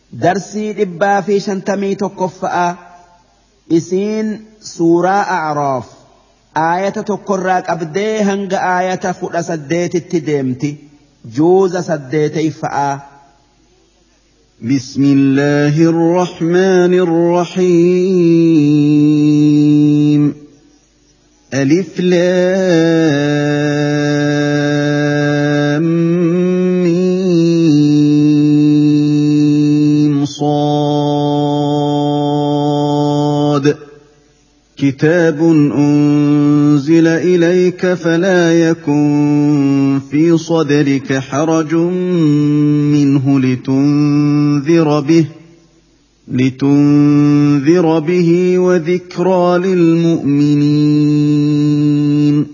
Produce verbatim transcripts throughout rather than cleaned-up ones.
درسي دبا في شنتمي تكفأ إسين سورة أعراف آية تكراك أبدي هنگ آية فؤل سديت التدمتي جوز سديتي فأ بسم الله الرحمن الرحيم ألف لام ميم صاد كتاب أنزل إليك فلا يكن في صدرك حرج منه لتنذر به لتنذر به وذكرى للمؤمنين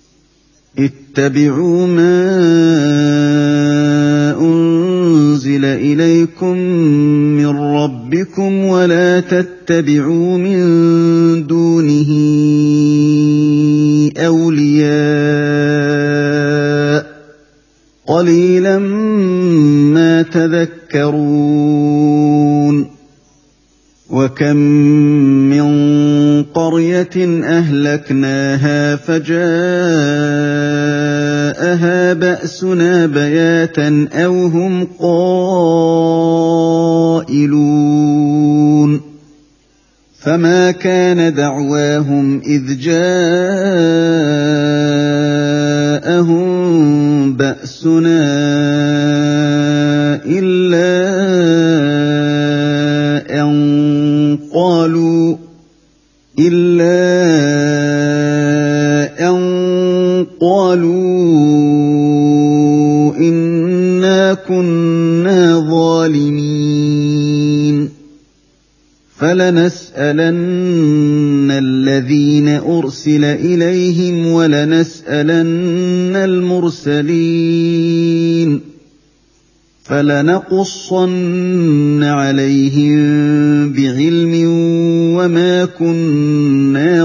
اتبعوا ما أنزل إليكم من ربكم ولا تتبعوا من دونه أولياء قليلا ما تذكرون وكم من قرية أهلكناها فجاءها بأسنا بياتا أو هم قائلون فما كان دعواهم إذ جاءهم بأسنا إلا أن قالوا إلا أن قالوا إنا كنا ظالمين فلنسألن الذين أرسل إليهم ولنسألن المرسلين فلنقصن عليهم بعلم وما كنا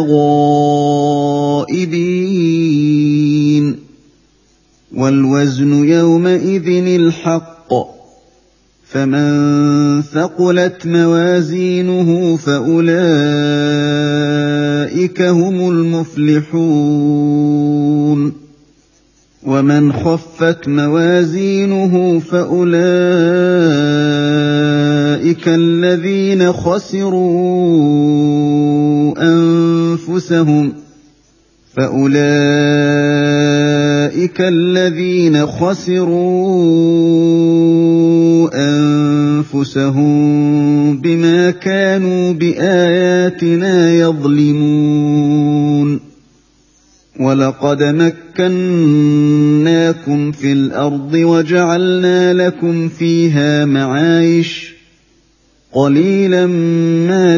غائبين والوزن يومئذ الحق فمن ثقلت موازينه فأولئك هم المفلحون ومن خفت موازينه فأولئك الذين خسروا أنفسهم فأولئك الذين خسروا أنفسهم بما كانوا بآياتنا يظلمون ولقد مكناكم في الأرض وجعلنا لكم فيها معايش قليلا ما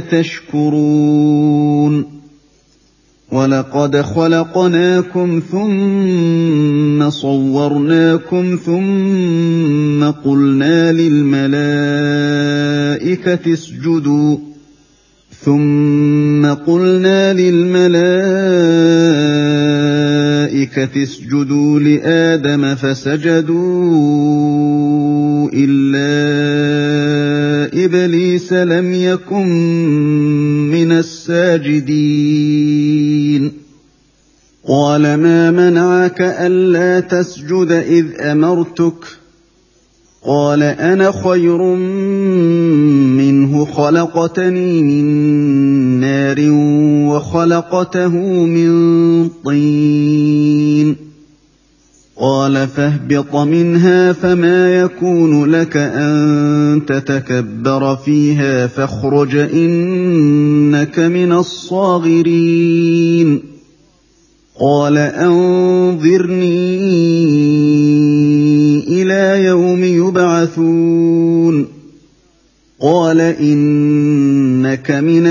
تشكرون ولقد خلقناكم ثم صورناكم ثم قلنا للملائكة اسجدوا ثم قلنا للملائكة اسجدوا لآدم فسجدوا إلا إبليس لم يكن من الساجدين قال ما منعك ألا تسجد إذ أمرتك قال أنا خير منه خلقتني من نار وخلقته من طين قال فاهبط منها فما يكون لك أن تتكبر فيها فاخرج إنك من الصاغرين قال أنظرني إلى يوم يبعثون قال إنك من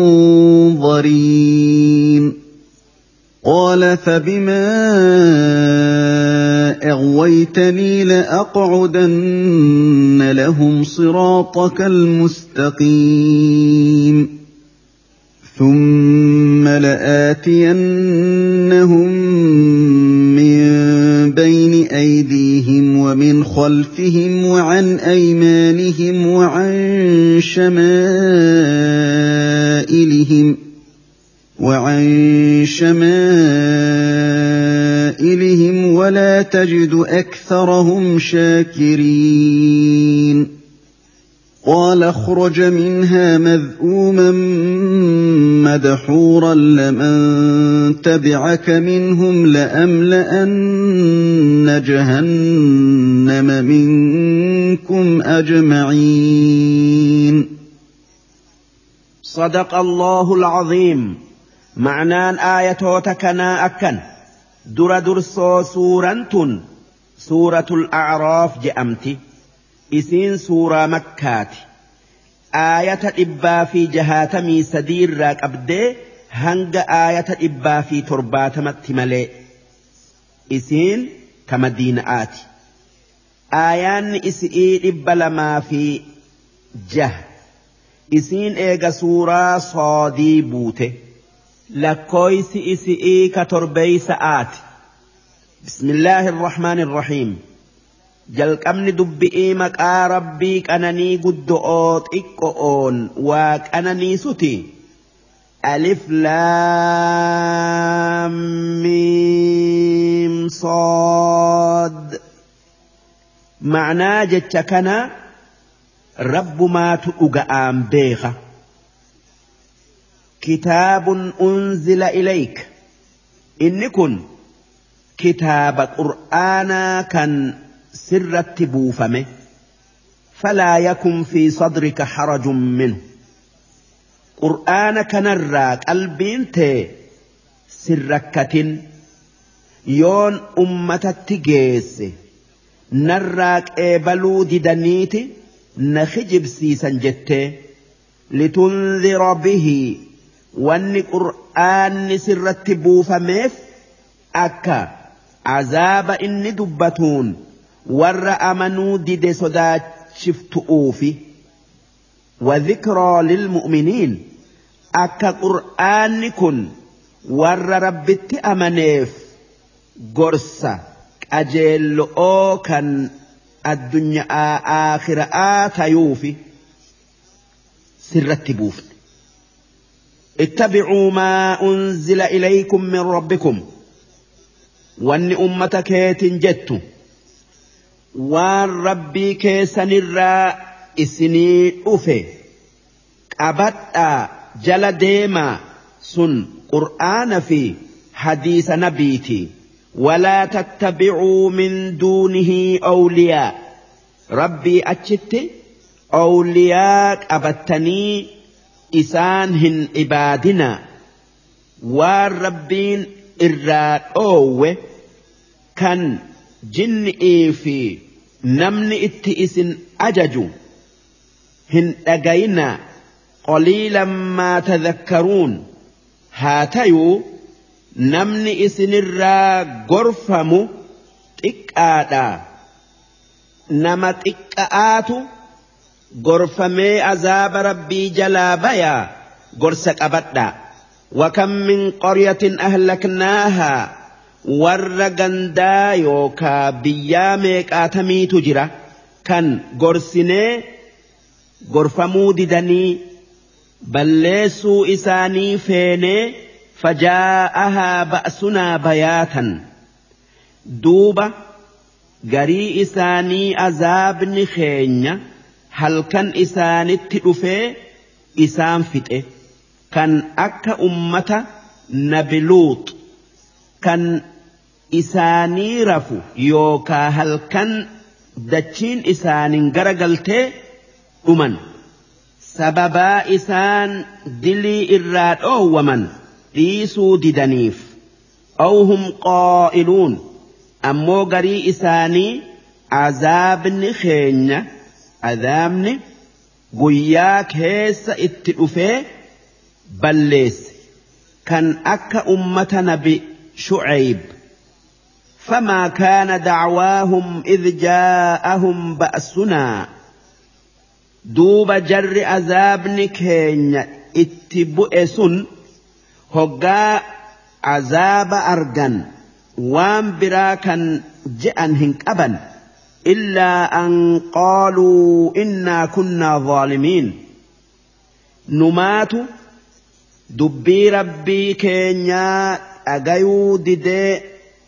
المنظرين قال فبما أغويتني لأقعدن لهم صراطك المستقيم ثم لآتينهم من بين أيديهم ومن ومن خلفهم وعن أيمانهم وعن شمائلهم وعن شمائلهم ولا تجد أكثرهم شاكرين قال اخرج منها مذءوما مدحورا لمن تبعك منهم لأملأن جهنم منكم أجمعين. صدق الله العظيم. معنان آية تكنا أكن در درسو سورة سورة الأعراف جأمتي إسين سورة مكات آية إبا في جهاتمي سدير راك أبدي هنگ آية إبا في ترباتمت ملي إسين كمدينة آتي آيان إسئي إبا لما في جه إسين إيغا سورة صادي بوته لكويس إسئي كتربي سآت. بسم الله الرحمن الرحيم. jalqabni dubbi'ii maqaa rabbii qananii guddoo xiqqoon waa qananiisuti. alif laam miim sood. ma'naa jecha kana rabbumaatu dhuga'aan beeka. kitaabun unzila ilayk. inni kun kitaaba qur'aanaa kan سرت بوفمه فلا يكن في صدرك حرج منه. قرآن كنرى قلبين تي سركة يون أمة التجيس نراك إبلو ددنيت نخجب سيسا جت لتنذر به وان قرآن سرت بوفمه أكا عذاب إن دبتون warra amanuu dide sodaachiftu'uufi wadhikraa lilmu'miniin akka qur'aanni kun warra rabbitti amaneef gorsa qajeello'oo kan addunyaa aakhira'aa tayuufi sirratti buufne. اتبعوا ما أنزل إليكم من ربكم وأن أمتك تنجتوا waan rabbii keessanirraa isinii dhufe qabadhaa jala deemaa sun qur'aana fi hadiisa nabiiti. walaa tattabicuu min duunihi awliyaa. rabbii achitti awliyaa qabattanii isaan hin ibaadinaa. waan rabbiin irraa dhoowwe kan jinni'ii fi namni itti isin ajaju hin dhagayinaa. qaliilan maa tadhakkaruun. haa tayuu namni isinirraa gorfamu xiqqaadha. nama xiqqa'aatu gorfamee azaaba rabbii jalaa bayaa gorsa qabadhaa. wakam min qaryatin ahlaknaahaa. warra gandaa yookaa biyyaa meeqaatamiitu jira kan gorsinee gorfamuu didanii balleessuu isaanii feenee fajaa'ahaa ba'sunaa bayaatan. duuba garii isaanii azaabni keenya halkan isaanitti dhufee isaan fixe kan akka ummata nabi luut kan isaanii rafu yookaa halkan dachiin isaanin garagaltee dhuman sababaa isaan dilii irraa dhoowwaman dhiisuu didaniif. awhum qaa'iluun. ammoo garii isaanii azaabni keenya azaabni guyyaa keessa itti dhufee balleesse kan akka ummata nabi شعيب. فما كان دعواهم إذ جاءهم بأسنا. دوب جر عذاب نكين اتبؤسن هقا عذاب أرغن وان براكا جأن هنك أبن إلا أن قالوا إنا كنا ظالمين نمات دبي ربي كينيا أغيو ديدي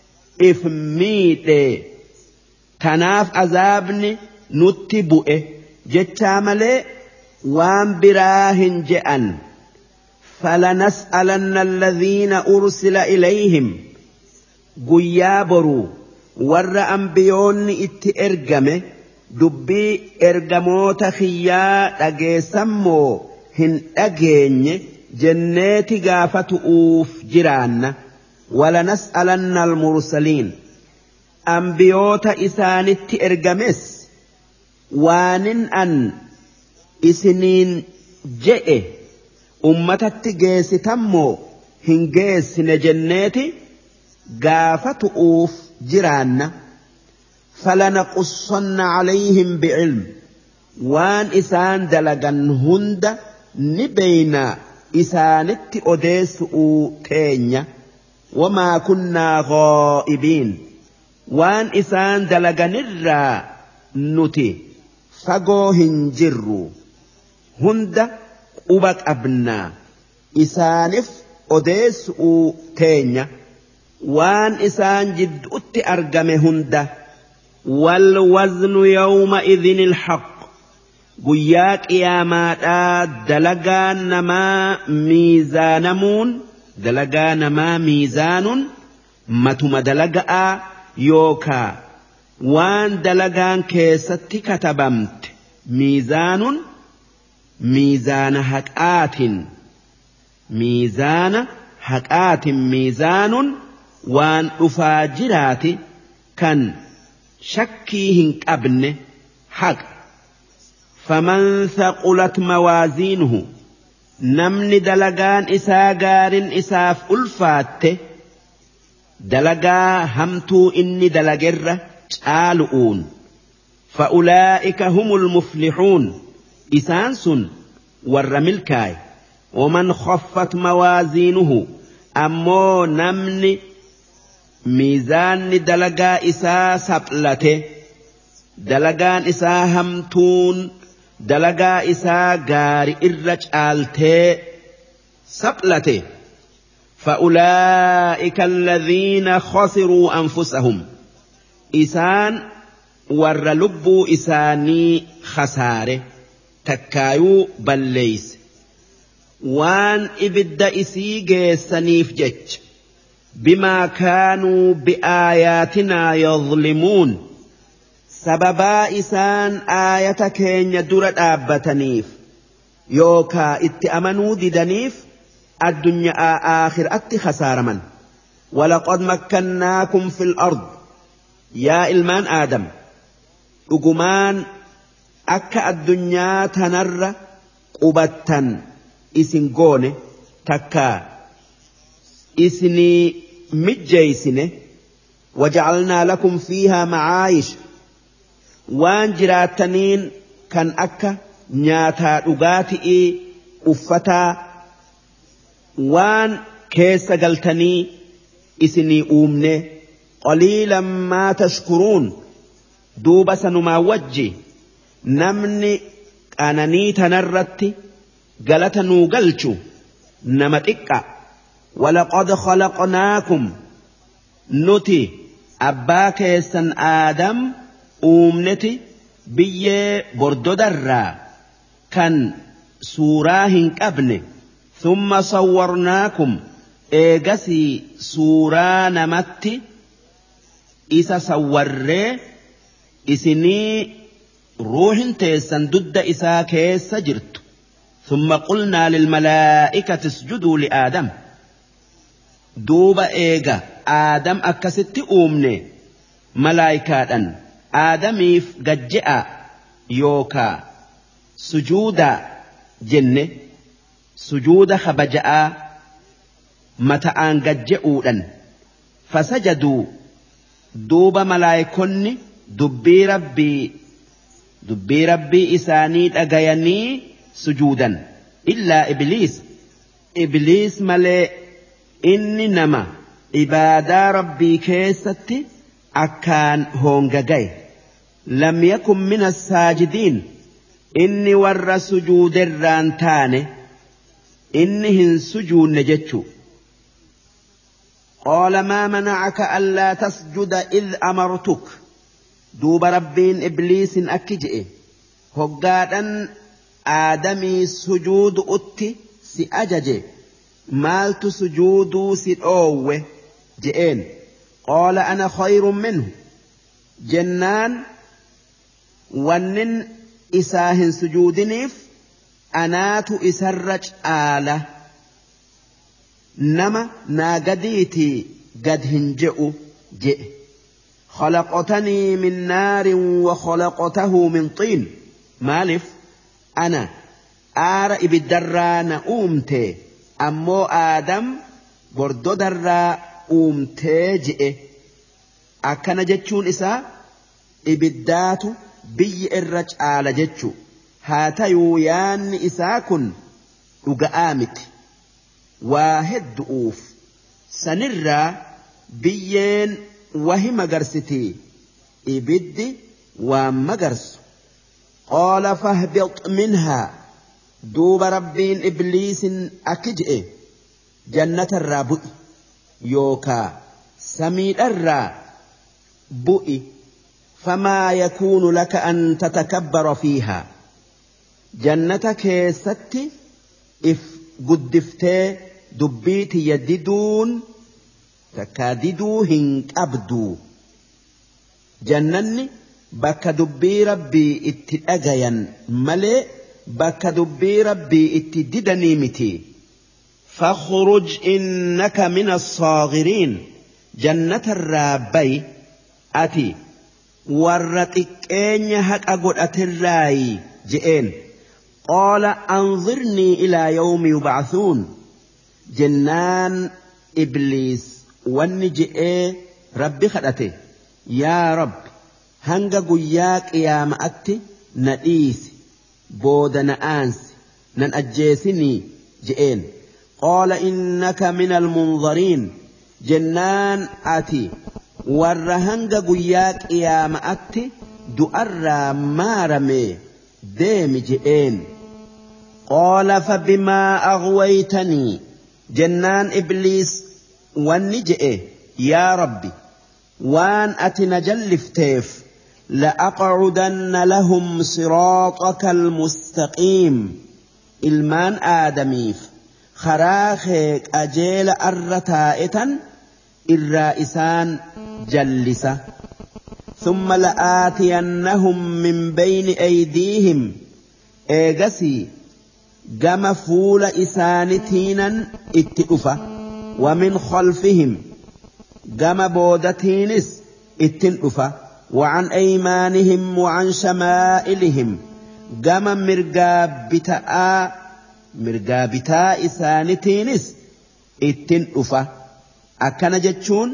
إفميدي تناف أذابني نتبؤه جتاملي وان براهن جأن فلنسألن الذين أرسل إليهم قيابروا ور أنبيون إت إرقمه دبي إرقموت خيا أجيسمو هن أجيني جنات قافة أوف جيران ولنسألن المرسلين أنبيوت إسانت إرقمس وانن أن إسنين جئ أمتت جيس تمو هن جيس نجناتي قافة أوف جيران فلنقصن عليهم بعلم وان إسان دلقن هند نبينا إسانت أديس تينيا وما كنا غائبين وان إسان دلقن الرا نتي فقوهن جروا هند أبك أبنا إسانف أديس تينيا وان إسان جد أت أرقم هند والوزن يومئذ الحق قياك يا ماتا دلقان نما ميزانمون دلقان نما ميزان متم دلقاء يوكا وان دلقان كيست كتبمت ميزان ميزان حقات ميزان حقات ميزان وان أفاجرات كان شكيهن أبن حق فمن ثقلت موازينه نمن دلقان إسا قار إساف ألفات دلقا همتو إني دلقر شالؤون فأولئك هم المفلحون إسانس والرملكاي ومن خفت موازينه أمو نمن ميزان دلقا إسا سبلته دلقان إسا همتون دلقا إسا غاري إرج آلته سبلته فأولئك الذين خسروا أنفسهم إسان ور لبو إساني خساره تكايو بليس وان إبد إسي جيسانيف جج بما كانوا بآياتنا يظلمون سببا إسان آية كين يدور آبتنيف يوكا اتأمنوا ددنيف الدنيا آخر أت خسار من ولقد مكناكم في الأرض يا إلمان آدم أقمان أكا الدنيا تنر قبتا إسنقون تكا إسني مجيسنه وجعلنا لكم فيها معايش وان جراتنين كان أكا نياتا أغاتئي أفتا وان كيس قلتني إسني أومني قليلا ما تشكرون دوب سنما وجي نمني أنني تنرت قلتنو قلتو نمتك ولقد خلقناكم نتي أباك يسن آدم أومنتي بيه بردو درا كان سوراهن كابن ثم صورناكم إيغسي سورا نمتي إسا صوري إسني روح تيسن ضد إسا كيس جرت ثم قلنا للملائكة اسجدوا لآدم دوب إيغا آدم أكست أومني ملائكة آدميف قجئ يوكا سجودا جنة سجود خبجأ متأن قجئودا فسجدوا دوب ملائكني دبي ربي دبي ربي إسانيت أغياني سجودا إلا إبليس إبليس ملئ إني نما إبادة ربي كيستي أكان هونغاقاي لم يكن من الساجدين إني ور سجود الرانتان إنهن سجود نجتشو قال ما منعك ألا تسجد إذ أمرتك دوب ربين إبليس أكجئ هقادا آدمي سجود أتي سأجج مالت سجود سأوه جئين قال أنا خير منه جنان ونن إساهن سجودنيف أنات إسرج آله نما ناقديتي قد هنجئ جئ خلقتني من نار وخلقته من طين مالف أنا آر إبدرا نأومتي أمو آدم بردو درا أومتي جئ أكنا جتشون إسا إبدات بي الرج آل جتشو هاتيو يان إسا كن أقامت واحد أوف سنرى بيين وهي مقرستي إبدي ومقرس قال فاهبط منها دوب ربين إبليس أكجئ جنة الرابئ يوكا سميد الرا بؤي فما يكون لك أن تتكبر فيها جنتك ستي إف قدفتي دبيتي يددون تكاددوا هنك أبدو جنني بك دبي ربي اتأجيا ملئ بك دبي ربي اتددني متي فاخرج إنك من الصاغرين جنة الرابي أتي ورتك أين هك أقول أتراي جئين قال أنظرني إلى يوم يبعثون جنان إبليس والنجئ ربي خدته يا رب هنگا قياك يا مأتي نئيس بود نآنس نن أجيسني جئين قال إنك من المنظرين جنان آتي ورهنگ قياك يا مأتي دؤر مارمي ديم جئين قال فبما أغويتني جنان إبليس والنجئ يا ربي وان أتنجلفتيف لأقعدن لهم صراطك المستقيم المان آدميف خراخيك أجيل أرتائتا الرائسان جلسة ثم لآتينهم من بين أيديهم إيغسي قم فول إسانتينا اتئفة ومن خلفهم قم بودتينس اتئفة وعن أيمانهم وعن شمائلهم قم مرقابتا مرقابتا إسانتينس اتئفة أكن جتشون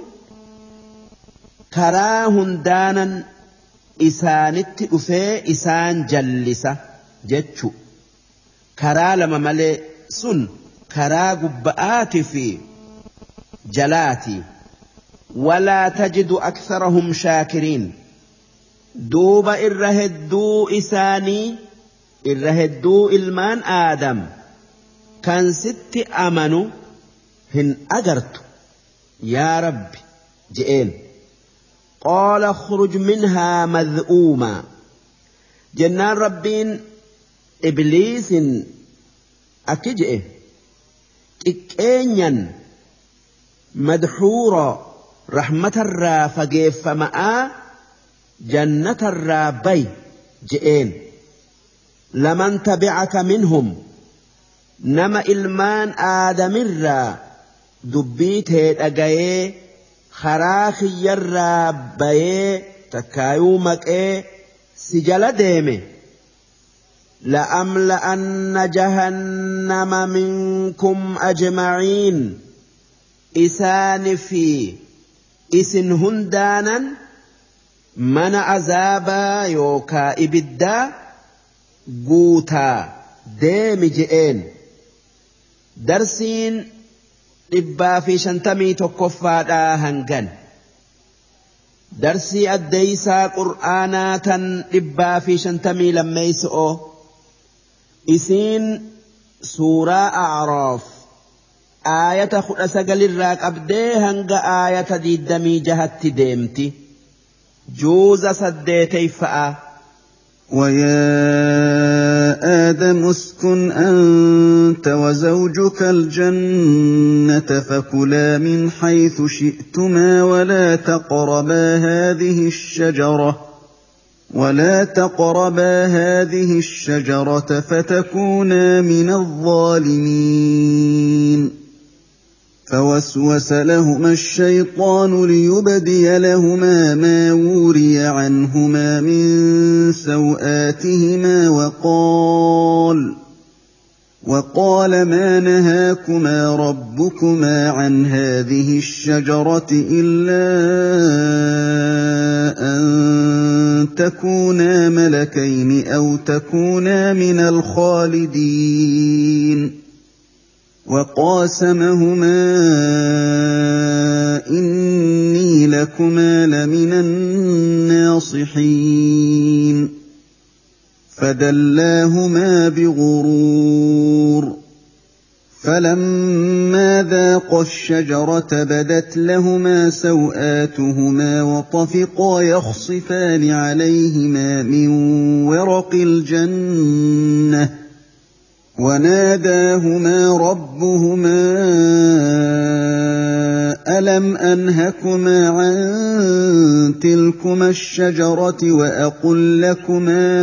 كراهن دانا إسانت أفي إسان جلسة جتشو كرا لما ملي سن كرا قبآت في جلاتي ولا تجد أكثرهم شاكرين دوب إرهدو إساني إرهدو إلمان آدم كان ست أمنوا هن أجرت يا رب جئين قال اخرج منها مذءوما جنان ربين إبليس أكجئ إكينيا مدحورا رحمة الرافق فماء جنة الرابي جئين لمن تبعك منهم نما إلمان آدم الرا دبيته أجايه خراخي الرابي تكايومك إيه سجل ديمه لأملأن جهنم منكم أجمعين إسان في إسن هندانا من عذابا يوكا إبدا قوتا ديم جئين درسين إبا في شنتمي تكفادا هنغن درسي الديسا قرآناتا إبا في شنتمي لما يسؤو إسين سورة أعراف آية خلص قل الراك أبديهنغ آية دي الدمي جهت ديمتي جوز سديتي فأ ويا آدم اسكن أنت وزوجك الجنة فكلا من حيث شئتما ولا تقربا هذه الشجرة ولا تقربا هذه الشجرة فتكونا من الظالمين فوسوس لهما الشيطان ليبدي لهما ما وري عنهما من سوآتهما وقال وقال ما نهاكما ربكما عن هذه الشجرة إلا أن تكونا ملكين أو تكونا من الخالدين وقاسمهما إني لكما لمن الناصحين فدلاهما بغرور فلما ذاقا الشجرة بدت لهما سوآتهما وطفقا يخصفان عليهما من ورق الجنة وناداهما ربهما ألم أنهكما عن تلكما الشجرة وأقل لكما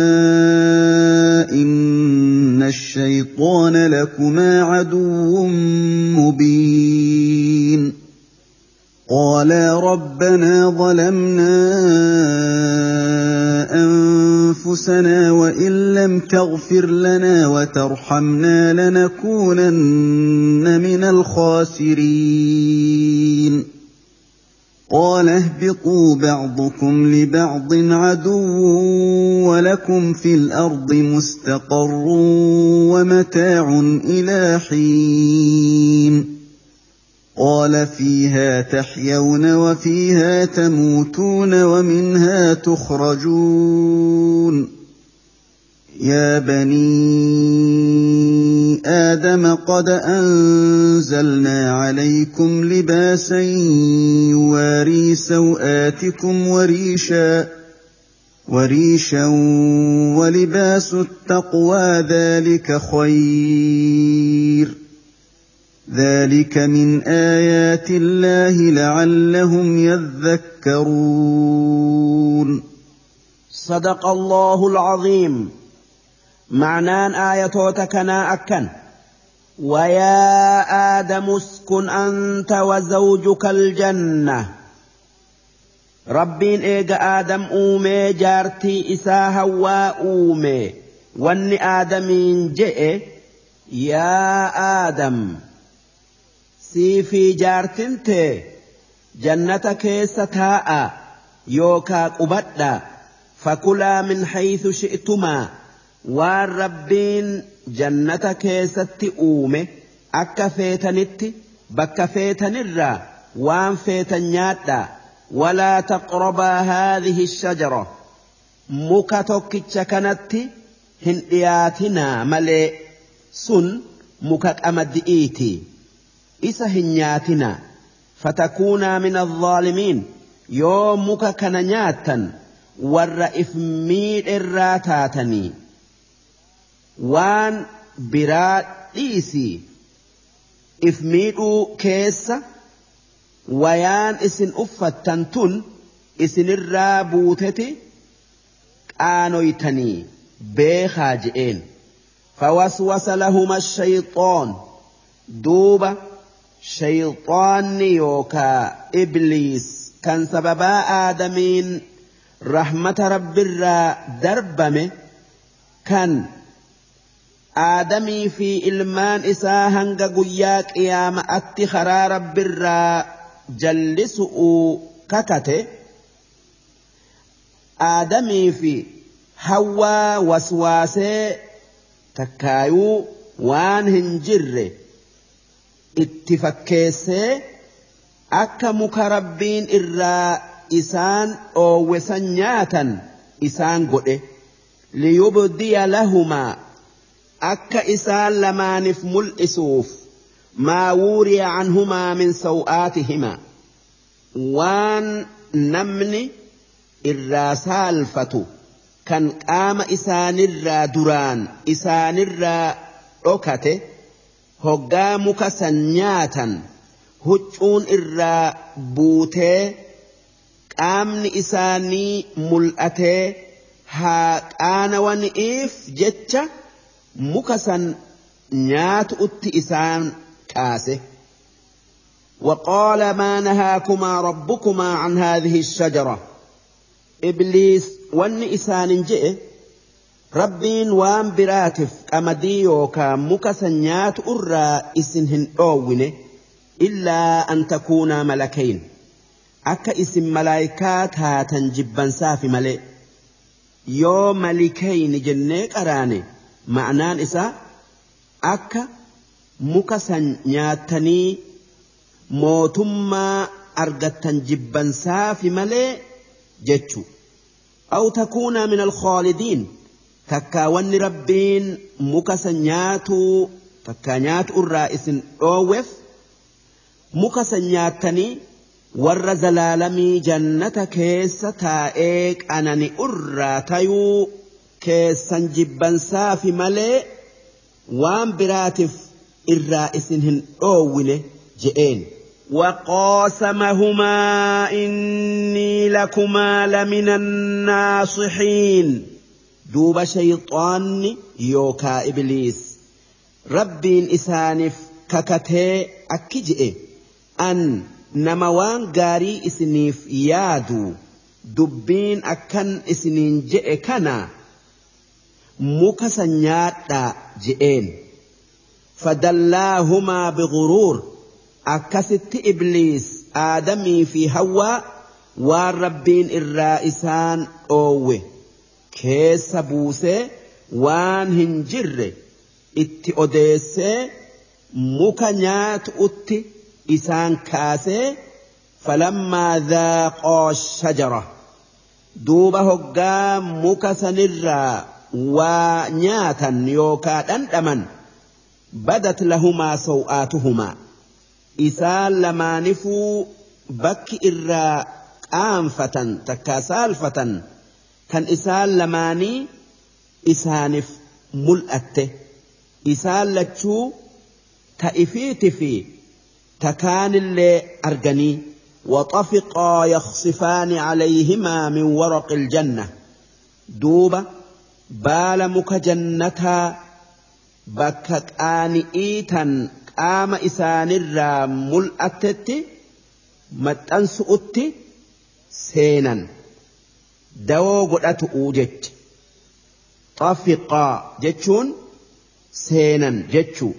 إن الشيطان لكما عدو مبين قالا ربنا ظلمنا أنفسنا وإن لم تغفر لنا وترحمنا لنكونن من الخاسرين قال اهبطوا بعضكم لبعض عدو ولكم في الأرض مستقر ومتاع إلى حين قال فيها تحيون وفيها تموتون ومنها تخرجون يا بني آدم قد أنزلنا عليكم لباسا يواري سوآتكم وريشا وريشا ولباس التقوى ذلك خير ذلك من آيات الله لعلهم يذكرون صدق الله العظيم. معنان آياتنا أكن ويا آدم اسكن أنت وزوجك الجنة ربين إيجا آدم أومي جارتي إساها وأومي واني آدمين جئ يا آدم سيفي جارتنتي جنتك ستاء يوكا قبدا فكلا من حيث شئتما والربين جنتك ستئومي أكا فيتنت بكا فيتنرا وان فيتنياتا ولا تقربا هذه الشجرة مكتوك كانت هندياتنا ملئ سن مكك أمدئيتي إسا هنياتنا فتكونا من الظالمين يوم مكك نياتا والرئف ميل الراتاتني وان برات إيسي إفميدو كيسة ويان إسن أفتنتن إسن الرابوتتي آنويتني بخاجئين فوسوس لهما الشيطان دوبا شيطان يوكا إبليس كان سببا آدمين رحمة رب الرا دربمه كان آدمي في إلمان إساهنغ قياك إيام أتخرى رب الرا جلسوا ككته آدمي في هوا وسواسي تكايو وان هنجر اتفكيسي أكا مكربين إرا إسان أو وسنياتا إسان قده ليبدي لهما أكا إسان لما نفم الإسوف ما وري عنهما من سوآتهما وان نمني الراسالفة كان قام إسان الرا دران إسان الرا أكته هقامك سنياتا هجون الرا بوته قامن إساني ملأته ها قانا ونئف جتش مكسن نيات أت إسان كاسه وقال ما نهاكما ربكما عن هذه الشجرة إبليس وان إسان جئ ربين وان براتف أمدي يوكا مكسنيات أرى إسنهن أوونه إلا أن تكونا ملكين أكا اسم ملايكات هاتن جبا سافي ملئ يو ملكين جنيك أراني معنان إسا أكا مكسنياتني موتما أرغتن جبا سافي ملئ جتشو أو تكونا من الخالدين تكاون ربين مكسنياتو تكانيات الرئيس أوف مكسنياتني ور زلالمي جنة كيس تائك أنني أرى تيو كيسا جبا سافي ملئ وان براتف الرئيس هن أوله جئين وقاسمهما إني لكما لمن الناصحين دوب شيطان يوكا إبليس ربين إسانف ككته أكجئ أن نموان غاري إسنيف يادو دبين أكن إسنين جئ كنا مكسنيات جئين فدلاهما بغرور أكست إبليس آدمي في هوا والربين الرائسان أوه كيس بوسي وان هنجر اتي أديسي مكنيات اتي إسان كاسي فلما ذاقا الشجرة دوبه قام مكسن الرا ونياتا يوكا أندمن بدت لهما سوآتهما إسان لما نفو بك إرا قامفة تكاسالفة كان إسان لماني إسانف ملأته إسان لتشو تأفيت في تكان اللي أرجني وطفقا يخصفان عليهما من ورق الجنة دوبة بالمك جنتها بكك آن إيتا قام إسان الرام ملأتت متأنسؤت سينا دو قدأت أوجت طفقا جتشون سينا جتشو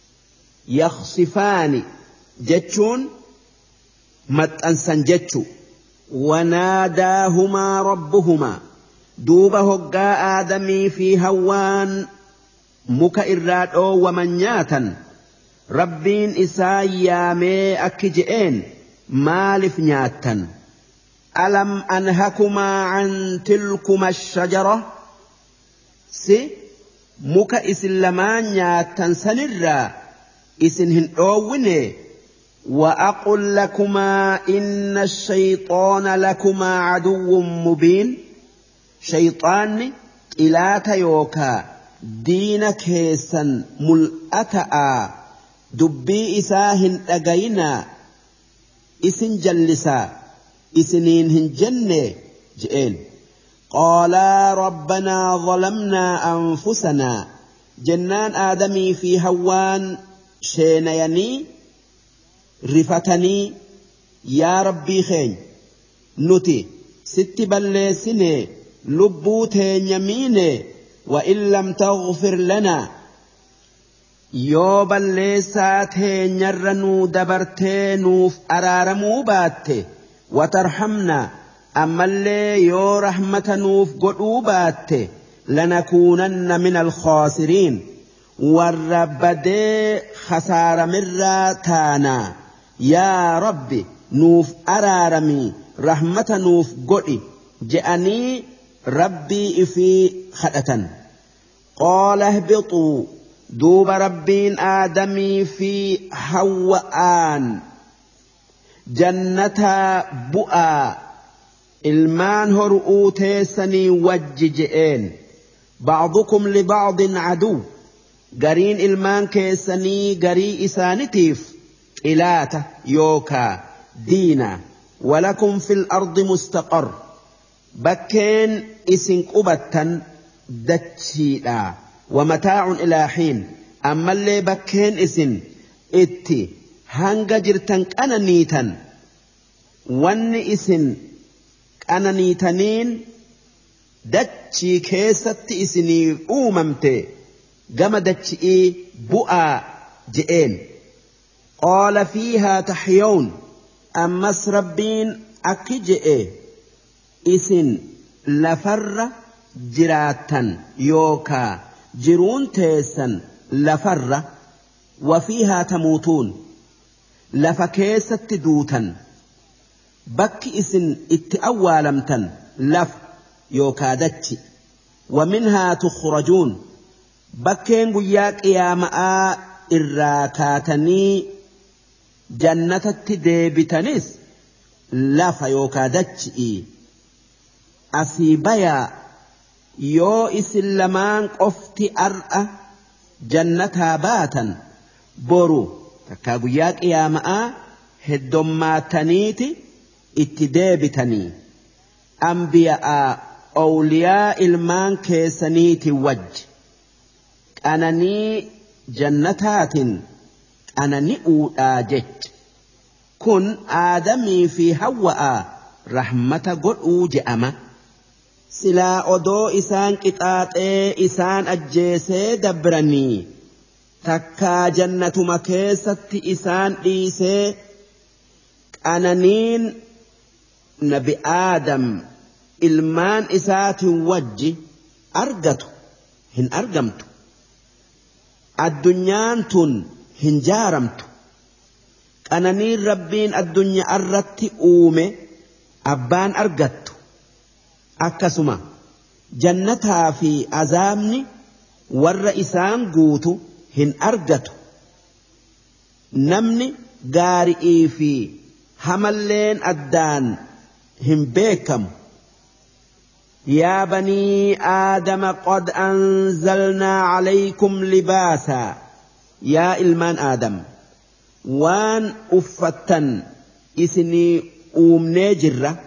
يخصفان جتشون متأنسا جتشو وناداهما ربهما دوبه قا آدمي في هوان مك إراد أو ومنياتا ربين إسايامي أكجئين مالف نياتا ألم أنهكما عن تلكما الشجرة سي مك إسلمان نياتا سنرا إسنهن أويني وأقول لكما إن الشيطان لكما عدو مبين شيطان إلا تيوكا دين كيسا ملأتا دبي إساهن أغينا إسن جلسا إسنينهن جنة جئين قالا ربنا ظلمنا أنفسنا جنان آدمي في هوان شينيني رفتني يا ربي خين نتي ست بلسني لبوتين يميني وإن لم تغفر لنا yoo balleessaa teenyarra nuu dabartee nuuf araaramuu baatte watarhamna ammallee yoo rahmata nuuf godhuu baatte lanakuunanna min alkhaasiriin warra badee khasaaramirraa taanaa yaa rabbi nuuf araarami رحمة نوف قدي جأني ربي إفي خدة قال اهبطوا دوب ربين آدمي في حوآن جنة بؤا المان هرؤو تيسني وججئين بعضكم لبعض عدو قرين المان كيسني قري إسانتيف إلاته يوكا دينا ولكم في الأرض مستقر بكين إسن قبتا دتشيدا ومتاع إلى حين أما اللي بكين إسن إتي هنگا جرتن أنا نيتن وان إسن أنا نيتنين دتشي كيست إسني أوممتي قم دتشي بؤا جئين قال فيها تحيون أمس ربين أكجئ إسن لفر جراتا يوكا جرون تيسا لفر وفيها تموتون لفكيست دوتا بك إسن اتأوالمتا لف يوكا دتشي ومنها تخرجون بكين قياك يا ماء الراكاتني جنة التديبتنس لف يوكا دتشي أسيبيا يو إسلمان قفتي أرأى جنتها باتا برو تكاقياك يا ماء هدوماتنيتي اتدابتني أنبياء أولياء المان كيسنيتي وج أنني جنتات أنني أولاجت كن آدمي في هواء رحمة قل أوجأما سلا أدو إسان كتات إسان أجيسي دبرني تكا جنة مكيست إسان إيسي أنانين نبي آدم ilmaan isaatiin wajji argatu hin argamtu addunyaan tun hin jaaramtu qananiin rabbiin addunyaa irratti uume abbaan argattu akkasuma jannataa fi azaabni warra isaan guutu hin argatu namni gaarii fi hamalleen addaan hin beekamu يا بني آدم قد أنزلنا عليكم لباسا يا إلمان آدم وان أفتن إثني أوم نجرة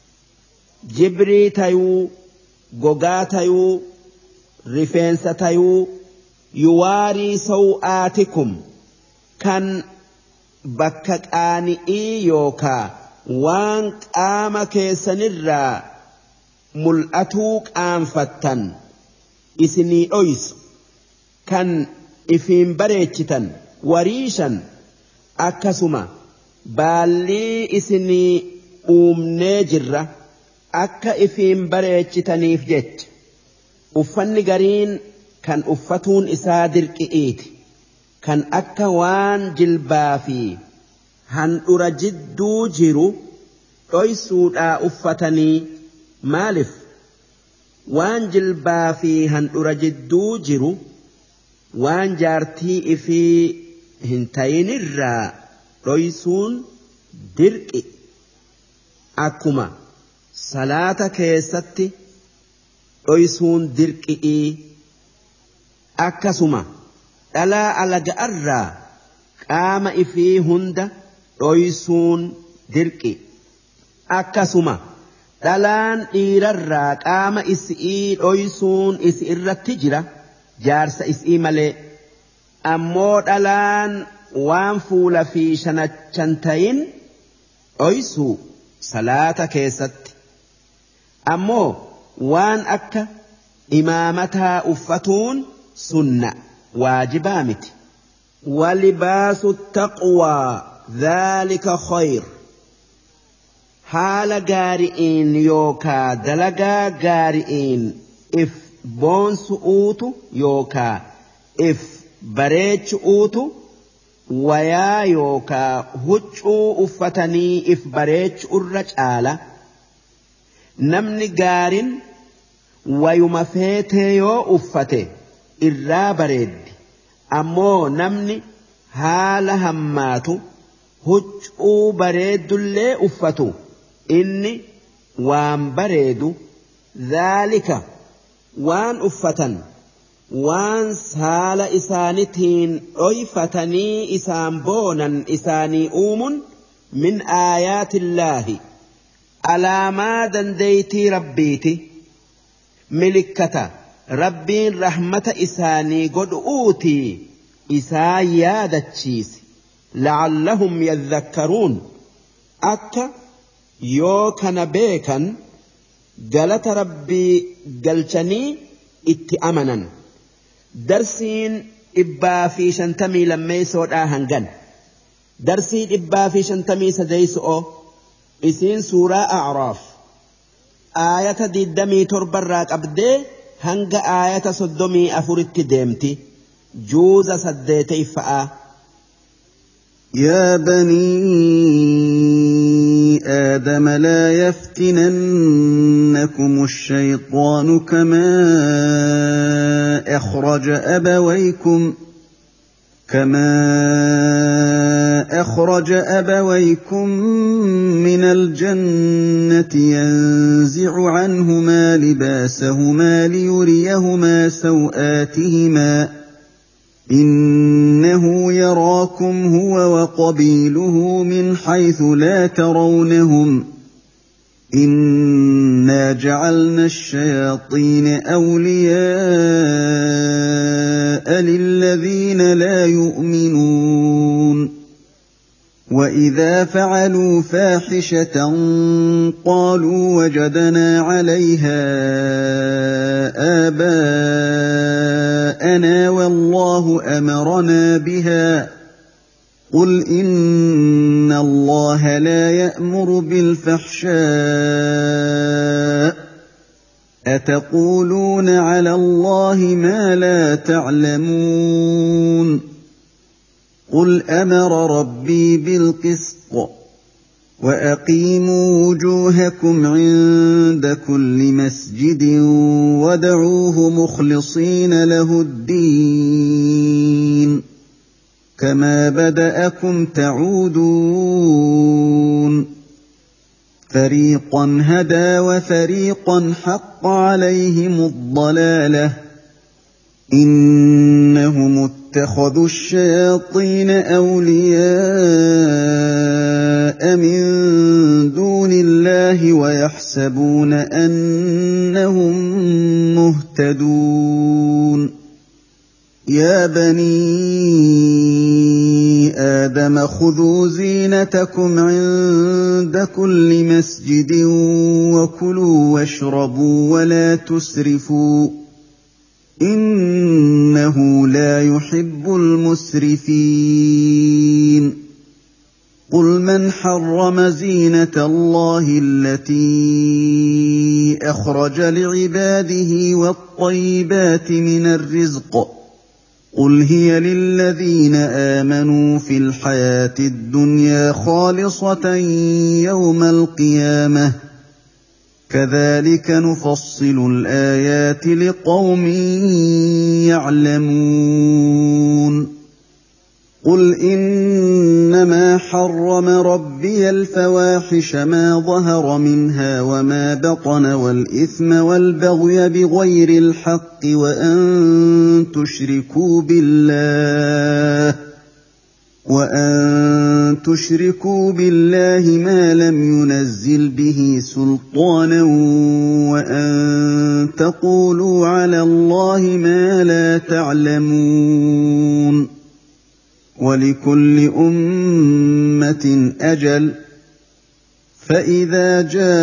جبري تيو غوغا تيو رفنس تيو يواري سوآتكم كان بكك آني إيوكا وان قامك سنرّا mul'atuu qaanfattan isinii dhoysu kan ifiin bareechitan wariishan akkasuma baallii isinii uumnee jirra akka ifiin bareechitaniif jecha uffanni gariin kan uffatuun isaa dirqi'iiti kan akka waan jilbaa fi handhura jidduu jiru dhoysuudhaa uffatanii maalif waan jilbaa fi handhura jidduu jiru waan jaartii ifii hin tayinirraa dhoysuun dirqi akkuma salaata keessatti dhoysuun dirqi'ii akkasuma dhalaa alaga'arraa qaama ifii hunda dhoysuun dirqi akkasuma dhalaan dhiirarraa qaama isii dhoysuun isi irratti jira jaarsa isii malee ammoo dhalaan waan fuula fi shanachan tayin dhoysuu salaata keessatti ammoo waan akka imaamataa uffatuun sunna waajibaa miti walibaasu taqwaa dhaalika khayr haala gaari'iin yookaa dalagaa gaari'iin if boonsu'uutu yookaa if bareechu'uutu wayaa yookaa huccuu uffatanii if bareechu irra caala namni gaarin wayuma feetee yoo uffate irraa bareeddi ammoo namni haala hammaatu huccuu bareeddullee uffatu inni waan bareedu dhaalika waan uffatan waan haala isaanitiin dhoyfatanii isaan boonan isaanii uumun min aayaatillaahi alaamaa dandeeytii rabbiiti milikkata rabbiin rahmata isaanii godhuutii isaa yaadachiisi la'allahum yadhakkaruun akka yoo kana beekan galata rabbii galchanii itti amanan darsiin dhibbaa fi shantamii lammeeysoodhaa hangan darsii dhibbaa fi shantamii sadeeyso'oo isiin suuraa a'raaf aayata diddamii torbarraa qabdee hanga aayata soddomii afuritti deemti juuza saddeeteyfa'aa يا بني آدم لا يفتننكم الشيطان كما أخرج أبويكم كما أخرج أبويكم من الجنة ينزع عنهما لباسهما ليريهما سوآتهما إنه يراكم هو وقبيله من حيث لا ترونهم إنا جعلنا الشياطين أولياء للذين لا يؤمنون وإذا فعلوا فاحشة قالوا وجدنا عليها آباءنا والله أمرنا بها قل إن الله لا يأمر بالفحشاء أتقولون على الله ما لا تعلمون قل أمر ربي بالقسط وأقيموا وجوهكم عند كل مسجد وادعوه مخلصين له الدين كما بدأكم تعودون فريقا هدى وفريقا حق عليهم الضلالة إنهم اتخذوا الشياطين أولياء من دون الله ويحسبون أنهم مهتدون يا بني آدم خذوا زينتكم عند كل مسجد وكلوا واشربوا ولا تسرفوا إنه لا يحب المسرفين قل من حرم زينة الله التي أخرج لعباده والطيبات من الرزق قل هي للذين آمنوا في الحياة الدنيا خالصة يوم القيامة كذلك نفصل الآيات لقوم يعلمون قل إنما حرم ربي الفواحش ما ظهر منها وما بطن والإثم والبغي بغير الحق وأن تشركوا بالله وأن تشركوا بالله ما لم ينزل به سلطانا وأن تقولوا على الله ما لا تعلمون ولكل أمة أجل فإذا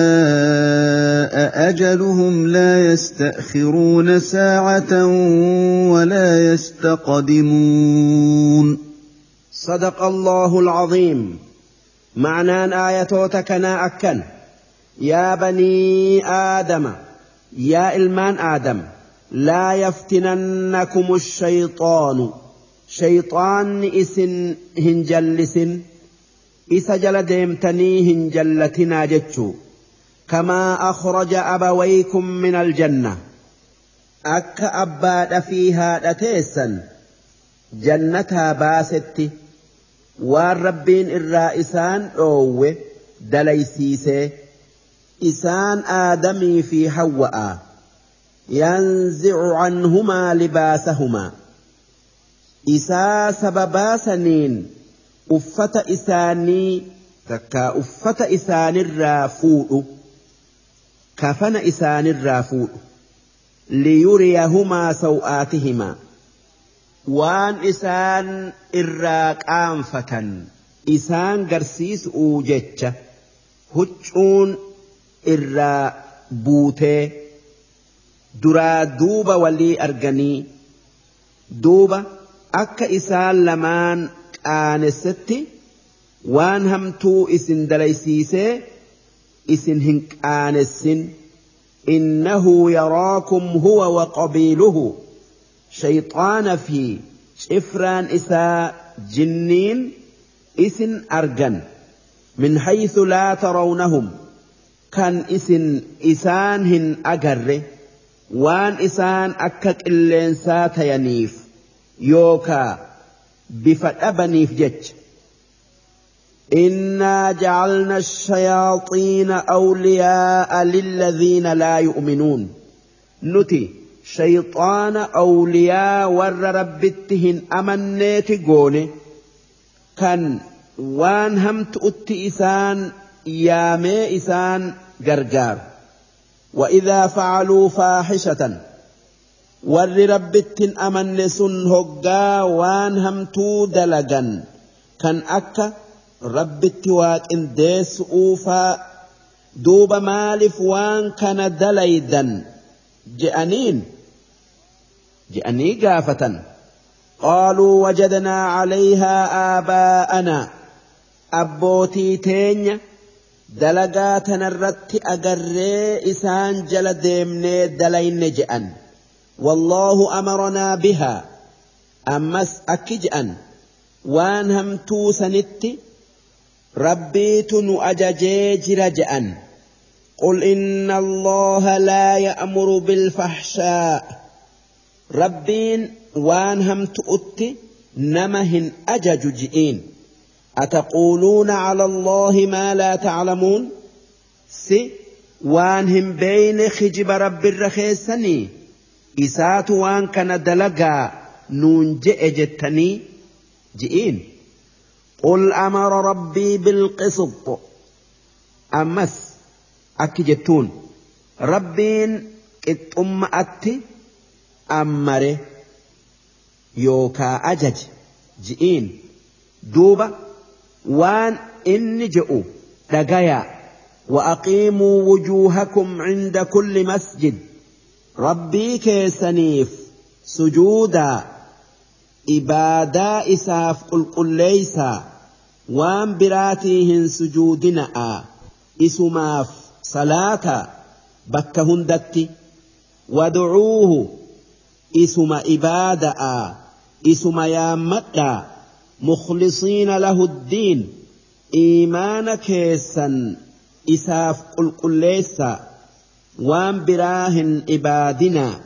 جاء أجلهم لا يستأخرون ساعة ولا يستقدمون صدق الله العظيم. معنى آياتك أكن يا بني آدم يا إلمان آدم لا يفتننكم الشيطان شيطان إسن هنجلسن إسا جل ديمتني هنجلتنا جتشو كما أخرج أبويكم من الجنة أك أباد فيها لتيسا جنتها باستي والربين الرائسان أوه دليسيسي إسان آدمي في حواء ينزع عنهما لباسهما إسا سببا سنين أفت إساني تكا أفت إسان الرافوء كفن إسان الرافوء ليريهما سوآتهما وان إسان إراك آنفة إسان قرسيس أوجتش هجون إرا بوتي درا دوبا ولي أرغني دوبا أكا إسان لمان آنستي وان همتو إسن دليسيسي إسن هنك آنسن إنه يراكم هو وقبيله شيطان في شفران إساء جنين إسن أرجن من حيث لا ترونهم كان إسن إسانهن أجر وان إسان أكك اللينسات ينيف يوكا بفتأبنيف جج إنا جعلنا الشياطين أولياء للذين لا يؤمنون نتي شيطان أولياء ور ربتهن أمنيت قولي كان وان همت أتي إسان يامي إسان قرقار وإذا فعلوا فاحشة ور ربتهن أمنسن هقا وان همتو دلقا كان أكا ربتي واقن ديس أوفا دوب مالف وان كان دليدا جأنين جأني قافة قالوا وجدنا عليها آباءنا أبوتي تين دلقاتنا الرت أقري إسان جل ديمني دلين جأن والله أمرنا بها أمس أكجأن وان هم توسنتي ربيت نؤججي جرجأن قل إن الله لا يأمر بالفحشاء ربين وان هم تؤتي نمهن أجج جئين أتقولون على الله ما لا تعلمون سي وانهم بين خجب رب الرخيسني إسات وان كان دلقا نون جئ جتني جئين قل أمر ربي بالقسط أمس أكجتون ربين اتم أتي أمره يوكا أجج جئين دوبا وان إن جئوا دقايا وأقيموا وجوهكم عند كل مسجد ربي كيسنيف سجودا إبادا إساف قل قل ليسا وان براتيهن سجودنا إسماف صلاة بكهن دتي ودعوه إسم إبادا إسم يامتا مخلصين له الدين إيمان كيسا إساف قل قل ليسا وان براهن إبادنا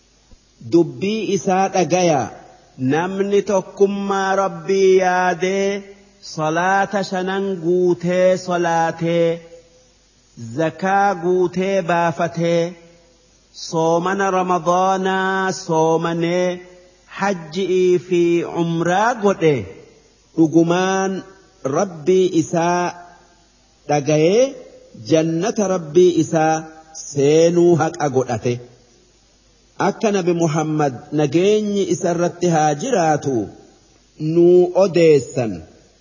دبي إسات أجايا namni tokkummaa rabbii yaadee salaata shanan guutee salaatee zakaa guutee baafatee soomana ramadaanaa soomanee hajji'ii fi umraa godhe dhugumaan rabbii isaa dhagayee jannata rabbii isaa seenuu haqa godhate. akka nabi Muhammad nageenyi isarratti haa jiraatu nuu odeessan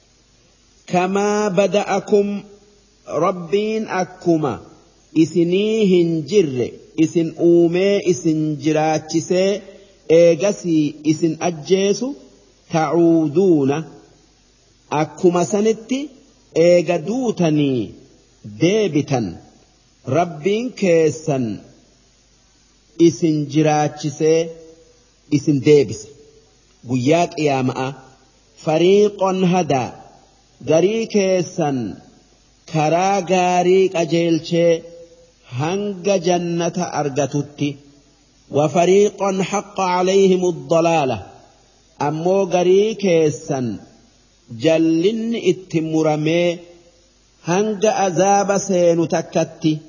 kamaa bada'akum rabbiin akkuma isinii hin jirre isin uumee isin jiraachisee eegasii isin ajjeesu ta'uuduuna akkuma sanitti eega duutanii deebitan rabbiin keessan isin jiraachisee isin deebise قياك يا ماء فريق هدى غري كيسن كرا غاريك أجيلشي هنگ جنة أرغتتي وفريق حق عليهم الضلالة أمو غري كيسن جلن اتمرمي هنگ أذاب سين تكتي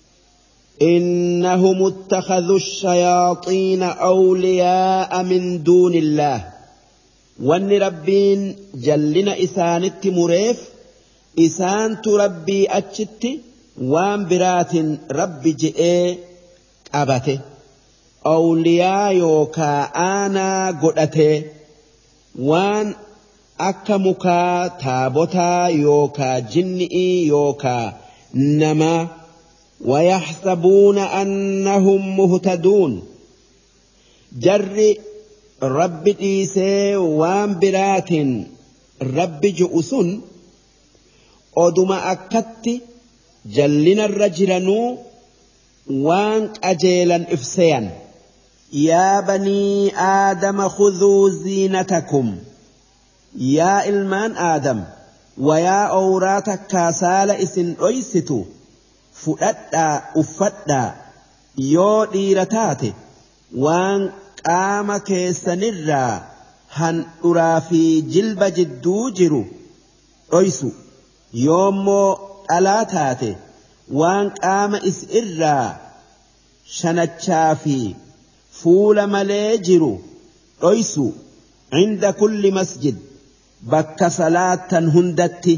إنهم اتخذوا الشياطين أولياء من دون الله وان ربين جلنا إسان التمريف إسان تربي أجت وان برات رب جئ أبته أولياء يوكا آنا قدته وان أكمكا تابوتا يوكا جنئي يوكا نما ويحسبون أنهم مهتدون جر رب ديسي وان برات رب جؤسن أدما أكت جلنا الرجلنو وان أجيلا إفسيا يا بني آدم خذوا زينتكم يا إلمان آدم ويا أوراتك كاسال إسن أيستو فؤدا أفدا يو ديرتاتي وان قام كيسنرا هن أرافي جلب جدو جرو أيسو يومو ألاتاتي وان قام إسئرا شنتشافي فول مليجرو أيسو عند كل مسجد بك صلاة هندتي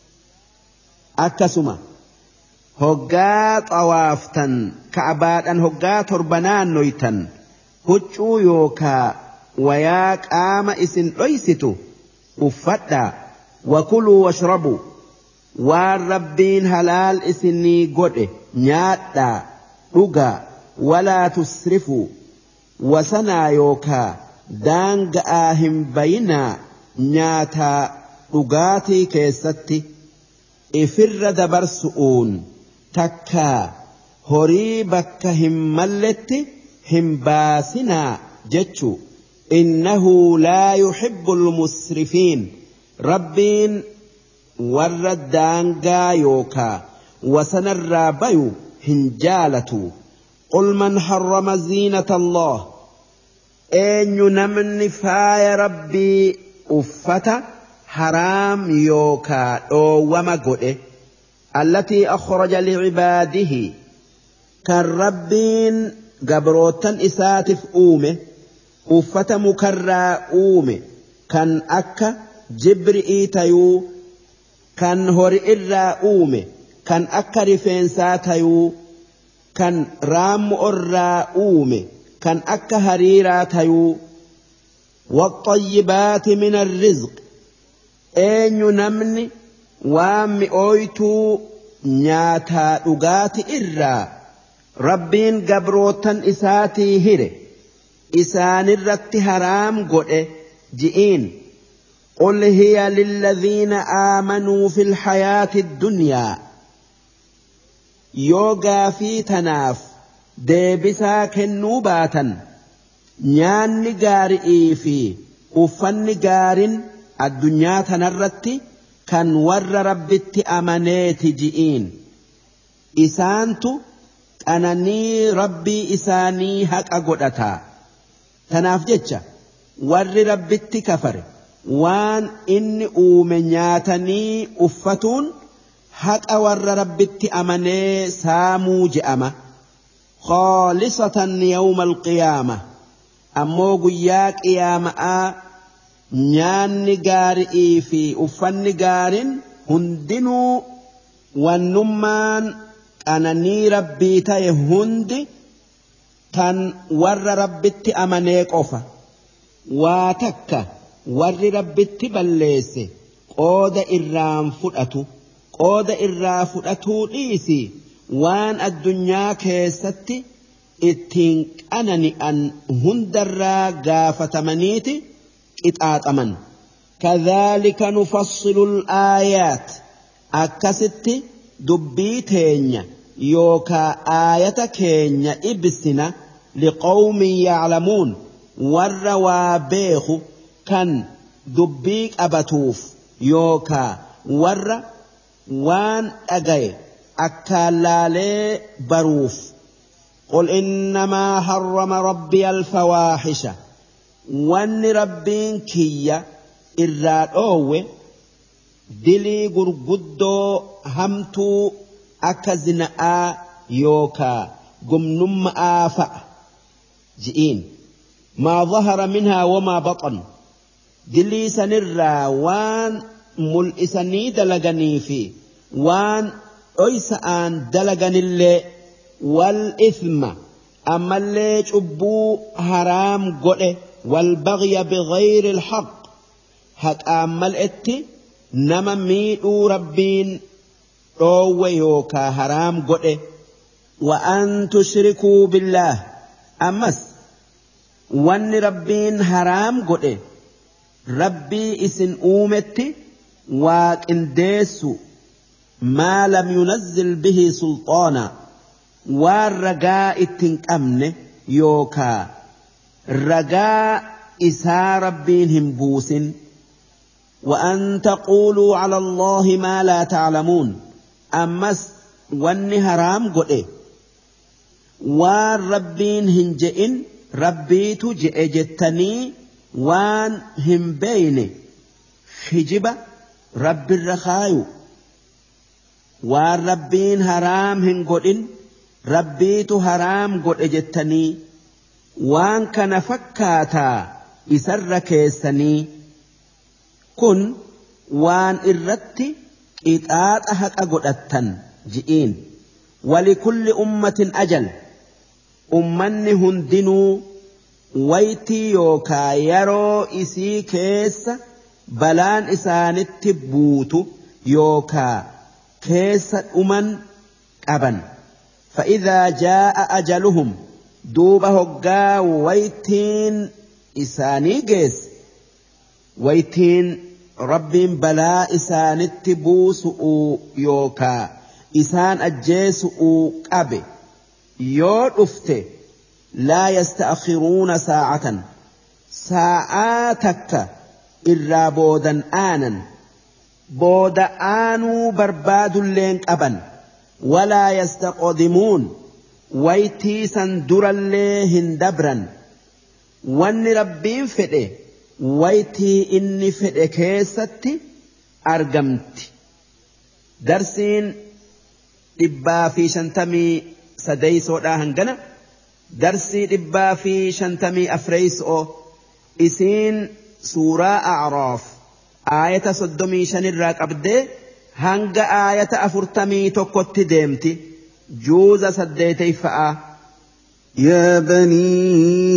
أكسما هقات أوافتا كعبات أن هقات تربنان نويتا هجو يوكا وياك آم إسن أيستو أفتا وكلوا واشربوا والربين هلال إسني قد نياتا رقا ولا تسرفوا وسنا يوكا دانق آهم بينا نياتا رقاتي كيستي إفر دبر سؤون تكا هري بك هم ملت هم باسنا جتشو إنه لا يحب المسرفين ربين ورد دانقا يوكا وسنى الرابيو هنجالة قل من حرم زينة الله أين نمن فاي ربي أفتا حرام يوكا أو ومقئ التي أخرج لعباده كالربين قبروتن إساتف أومه أفتا مكرا أومه كان أكا جبرئي تيو كان هوري إرا أومه كان أكا رفنسا تيو كان رام أرا أومه كان أكا هريرا تيو والطيبات من الرزق أين نمني وام أويتو نياتا أغات إرا ربين قبروتن إساتي هيري إسان الرت حرام قد جئين قل هي للذين آمنوا في الحياة الدنيا يوغا في تناف ديبسا كنوباتا نيان نقارئي في أفن نقار الدنيا تنرت كان ور ربت أمنيت جئين إسانتو أنني ربي إساني حق أقودتا تناف جتشا ور ربت كفر وان إني أومنياتني أفتون حق ور ربت أمني سامو جأمة خالصة يوم القيامة أمو قياك إيامة نيان قارئي في أفن قار هندنو والنمان أنني ربي تاي هندي كان ور ربت أمنيك أفا واتك ور ربت بليس قود إرام فرأتو قود إرام فرأتو ليسي وان الدنيا كيستي اتين أنني أن هندر غافة منيتي اتآتمن كذلك نفصل الآيات أكست دبيتين يوكا آية كين إبسنا لقوم يعلمون والروابيخ كان دبيك أبتوف يوكا ور وان أجاي أكالالي بروف قل إنما حرم ربي الفواحش وان ربين كيا إراد أوه دلي غرغدو همتو أكزنا يوكا قمنم آفأ جئين ما ظهر منها وما بطن دلي سنرى وان ملئسني دلغني في وان أيسان دلغني اللي والإثم أما اللي جبو حرام قوله والبغي بغير الحق هك أمال إتي نما ميدو ربين أو يوكا حرام قوله وأن تشركوا بالله أمس وأن ربين حرام قوله ربي إسن أومتي وإنديسو ما لم ينزل به سلطانا والرجاء التنكمن يوكا رجاء إسا ربينهم بوس وأن تقولوا على الله ما لا تعلمون أمس واني هرام قد والربين هنجئن ربيت جئ جتني وان هم بين خجبة رب الرخايو والربين هرام هنقدن ربيت هرام قد اجتني وان كان فكاتا يسر كيسني كن وان إردت إتآت أحق أقدتن جئين ولكل أمة أجل أمن هندنوا ويتي يوكا يرو إسي كيس بلان إسانت بوتو يوكا كيس أمن أبن فإذا جاء أجلهم دوبه هقا ويتين إساني جيس ويتين رب بلا إسان التبوس يوكا إسان أجيس أبي يود أفته لا يستأخرون ساعة ساعاتك إلا بودا آنا بودا آنو برباد اللين أبن ولا يستقدمون ويتي سندر الليهن دبرا وان ربين فده ويتي إني فده كيستي أرقمت درسين إبا في شنتمي سديس وداهنجنا درسي إبا في شنتمي أفريس أو إسين سورة أعراف آية صدمي شنراك أبدي hanga aayata afurtamii tokkotti deemti juuza saddeetay fa'a يا بني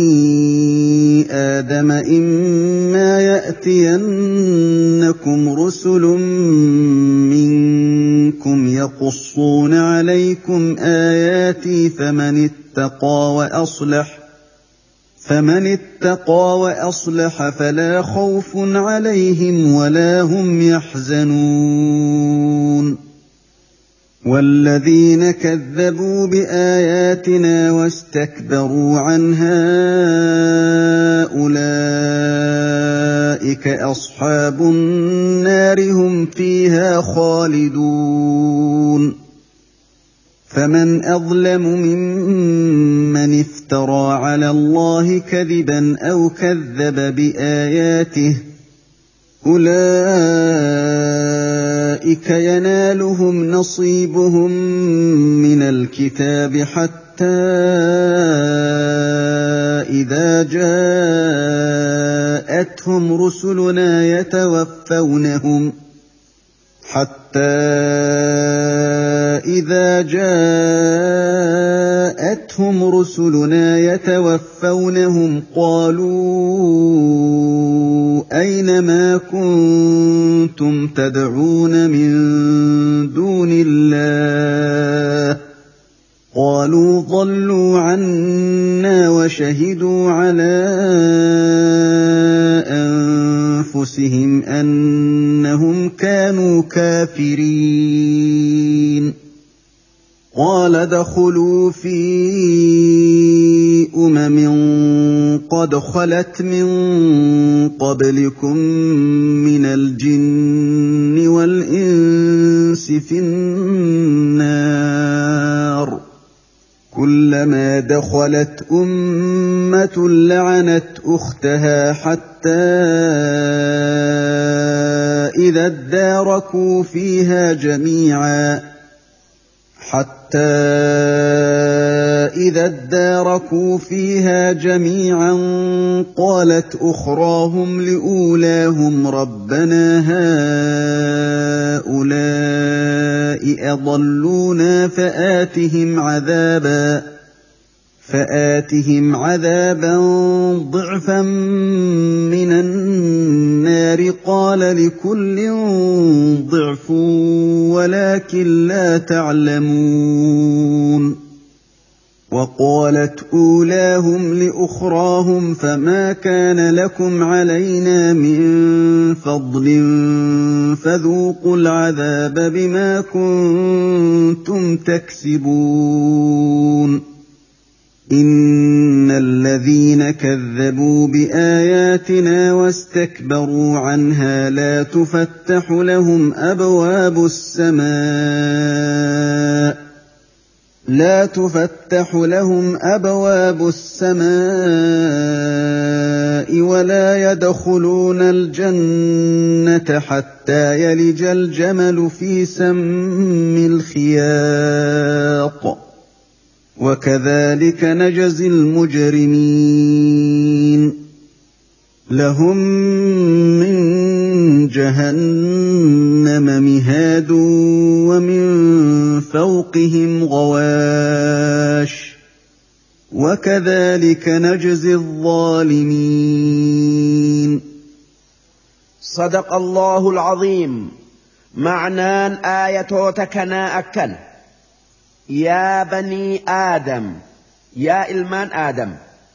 آدم إما يأتينكم رسل منكم يقصون عليكم آياتي فمن اتقى وأصلح فمن اتقى وأصلح فلا خوف عليهم ولا هم يحزنون والذين كذبوا بآياتنا واستكبروا عنها أولئك أصحاب النار هم فيها خالدون فمن أظلم ممن افترى على الله كذبا أو كذب بآياته أولئك ينالهم نصيبهم من الكتاب حتى إذا جاءتهم رسلنا يتوفونهم حتى إذا جاءتهم رسلنا يتوفونهم قالوا أين ما كنتم تدعون من دون الله قالوا ضلوا عنا وشهدوا على أنفسهم أنهم كانوا كافرين قال ادخلوا في أمم قد خلت من قبلكم من الجن والإنس في النار كلما دخلت أمة لعنت أختها حتى إذا اداركوا فيها جميعا حتى إذا اداركوا فيها جميعا قالت أخراهم لأولاهم ربنا هؤلاء أضلونا فآتهم عذابا فآتهم عذابا ضعفا من النار قال لكل ضعف ولكن لا تعلمون وقالت أولاهم لأخراهم فما كان لكم علينا من فضل فذوقوا العذاب بما كنتم تكسبون إن الذين كذبوا بآياتنا واستكبروا عنها لا تفتح لهم أبواب السماء لا تفتح لهم أبواب السماء ولا يدخلون الجنة حتى يلج الجمل في سم الخياط وكذلك نجزي المجرمين لهم من جهنم مهاد ومن فوقهم غواش وكذلك نجزي الظالمين صدق الله العظيم. معنى آية تكنا أكن يا بني آدم يا إلمان آدم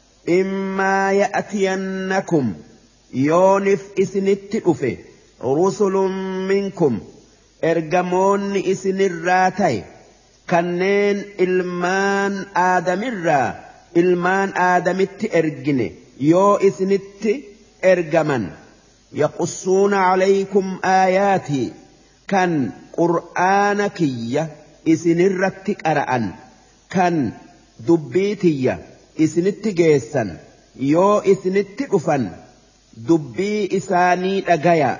إما يأتينكم يونف إسنت أفه رسل منكم إرجمون إسن الراتي كنين إلمان آدم الرا إلمان آدم التأرجن يو إسنت إرجمن يقصون عليكم آياتي كان قرآنكية isinirratti qara'an kan dubbiitiyya isinitti geessan yoo isinitti dhufan dubbii isaanii dhagaya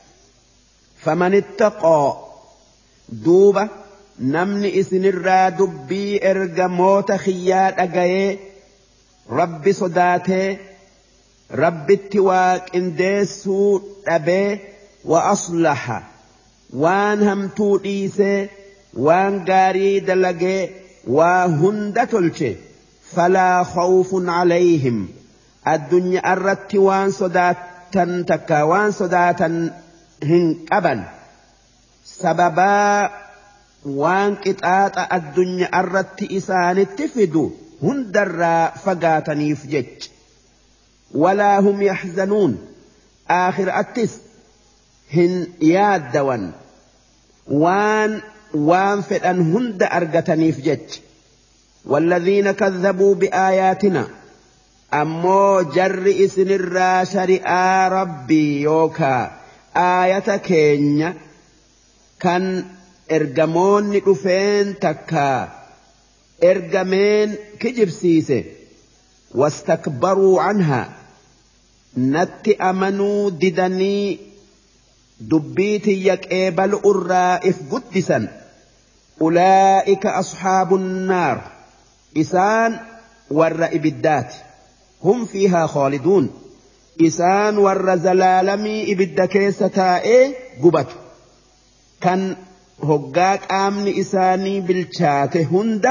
famanittaqoo duuba namni isinirraa dubbii ergamoota kiyyaa dhagayee rabbi sodaatee rabbitti waa qindeessuu dhabee wa aslaha waan hamtuu dhiisee waan gaarii dalagee waa hunda tolche falaa khawfun calayhim addunyaa irratti waan sodaatan takka waan sodaatan hin qaban sababaa waan qixaaxa addunyaa irratti isaanitti fidu hundarraa fagaataniif jech walaa hum yaxzanuun aakhiraattis hin yaaddawan waan وان فدان هند أرغتنيف جج والذين كذبوا بآياتنا أمو جر إسن الراشر آ ربي يوكا آية كينيا كان إرغمون نقفين تكا إرغمين كجب سيسي واستكبروا عنها نت أمنوا ددني دبيتي يكيبل الرائف قدسا أولئك أصحاب النار إسان والرئب الدات هم فيها خالدون إسان والرزلالمي إبدكيستائي قبت كان هقاك آمن إساني بالشات هند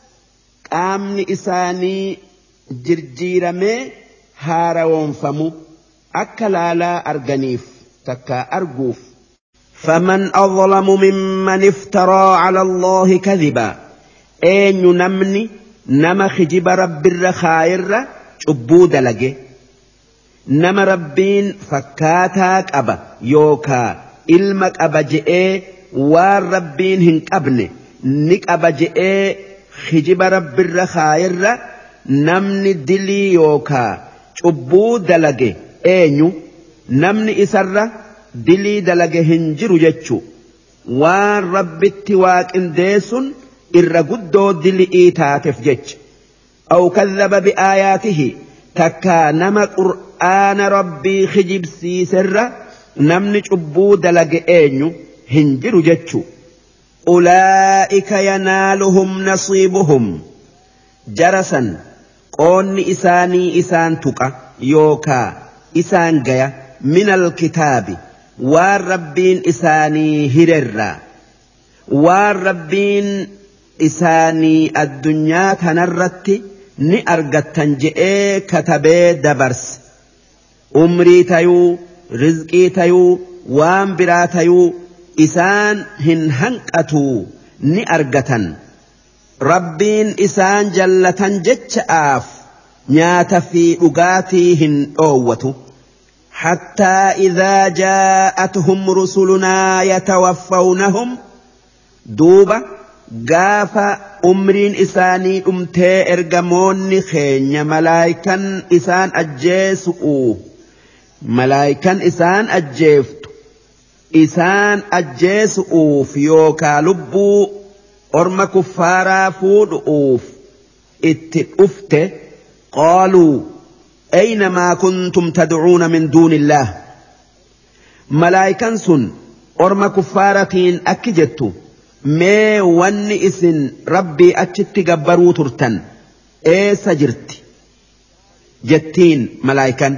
آمن إساني جرجيرمي هارون فمو أكلالا أرغنيف تكا أرجوف فمن أظلم ممن افترى على الله كذبا أين نمني نما خجب رب الرخائر عبود لجي نما ربين فكاتاك أبا يوكا إلمك أبا جئي والربين هنك أبني نك أبا جئي خجب رب الرخائر نمني دلي يوكا cubbuu dalage eenyu namni isarra dilii dalage hin jiru jechu waan rabbitti waaqindeessun irra guddoo dilii taateef jecha aw kadhaba biaayaatihi takkaa nama qur'aana rabbii kijibsiiserra namni cubbuu dalage eenyu hin jiru jechu ulaa'ika yanaaluhum nasiibuhum jarasan qoonni isaanii isaan tuqa yookaa isaan gaya minal kitaabi waan rabbiin isaanii hirerraa waan rabbiin isaanii addunyaa tanarratti ni argattan je'ee katabee dabarse umrii tayuu rizqii tayuu waan biraa tayuu isaan hin hanqatuu ni argatan rabbiin isaan jallatan jecha'aaf nyaata fi dhugaatii hin dhoowwatu حتى إذا جاءتهم رسلنا يتوفونهم دوبا قاف أمرين إساني أمتي إرقمون خين ملايكا إسان أجيسؤوا ملايكا إسان أجيفت إسان أجيسؤوا فيوكا لبو أرم كفارا فودؤوف اتئفت قالوا أينما كنتم تدعون من دون الله ملايكا سن أرم كفارتين أكجتو مي ون إسن ربي أجت قبرو ترتن إيه سجرت جتين ملايكا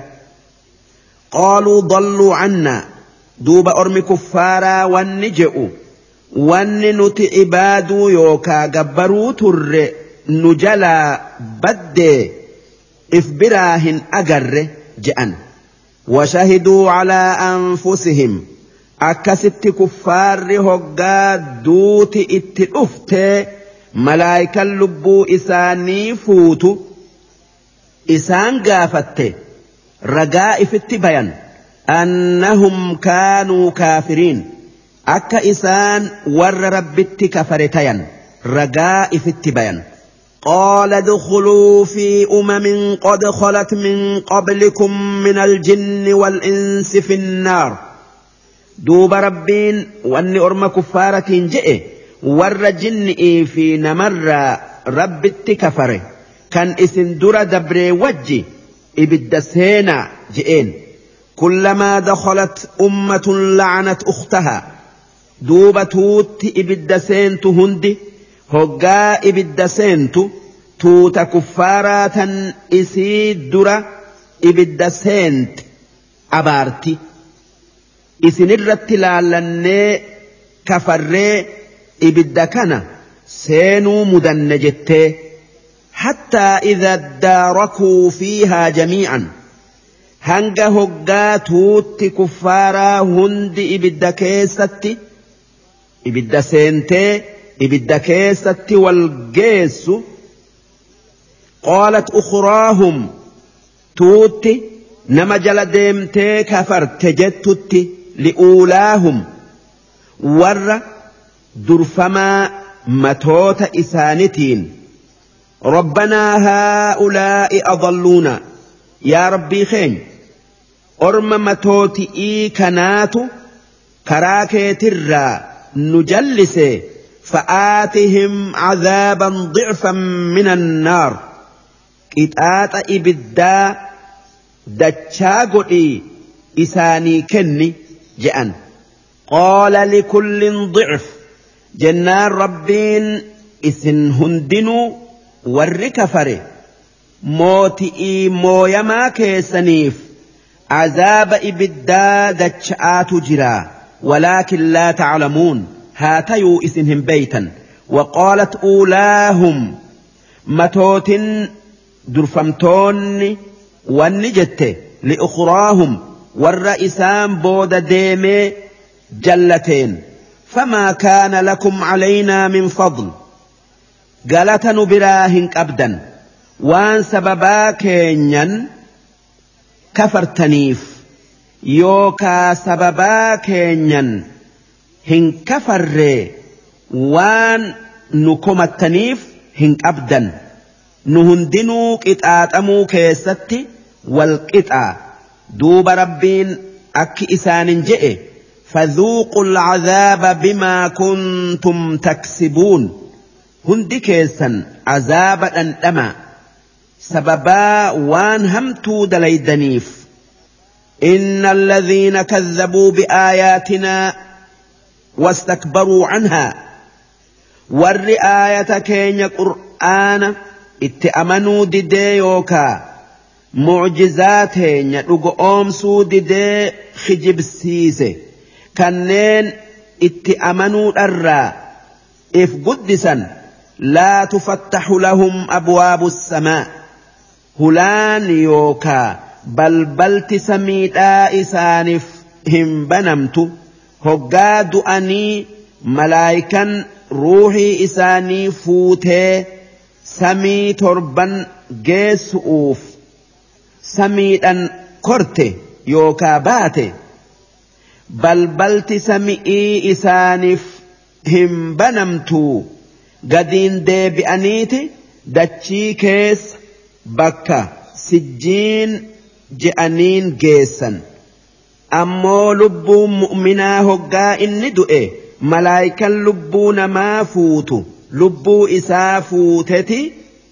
قالوا ضلوا عنا دوب أرم كفارا ونجئوا ون نت عبادو يوكا قبرو تر نجلا بدي إفبراهن أجر جأن وشهدوا على أنفسهم أكست كفار هقا دوت اتلفت ملايكا اللبو إساني فوت إسان قافت رقاء في التبين أنهم كانوا كافرين أكا إسان ور ربت كفرتين رقاء في التبين قال ادخلوا في أمم قد خلت من قبلكم من الجن والإنس في النار دوب ربين وأن أرم كفارة جئ ور جن في نمر رب التكفر كان إسن در دبر وجي إبد سينا جئين كلما دخلت أمة لعنت أختها دوب توت إبد سين تهندي هقا إبد سينتو توتا كفاراتا إسيد درا إبد سينت أبارتي إسن الرتلالن كفر إبد كان سينو مدنجت حتى إذا اداركوا فيها جميعا هنگا هقا توت كفارا هند إبد كيستي إبد سينتي إبدا كيست والجيس قالت أخراهم توتي نما جل ديمتي كفرت جتت لأولاهم ور درفما متوت إسانتين ربنا هؤلاء أضلونا يا ربي خين أرم متوت إي كناتو كراكي ترى نجلسي فآتهم عذابا ضعفا من النار إتآت إبدا دتشاقئي إساني كني جأن قال لكل ضعف جنان ربين إسن هندنو والركفر موتئي مويما كيسنيف عذاب إبدا دتشآت جرا ولكن لا تعلمون هاتيو إسنهم بيتا وقالت أولاهم متوت درفمتون والنجت لأخراهم والرئيسان بود ديمي جلتين فما كان لكم علينا من فضل قالت نبراهن أبدا وان سببا كينيا كفرتنيف يوكا سببا كينيا هن كفر وان نكمتنيف هن أبدا نهندنو كتاتمو كيستي والقطع دوب ربين أك إسان جئ فذوقوا العذاب بما كنتم تكسبون هندي كيسا عذاب أنتما سببا وان همتو دليدنيف إن الذين كذبوا بآياتنا واستكبروا عنها والرآية كين قرآن اتأمنوا ديديوكا معجزاتين يدقوا أمسوا ديدي خجب السيسي كنين اتأمنوا الرا إف قدسا لا تفتح لهم أبواب السماء هلان يوكا بل بلت سميدا إسانف هم بنمت هقاد أني ملايكا روحي إساني فوته سمي تربا جيس أوف سميدا كرته يوكا باته بل بلت سمئي إسانف هم بنمتو قدين دي بأنيتي دتشي كيس بكا سجين جأنين جيسا أمو لبو مؤمنا هقا إني دؤي ملايكا لبون ما فوتو لبو إسا فوتتي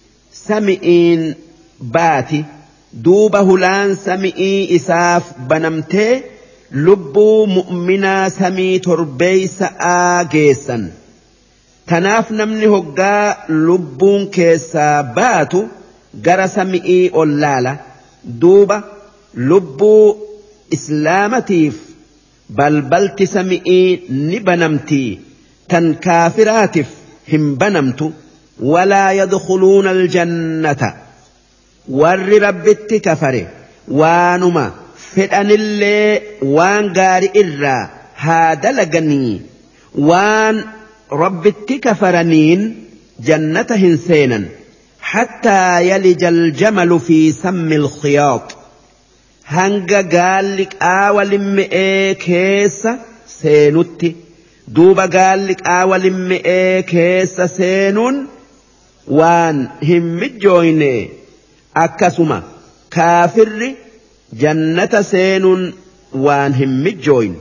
سمئين باتي دوبه لان سمئي إساف بنمتي لبو مؤمنا سمي تربيس آجيسا تناف نمني هقا لبون كيسا باتو جرى سمئي أولالا دوبة لبو إسلامتيف بل بلت سمئي نبنمتي تنكافراتف هم بنمت ولا يدخلون الجنة ور ربت كفره وانما فدان اللي وان غاري إرا هذا لغني وان ربت كفرنين جنة هنسينا حتى يلج الجمل في سم الخياط هنگا قالك آول مئي كيس سينوتي دوبا قالك آول مئي كيس سينون وان هم جويني أكسما كافر جنة سينون وان هم جوين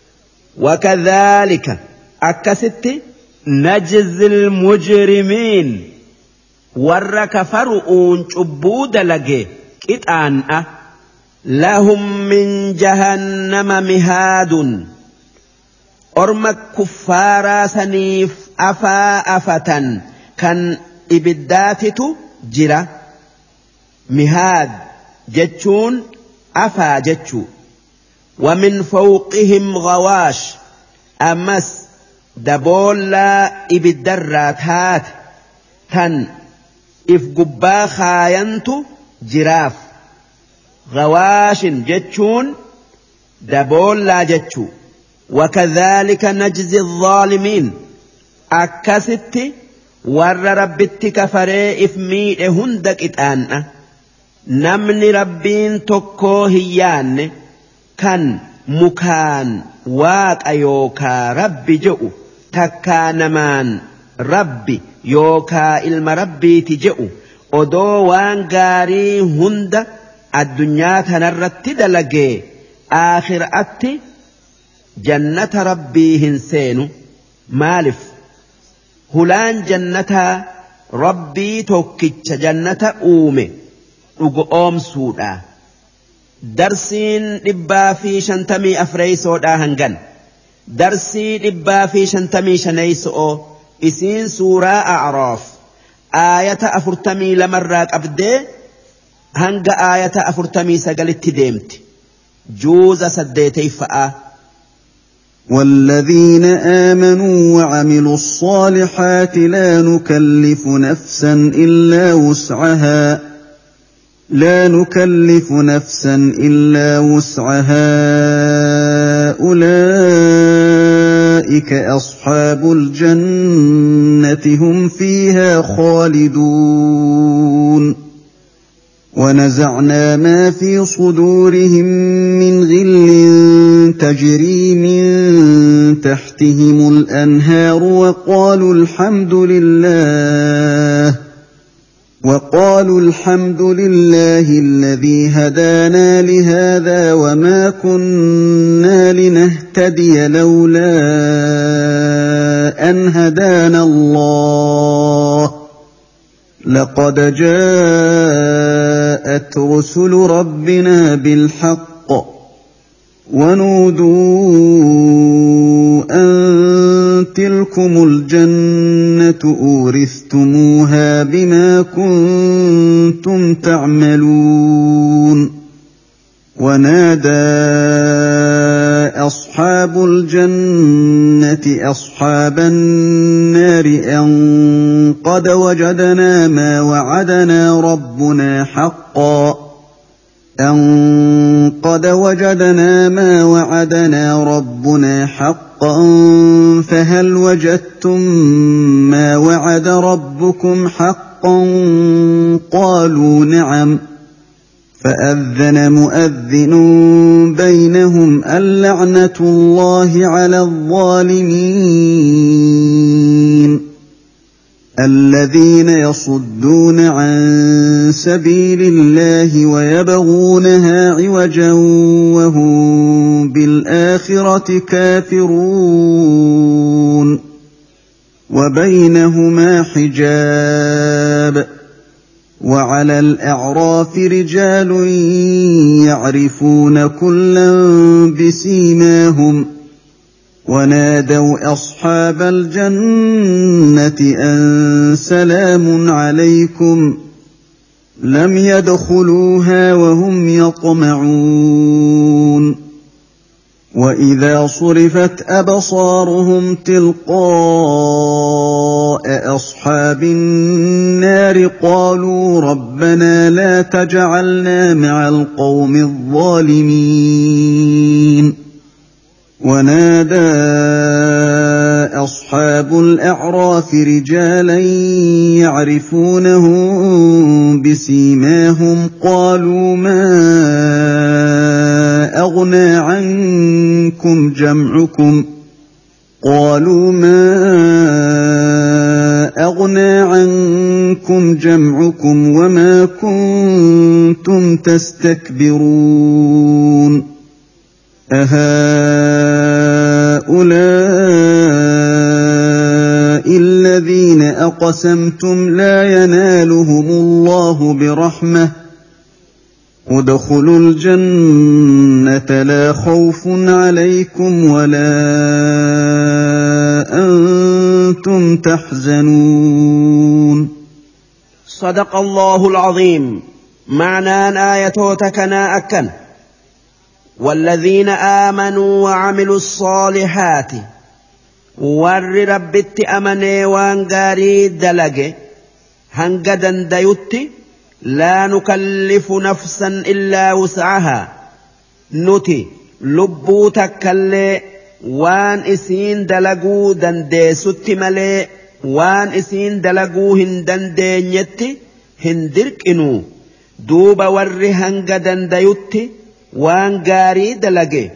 وكذلك أكست نجزي المجرمين ور كفرؤون عبود لجي كتان لهم من جهنم مهاد أرمك كفارا سنيف أفا أفتا كان إبداتت جرا مهاد جتشون أفا جتشو ومن فوقهم غواش أمس دبولا إبدرات هات تن إف قبا خاينتو جراف غواش جتشون دبولا جتشو وكذلك نجزي الظالمين أكست ور ربت كفري إفمي هندك إتآن نمني ربين تكو هيان كان مكان واق أيوكا ربي جئو تكا نمان ربي يوكا إلما ربي تجئو odoo waan gaarii hunda addunyaa tanarratti dalagee aakhiraatti jannata rabbii hin seenu maalif hulaan jannataa rabbii tokkicha jannata uume dhugo oomsuudha darsiin dhibbaa fi shantamii afreeysoodhaa hangan darsii dhibbaa fi shantamii shaneeysoo isiin suuraa a'raaf آية أفرتمي لمرات أبدي هنگ آية أفرتمي سقلت ديمت جوز سديتي فآ والذين آمنوا وعملوا الصالحات لا نكلف نفسا إلا وسعها لا نكلف نفسا إلا وسعها أولئك أصحاب الجنة هم فيها خالدون ونزعنا ما في صدورهم من غل تجري من تحتهم الأنهار وقالوا الحمد لله وقالوا الحمد لله الذي هدانا لهذا وما كنا لنهتدي لولا أن هدانا الله لقد جاءت رسل ربنا بالحق ونودوا أن تلكم الجنة أورثتموها بما كنتم تعملون ونادى أصحاب الجنة أصحاب النار أن قد وجدنا ما وعدنا ربنا حقا أن قد وجدنا ما وعدنا ربنا حقا فهل وجدتم ما وعد ربكم حقا قالوا نعم فأذن مؤذن بينهم اللعنة الله على الظالمين الذين يصدون عن سبيل الله ويبغونها عوجا وهم بالآخرة كافرون وبينهما حجاب وعلى الأعراف رجال يعرفون كلا بسيماهم ونادوا أصحاب الجنة أن سلام عليكم لم يدخلوها وهم يطمعون وإذا صرفت أبصارهم تلقاء أصحاب النار قالوا ربنا لا تجعلنا مع القوم الظالمين ونادى أصحاب الأعراف رجالا يعرفونهم بسيماهم قالوا ما أغنى عنكم جمعكم قالوا ما أغنى عنكم جمعكم وما كنتم تستكبرون أهؤلاء الذين أقسمتم لا ينالهم الله برحمة ادخلوا الجنة لا خوف عليكم ولا أنتم تحزنون. صدق الله العظيم. معنى آياتنا أكن والذين آمنوا وعملوا الصالحات ور ربت أمني وانغاري دلق هنقدن ديوت لا نكلف نفسا إلا وسعها نتي لبو تكالي وان اسين دلقو دندي ست ملي وان اسين دلقو هندن دينيتي هندرك إنو دوب ور هنقدن ديوت وان غاري دلقي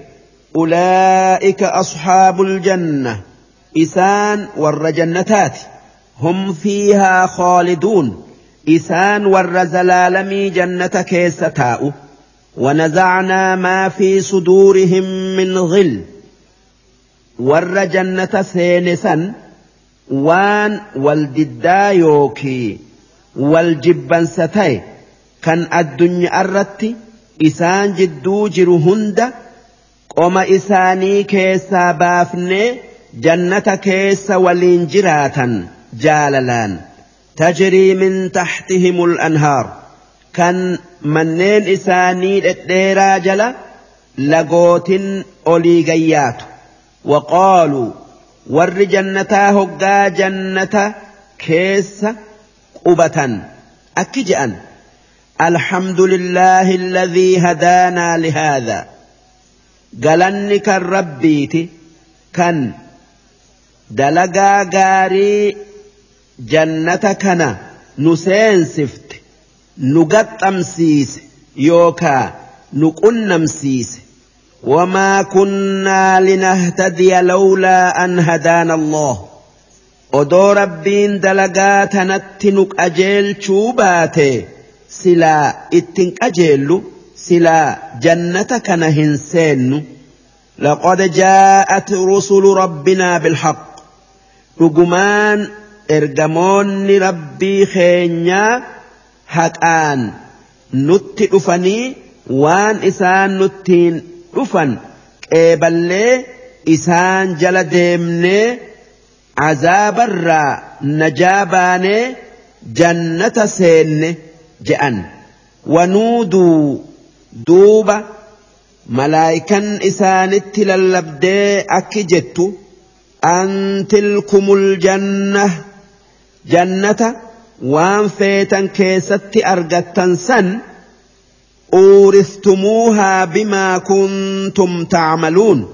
أولئك أصحاب الجنة إسان ور جنتات هم فيها خالدون إسان ور زلالمي جنة كيستاء ونزعنا ما في صدورهم من غل ور جنة سينسا وان والددا يوكي والجبن ستاي كان الدنيا الرتي إسان جدو جرو هند قوم إساني كيسا بافني جنة كيسا والإنجراتا جاللان تجري من تحتهم الأنهار كان منين إساني الديرا جلا لقوت أوليغيات وقالوا ور جنتا هقا جنة كيسا قبة أكجأن الحمد لله الذي هدانا لهذا قالنك الربيت كان دلقا غاري جنتكنا نسين سفت نقط أمسيس يوكا نقن أمسيس وما كنا لنهتدي لولا أن هدانا الله odoo rabbiin dalagaa tanatti nu qajeelchuu baate silaa ittin qajeellu silaa jannata kana hin seennu. لقد جاءت رسل ربنا بالحق رجمان إرجمون ربي خينيا حقان نت أفني وان إسان نتين أفن كبلة إسان جلدمني عذاب الرا نجاباني جنة سين جأن ونودوا دوبا ملائكة إسانت للبدي أكجت أن تلكم الجنة جنة وان فيتا كيست أرغتا سن أورثتموها بما كنتم تعملون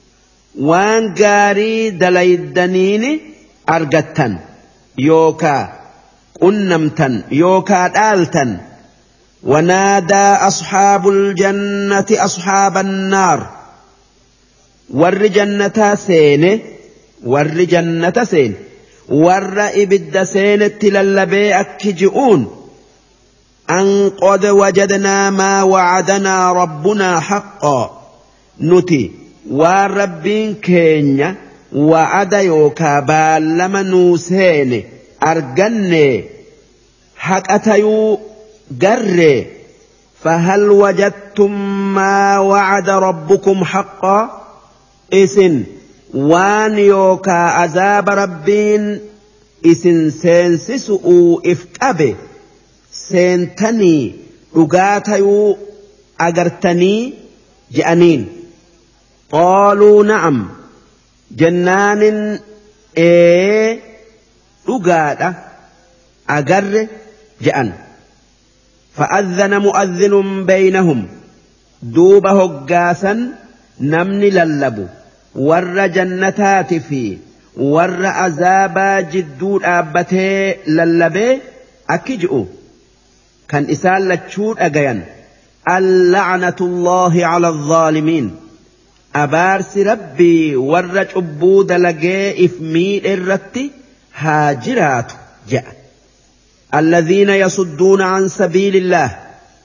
وان قاري دليدنين أرغتا يوكا قنمتا يوكا دالتا ونادى أصحاب الجنة أصحاب النار ور جنة سين ور جنة سين ور إبد سين تللبي أكجئون أن قد وجدنا ما وعدنا ربنا حقا نتي وربين كينيا وعد يوكا بالما نوسين أرجني حقتيو قر فهل وجدتم ما وعد ربكم حقا إسن وان يوكا عذاب ربين إسن سينسسؤوا إفكابي سينتني رقاتيو أقرتني جأنين قالوا نعم جنان إيه رقاتا أقر جأن فأذن مؤذن بينهم دوب هقاسا نمني للبو ور جنتات في ور عذابا جدود آبته للبي أكجئوا كان إسال لتشود أغيان اللعنة الله على الظالمين أبارس ربي ور جبود لقي إفمي الرتي هاجرات جاء الذين يصدون عن سبيل الله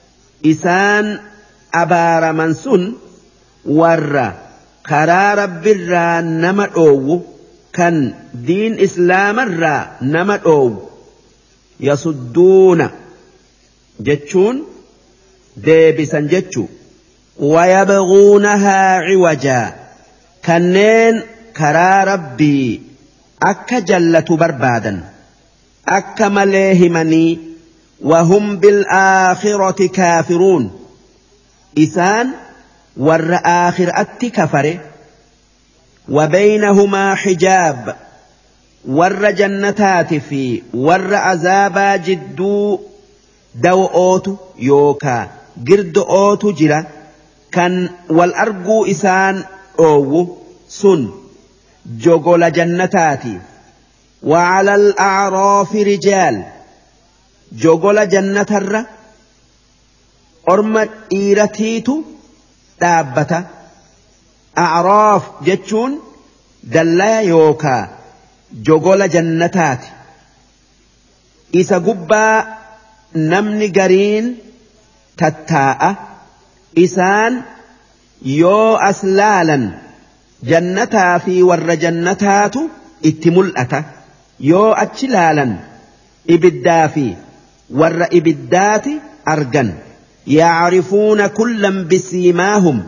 إسان أبار منسون ور كرا رب الرا نمأو كان دين إسلام الرا نمأو يصدون جتشون ديبسا جتشو ويبغونها عوجا كنين كرا ربي أكا جلة بربادا أكا مليهمني وهم بالآخرة كافرون إسان ور آخر أتي كفر وبينهما حجاب ور جنتات في ور عذابا جدو دو أوتو يوكا قرد أوتو جرا كان والأرجو إسان أو سن جوغول جنتاتي وعلى الأعراف رجال جوغول جنة الر أرمى إيرتيتو دابة أعراف جتشون دلا يوكا جوغول جنتات إسا قبا نمني قرين تتاء إسان يو أسلالا جنتا في ور جنتات اتملأتا يو أتشلالا إبدا في ور إبدات أرجن يعرفون كلا بسيماهم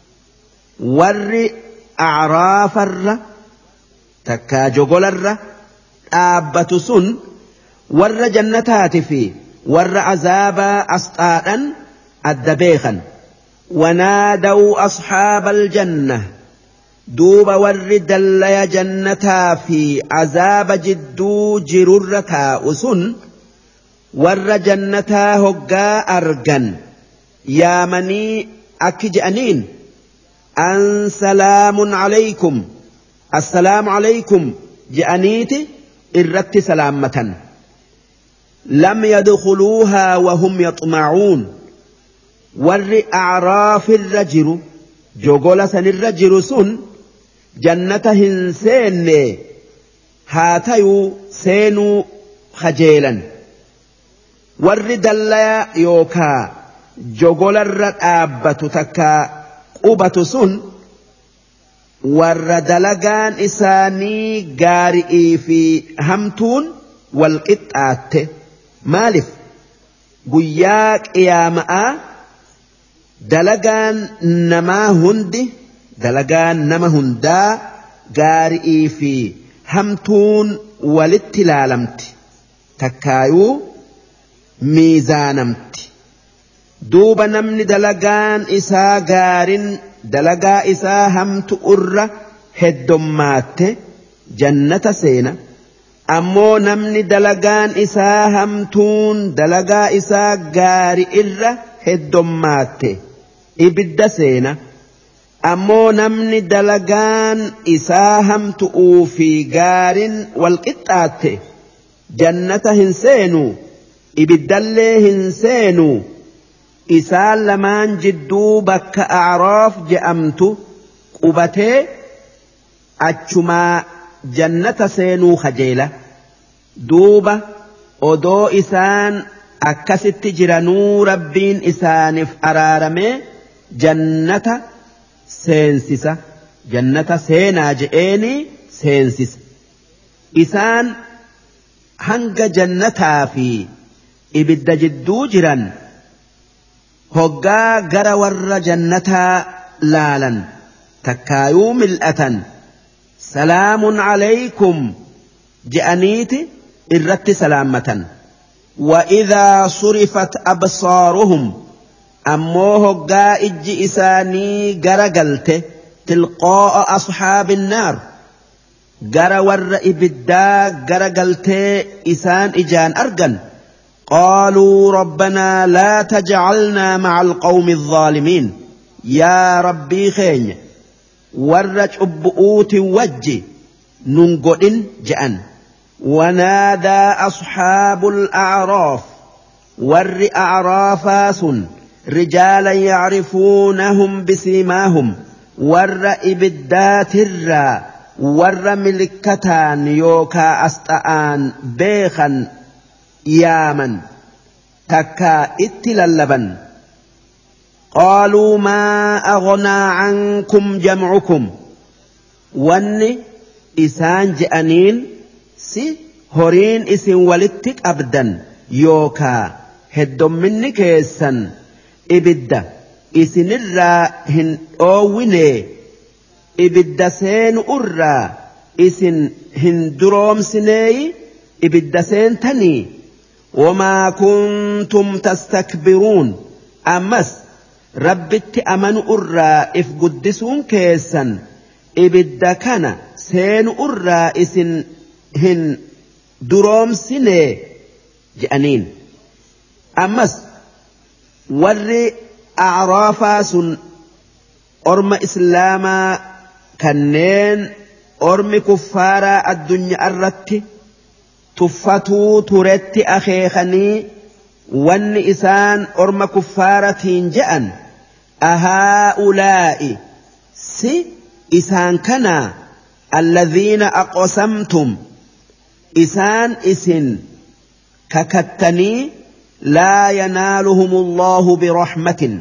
ور أعراف الر تكا جغل الر آبة سن ور جنتات في ور عذاب أسطاء الدبيخا ونادوا أصحاب الجنة دوب ور دلي جنتا في عذاب جدو جررتا أسن ور جنتا هقا أرجن يا مني أكجأنين أن سلام عليكم السلام عليكم جأنيتي إردت سلامة لم يدخلوها وهم يطمعون ور أعراف الرجل جوغولا سن الرجل سن جنة هنسين هاتيو سينو خجيلا ورد الله يوكا جوغول الرقابة تكا قوبة سن ورد لغان إساني غارئي في همتون والقطعات مالف قياك إياماء دلغان نما هندي دلغان نما هندا غارئي في همتون والاتلالمت تكايو ميزانمت دوب نمني دلغان إسا غارن دلغا إسا همت أر هدومات جنة سينا أمو نمني دلغان إسا همتون دلغا إسا غاري إر هدومات إبد سينا أمو نمني دلغان إسا همت أوفي غار والقطعات جنة هنسينو إبد اللي هنسينو إسان لمان جدو بك أعراف جأمت قبتي أجما جنة سينو خجيلة دوبة أدو إسان أكست جرانو ربين إسانف أرارمي جنة سينسسة جنة سينا جئيني سينسس إسان هنگ جنة في إبد جدو جران هقا غرا ور جنتا لالا تكايو ملأة سلام عليكم جأنيت إرت سلامة وإذا صرفت أبصارهم أمو هقا إج إساني غرا قلت تلقاء أصحاب النار غرا ور إبدا غرا قلت إسان إجان أرقن قالوا ربنا لا تجعلنا مع القوم الظالمين يا ربي خين ورج أبؤوت وجي ننقل جأن ونادى أصحاب الأعراف ور أعرافاس رجالا يعرفونهم بسيماهم ور إبدات الرا ور ملكتان يوكا أستآن بيخا يامن تكا اتلالبا قالوا ما أغنى عنكم جمعكم واني إسان جأنين سي هورين إسن ولدتك أبدا يوكا هدوم مني كيسا إبدا إسن الرا هن أويني إبدا سين أرى إسن هن دروم سني إبدا سين تني وما كنتم تستكبرون أمس ربت أمن أرى إف قدسون كيسا إبدا كان سين أرى إسن هن دروم سني جأنين أمس ور أعرافاس أرم إسلاما كنين أرم كفارا الدنيا الرتي تفتو ترت أخيخني وان إسان أرم كفارة جأن أهؤلاء سي إسان كنا الذين أقسمتم إسان إسن ككتني لا ينالهم الله برحمة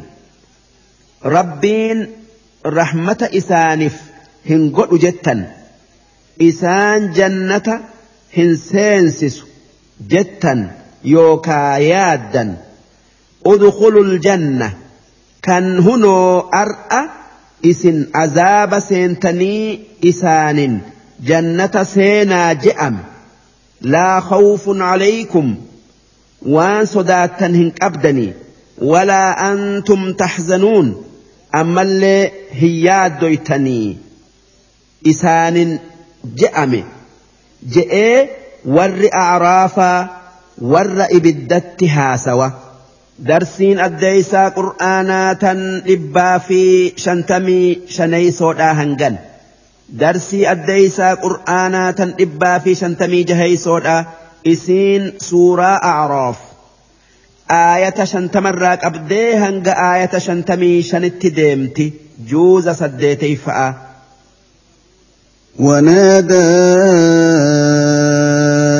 ربين رحمة إسانف هنقل جتا إسان جنة هنسينسس جتا يوكا يادا ادخلوا الجنة كان هنو أرأى إسن عذاب سينتني إسان جنة سينا جأم لا خوف عليكم وان صداتا هنك أبدني ولا أنتم تحزنون أما اللي هياد دويتني إسان جأم جئ ور أعرافا ور إبدتها سوا درسين أديسا قرآناتا إبا في شنتمي شني سودا هنغن درسي أديسا قرآناتا إبا في شنتمي جهي سودا إسين سورة أعراف آية شنتمراك أبدي هنغ آية شنتمي شنت ديمتي جوز سديتي فأ ونادى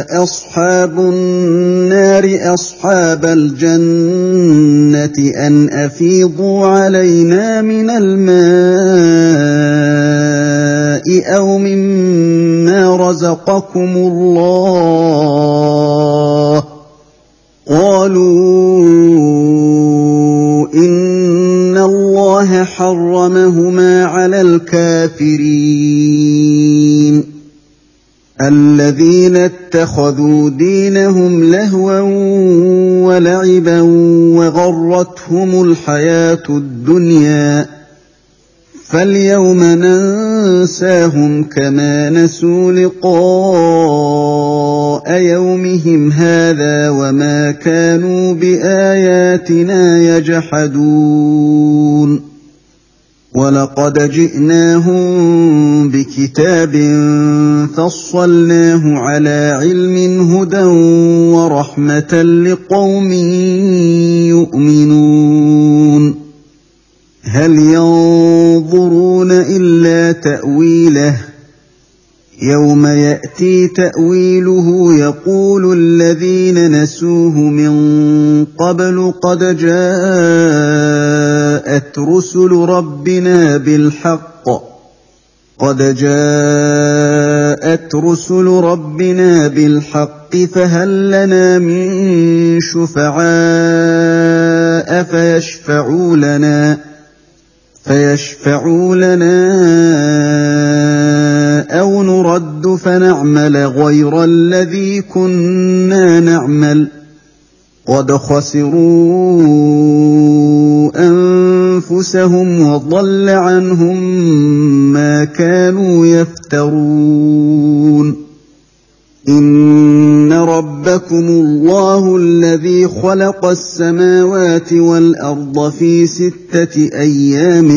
أصحاب النار أصحاب الجنة أن أفيضوا علينا من الماء أو مما رزقكم الله قالوا إن الله حرمهما على الكافرين الذين اتخذوا دينهم لهوا ولعبا وغرتهم الحياة الدنيا فاليوم ننساهم كما نسوا لقاء يومهم هذا وما كانوا بآياتنا يجحدون ولقد جئناهم بكتاب فصلناه على علم هدى ورحمة لقوم يؤمنون هل ينظرون إلا تأويله يوم يأتي تأويله يقول الذين نسوه من قبل قد جاءت رسل ربنا بالحق قد جاءت رسل ربنا بالحق فهل لنا من شفعاء فيشفعوا لنا فيشفعوا لنا أو نرد فنعمل غير الذي كنا نعمل قد خسروا أنفسهم وضل عنهم ما كانوا يفترون إن ربكم الله الذي خلق السماوات والأرض في ستة أيام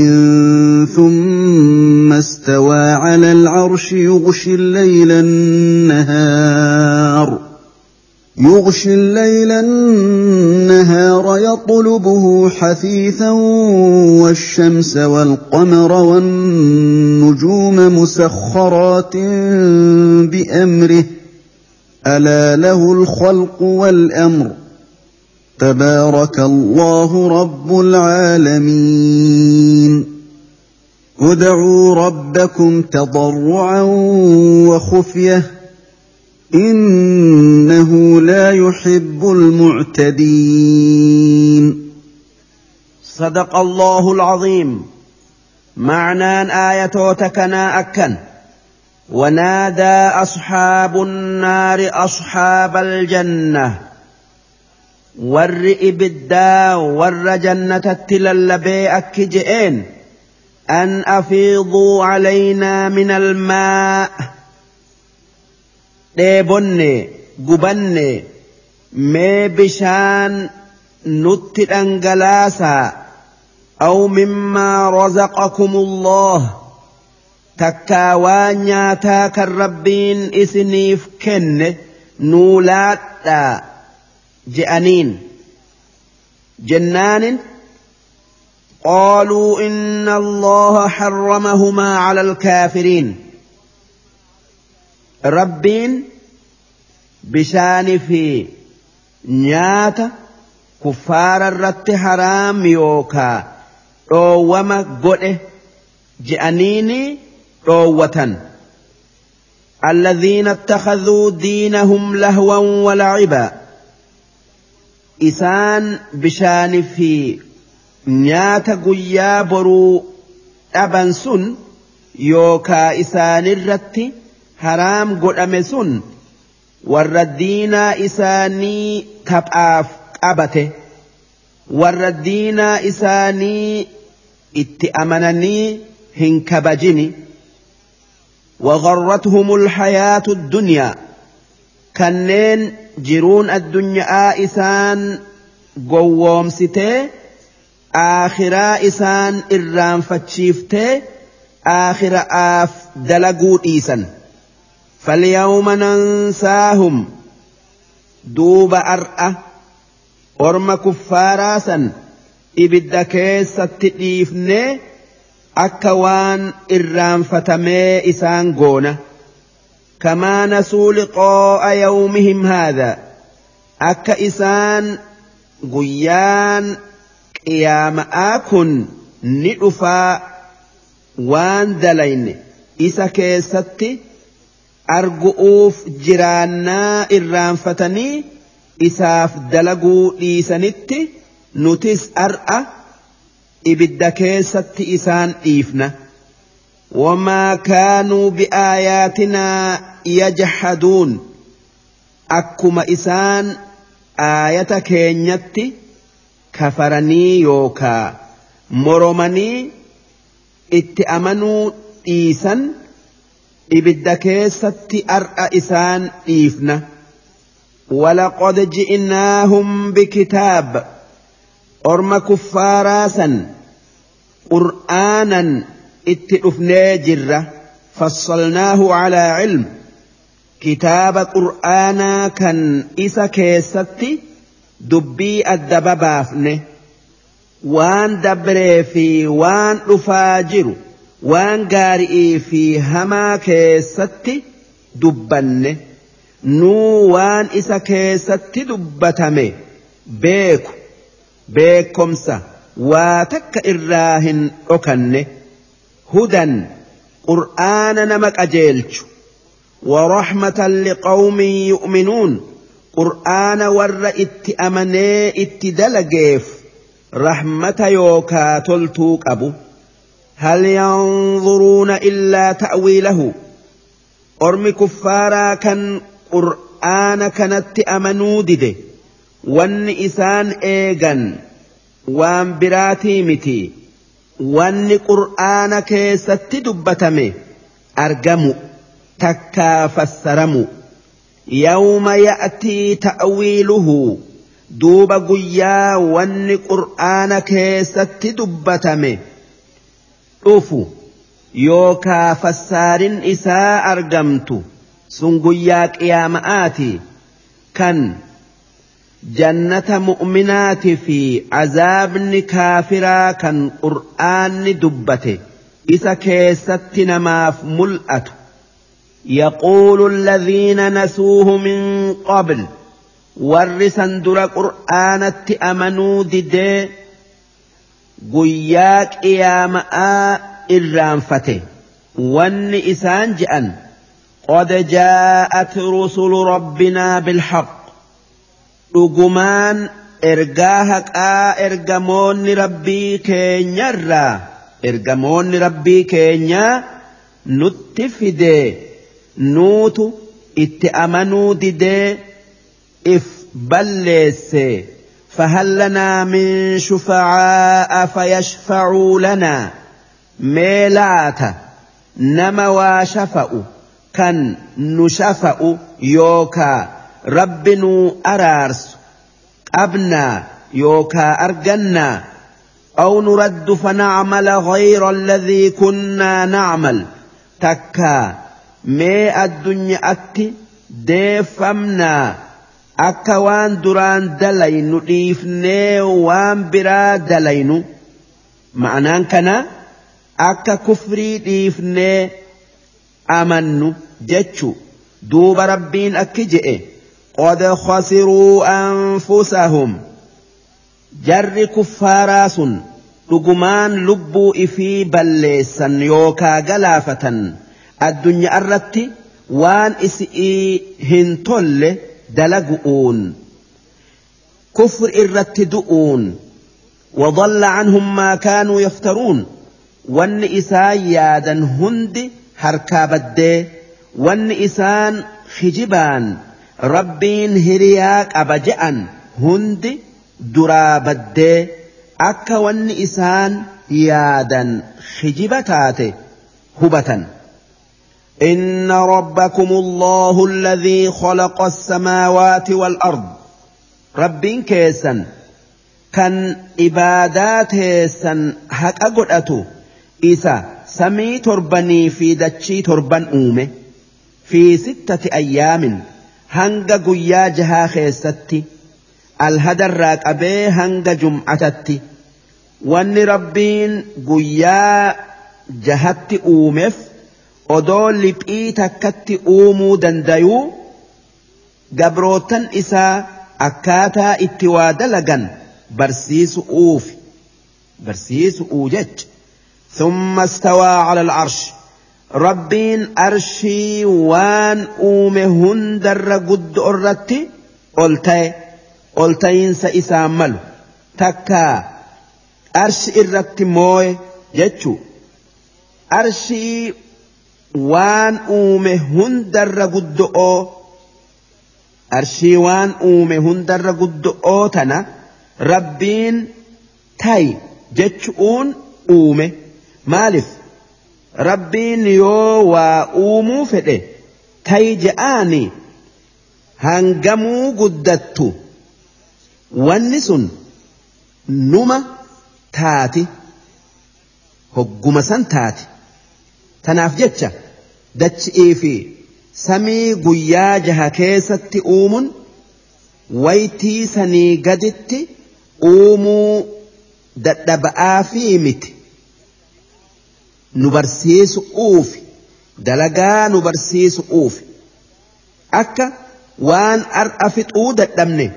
ثم استوى على العرش يغشي الليل النهار يغشي الليل النهار يطلبه حثيثا والشمس والقمر والنجوم مسخرات بأمره ألا له الخلق والأمر تبارك الله رب العالمين ادعوا ربكم تضرعا وخفية إنه لا يحب المعتدين صدق الله العظيم. معنى آية تكنا أكن ونادى أصحاب النار أصحاب الجنة والرئب الدا والرجنة التلالبي أكجئين أن أفيضوا علينا من الماء ديبني قبني مي بشان نتل أنجلاسا أو مما رزقكم الله تكاوان ياتاك الربين إسنيف كن نولاتا جأنين جنان قالوا إن الله حرمهما على الكافرين ربين بشان في نياتا كفار الرت حرام يوكا روما قده جأنيني روة الذين اتخذوا دينهم لهوا ولعبا إسان بشان في نياتا قيا برو أبنسن يوكا إسان الرت حرام قد أمسن والردين إساني تبعاف أبته والردين إساني اتأمنني هنكبجني وغرتهم الحياة الدنيا كنين جرون الدنيا إسان قوام ستي آخرا إسان إرام فتشيفتي آخر آف دلقود إيسان فاليوم ننساهم دوب أرأة أرم كفاراسا إبدا كيسة تئيفني أكوان إرام فتمي إسان قونة كما نسوا لقاء يومهم هذا أكا إسان قيان قيام آكن نئفا وان دلين إسا كيستي أرقؤوف جرانا إرانفتني إساف دلقوا إيسانتي نتس أرأى إبدا كيستي إسان إيفنا وما كانوا بآياتنا يجحدون أكما إسان آية كينيتي كفرني يوكا مرمني اتأمنوا إيسان إبدا كيستي أرأى إسان إيفنا ولقد جئناهم بكتاب أرم كفاراسا قرآنا اتئفنا جرة فصلناه على علم كتاب قرآنا كان إسا كيستي دبي الدبابافنه وان دبري في وان رفاجر وان قارئي في هما كيستي دبنه نو وان إسا كيستي دبتمي بيكو بيكمسا واتك إراهن أكنه هدى قرآن نمك أجيلش ورحمة لقوم يؤمنون قرآن ور اتأمني اتدلقيف رحمة يوكا تلتوك أبو هل ينظرون إلا تأويله أرم كفارا كان قرآن كانت أمنوا دده وان إسان إيغان وان براتي متي وان قرآن كيست دبتمي أرقموا تكا فسرموا يوم يأتي تأويله دوب قيا وان قرآن كيست دبتمي أوفو يوكا فسار إساء أرقمت سنقياك يا مآتي كان جنة مؤمنات في عذاب كافرا كان قرآن دبته إسا كيستنا ما في ملأت يقول الذين نسوه من قبل ورسا در قرآنت أمنوا ددي قياك يا مآ الرانفته وان إسان جأن قد جاءت رسل ربنا بالحق dhugumaan ergaa haqaa ergamoonni rabbii keenyarraa ergamoonni rabbii keenyaa nutti fidee nuutu itti amanuu didee if balleesse فهل لنا من شفعاء فيشفعوا لنا ميلات نما وشفأوا كان نشفأ يوكا ربنا أرارس أبنا يوكا أرجنا أو نرد فنعمل غير الذي كنا نعمل تكا مي الدنيا أتي ديفمنا أكا وان دران دلين نضيفني وان برا دلين معنى كنا أكا كفري ديفني أمنو جتشو دوب ربين أكجئ قد خسروا أنفسهم جر كفاراس لقمان لبوا إفي بلسا يوكا غلافة الدنيا الرتي وان إسئي هنتل دلقؤون كفر الرت دؤون وضل عنهم ما كانوا يفترون وان إسايادا هند هركاب الدي وان إسان خجبان ربين هرياك أبجأن هند درابد أكا وان إسان يادا خجبتات هبة إن ربكم الله الذي خلق السماوات والأرض ربين كيسا كان إبادات سن حق أقرأتو إسا سمي تربني في دتشي تربن أومه في ستة أيام هنگا قيا جها خيستي الهدر راك أبي هنگا جمعتتي وان ربين قيا جهت أومف odoo liphii takkatti uumuu dandayuu gabrootan isaa akkaataa itti waa dalagan barsiisu'uuf barsiisu'uu jecha ثم استوى على العرش ربين أرشي وان أومه هندر قد أرتي قلتي قلتين سإسامل تكا أرش إرتي موي جتشو أرشي وان أومه هندر قد أو أرشي وان أومه هندر قد أو تنا ربين تاي جتشون أومه مالف ربين يو وأومو فده تيجآني هنجمو قدتو والنسن نما تاتي هقوم تاتي تنافجتش دتش إيفي سمي قيا جهكيست أومن ويتي سني قدت أومو دتبآ في مت نبرسيس أوفي دلقا نبرسيس أوفي أكا وان أرأفت أودت دمني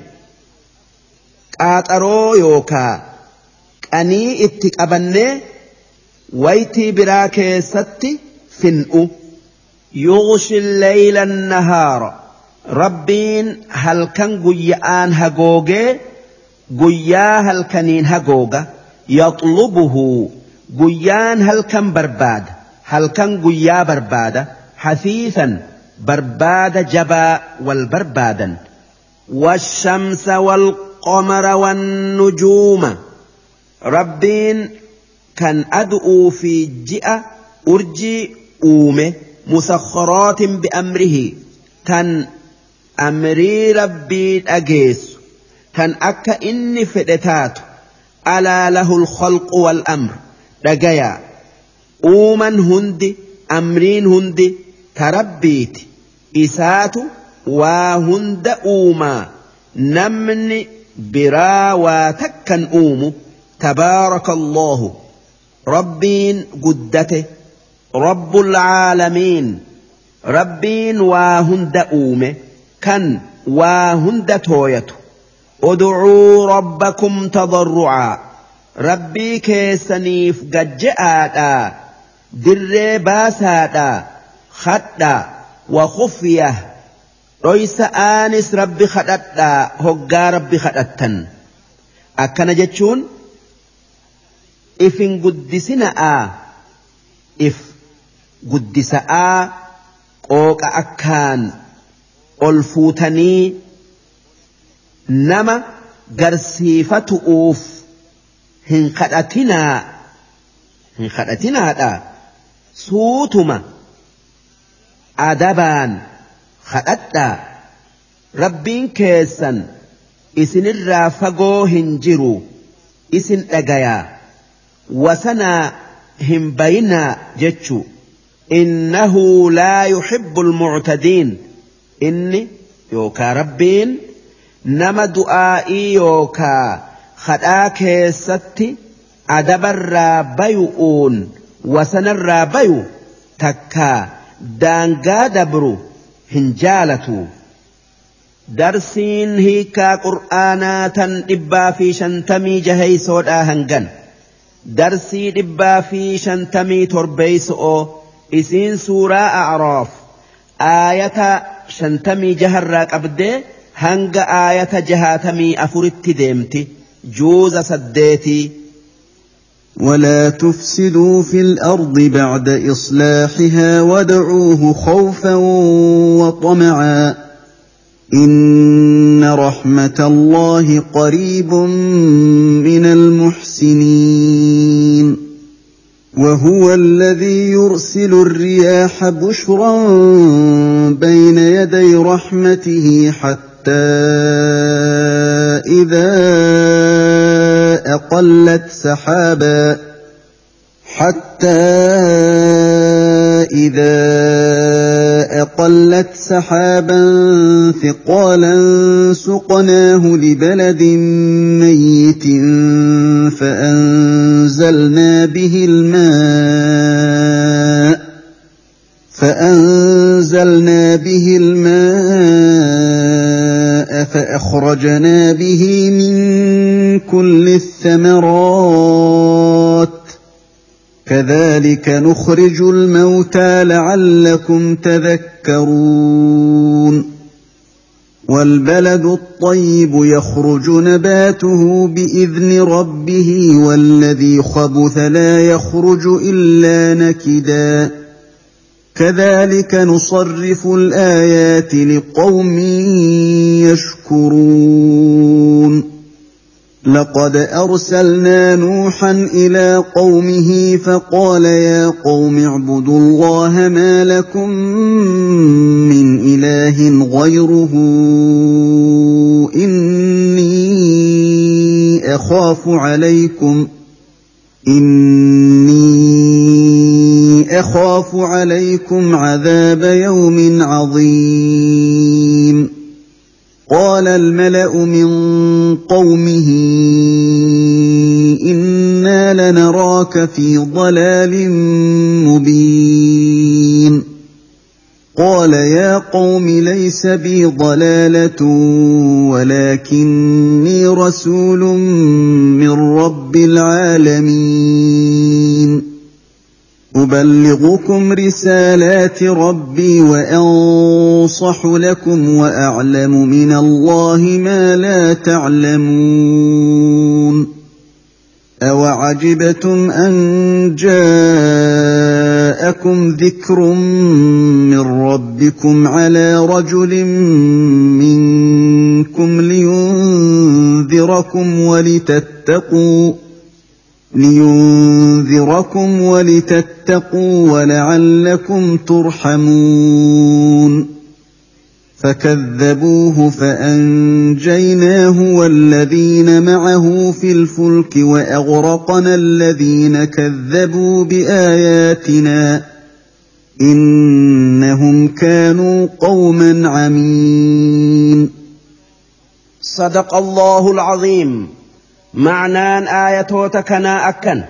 قاترو يوكا أني اتك أبني ويتي براكي ستي فنؤ يغشي الليل النهار ربين هل كان قيان هقوغي قيا هل كانين هقوغا يطلبه قيان هل كان برباد هل كان قيا بربادة حثيثا برباد جبا والبربادا والشمس والقمر والنجوم ربين كان أدعو في جئة أرجي أومه مسخرات بأمره كان أمري ربي أجيس كان أكا إني فدتات ألا له الخلق والأمر رجيا أومن هندي أمرين هندي تربيت إسات وهند أوما نمني برا وتكن أومو تبارك الله ربين قدته رب العالمين ربين وهند أومه كان وهند تويته ادعوا ربكم تضرعا ربي كيسنيف قجآتا در باساتا خطا وخفية رئيس آنس ربي خطتا هقا ربي خطتا أكنا جتشون إفن قدسنا إف قدسا قوك أكان الفوتني نما قرسيفة أوف هن خدتنا هن خدتنا دا سوتما أدبان خدتا ربين كيسا إسن الرافقو هنجرو إسن أغايا وسنا هم بينا جتشو إنه لا يحب المعتدين إني يوكا ربين نما دعائي يوكا خدا كيستي أدب الرابيؤون وسن الرابيو تكا دانقا دبرو هنجالتو درسين هيكا قرآناتا إبا في شنتمي جهي سودا هنغن درسي إبا في شنتمي تربيسو إسين سورة أعراف آية شنتمي جهراك أبدي هنگ آية جهاتمي أفرت ديمتي جوز سديتي ولا تفسدوا في الأرض بعد إصلاحها وادعوه خوفا وطمعا إن رحمة الله قريب من المحسنين وهو الذي يرسل الرياح بشرا بين يدي رحمته حتى إذا أقلت سحابا حتى إذا أقلت سحابا ثقالا سقناه لبلد ميت فأنزلنا به الماء فأنزلنا به الماء فأخرجنا به من كل الثمرات كذلك نخرج الموتى لعلكم تذكرون والبلد الطيب يخرج نباته بإذن ربه والذي خبث لا يخرج إلا نكدا كذلك نصرف الآيات لقوم يشكرون لقد أرسلنا نوحا إلى قومه فقال يا قوم اعبدوا الله ما لكم من إله غيره إني أخاف عليكم إني أخاف عليكم عذاب يوم عظيم قال الملأ من قومه إنا لنراك في ضلال مبين قال يا قوم ليس بي ضلالة ولكني رسول من رب العالمين أبلغكم رسالات ربي وأنصح لكم وأعلم من الله ما لا تعلمون أوعجبتم أن جاءكم ذكر من ربكم على رجل منكم لينذركم ولتتقوا لينذركم ولتتقوا ولعلكم ترحمون فكذبوه فأنجيناه والذين معه في الفلك وأغرقنا الذين كذبوا بآياتنا إنهم كانوا قوما عمين صدق الله العظيم معنى آية تكنا أكن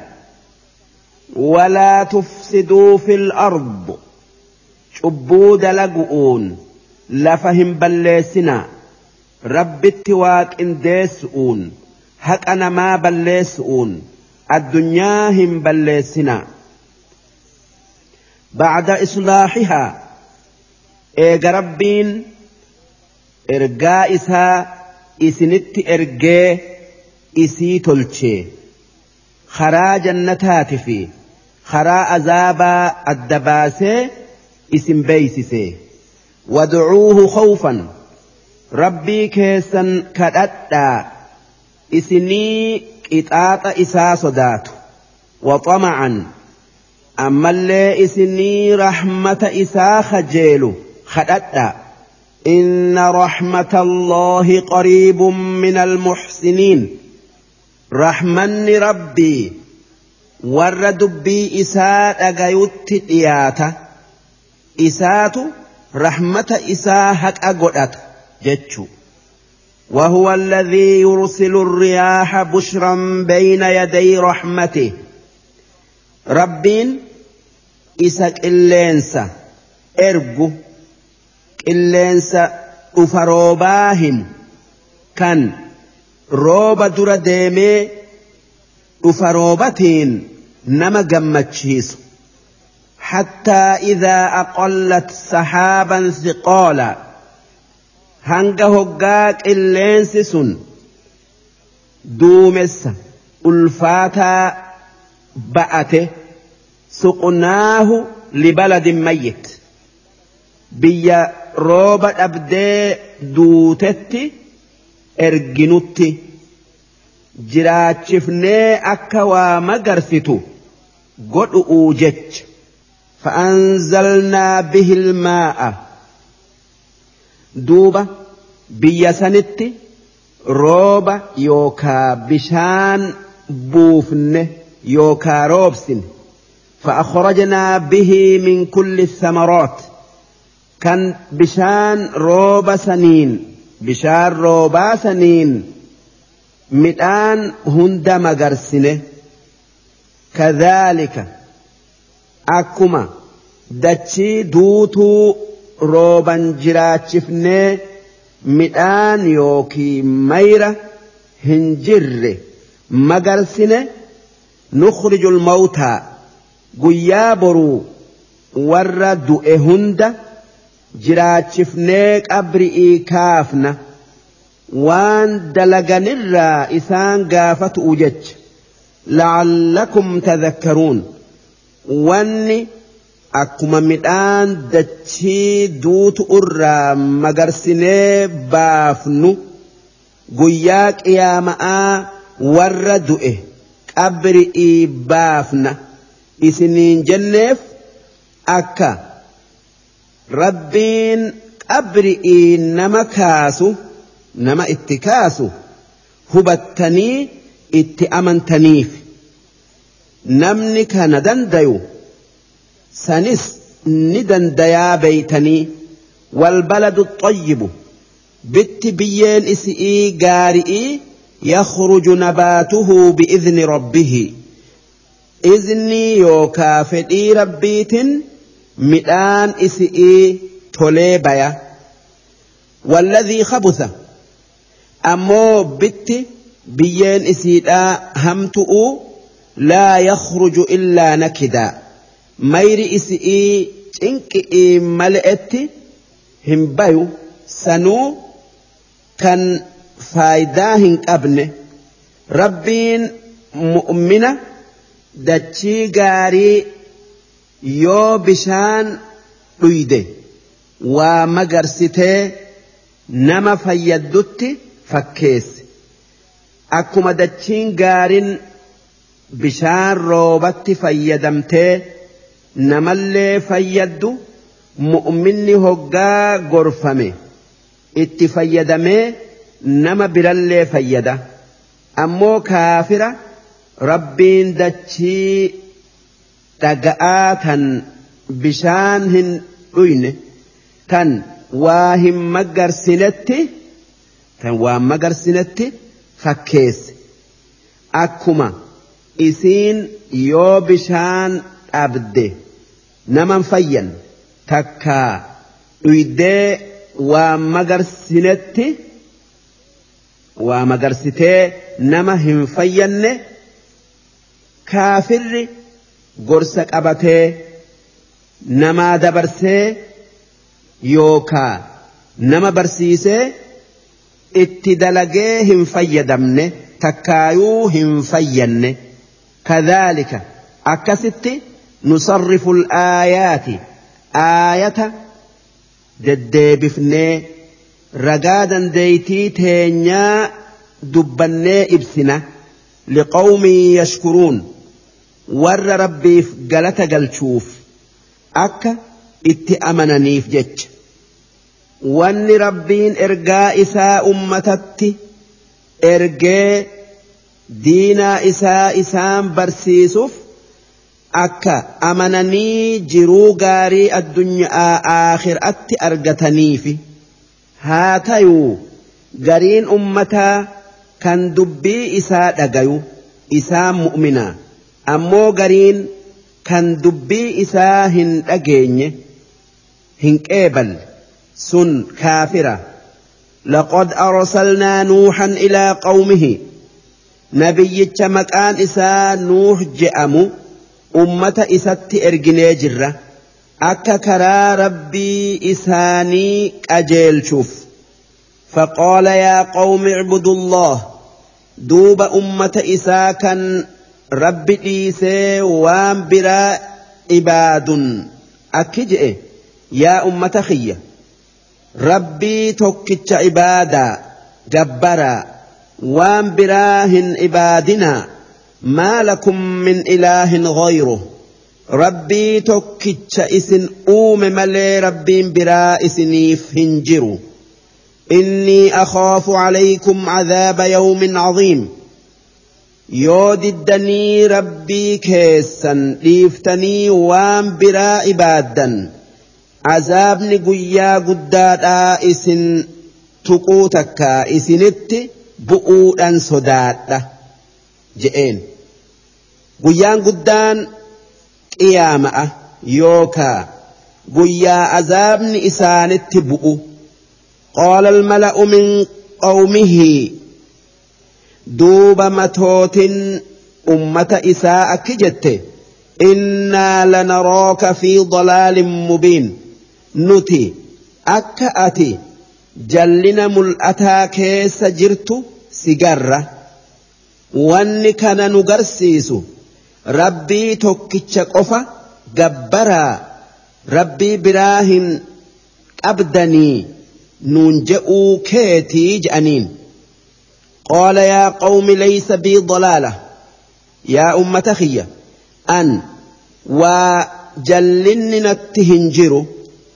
ولا تفسدوا في الأرض شبود لقؤون لفهم بلسنا رب التواك اندسؤون هك أنا ما بلسؤون الدنيا هم بلسنا بعد إصلاحها إيق ربين إرقائسها إسنت إرقائه isii tolchee karaa jannataati fi karaa azaabaa adda baasee isin beeysisee wad'uuhu khawfan rabbii keessan kadhadhaa isinii qixaaxa isaa sodaatu waxama'an ammallee isinii rahmata isaa kajeelu kadhadhaa inna rahmata allahi qariibun min almuxsiniin rahmanni rabbii warra dubbii isaa dhagayutti dhiyaata isaatu rahmata isaa haqa godhata jechu وهو الذي يرسل الرياح بشرا بين يدي رحمته ربين إسك اللينسا إرجو اللينسا أفروباهن كان روبا درا ديمي أفروبتين نما جمتشيس حتى إذا أقلت سحابا ثقالا hanga hoggaa qilleensi sun duumessa ulfaataa ba'ate suqnaahu libaladin mayyit biyya rooba dhabdee duutetti erginutti jiraachifnee akka waa magarsitu godhu'uu jecha fa'anzalnaa bihil maa'a duuba biyya sanitti rooba yookaa bishaan buufne yookaa roobsine فأخرجنا به من كل الثمرات كان بشان روب سنين بشان روبا سنين مئان هند مغرسنه كذلك أكما dachii duutuu rooban jiraachifnee midhaan yookii mayra hin jirre magarsine nukhrijul mawtaa guyyaa boruu warra du'e hunda jiraachifnee qabri'ii kaafna waan dalaganirraa isaan gaafatu jecha la'allakum tadhakkaruun wanni akkuma midhaan dachii duutu irraa magarsinee baafnu guyyaa qiyaama'aa warra du'e qabri'ii baafna isiniin jenneef akka rabbiin qabri'ii nama kaasu nama itti kaasu hubattanii itti amantaniif namni kana dandayu sanis ni dandayaa beeytanii والبلد الطيب بت بيين إسئي قارئي يخرج نباته بإذن ربه إذني يوكا فدي ربيت مئان إسئي توليبيا والذي خبث أمو بت بيين إسئي همتؤ لا يخرج إلا نكدا مير إسئي تنكئي ملئتي همبايو سنو كان فايداهن أبنه ربين مؤمنة داتشي غاري يو بشان قيده ومغرسته نما فيدت فكيس أكما داتشين غارين بشان روبت فيدمته نما اللي فيدو مؤمني هقا غرفمه itti fayyadamee nama birallee fayyada ammoo kaafira rabbiin dachii dhaga'aa tan bishaan hin dhuyne tan waa hin magarsinetti tan waa magarsinetti fakkeesse akkuma isiin yoo bishaan dhabde naman fayyan takkaa dhuydee waa magarsinetti waa magarsitee nama hin fayyanne kaafirri gorsa qabatee namaa dabarsee yookaa nama barsiisee itti dalagee hin fayyadamne takkaayuu hin fayyanne kadhaalika akkasitti nusarrifu al-aayaati aayata deddeebifnee ragaa dandeeytii teenyaa dubbannee ibsina liqawmin yashkuruun warra rabbiif galata galchuuf akka itti amananiif jecha wanni rabbiin ergaa isaa ummatatti ergee diinaa isaa isaan barsiisuuf akka amananii jiruu gaarii addunyaa aakhiraatti argataniifi haa tayuu gariin ummataa kan dubbii isaa dhagayu isaan mu'minaa ammoo gariin kan dubbii isaa hin dhageenye hin qeeballe sun kaafira laqad arsalnaa nuuhan ilaa qawmihi nabiyyicha maqaan isaa nuuh je'amu ummata isatti erginee jirra akka karaa rabbii isaanii qajeelchuuf فقال يا قوم اعبدوا الله دوب أمة إساكا رب إيسى وام برا عباد أكجئ يا أمة خيّة ربي توكتش عبادا جبرا وام براهن عبادنا ما لكم من إله غيره ربي توكتش إسن أوم ملي ربي برا إسنيف هنجروا إني أخاف عليكم عذاب يوم عظيم يود الدني ربي كيسا ليفتني وام برا عبادا عذاب نقيا قدادا إسن تقوتك إسنت بؤودا صدادا جئين قيان قدان قيامة يوكا قيا عذاب إسان التبؤ. قال الملأ من قومه دوب متوت أمة إساء كجت إنا لنراك في ضلال مبين نتي أكأتي جلنا ملأتا كيس جرت سجرة واني كان نقرسيس ربي توكيتش قفا جبرا ربي براهن أبدني ننجئوا كيتي جأنين. قال يا قوم ليس بي ضلالة يا أمة خيّة أن وجلن نتهنجر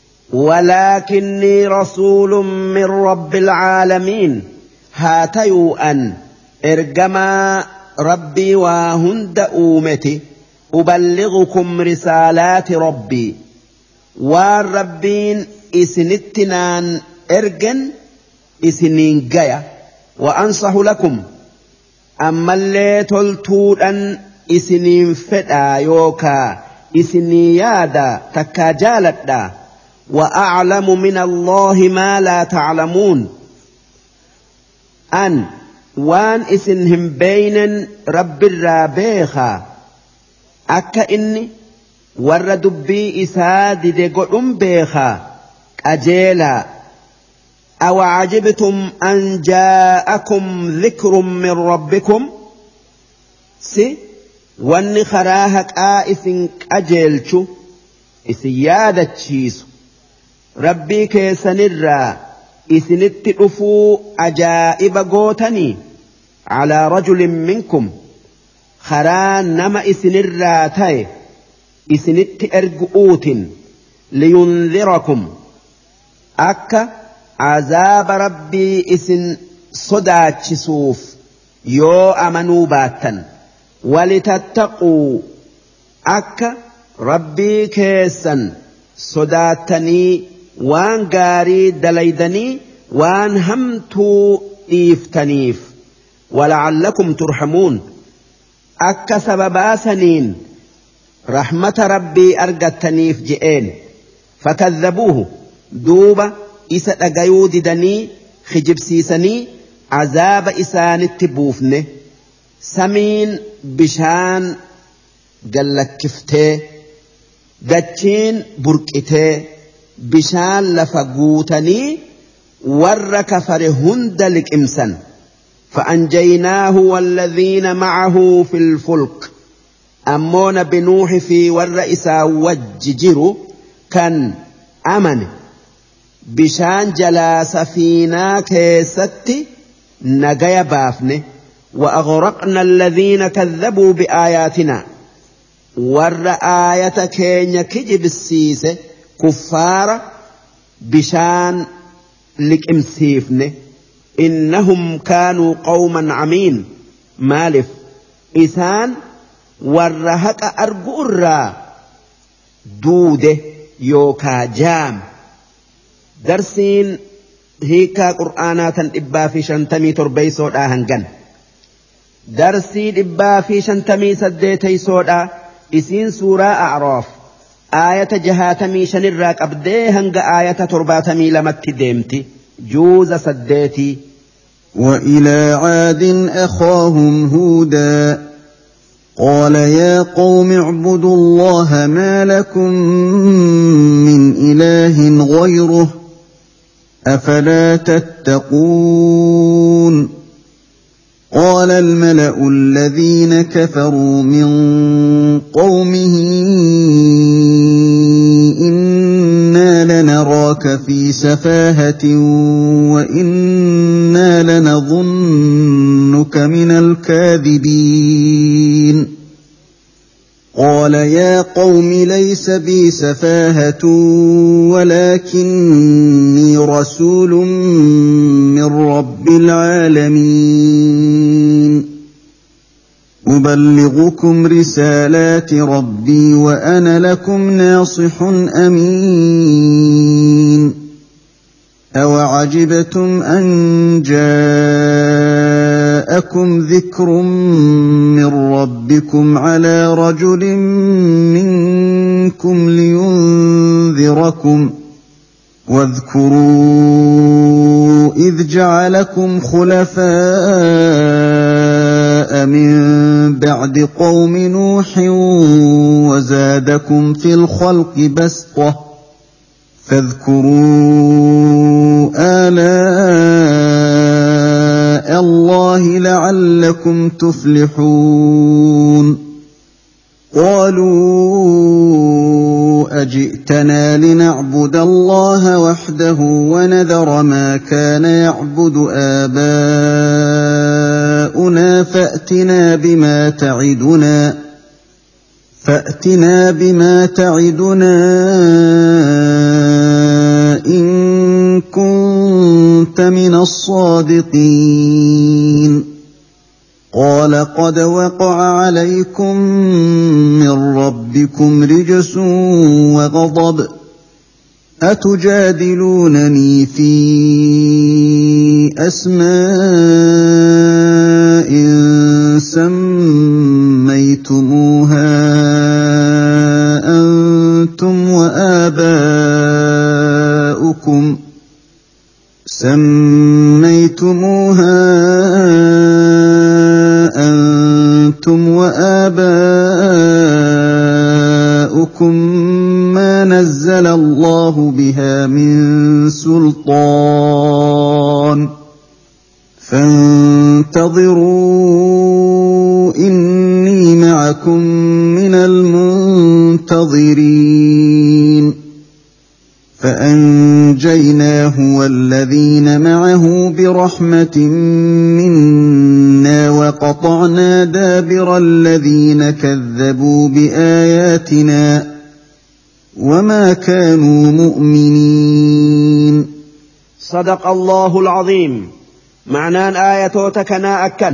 ولكني رسول من رب العالمين هاتيو أن إرجما ربي وهند أومتي أبلغكم رسالات ربي والربين إسنتنان إرجن إسنين جاية وأنصح لكم أما اللي تلتون أن إسنين فدا يوكا إسني يادا تكاجالتا وأعلم من الله ما لا تعلمون أن وان إسنهم بين رب الرابيخا أكا إني ورد بي إساد دقلن بيخا أجيلا أو عجبتم أن جاءكم ذكر من ربكم سي وان خراهك آئسن أجيلشو إسيادة تشيسو ربي كيسنرا إسنت أفو أجائب قوتني على رجل منكم خران نما إسنرا تاي إسنت أرقؤوت لينذركم أكا عذاب ربي إسن صداتشسوف يو أمنوا باتا ولتتقوا أكا ربي كيسا صداتني وان غاري دليدني وان همتو إيفتنيف ولعلكم ترحمون أكا سببا سنين رحمة ربي أرقتنيف جئين فكذبوه دوبا إسا أغيو ددني خجب سيسني عذاب إسان التبوفن سمين بشان قلك كفته دجين بركته بشان لفقوتني ورك فرهند لك إمسا فأنجيناه والذين معه في الفلك أمون بنوح في والرئيس وججر كان أمن بشان جلا سفينة كيستي نجايا بافنه وأغرقنا الذين كذبوا بآياتنا ور آية كينيا كجب السيسة كفار بشان لك امسيفنه إنهم كانوا قوما عمين مالف إسان ورهك أرقر دوده يوكا جام درسين هيكا قرآنات إبا في شنتمي تربي سودا هنغن درسي إبا في شنتمي سديتي سودا إسين سورة أعراف آية جهاتمي شنراك أبدي هنغ آية ترباتمي لمت ديمتي جوز سديتي. وإلى عاد أخاهم هودا قال يا قوم اعبدوا الله ما لكم من إله غيره أفلا تتقون. قال الملأ الذين كفروا من قومه إنا لنراك في سفاهة وإنا لنظنك من الكاذبين. قال يا قوم ليس بي سفاهة ولكني رسول من رب العالمين أبلغكم رسالات ربي وأنا لكم ناصح أمين. أوعجبتم أن جاءكم ذكر من ربكم ربكم على رجل منكم لينذركم واذكروا إذ جعلكم خلفاء من بعد قوم نوح وزادكم في الخلق بسطة فاذكروا آلاء الله لعلكم تفلحون قالوا أجئتنا لنعبد الله وحده ونذر ما كان يعبد آباؤنا فأتنا بما تعدنا فأتنا بما تعدنا إن كنت من الصادقين قال قد وقع عليكم من ربكم رجس وغضب أتجادلونني في أسماء سميتموها أنتم وآباؤكم سميتموها أنتم وآباؤكم ما نزل الله بها من سلطان فانتظروا إني معكم من المنتظرين فأنجيناه والذين معه برحمة منا وقطعنا دابر الذين كذبوا بآياتنا وما كانوا مؤمنين. صدق الله العظيم. معنى آية تكنا أكل.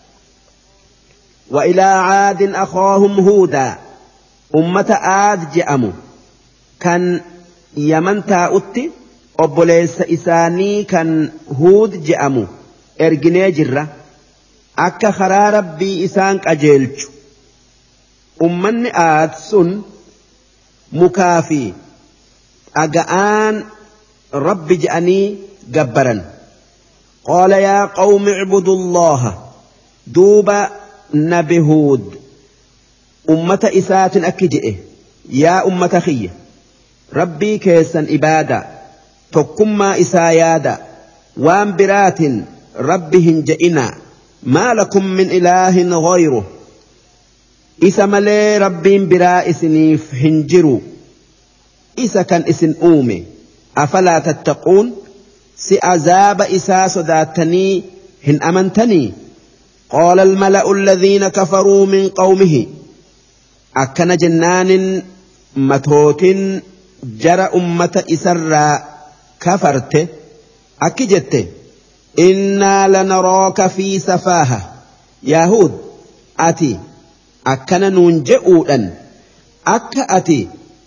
وإلى عاد أخاهم هودا أمة عاد جأموا كان يمن تاؤتي أبوليس إساني كان هود جأموا إرجني جرة أكا خرا ربي إسانك أجيلج أمن عاد سن مكافي أجآن رب جأني جبرا قال يا قوم اعبدوا الله دوب نبي هود أمة إسات أكجئه يا أمة خيّة ربي كيسا إبادة تكما إسايادا وان برات ربهن جئنا ما لكم من إله غيره إسا ملي ربين برا إسنيف هنجروا إسا كان إسن أومي أفلا تتقون سأذاب إسا صداتني هن أمنتني قال الملأ الذين كفروا من قومه أكن جنان متوت جرى أمة إسرى كفرت أكجت إنا لنراك في سفاهة يهود أتي أكن ننجئولا أك أتي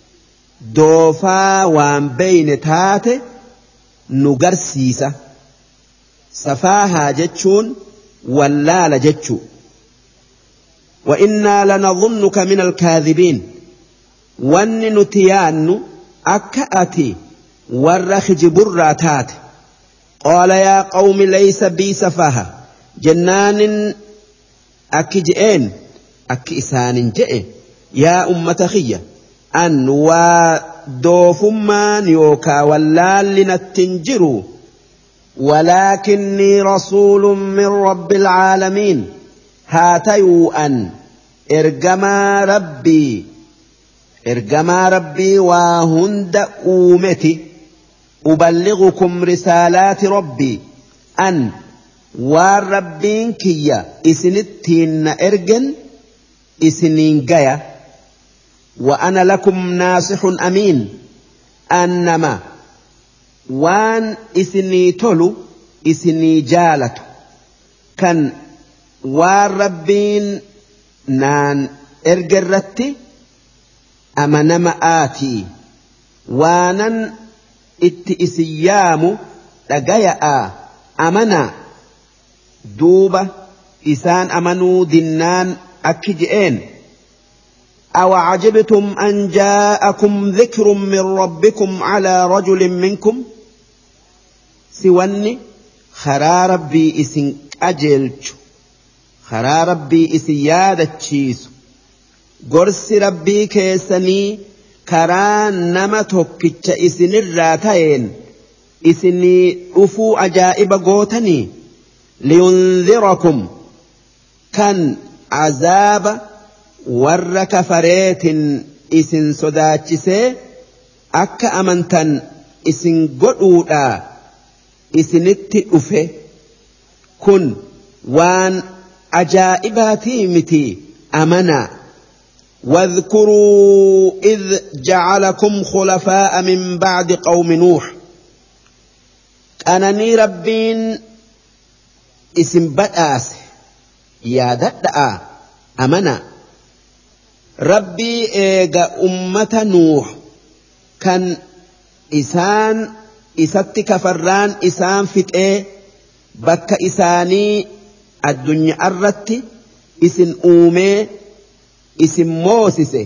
دوفا وان بين تات نقرسيسة سفاهة جتشون ولا لجتشو وإنا لنظنك من الكاذبين وان نتيان أكأتي والرخج براتات قال يا قوم ليس بي سفاهة جنان أكجئين أكإسان جئ يا أمة خيّة أن ودوفمان يوكا واللال لنتنجروا ولكني رسول من رب العالمين هاتيوا أن إرجما ربي إرجما ربي وهند أومتي أبلغكم رسالات ربي أن والربين كيا إسنتين إرجن إسنين جايا وأنا لكم ناصح أمين أنما وان إسني تلو إسني جالت كان والربين نان إرجرتي أمنما آتي وانا اتئسيام لقيا أمنا دوبة إسان أمنوا دنان أكجئين أو عجبتم أن جاءكم ذكر من ربكم على رجل منكم سواني خرا ربي إسن أجلج خرا ربي إسن يادة تشيس قرس ربي كيسني كران نمتك إسن الراتين إسني أفو أجائب قوتني لينذركم كان عذاب ور كفريت إسن صداتشسي أكا أمنتن إسن قدودا إسن التئفه كن وان أجائباتي متي أمنا واذكروا إذ جعلكم خلفاء من بعد قوم نوح أنني ربين اسم بدأس يا ددأ أمنا ربي إيغا أمة نوح كان إسان إسات كفران إسان فتئ بك إساني الدنيا الرت إسن أومي إسن موسسه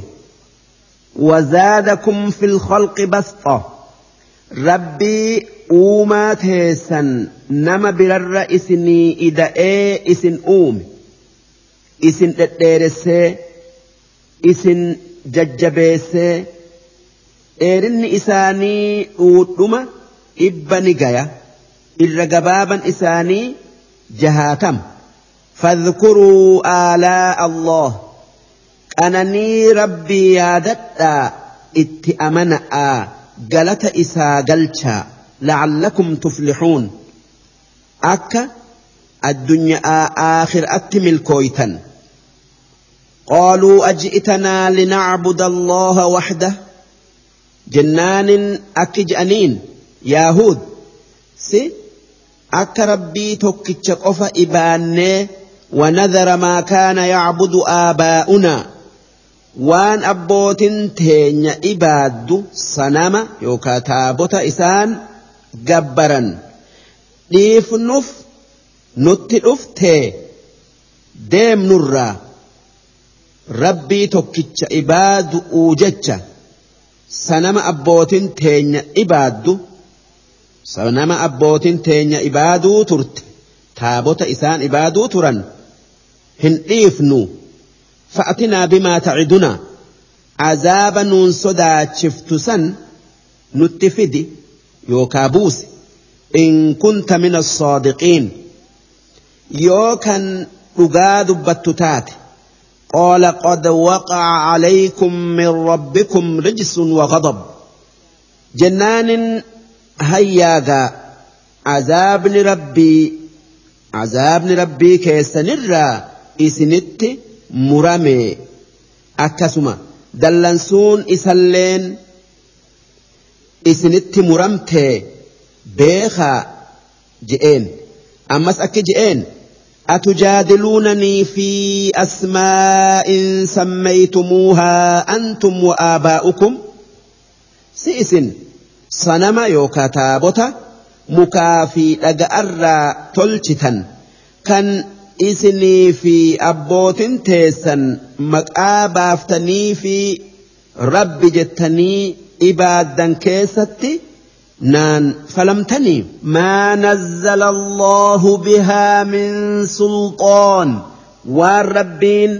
وزادكم في الخلق بسطة ربي أوما تيسن نما برر إسني إدائي إسن أومي إسن تتيرسي إسن ججبيسي إيرن إساني أوتما إبني غايا الرقبابا إساني جهاتم فاذكروا آلاء الله أنني ربي يادتا اتأمنأ قلت إسا قلتا لعلكم تفلحون أكا الدنيا آخر أتمل كويتا قالوا أجئتنا لنعبد الله وحده جنان أكجأنين ياهود سي أكا ربي توكيتش قفا إباني ونذر ما كان يعبد آباؤنا وان أبوتين تين إباد صنم يوكا تابوت إسان جبرا ليف نف نتلف تي ديم نرى ربي توكيتش إباد أوجتش صنم أبوتين تين إباد صنم أبوتين تين إبادو ترت تابوت إسان إبادو ترن هن إيفنو فأتنا بما تعدنا عذابا ننصدا شفتسا نتفدي يوكابوس إن كنت من الصادقين يوكا أقاد بتتات قال قد وقع عليكم من ربكم رجس وغضب جنان هياغا عذاب ربي عذاب ربي كيسنرا إسنت مرامي أكسما دلنسون إسلين إسنت مرمته بيخا جئين أمس أكي جئين أتجادلونني في أسماء سميتموها أنتم وآباؤكم سئسن صنما يوكا تابوتا مكافي لقأرى تلشتا كان إسني في أبوت تيسن مكآبافتني في رب جتني إبادا كيستي نان فلمتني ما نزل الله بها من سلطان والربين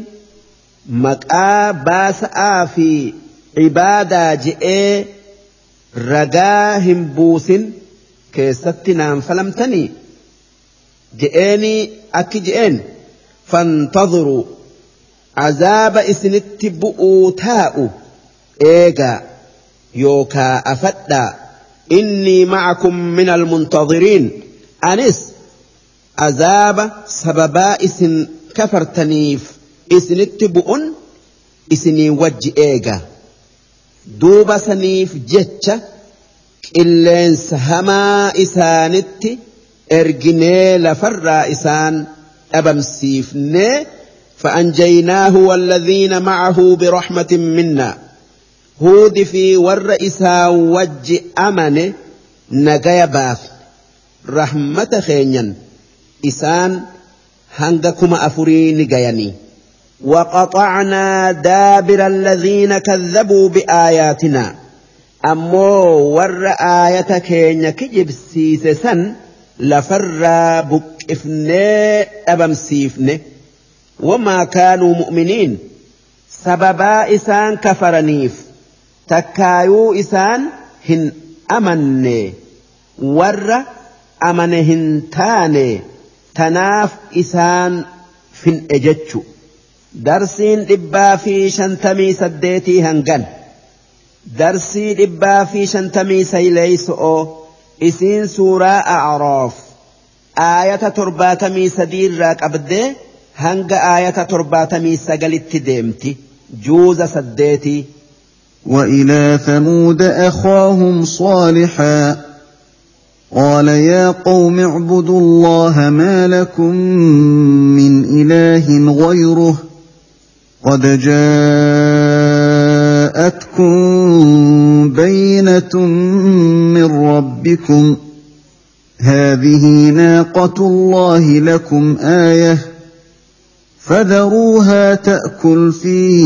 مكآباسا في عبادة جئ رجاهم بوسن كيستي نان فلمتني جئني أكي جئن فانتظروا عذاب إسنت بؤوتاء إيغا يوكا أفدا إني معكم من المنتظرين أنس عذاب سببا إسن كفرتنيف إسنت بؤن إسني وجه إيغا دوب سنيف جتش إلين سهما إسانت erginee lafarraa isaan dhabamsiifnee فأنجيناه والذين معه برحمة منا هود في ور إسا وج أمن نجايا باف رحمة خينيا إسان هنگكما أفرين جياني وقطعنا دابر الذين كذبوا بآياتنا أمو ور آية كينيا كجب سيسسن لفر بكفني أبمسيفني وما كانوا مؤمنين سببا إسان كفرنيف تكايو إسان هن أمني ور أمنهن تاني تناف إسان فين أجتشو درسين إبا في شنتمي سديتي هنغن درسين إبا في شنتمي سيليسو إسين سورة أعراف آية ترباتمي سدير راك أبدي هنغ آية ترباتمي سقلت ديمتي جوز سديتي. وإلى ثمود أخاهم صالحا قال يا قوم اعبدوا الله ما لكم من إله غيره قد جاءتكم بينة من ربكم هذه ناقة الله لكم آية فذروها تأكل في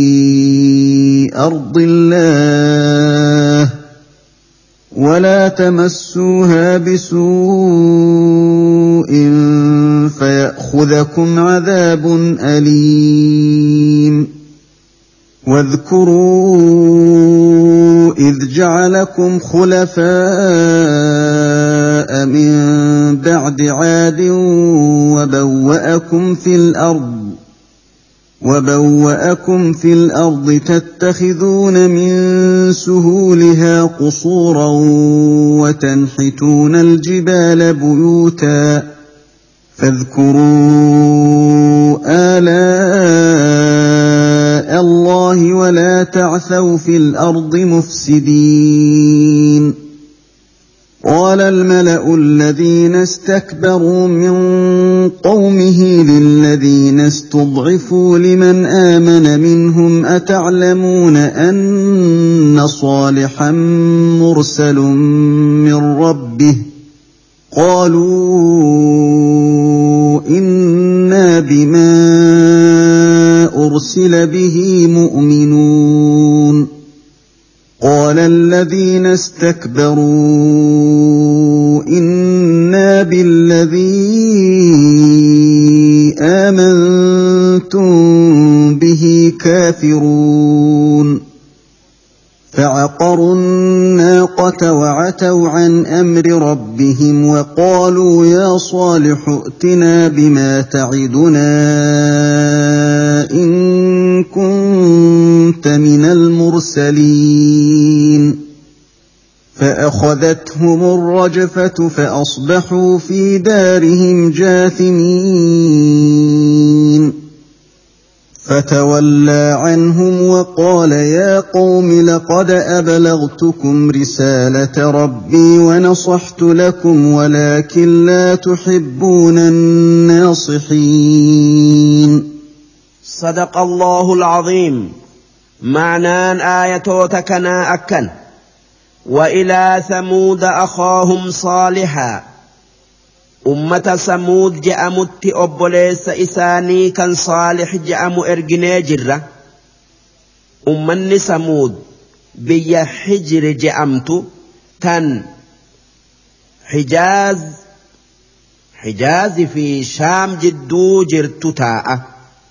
أرض الله ولا تمسوها بسوء فيأخذكم عذاب أليم واذكروا إذ جعلكم خلفاء من بعد عاد وبوأكم في الأرض وبوأكم في الأرض تتخذون من سهولها قصورا وتنحتون الجبال بيوتا فاذكروا آلاء الله ولا تعثوا في الأرض مفسدين. قال الملأ الذين استكبروا من قومه للذين استضعفوا لمن آمن منهم أتعلمون أن صالحا مرسل من ربه قالوا إنا بما أرسل به مؤمنون. قال الذين استكبروا إنا بالذي آمنتم به كافرون فعقروا الناقة وعتوا عن أمر ربهم وقالوا يا صالح ائتنا بما تعدنا إن كنت من المرسلين فأخذتهم الرجفة فأصبحوا في دارهم جاثمين فتولى عنهم وقال يا قوم لقد أبلغتكم رسالة ربي ونصحت لكم ولكن لا تحبون الناصحين. صدق الله العظيم. معنى آياتنا أكن وإلى ثمود أخاهم صالحا أمة ثمود جأمت أبوليس إساني كان صالح جأم إرجني جرة أمني ثمود بي حجر جأمت تن حجاز حجاز في شام جدو جرت تاء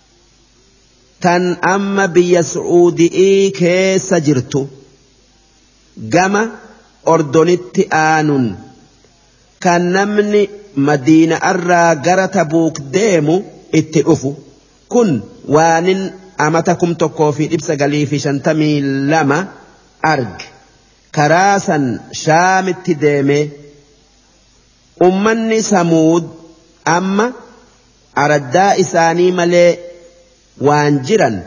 تن أما بي سعودي كيس جرت جما أردنت آنون كان نمني مدينة أرى غرة بوك ديمو اتئفو كن وانن أمتكم تكو في إبس غليفي شنتمي لما أرج كراسا شام التديمي أمني سمود أما أردا إساني ملي وانجرا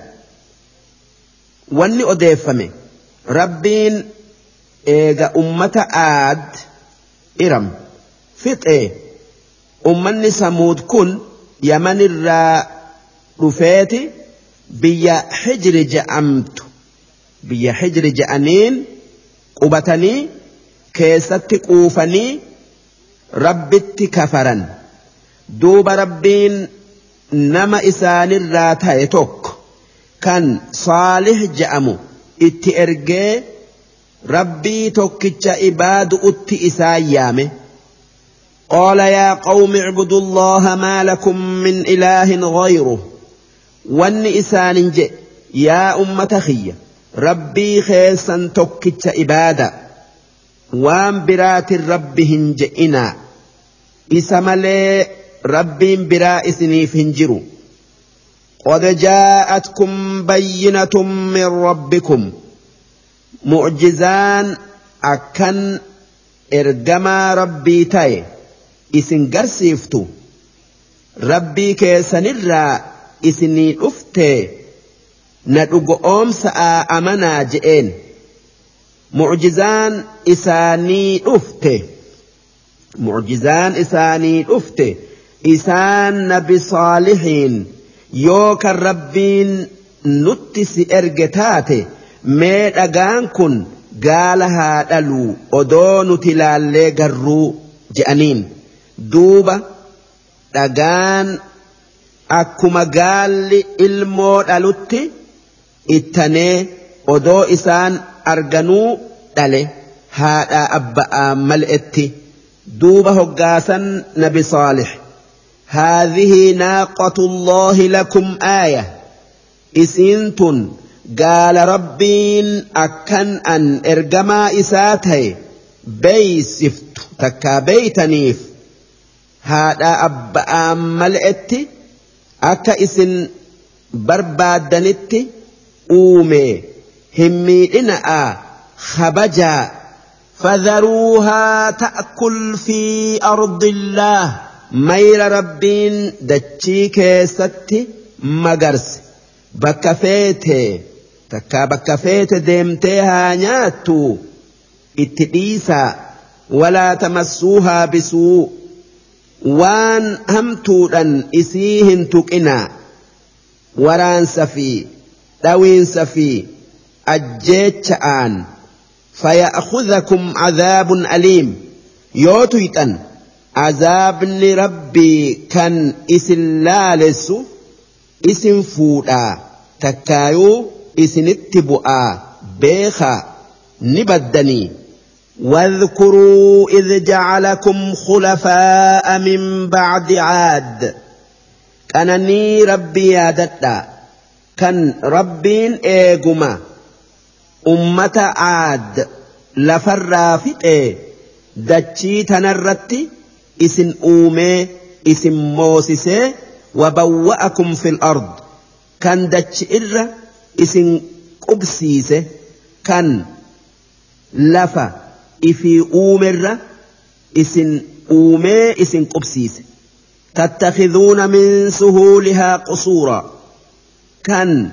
واني أديفمي ربين إيغا أمة آد إرم فطئ أمني سمود كن يمن الرا رفاتي بيا حجر جأمت بيا حجر جأنين قبتني كيست قوفني ربت كفرا دوب ربين nama isaanirraa ta'e tokko kan Saalih je'amu itti ergee rabbii tokkicha ibaadu utti isaan yaame. قال يا قوم اعبدوا الله ما لكم من إله غيره وان إسان جئ يا أمة خيّة ربي خيسا توكتش إبادة وان برات ربهن جئنا إسمالي ربي برائسني فهنجروا قد جاءتكم بينة من ربكم معجزان أكن إرجما ربي تاي isin garsiiftu rabbii keessanirraa isinii dhuftee na dhugoomsa'a amanaa je'een mu'jizaan isaanii dhufte mu'jizaan isaanii dhufte isaan nabi saalihiin yoo kan rabbiin nutti si erge taate mee dhagaan kun gaala haa dhaluu odoo nuti laallee garruu je'aniin. Duuba dhagaan akkuma gaalli ilmoo dhalutti ittanee odoo isaan arganuu dhale haadha abba'aa mal'etti. Duuba hoggaasan nabi Saalih haadhihi naaqatullaahi lakum aaya isiintun gaala rabbiin akkan an ergamaa isaa ta'e beeysiftu takkaa beeytaniif. Haadha abba'aan mal'etti akka isin barbaaddanitti uume hin miidhina'a habajaa fadharuuhaa ta'kul fi ardillaah mayra rabbiin dachii keessatti magarse bakka feete takkaa bakka feete deemtee haa nyaattu itti dhiisaa walaa tamassuuhaa bisuu. Waan hamtuudhan isii hin tuqinaa waraansa fi dhawiinsa fi ajjeecha'aan faya'khudhakum cadaabun aliim yoo tuyxan azaabni rabbii kan isin laalessu isin fuudhaa takkaayuu isinitti bu'aa beekaa ni baddanii. واذكروا إذ جعلكم خلفاء من بعد عاد كانني ربي يادتا كان ربين إيقما أمة عاد لفرافت إيه دتشي تنرتي اسم أومي اسم موسسي وبوأكم في الأرض كان دتش إر اسم قبسيسي كان لفا إفي أومر إسن أومي إسن قبسيس تتخذون من سهولها قصورا كان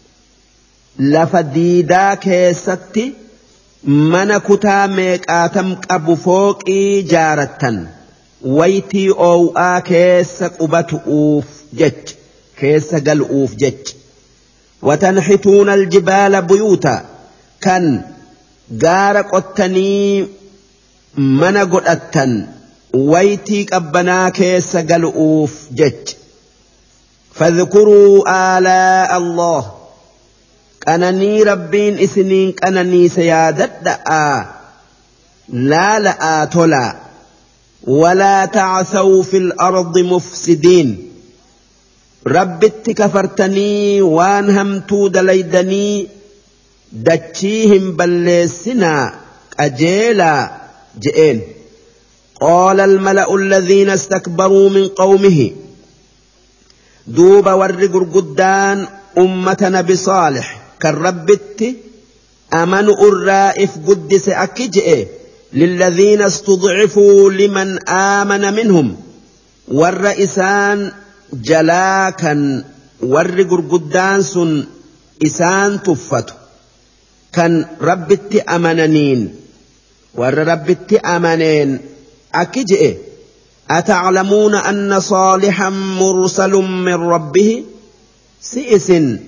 لفديدا كيستي من كتاميك آتم أبو فوق جارة ويتي أو آكيس قبت أوف جج كيس قل أوف جج وتنحتون الجبال بيوتا كان gaara qottanii mana godhattan waytii qabbanaa keessa galu'uuf jecha fadhkuruu aalaa Allah qananii rabbiin isiniin qananiisa yaadadha'aa laala'aa tolaa walaa ta'asaw fil ardi mufsidiin rabbitti kafartanii waan hamtuu dalaydanii دتشيهم بلسنا أجيلا جئين قال الملأ الذين استكبروا من قومه دوب ورقر قدان أمتنا بصالح كالربت أمنوا الرائف قدس أكجئ للذين استضعفوا لمن آمن منهم والرئيسان جلاكا ورقر قدان سن إسان تفتوا كان ربتي أمنانين ور ربتي أمنين أكجئ أتعلمون أن صالحا مرسل من ربه سئس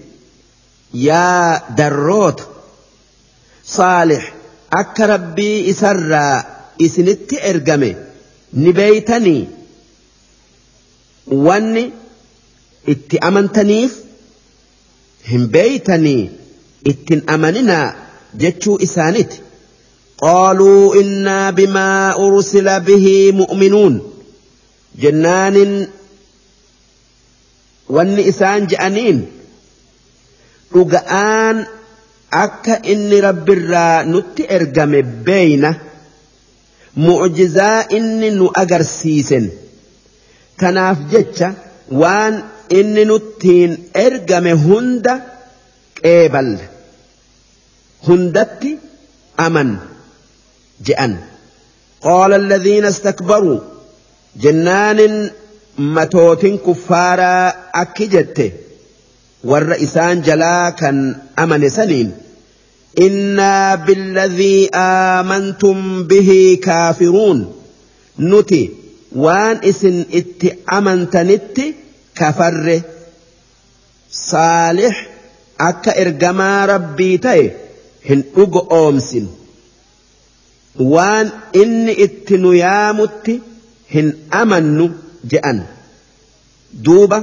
يا دروت صالح أك ربي إسرى إسنت إرقمي نبيتني واني itti amantaniif hin beeytanii ittin amanina jechuu isaaniti qaaluu innaa bimaa ursila bihi mu'minuun jennaanin wanni isaan je'aniin dhuga'aan akka inni rabbirraa nutti ergame beeyna mu'jizaa inni nu agarsiisen kanaaf jecha waan inni nuttiin ergame hunda qeeballe hundatti aman je'an qaala alladhiina istakbaruu jennaanin matootin kuffaaraa akki jette warra isaan jalaa kan amane saniin innaa billadhii aamantum bihi kaafiruun nuti waan isin itti amantanitti kafarre saalih akka ergamaa rabbii ta'e hin dhugo oomsin waan inni itti nu yaamutti hin amannu je'an duuba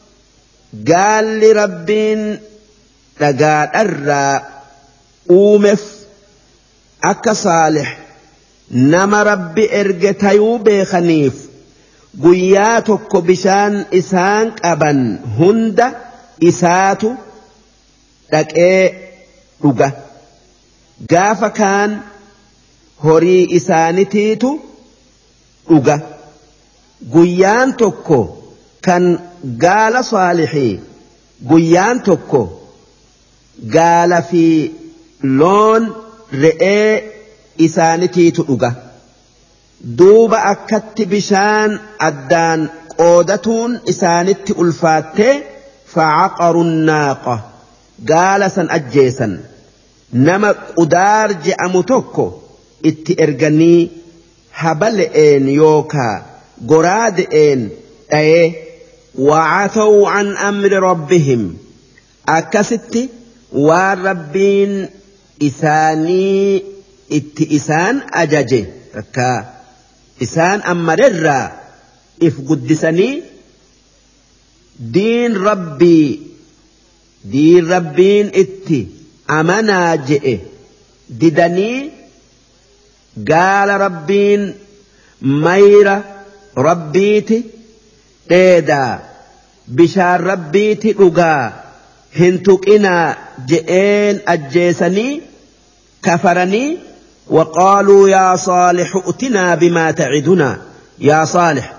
gaalli rabbiin dhagaadharraa uumeef akka saalih nama rabbi erge tayuu beekaniif guyyaa tokko bishaan isaan qaban hunda isaatu dhaqee dhuga gaafa kaan horii isaanitiitu dhuga guyyaan tokko kan gaala saalihii guyyaan tokko gaala fi loon re'ee isaanitiitu dhuga duuba akkatti bishaan addaan qoodatuun isaanitti ulfaattee fa'aqaru naaqa gaala san ajjeesan nama qudaar je'amu tokko itti erganii habale'een yookaa goraade'een dhayee wa'ataw an amri rabbihim akkasitti waan rabbiin isaanii itti isaan ajaje takkaa isaan ammarerraa if guddisanii diin rabbii diin rabbiin itti amanaa je'e didanii gaala rabbiin mayra rabbiiti dheedaa bishaan rabbiiti dhugaa hin tuqinaa je'een ajjeesanii kafaranii وقالوا يا صالح ائتنا بما تعدنا يا صالح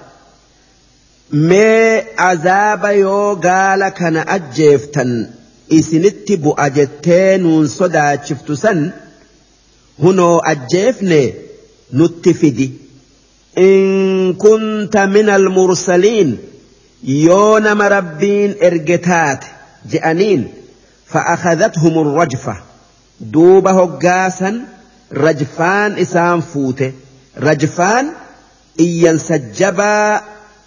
ما عذاب يو قال كان أجفتن إسنت بؤجتين ونصدا شفتسن هنو أجفني نتفدي إن كنت من المرسلين يون مربين إرجتات جأنين فأخذتهم الرجفة دوبه قاسا رجفان إسان فوته رجفان إيان سجبا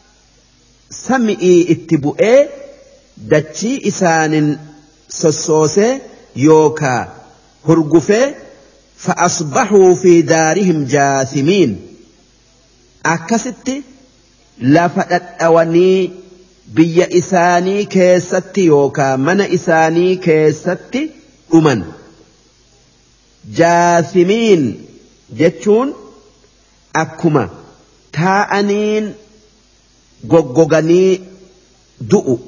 سمئي اتبؤي دتشي إسان سسوسي يوكا هرقفي فأصبحوا في دارهم جاثمين أكست لفتت أواني بي إساني كيستي يوكا من إساني كيستي أمن جاثمين جتشون أكما تاءنين غوغوغاني دؤ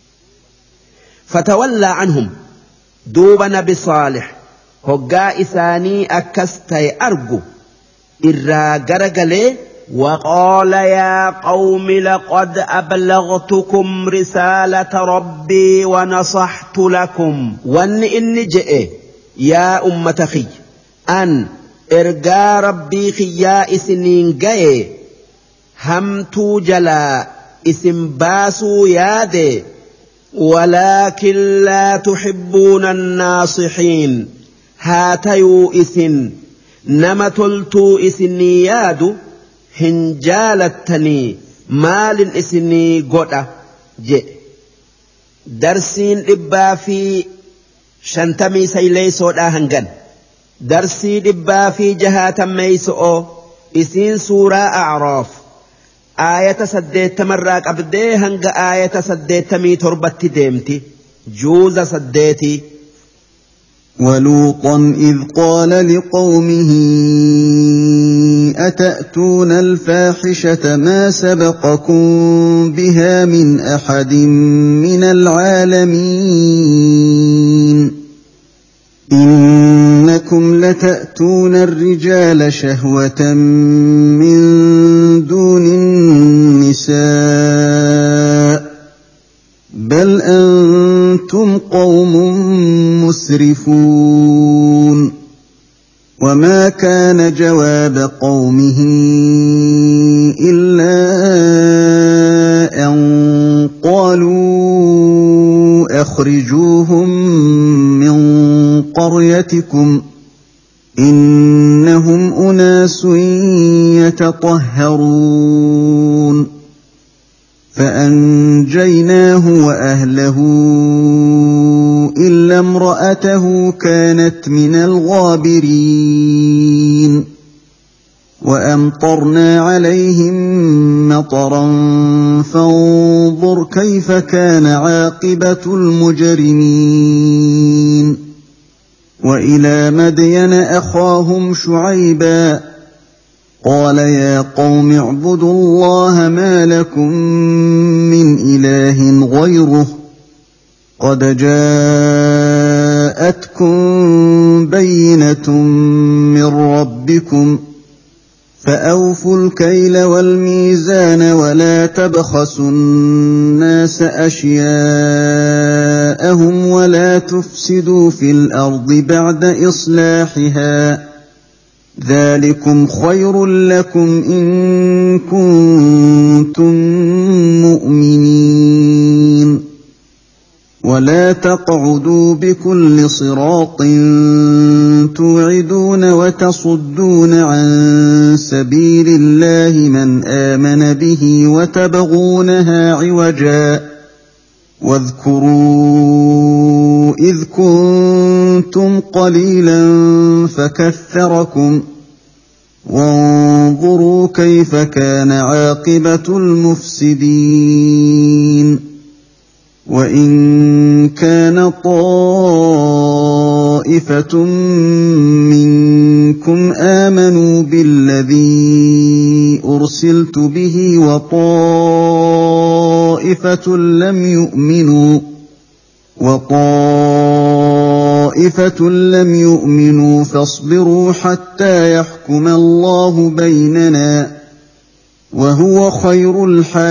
فتولى عنهم دوب نبي صالح هقا إساني أكستي أرجو إرا غرغلي وقال يا قوم لقد أبلغتكم رسالة ربي ونصحت لكم وأن إني جئ يا أمة خي أن إرجى ربي خيا إسنين جئ همتو جلا اسم باسو يادي ولكن لا تحبون الناصحين هاتيو إسن نمتلتو إسني يادو هنجالتني مال إسني قد جئ درسين إبا في شنتمي سيليسو داهنغن درسي إبا في جهات ميسو إسين سورة أعراف آية سديت مراك أبدي هنگ آية سديت مي تربت ديمتي جوز سديتي. ولوطا إذ قال لقومه أتأتون الفاحشة ما سبقكم بها من أحد من العالمين إنكم لتأتون الرجال شهوة من دون النساء بل أنتم قوم مسرفون. وما كان جواب قومه إلا أن قالوا أخرجوهم من قريتكم إنهم أناس يتطهرون فأنجيناه وأهله إلا امرأته كانت من الغابرين وأمطرنا عليهم مطرا فانظر كيف كان عاقبة المجرمين. وإلى مدين أخاهم شعيبا قال يا قوم اعبدوا الله ما لكم من إله غيره قد جاءتكم بينة من ربكم فأوفوا الكيل والميزان ولا تبخسوا الناس أشياءهم ولا تفسدوا في الأرض بعد إصلاحها ذلكم خير لكم إن كنتم مؤمنين. ولا تقعدوا بكل صراط توعدون وتصدون عن سبيل الله من آمن به وتبغونها عوجا واذكروا إذ كنتم قليلا فكثركم وانظروا كيف كان عاقبة المفسدين. وإن كان طائفة منكم آمنوا بالذي أرسلت به وطائفة لم يؤمنوا وطائفة لم يؤمنوا فاصبروا حتى يحكم الله بيننا وهو خير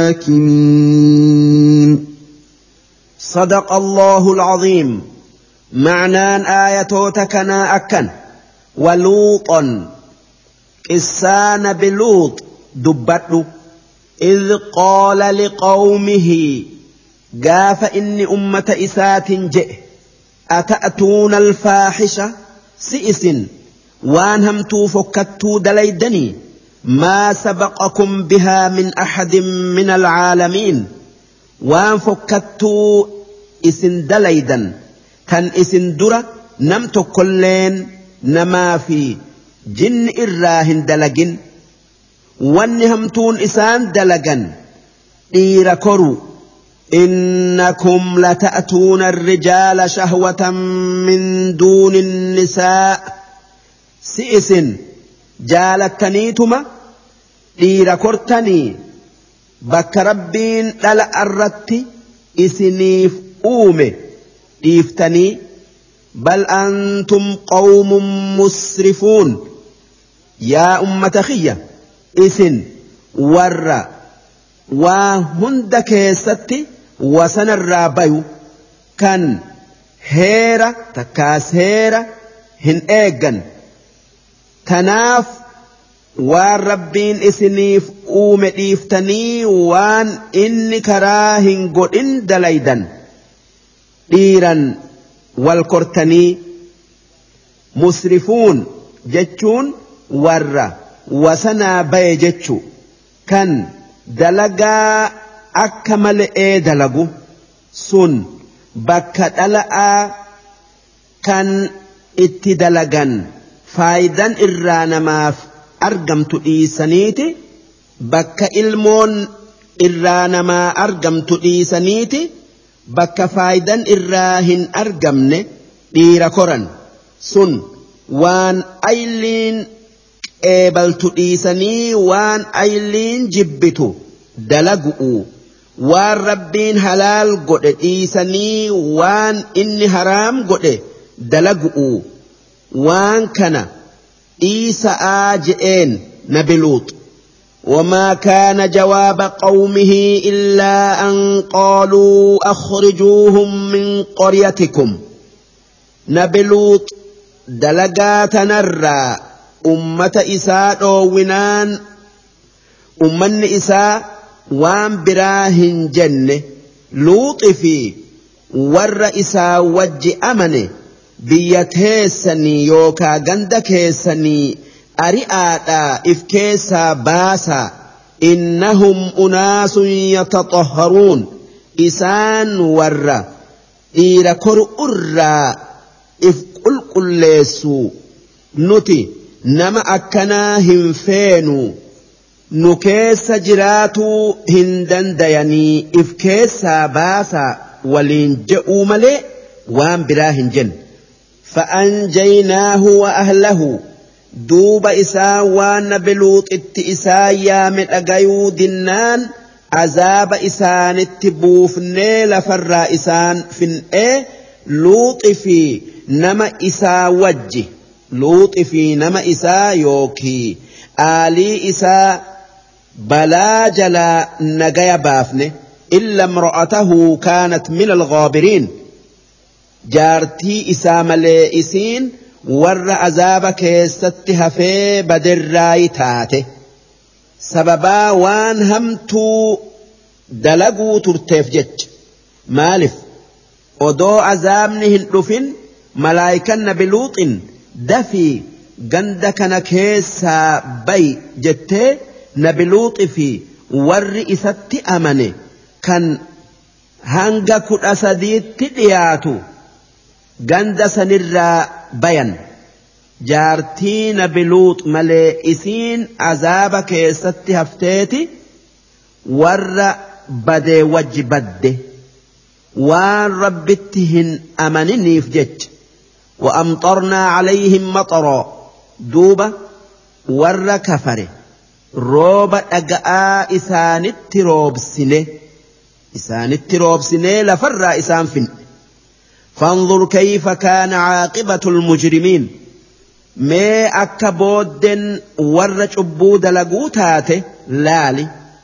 الحاكمين. صدق الله العظيم. معنان آياتنا أكن ولوطا إسان بلوط دبته إذ قال لقومه قاف إني أمة إسات جئ أتأتون الفاحشة سئس وانهمتوا فكتوا دليدني ما سبقكم بها من أحد من العالمين وان فكتوا إسن دليدا كان إسن درة نمت كلين نما في جن إراهن دلقن وانهمتون إسان دلقن إيركروا إنكم لتأتون الرجال شهوة من دون النساء سئس جالتنيتما إيركرتني بك ربين للا أردت إسنيف أومي إفتني بل أنتم قوم مسرفون يا أمة خية إسن ور وهند كيستي وسن الرابيو كان هيرة تكاس هيرة هن إيغن تناف waan rabbiin isiniif uume dhiiftanii waan inni karaa hin godhin dalaydan dhiiran wal kortanii musrifuun jechuun warra wasanaa baye jechu kan dalagaa akka malee dalagu sun bakka dhala'aa kan itti dalagan faayidan irraa namaaf argamtu dhiisaniiti bakka ilmoon irraa namaa argamtu dhiisaniiti bakka faayidan irraa hin argamne dhiira koran sun waan ayliin qeebaltu dhiisanii waan ayliin jibbitu dalagu'u waan rabbiin halaal godhe dhiisanii waan inni haraam godhe dalagu'u waan kana dhiisa'aa je'een nabi Luut. وما كان جواب قومه إلا أن قالوا أخرجوهم من قريتكم نبي لوط دلقات نرى أمة إساء ونان أمن إساء وان براهن جنة لوط في ور إساء وج أمنه بيتهسني يوكا غندكهسني أرئاتا إفكيسا باسا إنهم أناس يتطهرون إسان ورّا إيرا كرؤرّا إفقل قلّيسو نتي نما أكنا هنفينو نكيس جراتو هندن دياني إفكيسا باسا ولين جئوا ملي وان براهن جن فأنجيناه وأهله duuba isaa waan nabi Luuxitti isaa yaame dhagayuu dinnaan azaaba isaanitti buufnee lafarraa isaan fin'ee Luuxi fi nama isaa wajji Luuxi fi nama isaa yookii aalii isaa balaa jalaa nagaya baafne illa imra'atahu kaanat min al-ghaabiriin jaartii isaa malee isiin warra azaaba keessatti hafee badirraayi taate sababaa waan hamtuu dalaguu turteef jecha maalif odoo azaabni hin dhufin malaayikan nabi Luuxin dafii ganda kana keessaa bayi jettee nabi Luuxi fi warri isatti amane kan hanga kudha sadiitti dhiyaatu ganda sanirraa bayan jaartii nabi Luux malee isiin azaaba keessatti hafteeti warra badee wajji badde waan rabbitti hin amaniniif jecha وأمطرنا عليهم مطرا دوبا ور كفر روب أجاء إسان التروب سنة إسان التروب سنة لفر إسان فن فانظر كيف كان عاقبة المجرمين ما أكبود ورج أبود لقوتاته لالي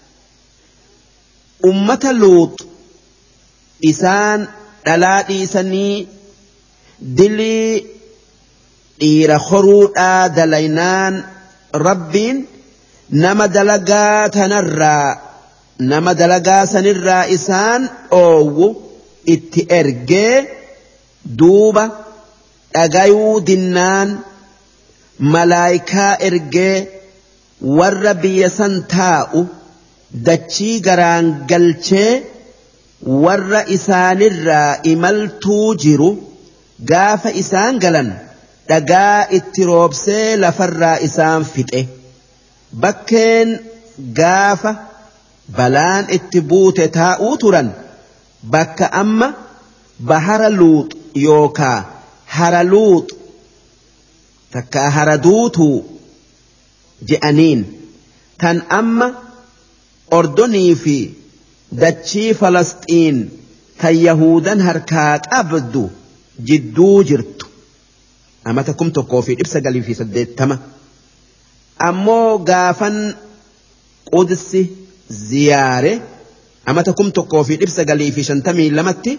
أمة لوط إسان دلاتي سني دلي إيرا خروطا دلينان ربين نما دلقات نرى نما دلقا سنرى إسان أو اتئرقى دوبا أغايو دنان ملايكا إرقى والربي سنتاؤ دچي غران قلچه ور إسان الرا إملتو جرو غاف إسان قلن دقا اتروبسي لفر إسان فتئ بكين غاف بلان اتبوت تاؤ ترن بك أما بحر لوط يوكا هر لوط تكا هردوتو جئنين تن أما أردني في دتشي فلسطين تن يهودا هركات أبدو جدو جرتو أما تكم تقوفي إبسا قلي في سديت تما أمو غافن قدسي زيارة أما تكم تقوفي إبسا قلي في شنتمي لمتي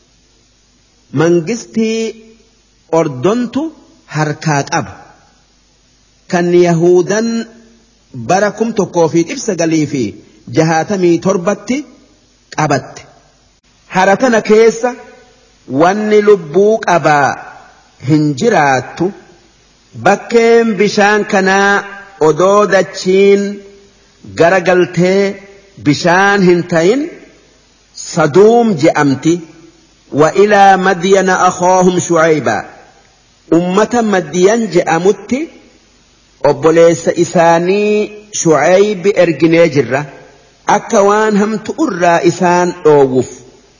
منجستي أردنتو هركات أب كان يهودا بركم تقوفي إبسا قلي في جهاتمي تربتي أبت هركنا كيسا واني لبوك أبا هنجراتو بكين بشان كنا أدودتشين غرقلتي بشان هنتين صدوم جأمتي وإلى مدين أخاهم شعيبا أمة مدين جأمتي أبوليس إساني شعيب إرجنيجرة أكوان هم تؤرى إسان أوف.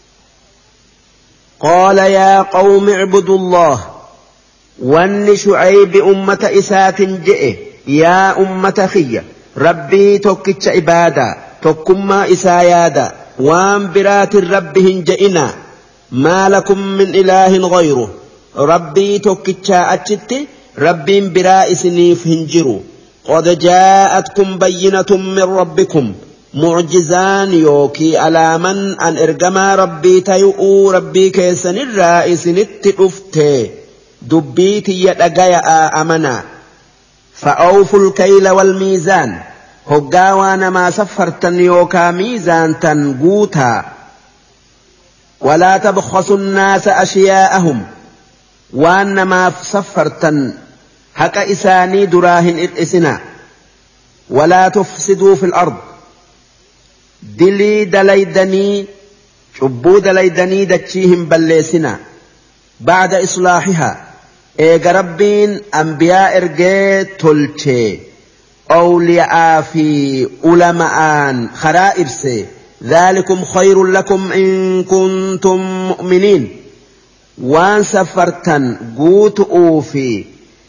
قال يا قوم اعبدوا الله وان شعيب أمة إسات جئ يا أمة خيّة ربي توكتش عبادة توكما إسايادا وان برات ربهن جئنا ما لكم من إله غيره ربي توكتش أجت ربي برا إسنيف هنجروا قد جاءتكم بينة من ربكم معجزان يوكي على من أن إرجما ربي تيؤو ربي كيسن الرائس نتئفته دبيتي يتقيا أمنا فأوفوا الكيل والميزان هقاوانا ما سفرتن يوكا ميزان تنقوتا ولا تبخسوا الناس أشياءهم وأن ما سفرتن هكا إساني دراهن الإسنا ولا تفسدوا في الأرض دلي دليدني شبو دليدني دتشيهم بلسنا بعد إصلاحها إيجا ربين أنبياء إرجي تلشي أولياء في علماء خرائرسي ذلكم خير لكم إن كنتم مؤمنين وان سفرتن قوت أوفي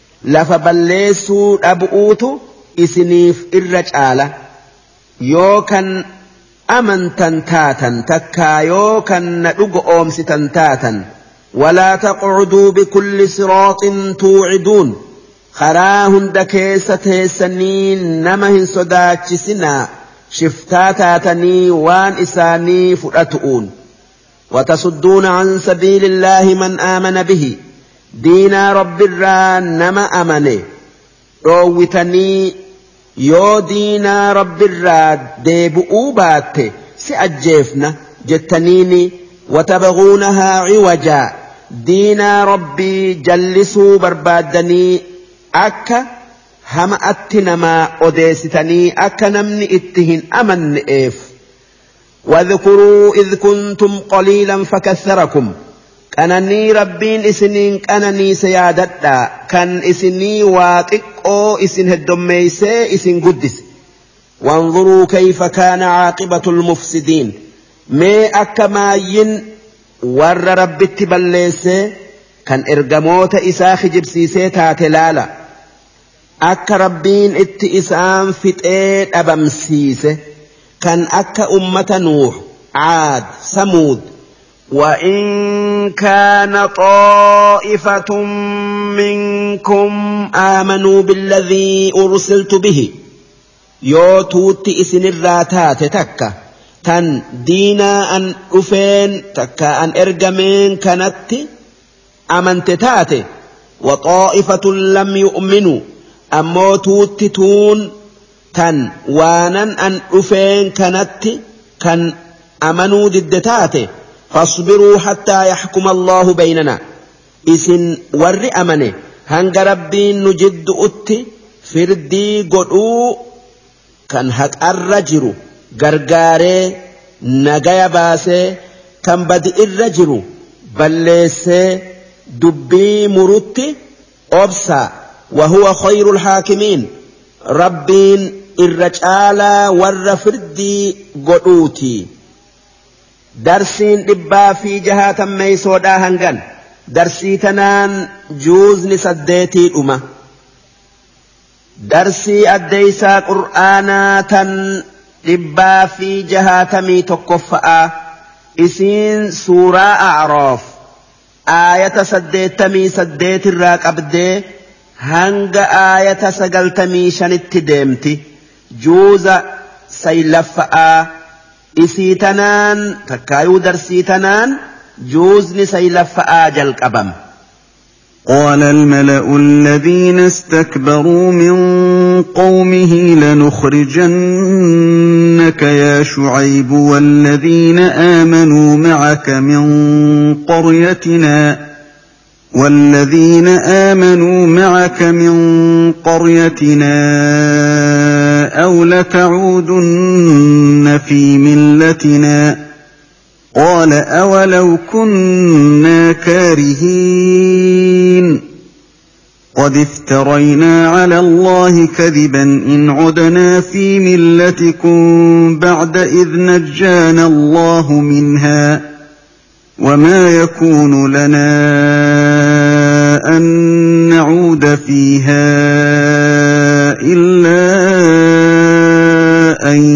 لفبلسوا أبؤوتو إسنيف الرجالة يوكن أمنتن تاتن تكا يوكن ندق أمستن تاتن ولا تقعدوا بكل صراط توعدون خراهن دكيسة سنين نمهن صداتش سنا شفتاتاتني وان إساني فرأتؤون وتصدون عن سبيل الله من آمن به دينا رب الران نما أمنه روتني يو دينا رب الراد ديبؤوا بات سأجيفنا جتنيني وتبغونها عوجا دينا ربي جلسوا بربادني أكا هم أتنما أديستني أكا نمني اتهن أمن إيف واذكروا إذ كنتم قليلا فكثركم كانني ربين إسنين كانني سيادتا كان إسني واتقو إسن هدوميسي إسن قدس وانظروا كيف كان عاقبة المفسدين مي أكماين ور رب التبليسي كان إرقموت إساخ جبسيسي تاتلالا أكا ربين ات إسان فتئت أبمسيسي كان أكا أمة نوح عاد ثمود وإن كان طائفة منكم آمنوا بالذي أرسلت به يوتوت إسن الراتات تكا تن دينا أن أفين تكا أن إرجمين كانت أمنت تاتي وطائفة لم يؤمنوا أمو توتتون تن وانا أن أفين كانت كان أمنوا ضد تاتي فاصبروا حتى يحكم الله بيننا إسن ور أمنه هنگ ربين نجد أتي فردي قدو كان هك الرجر غرغاري نغايا باسي كان بدئ الرجر بلسي دبي مرتي أبسا وهو خير الحاكمين ربين الرجال ور فردي قدوتي درسين دبا في جهات ميسودا هنغن درسي تنان جوز نسديتي الأمة درسي أديسا قرآنا تن دبا في جهات مي تقفأ إسين سورة أعراف آية سديت مي سديت الراك أبدي هنغ آية سقلت مي شنت ديمتي جوز سيلفأ إسي تنان تكايو درسي تنان جوزني سيلف آجل كبم. قال الملأ الذين استكبروا من قومه لنخرجنك يا شعيب والذين آمنوا معك من قريتنا والذين آمنوا معك من قريتنا أو لتعودن في ملتنا قال أولو كنا كارهين قد افترينا على الله كذبا إن عدنا في ملتكم بعد إذ نجانا الله منها وما يكون لنا أن نعود فيها إلا أن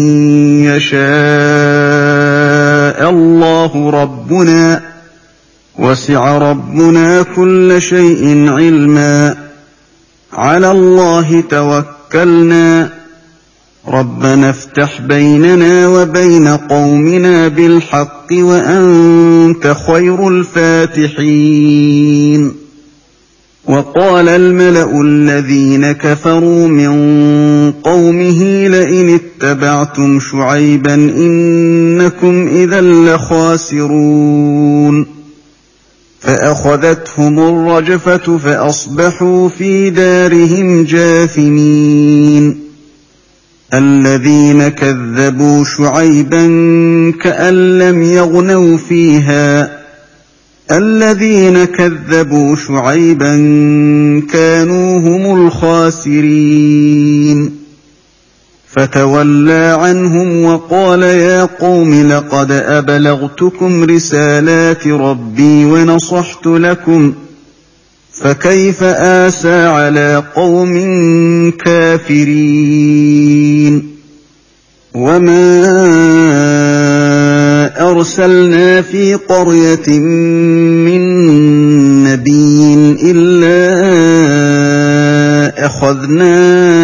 يشاء الله ربنا وسع ربنا كل شيء علما على الله توكلنا ربنا افتح بيننا وبين قومنا بالحق وأنت خير الفاتحين. وقال الملأ الذين كفروا من قومه لئن اتبعتم شعيبا إنكم إذا لخاسرون فأخذتهم الرجفة فأصبحوا في دارهم جاثمين. الذين كذبوا شعيبا كأن لم يغنوا فيها الذين كذبوا شعيبا كانوا هم الخاسرين فتولى عنهم وقال يا قوم لقد أبلغتكم رسالات ربي ونصحت لكم فكيف آسى على قوم كافرين. وما أرسلنا في قرية من نبي إلا أخذنا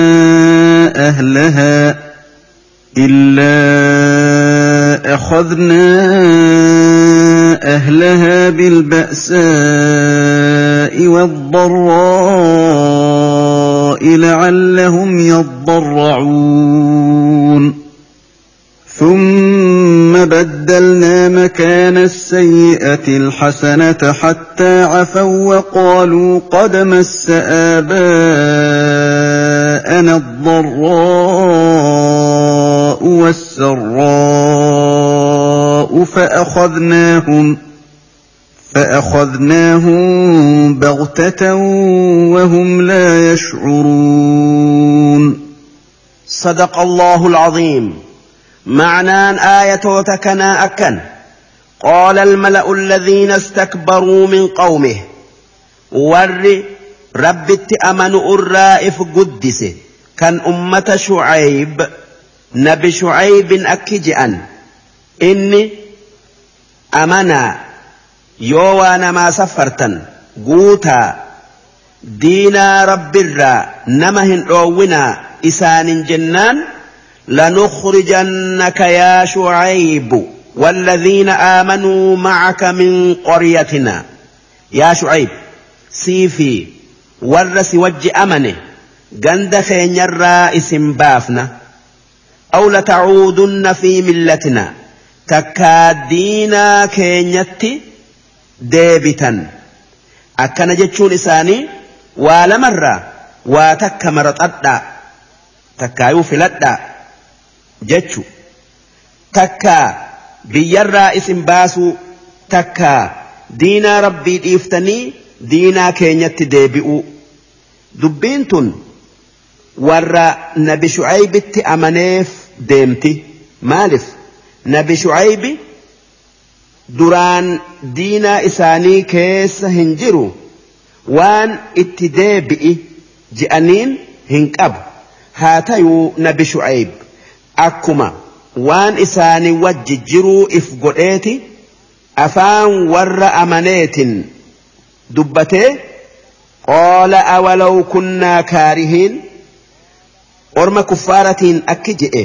أهلها إلا أخذنا أهلها بالبأساء والضراء لعلهم يضرعون ثم بدلنا مكان السيئة الحسنة حتى عفوا وقالوا قد مس آباءنا الضراء والسراء فأخذناهم فأخذناهم بغتة وهم لا يشعرون. صدق الله العظيم. معنى آية تكنا أكن قال الملأ الذين استكبروا من قومه ور ربت أمنوا الرائف قدس كان أمة شعيب نبي شعيب أكجأن إني أمنا يوانا ما سفرتا قوتا دينا رب الرا نمهن رونا إسان جنان لنخرجنك يا شعيب والذين آمنوا معك من قريتنا. يا شعيب سيفي ورس وجه أمنه قند خين الرائس بافنا أو لتعودن في ملتنا تكادينا كينيتي ديبتا أكنا جتشون إساني ولمرة واتك مرتأدا تكايو فلدا جتشو تكا بيرا اسم باسو تكا دينا ربي إفتني دينا كينيت ديبئو دبينتن ورا نبي شعيب التأمنيف ديمتي مالف نبي شعيب duraan diinaa isaanii keessa hin jiru waan itti deebi'i je'aniin hin qabu haa ta'uu nabi Shu'ayb akkuma waan isaanii wajji jiruu if godheeti afaan warra amaneetin dubbatee qaala awalaw kunnaa kaarihiin orma kuffaaratiin akki je'e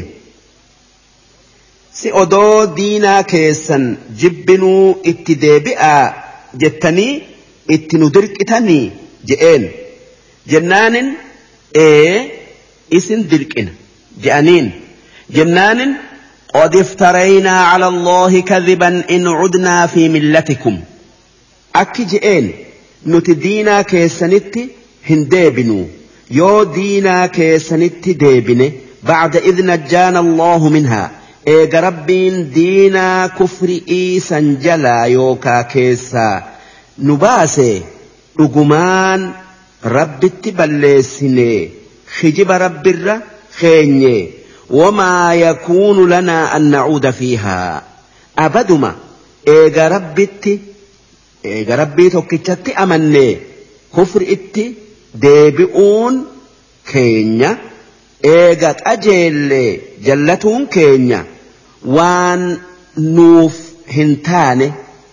si odoo diinaa keessan jibbinuu itti deebi'aa jettanii itti nu dirqitanii je'een jennaanin ee isin dirqina je'aniin jennaanin qad iftaraynaa cala allaahi kadiban in cudnaa fi millatikum akki je'een nuti diinaa keessanitti hin deebinuu yoo diinaa keessanitti deebine bacda id najjaana allaahu minhaa eega rabbiin diinaa kufri'ii san jalaa yookaa keessaa nu baase dhugumaan ربتي بلسني خجب رب الر خيني وما يكون لنا أن نعود فيها أبدما إيجا ربتي إيجا ربي توكيشتي أمني كفر إتي ديبئون كينيا إيجا أجيل جلتون كينيا وان نوف هنتاني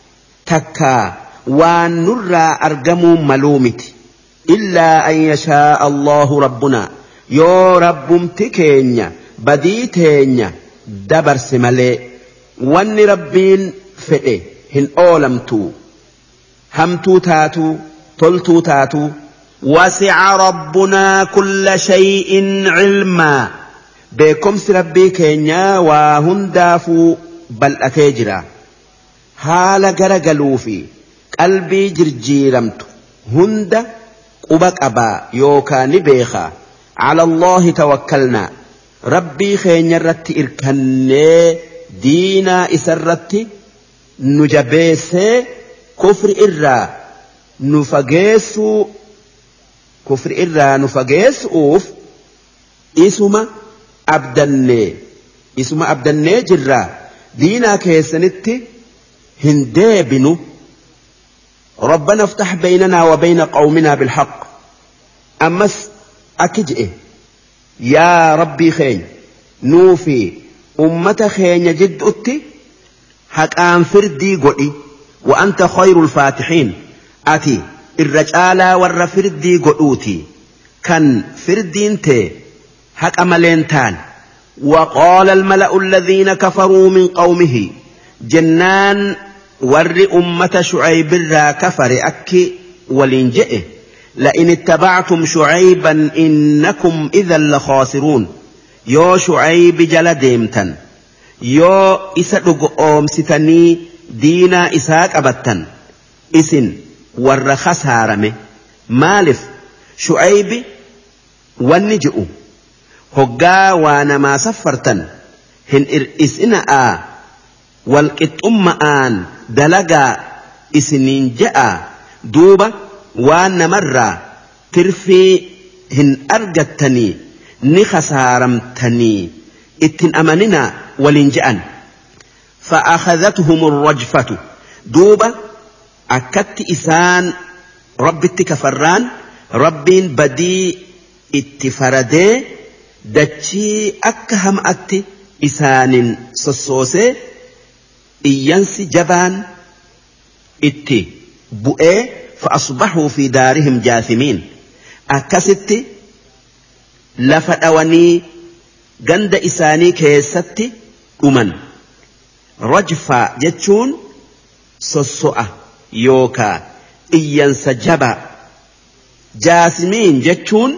تكا وان نرى أرجموا ملومتي إلا أن يشاء الله ربنا يو رب تكينيا بديتينيا دبر سمالي وان ربين فئه هن أولمتو همتو تاتو تلتو تاتو وسع ربنا كل شيء علما بكم ربي كينيا وهندافو بل أتجرا حال غرغلو في قلبي جرجيرمت هند قبك أبا يوكا نبيخا على الله توكلنا ربي خينيا رت إركني دينا إسرت نجبيس كفر إرّا نفقيس كفر إرّا نفقيس أوف إسما أبدني إسما أبدني جرّا دينا كيسنت هندابنو ربنا افتح بيننا وبين قومنا بالحق أمس أكجئ يا ربي خين نوفي أمة خين جد أتي حقان فردي قولي وأنت خير الفاتحين أتي الرجالة والرفردي قولوتي كان فردين تي حق أملينتان وقال الملأ الذين كفروا من قومه جنان ور أمة شعيب را كفر أكي ولنجئه لئن اتبعتم شعيبا إنكم إذا لخاسرون يو شعيب جل ديمتا يو إسدق أوم ستني دينا إساك أبتا إسن ور خسارمه مالف شعيب والنجئ هقا وانا ما سفرتا هن إسئنا والقط أمان دلقا إسنين جاء دوبا وانا مرة ترفي هن أرجتني نخسارمتني اتن أمننا ولنجأن فأخذتهم الرجفة دوبا أكدت إسان رب التكفران ربين بدي اتفردي دتشي أكهم أتي إسان سسوسي إيانسي جبان إتي بؤي فأصبحوا في دارهم جاثمين أكستي لفتواني قند إساني كيستي أمن رجفا جتشون سسوء يوكا إيانس جبا جاثمين جتشون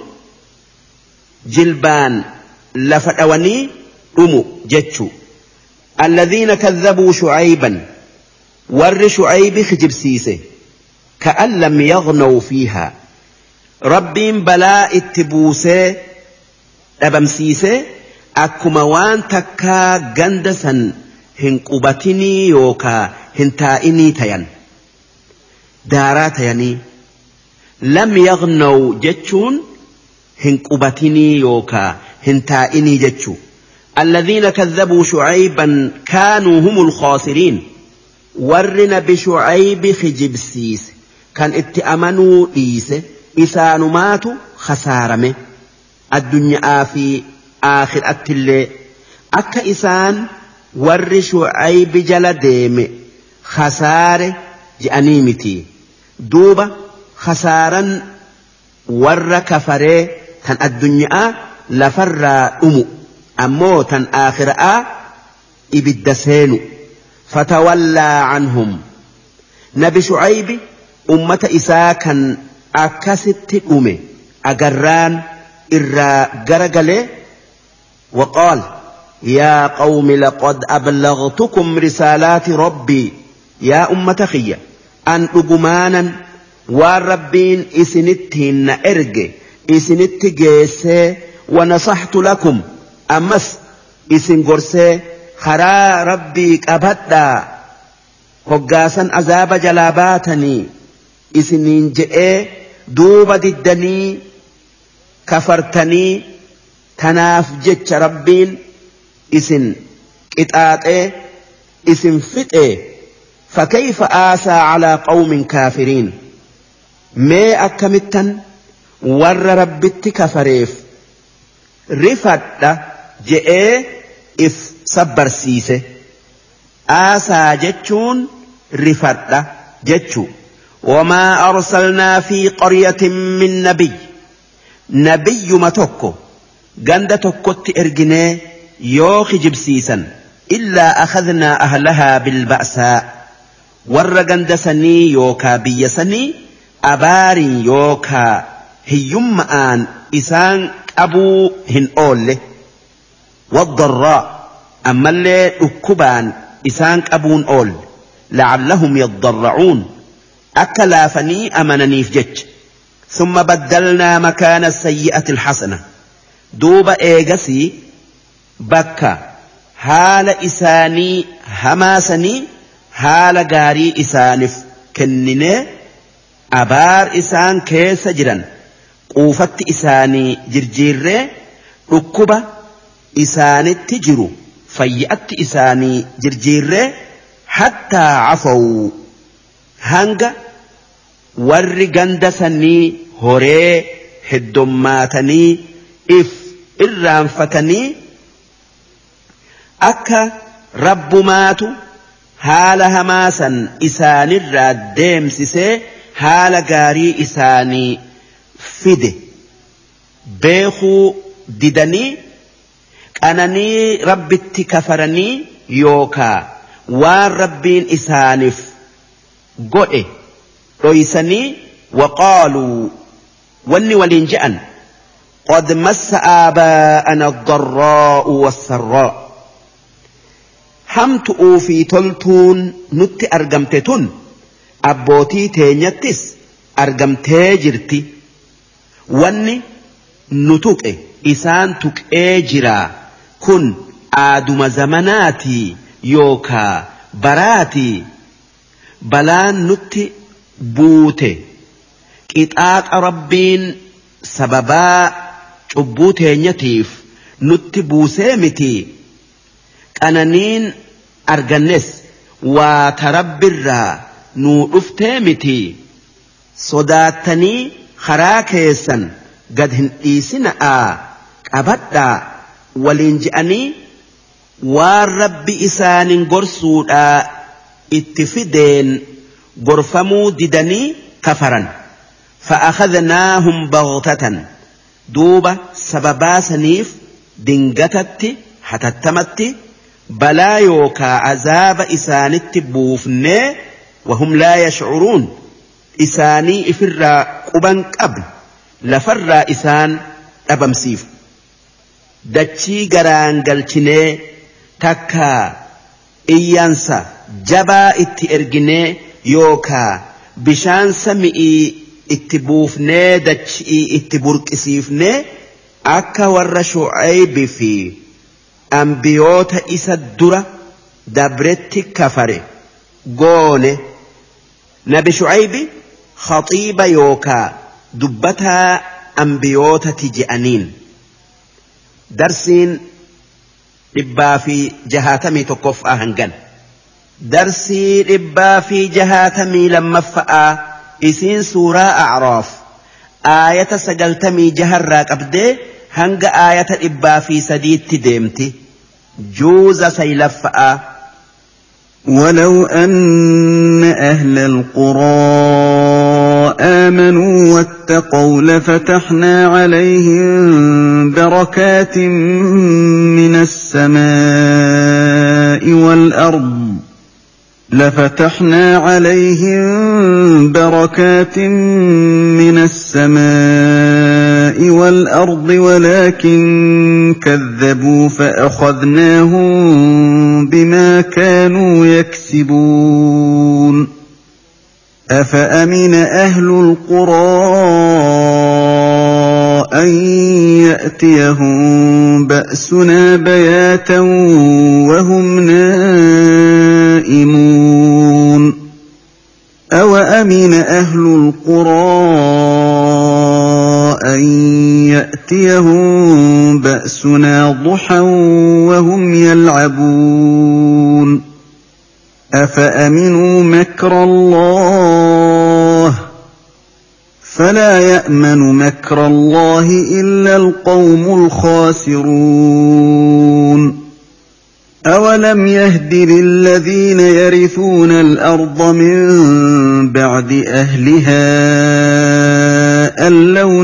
جلبان لفتواني أمو جتشو الذين كذبوا شعيبا ور شعيب خجب سيسه كأن لم يغنوا فيها ربين بلاء التبوسه أبم سيسه أكما وان تكا جندسا هنقبتني يوكا هنتائني تين دارات يعني لم يغنوا جتشون هنقبتني يوكا هنتائني جتشو الذين كذبوا شعيبا كانوا هم الخاسرين ورنا بشعيب خجب سيس كان اتأمنوا إيسه إسان ماتوا خسارمه الدنيا في آخر التلي أكا إسان ور شعيب جلديم خساره جأنيمتي دوبا خسارا ور كفره تن الدنيا لفر أمو أموتا آخرا إبدسين فتولى عنهم نبي شعيب أمة إساكا أكست أمي أقران إرى قرقل وقال يا قوم لقد أبلغتكم رسالات ربي يا أمة خيّة أن أقمانا والربين إسنتهن إرقي إسنت جيسي ونصحت لكم أمس إسن قرسي خرا ربيك أبدا هقاسا أزاب جلاباتني إسنين جئي دوبة الدني كفرتني تناف جتش ربين اسن اتآتي اسن فتئ فكيف آسى على قوم كافرين ما أكمتن ور ربت كفريف رفت جئ إف صبر سيسه آسى جتشون رفت جتشو وما أرسلنا في قرية من نبي نبي ما توكو قند توكوت إرجني يوخي جبسيسا إلا أخذنا أهلها بالبأساء ور قند سني يوكا بيسني أباري يوكا هيم آن إسان أبو هن أول والضراء أما اللي أكبان إسان أبون أول لعلهم يضرعون أكلافني أمنني في جج ثم بدلنا مكان السيئة الحسنة دوب إيجسي بكا هال إساني هماسني هال غاري إسانف كنني أبار إسان كيس جرا قوفت إساني جرجير ركبة إساني تجرو فيأت إساني جرجير حتى عفوا هنگا warri ganda sanii horee heddummaatanii if irraanfatanii akka rabbumaatu haala hamaasan isaanirraa deemsisee haala gaarii isaanii fide beekuu didanii qananii rabbitti kafaranii yookaa waan rabbiin isaaniif godhe رويسني وقالوا وني ولنجأن قد مس آباءنا الضراء والسراء حمتؤوا في تلتون نت أرقمتتون أبوتي تينيتس أرقمتي جرتي وني نتوك إسان توك إجرا كن آدم زمناتي يوكا براتي بلان نتي buute qixaaxa rabbiin sababaa cubbuu teenyatiif nutti buusee miti qananiin argannes waa tarabbirraa nuu dhuftee miti sodaattanii karaa keessan gad hin dhiisina'aa qabadhaa waliin je'anii waan rabbi isaanin gorsuudhaa itti fideen غرفمو ددني كفرا فأخذناهم بغتة دوبة سببا سنيف دنجتت حتتمت بلا يوكا عذاب إسانت بوفن وهم لا يشعرون إساني إفر قبن قبل لفر إسان أبمسيف دتشي غران قلتني تكا إيانسا جبا اتئرجني يوكا بشان سمئي اتبوفني دتشي اتبوركسيفني أكا ور شعيب في أنبيوت إسا الدرة دبرت كفر قول نبي شعيب خطيب يوكا دبتها أنبيوت تجأنين درسين إبا في جهاتمي تقف أهنجن درسي إبا في جهاتمي لما فأى إسين سورة أعراف آية سجلتمي جهراك أبدي هنگ آية إبا في سديد تديمتي جوز سيلفأى ولو أن أهل القرى آمنوا واتقوا لفتحنا عليهم بركات من السماء والأرض لفتحنا عليهم بركات من السماء والأرض ولكن كذبوا فأخذناهم بما كانوا يكسبون أفأمن أهل القرى أن يأتيهم بأسنا بياتا وهم نائمون أوأمن أهل القرى أن يأتيهم بأسنا ضحى وهم يلعبون أفأمنوا مكر الله فلا يأمن مكر الله إلا القوم الخاسرون أولم يهد للذين يرثون الأرض من بعد أهلها أن لو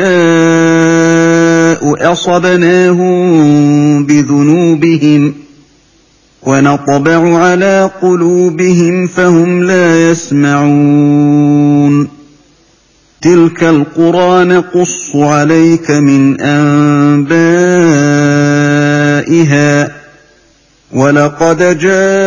نشاء أصبناهم بذنوبهم ونطبع على قلوبهم فهم لا يسمعون تلك القرى نقص عليك من أنبائها ولقد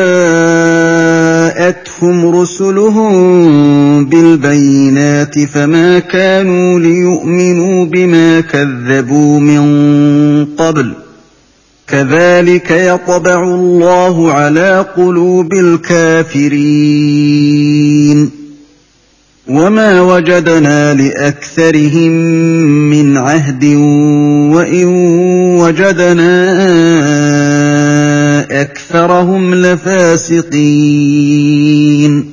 جاءتهم رسلهم بالبينات فما كانوا ليؤمنوا بما كذبوا من قبل كذلك يطبع الله على قلوب الكافرين وما وجدنا لأكثرهم من عهد وإن وجدنا أكثرهم لفاسقين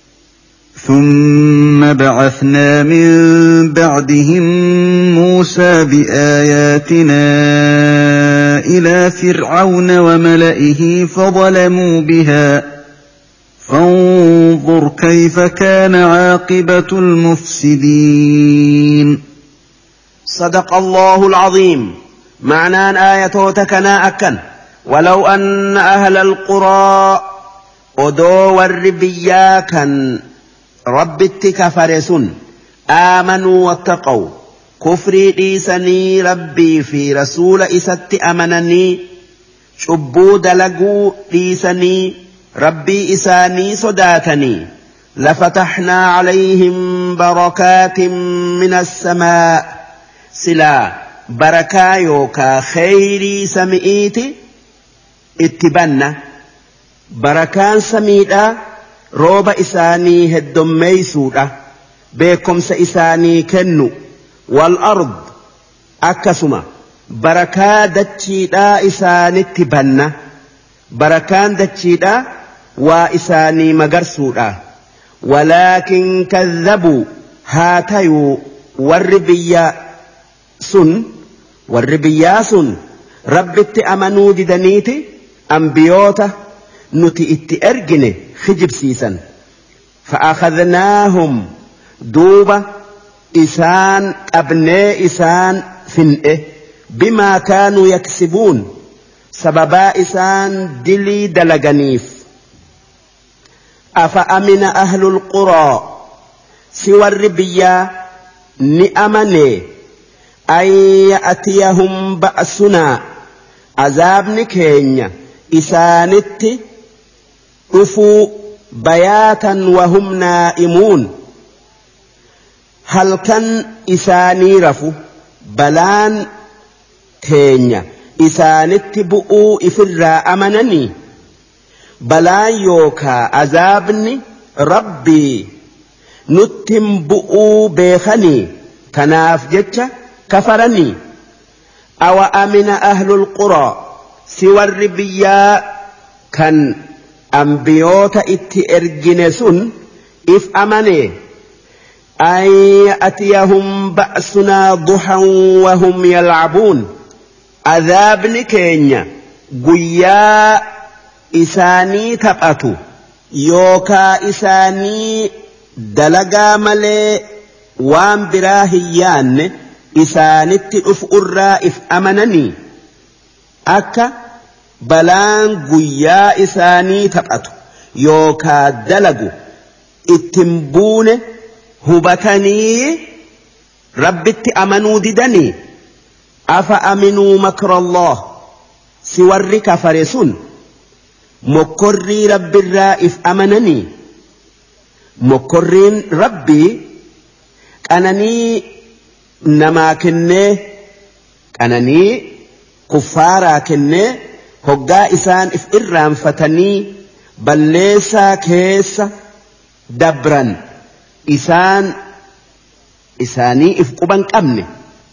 ثم بعثنا من بعدهم موسى بآياتنا إلى فرعون وملئه فظلموا بها فانظر كيف كان عاقبة المفسدين. صدق الله العظيم. معنى آية تكنا أكن ولو أن أهل القرى أدو والربيا كان ربت كفرسون آمنوا واتقوا كفري ديسني ربي في رسول إسات أمنني شبو دلقوا ديسني ربي إساني صداتني لفتحنا عليهم بركات من السماء سلا بركا يوكا خيري سمئيتي اتبنا بركان سميدا روب إساني هدمي سودا بكم سإساني كنو والأرض أكسما بركا دتشيدا إساني اتبنا بركان دتشيدا وإساني مغرسودا ولكن كذبوا هاتيو والربيا سن والربيا سن ربت أمنوا ددنيتي أنبيوتا نتي اتئرجني خجب سيسا فأخذناهم دوبة إسان أبناء إسان فنئه بما كانوا يكسبون سببا إسان دلي دلغنيف أفأمن أهل القرى سوى الربيا نأمني أن يأتيهم بأسنا عذاب كينيا إسانت أفو بياتا وهم نائمون هل كان إساني رفو بلان تينيا إسانت بؤو إفرا أمنني بلان يوكا عذابني ربي نتم بؤو بيخني كناف جتش كفرني أو أمن أهل القرى سوى الربيا كان أنبيوت اتئرجنسون إف أمني أن يأتيهم بأسنا ضحى وهم يلعبون عذاب كينيا قيا إساني تبأتو يوكا إساني دلقا ملي وان براهيان إسانت أفؤرا إف أمنني أكا بلان قيا إساني تبأتو يوكا دلقو اتنبون هبتني ربت أمنوا ددني أفأمنوا مكر الله سور كفرسون مكري رب الرائف أمنني مكرين ربي أنني نما كنه أنني كفارا كنه هقا إسان إف إرام فتني بلسا كيس دبرا إسان إساني إف قبان قمني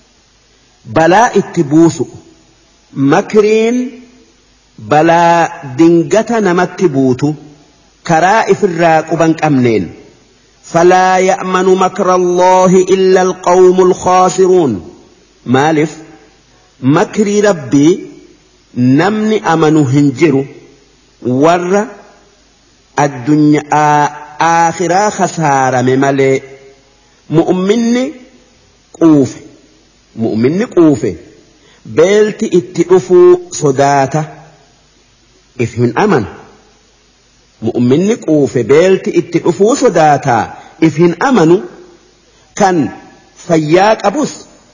بلا اتبوسو مكرين بلا دنجة نمتبوتو كرائف الراق بنك أمنين فلا يأمن مكر الله إلا القوم الخاسرون مالف مكري ربي نمني أمنو هنجرو ور الدنيا آخرا خسارة ممالي مؤمني قوف مؤمني قوف بيلتي اتقفوا صداته إفهن أمن مؤمني قوف بيلتي اتقفوا صداته إفهن أمنوا كان فياك أبوس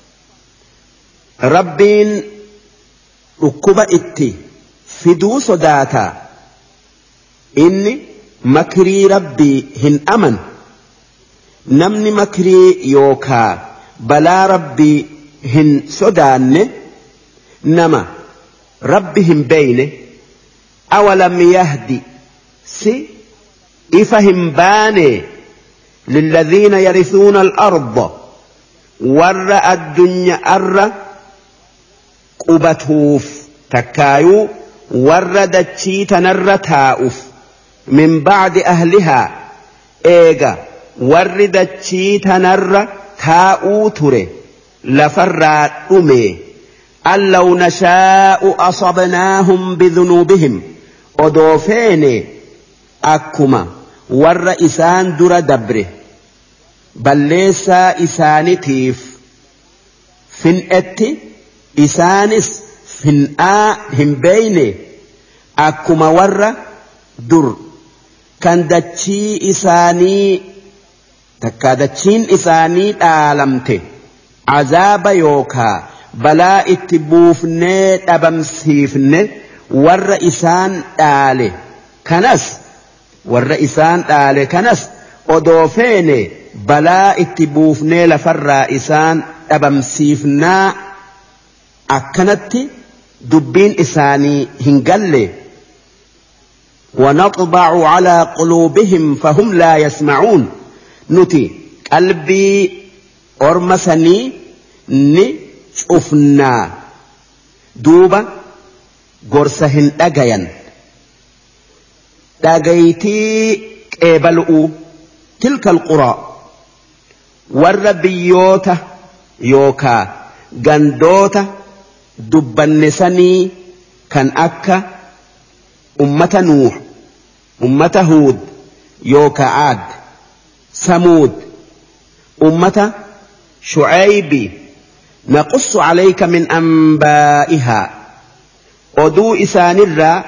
ربين ركب اتي فدو صداته إني مكري ربي هن أمن نمني مكري يوكا بلا ربي هن صدان نما ربهم بينه أولم يهدي سي إفهم باني للذين يرثون الأرض ور الدنيا أر قبتوف تكايو ور دتشي تنر تاؤف من بعد أهلها إيغا ور دتشي تنر تاؤ تري لفرات أمي أن لو نشاء أصبناهم بذنوبهم أدوفين أكما ور إسان در دبره بل ليس إسان تيف فن أتي إسانس فن آ هم بيني أكما ور در كان دتشي إساني تكا دتشين إساني تعلمته عذاب يوكا بلا اتبوفني أبمسيفني والرئيسان آله كنس والرئيسان آله كنس أدوفيني بلا اتبوفني لفالرئيسان أبمسيفنا أكنت دبين إساني هنقل ونطبع على قلوبهم فهم لا يسمعون نتي قلبي أرمسني ني شوفنا دوبا قرسهن أجيا داقيتي قبلؤوا تلك القرى والربيوتة يوكا قندوتة دبنسني كان أكا أمة نوح أمة هود يوكا عاد ثمود أمة شعيب نقص عليك من أنبائها أدو إسان الرا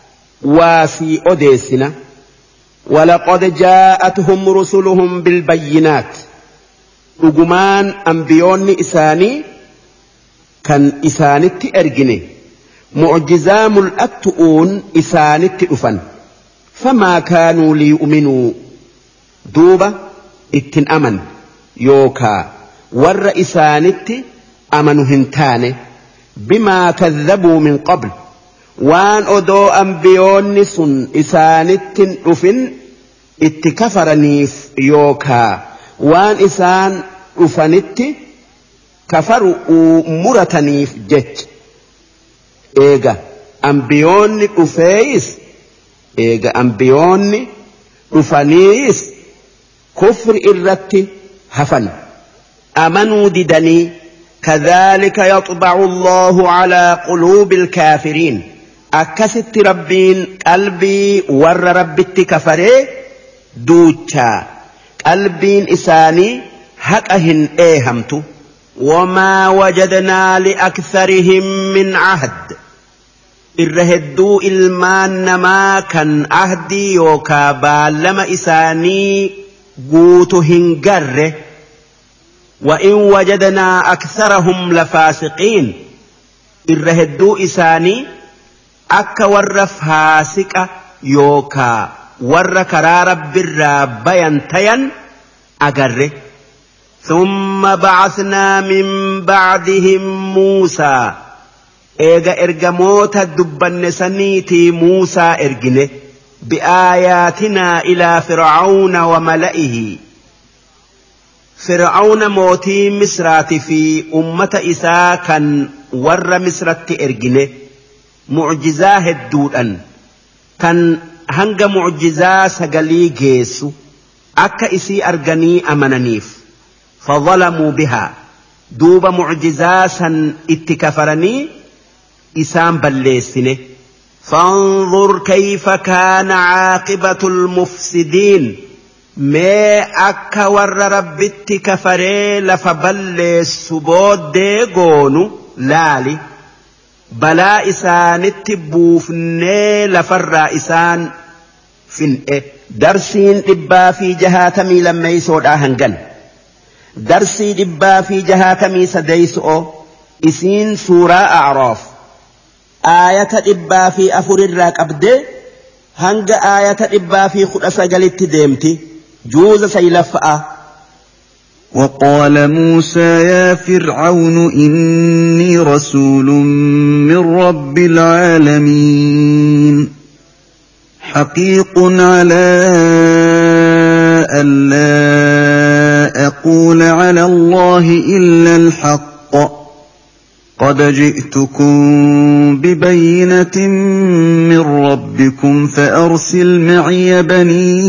وفي أديسنا ولقد جاءتهم رسلهم بالبينات أجمان أنبيون إساني كان إسانت أرجني معجزام الأتؤون إسانت أفن فما كانوا ليؤمنوا دوبة اتن أمن يوكا ور إسانت أمنوا هنتاني بما كذبوا من قبل وان أدو أنبيون سن إسانت أفن اتكفرنيف يوكا وان إسان أفنت كفروا مرتنيف جت إيجا أنبيون أفيس إيجا أنبيون أفنيس كفر إرتي هفن أمنوا ددني كذلك يطبع الله على قلوب الكافرين أكست ربين قلبي ور ربت كفري دوتشا قلبين إساني هكأهن إيهمت وما وجدنا لأكثرهم من عهد الرهدو إلمان ما كان عهدي يوكا بالما إساني قوتهن قره وإن وجدنا أكثرهم لفاسقين الرهدو إساني أكا ورف هاسك يوكا ور كرارب بالراب ينتين أقره ثم بعثنا من بعدهم موسى إيغا إرغموت الدبن سنيتي موسى إرغنه بآياتنا إلى فرعون وملئه فرعون موتي مصرات في أمة إساء كان ور مصرت إرجنه معجزاه الدودن كان هنگ معجزة سقلي جيسو أكا إسي أرجني أمنانيف فظلموا بها دوب معجزة سن اتكفرني إسام بلسنه فانظر كيف كان عاقبة المفسدين ما أكا ور ربت كفري لفبلس بود ديغونو لالي بلا إسان التبوفني لفر إسان فين إيه درسين إبا في جهاتمي لما يسود أهنجن درسي إبا في جهاتمي سديسو إسين سورة أعراف آية إبا في أفر الراك أبدي هنج آية إبا في خلصة قلت ديمتي جوز سيلفأ وقال موسى يا فرعون إني رسول من رب العالمين حقيق على ألا أقول على الله إلا الحق قد جئتكم ببينة من ربكم فأرسل معي بني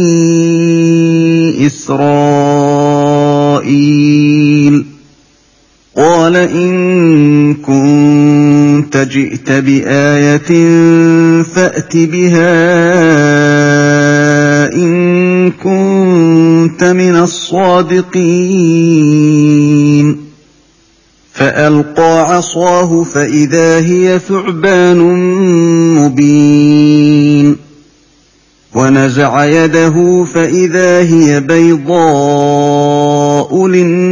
إسرائيل قال إن كنت جئت بآية فأت بها إن كنت من الصادقين فألقى عصاه فإذا هي ثعبان مبين ونزع يده فإذا هي بيضاء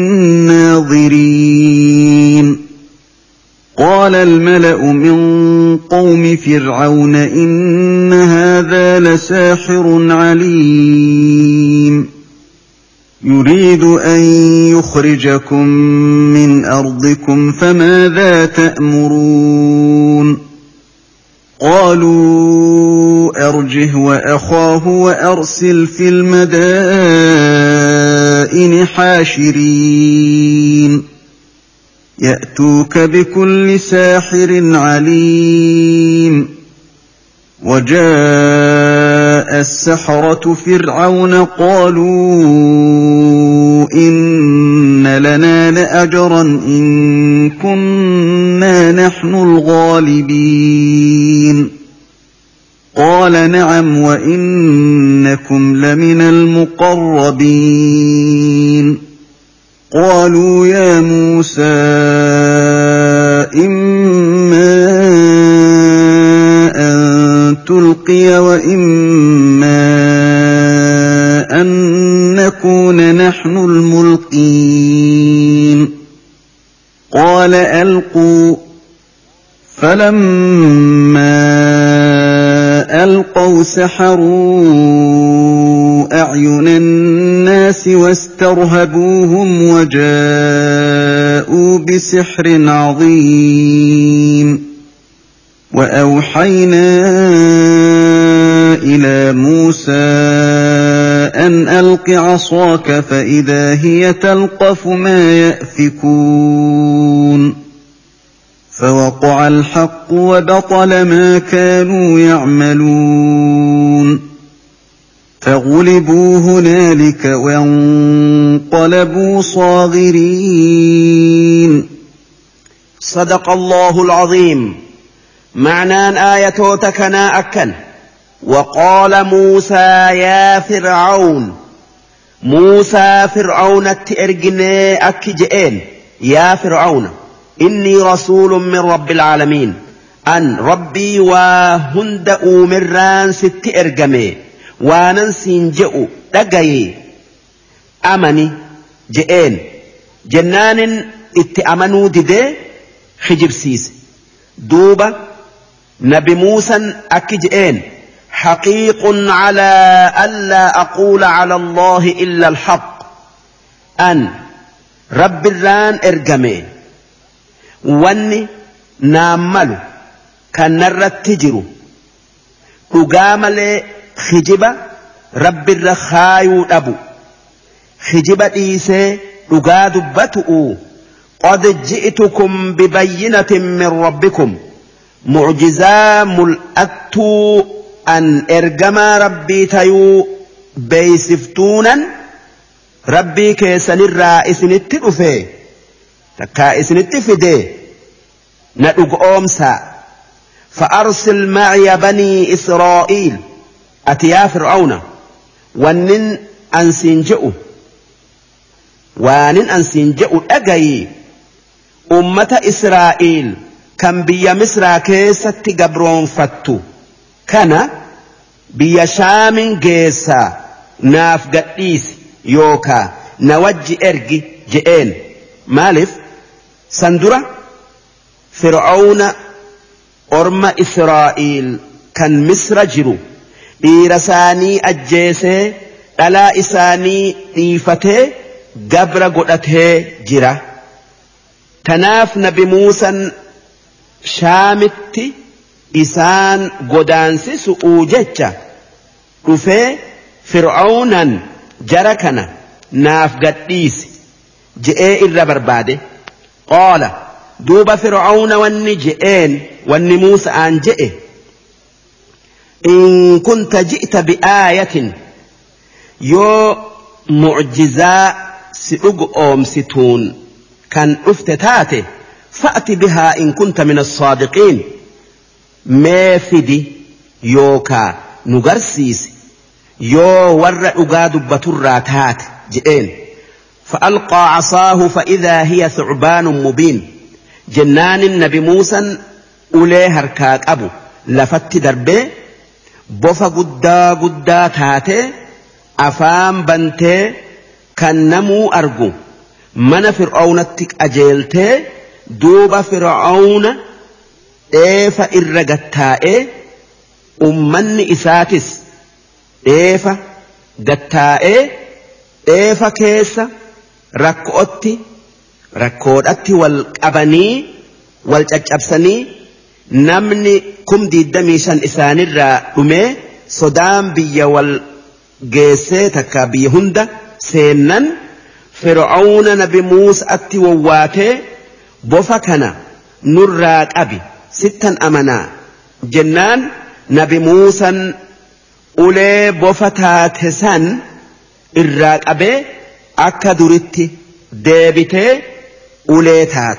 للناظرين قال الملأ من قوم فرعون إن هذا لساحر عليم يريد أن يخرجكم من أرضكم فماذا تأمرون قالوا أرجه وأخاه وأرسل في المدائن حاشرين يأتوك بكل ساحر عليم وجاء السحرة فرعون قالوا إن لنا لأجرا إن كنا نحن الغالبين قال نعم وإنكم لمن المقربين قالوا يا موسى إما أن تلقي وإما أن نكون نحن الملقين قال ألقوا فلما ألقوا سحروا أعين الناس واسترهبوهم وجاءوا بسحر عظيم وأوحينا إلى موسى أن ألق عصاك فإذا هي تلقف ما يأفكون فوقع الحق وبطل ما كانوا يعملون فغلبوا هنالك وانقلبوا صاغرين صدق الله العظيم. معنى آية تكنا أكن وقال موسى يا فرعون موسى فرعون التئرجني أكجئين يا فرعون إني رسول من رب العالمين أن ربي وهند أمران ست إرجمي واننسين جئوا دقاي أمني جئين جنان اتأمنوا ددي خجب سيس دوبة نبي موسى أكجئين حقيق على ألا أقول على الله إلا الحق أن رب الران إرجمي واني ناملو كان نرت تجرو تقامل خجبة رب الرخايو أبو خجبة إيسي أقادبتؤ قد جئتكم ببينة من ربكم معجزا ملأتو أن إرجما ربي تيو بيسفتونا ربي كيسن الرئيس نتلفه تكائس نتفده ندق أمسا فأرسل معي بني إسرائيل أتيا فرعون ونن أنسنجئوا وانن أنسنجئوا أجي أمة إسرائيل كان بيا مصر كيسة قبرون فتو كان بيا شام جيسا ناف قديس يوكا نوجي إرجي جئين مالف سندرة فرعون أرم إسرائيل كان مصر جرو إيرساني أجيسي ألا إساني إيفته قبر قدته جرا تناف نبي موسى شامت إسان قدانسي سؤوجتش وفي فرعونا جركنا ناف قديس جئي إلا برباده قال دوب فرعون واني جئين واني موسى أن جئه إن كنت جئت بآية يو معجزاء سئق أوم ستون كان افتتاته فأت بها إن كنت من الصادقين ما فدي يوكا نغرسيس يو ور أقاد بطراتات جئين فألقى عصاه فإذا هي ثعبان مبين جنان النبي موسى أولي هركاك أبو لفت دربي بوفا قدا قدا تاتي أفام بنتي كنمو أرجو من فرعونتك أجيلتي دوب فرعون إيفا إرقتائي أمن إساتس إيفا قتائي إيفا كيسا ركوتي ركوتي والقبني والججبسني نمني كم دي دميشان إسان الرأمي صدام بي والجيسيتك بيهند سينن فرعون نبي موسى أتي وواتي بوفكنا نراك أبي ستا أمنا جنان نبي موسى أولي بوفتات سن الراك أبي أكا دريتي ديبتي أولي تات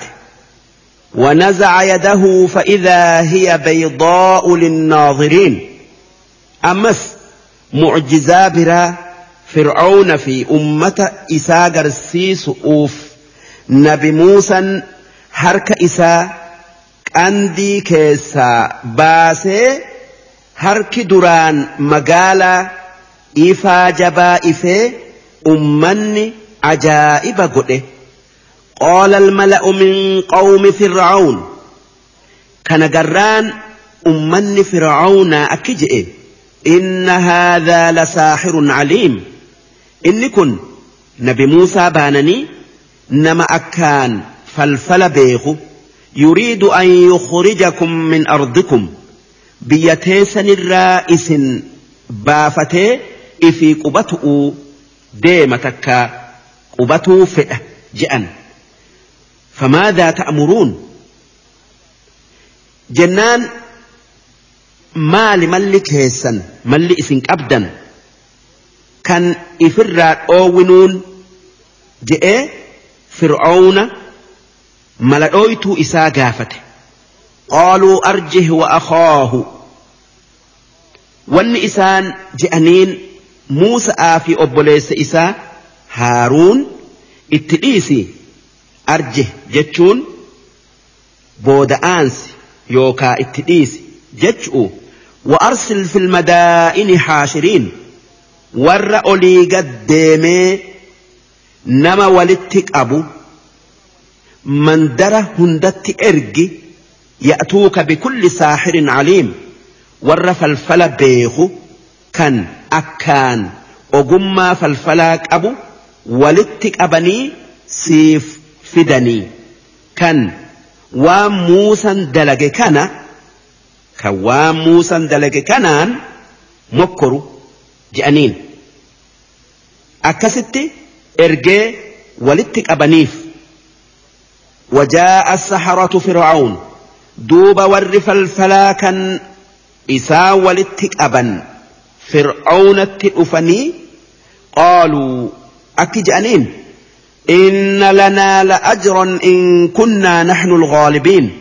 ونزع يده فإذا هي بيضاء للناظرين أمس معجزة برا فرعون في أمة إساء قرسيس أوف نبي موسى حرك إساء أندي كيسا باسي حرك دران مقالا إفا جبا إفي أمني عجائب قده قال الملأ من قوم فرعون كان قران أمني فرعون أكجئ إن هذا لساحر عليم إن كن نبي موسى بانني نما أكان فالفل بيخو يريد أن يخرجكم من أرضكم بيتيسن الرائس بافتي إفي قبطؤ ديمتك قبطؤ فئة جئن فماذا تأمرون جنان مالي ملك هيسن ملي إسنك أبدا كان إفرات أوونون جئ فرعون ملأويتو إسا قافته قالوا أرجه وأخاه وان إسان جئنين موسى آفي أبوليس إسا هارون اتئيسي أرجه جتشون بود آنس يوكا اتئيسي جتشو وأرسل في المدائن حاشرين ور أولي قد ديمي نما ولدتك أبو من دره هندت إرجي يأتوك بكل ساحر عليم ور فالفل بيخو كان أكان أقم فالفلاك أبو ولدتك أبني سيف فدني كان وموسى دلق كان كوام موسى دلق كانان مكرو جانين أكستي إرجي ولتك أبنيف وجاء السحرة فرعون دوب ورف الفلاكا إسا ولتك أبن فرعون التئفني قالوا أكجأنين إن لنا لأجرا إن كنا نحن الغالبين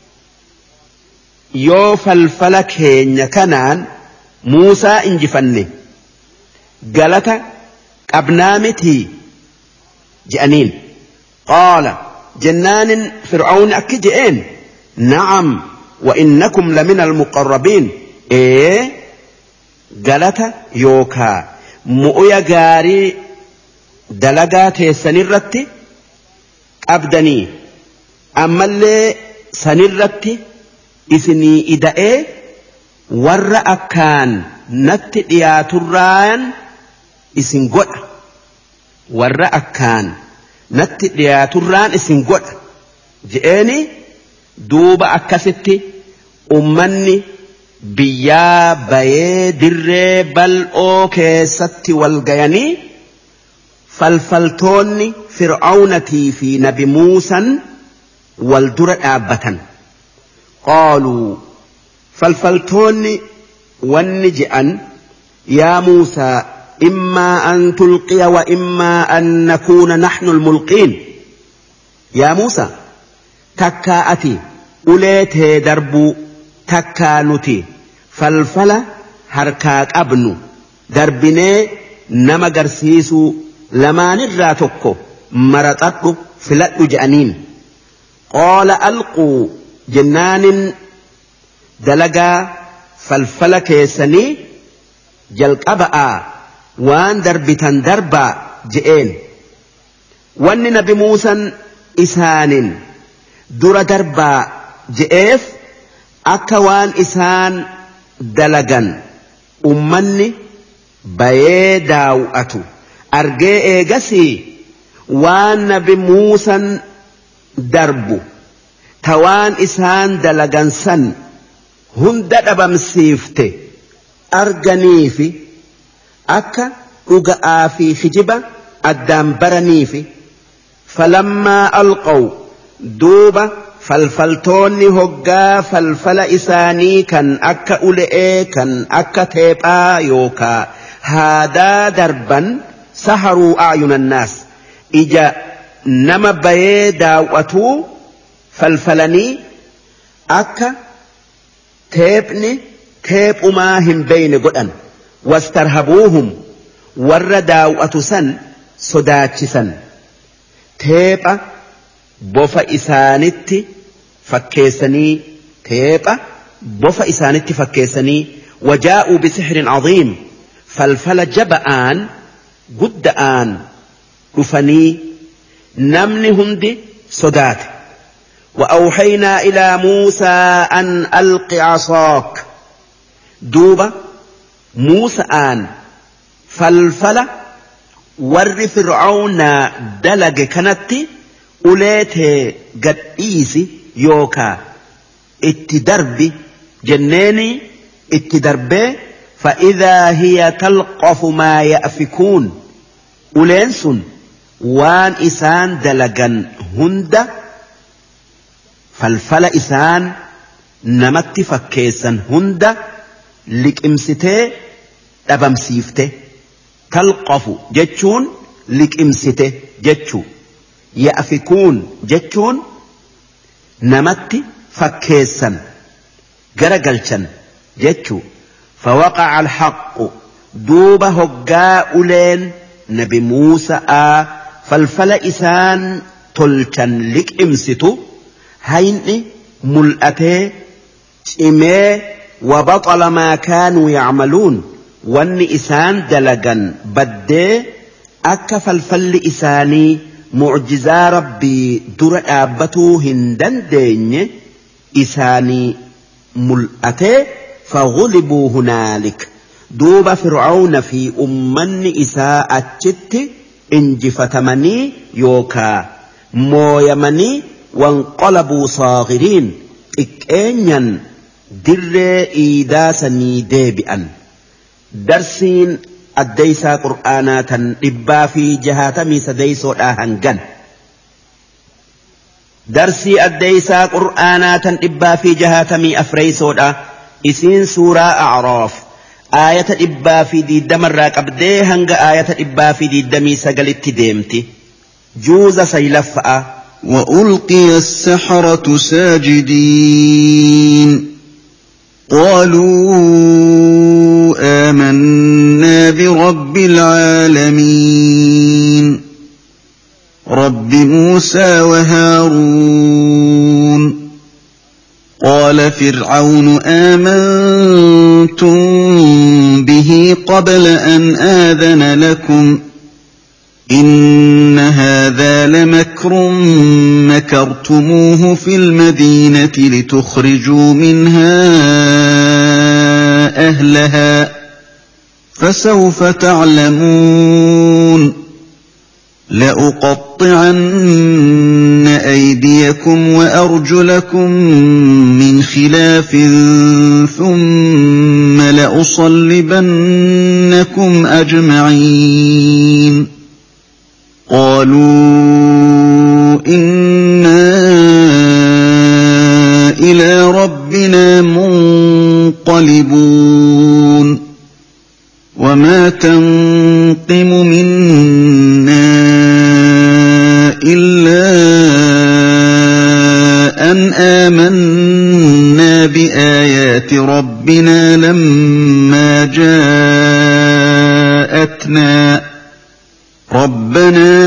يوف الفلك هين كنان موسى انجفني قالت أبنامتي جأنين قال جنان فرعون أكجئين نعم وإنكم لمن المقربين إيه قالت يوكا مؤيا غاري دلقات سنرتي أبدني أما اللي سنرتي إسني إدائي ور أكان نتئيات الران إسن قد ور أكان نتئيات الران إسن قد جئني دوب أكستي أمني بيا بيه در بل أو كيستي والغياني فالفلتوني فرعونتي في نبي موسى والدر آبة قالوا فالفلتوني والنجأن يا موسى إما أن تلقي وإما أن نكون نحن الملقين يا موسى تكاأتي أوليت دربو تكانتي فالفلا هركاك أبنو دربني نما قرسيسو لما نراتكو مرتقو فلت جأنين قال ألقوا جنان دلقا فالفلا كيسني جلق أبقى وان دربتان دربا جئين وان نبي موسى إسان در دربا جئيف أكوان إسان دلقا أمني بيداو أتو أرجي إيجاسي وان نبي موسى دربو توان إسان دلقا سن هند أبمسيفته أرجنيفي أكا أجأ في خجبة الدام برنيفي فلما ألقوا دوبة فالفلتوني هقا فالفل إساني كان أكا أولئي كان أكا تيبا يوكا هذا دربا سحروا أعين الناس إجا نما بيدا وأتو فالفلني أكا تيبني تيب أماهم بين قدن واسترهبوهم ورداو أتسن صداتشسن تيبا بوفا إسانتي فكيسني تيبا بوفا إسانتي فكيسني وجاءوا بسحر عظيم فالفل جبآن قدآن رفني نمني هندي صدات وأوحينا إلى موسى أن ألق عصاك دوبا موسى آن فالفل ور فرعون دلق كانت أوليته قد إيسي يوكا اتدربي جنيني اتدربي فإذا هي تلقف ما يأفكون أولينس وان إسان دلقا هند فالفل إسان نمت فكيسا هند لك امسته أبمسيفته تلقف جتشون لك امسته جتشو يأفكون جتشون نمت فكيسا قرقلشا جتشو فوقع الحق دوب هقاء لين نبي موسى آ فالفل إسان تلشا لك امستو هيني ملأته إمي وبطل ما كانوا يعملون وان إسان دلقا بدي أكا فالفل إساني معجزة ربي در آبتو هندن دين إساني ملأته فغلبوا هنالك دوب فرعون في أمن إساء الجت انجفتمني يوكا مويمني وانقلبوا صاغرين إكينيا در إيداسني ديبئا درسين addeysaa qur'aanaa tan dhibbaa fi jahaatamii sadeysoodhaa hangan darsii addeysaa qur'aanaa tan dhibbaa fi jahaatamii afreysoodha isiin suuraa a'raaf aayata dhibbaa fi diiddamarraa qabdee hanga aayata dhibbaa fi diiddamii sagalitti deemti juuza saylaffa'a وألقي السحرة ساجدين قالوا آمنا برب العالمين رب موسى وهارون قال فرعون آمنتم به قبل أن آذن لكم إن هذا لمكر مكرتموه في المدينة لتخرجوا منها أهلها فسوف تعلمون لأقطعن أيديكم وأرجلكم من خلاف ثم لأصلبنكم أجمعين قالوا إنا إلى ربنا منقلبون وما تنقم منا إلا أن آمنا بآيات ربنا لما جاءتنا ربنا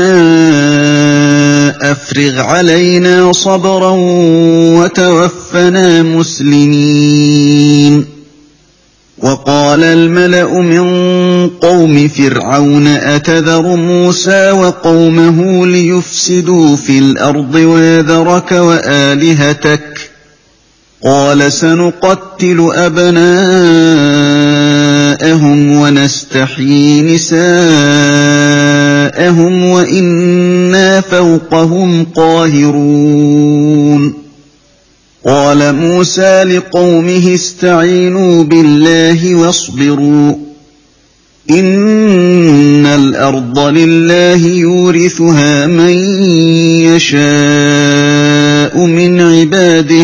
أفرغ علينا صبرا وتوفنا مسلمين وقال الملأ من قوم فرعون أتذر موسى وقومه ليفسدوا في الأرض ويذرك وآلهتك قال سنقتل أبناءهم ونستحيي نساءهم وإنا فوقهم قاهرون قال موسى لقومه استعينوا بالله واصبروا إن الأرض لله يورثها من يشاء من عباده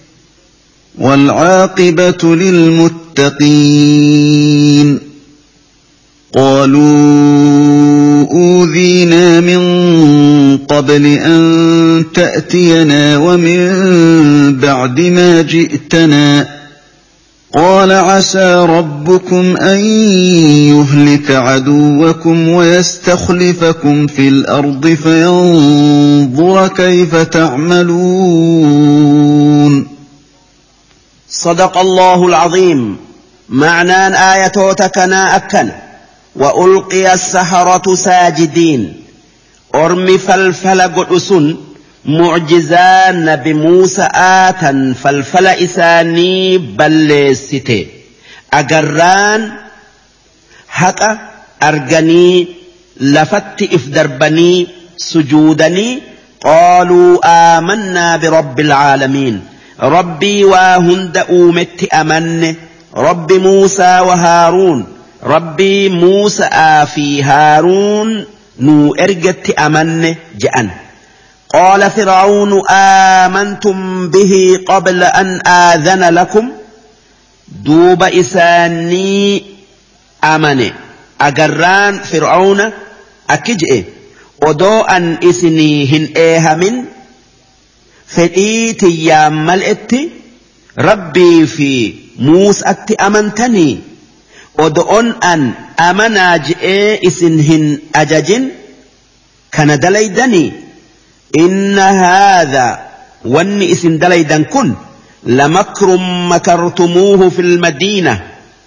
والعاقبة للمتقين قالوا أوذينا من قبل أن تأتينا ومن بعد ما جئتنا قال عسى ربكم أن يهلك عدوكم ويستخلفكم في الأرض فينظر كيف تعملون صدق الله العظيم معنى آياتنا أكن وألقي السحرة ساجدين أرمي فالفل قدسن معجزان نبي موسى آتا فالفل إساني بلستي أقران حقا أرغني لفت إفدربني سجودني قالوا آمنا برب العالمين ربي وهند أومت أمن رب موسى وهارون ربي موسى في هارون نو إرجت أمن جأن قال فرعون آمنتم به قبل أن آذن لكم دوب إساني أمن أجران فرعون أكجئ ودو أن إسنيهن إيهمن فديتي يا ملئتي ربي في موسى أمنتني ودون أن أمنا جئ إسنهن أججن كان دليدني إن هذا وان إسن دليدن كن لمكر مكرتموه في المدينة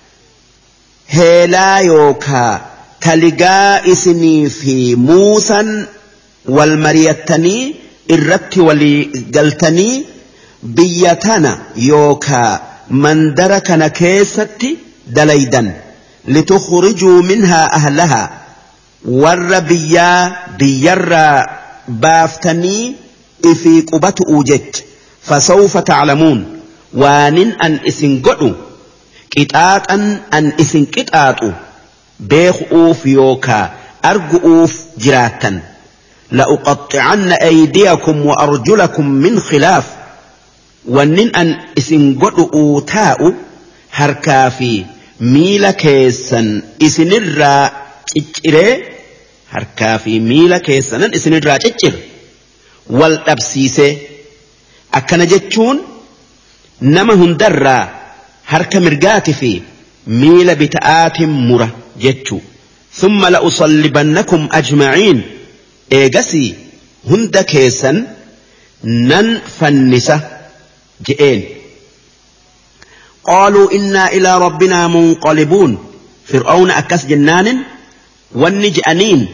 هلا يوكا تلقى إسني في موسى والمريتني الربت ولي قلتني بيتنا يوكا من دركنا كيستي دليدا لتخرجوا منها أهلها والربيا بير بافتني إفي قبت أوجت فسوف تعلمون وان أن إسن قدوا كتاتا أن إسن كتاتوا beekuuf yookaa arguuf jiraattan لأقطعن أيديكم وأرجلكم من خلاف ونن أن إسن قدؤوا تاؤ هركا في ميلا كيسن إسن الرا تجري هركا في ميلا كيسن إسن الرا تجر والأبسيسي أكن جتشون نما هندرا هركا مرقات في ميلا بتآت مرة جتشو ثم لأصلبنكم أجمعين إيجاسي هند كيسن نن فنسة جئين قالوا إنا إلى ربنا منقلبون فرعون أكس جنان والنجأنين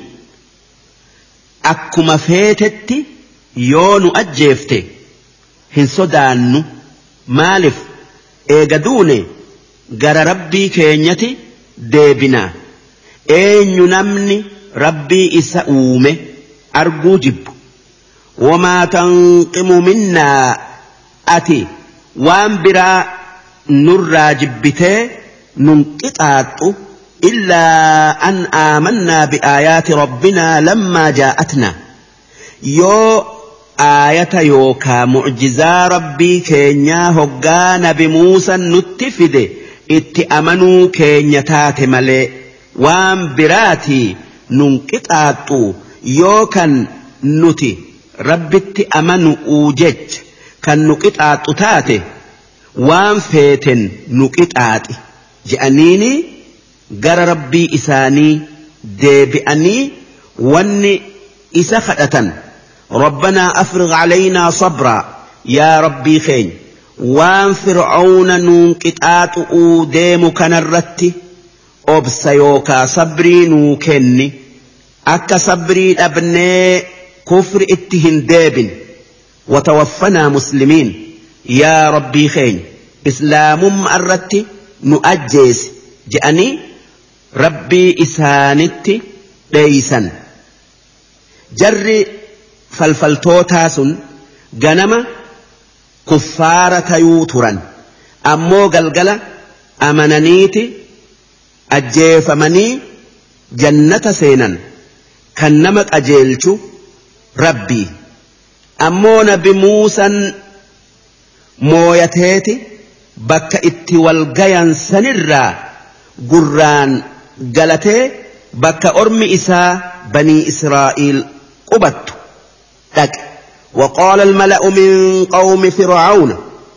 أكما فيتت يون أجيفت هنسودان مالف إيجادوني غر ربي كينيتي ديبنا أين ينمني ربي إسأومه أرجو جب وما تنقم منا أتي وان برا نرى جبته ننقطعت إلا أن آمنا بآيات ربنا لما جاءتنا يو آية يوكا معجزة ربي كينيا هقان بموسى نتفد اتأمنوا كينيتات ملي وان براتي ننقطعت يوكا نتي ربي أمنوا أوجج كان نقطعت تاتي وان فيتن نقطعت جأنيني قر ربي إساني ديبئني واني إسخطة ربنا أفرغ علينا صبرا يا ربي خين وان فرعون ننقطعت أوديم كنرتي أبسيوكا صبري نوكني أكا صبري أبني كفر اتهن ديب وتوفنا مسلمين يا ربي خين إسلام مأرتي نؤجيس جأني ربي إسانتي ليسا جري فالفلتوتاس جنم كفارة يوترا أمو قلقل أمنانيتي أجيف مني جنة سينا كنمك أجيلشو ربي أمو نبي موسى مويتيتي بك اتي والقيان سنرا قران قلتي بك أرمي إساء بني إسرائيل قبت لك وقال الملأ من قوم فرعون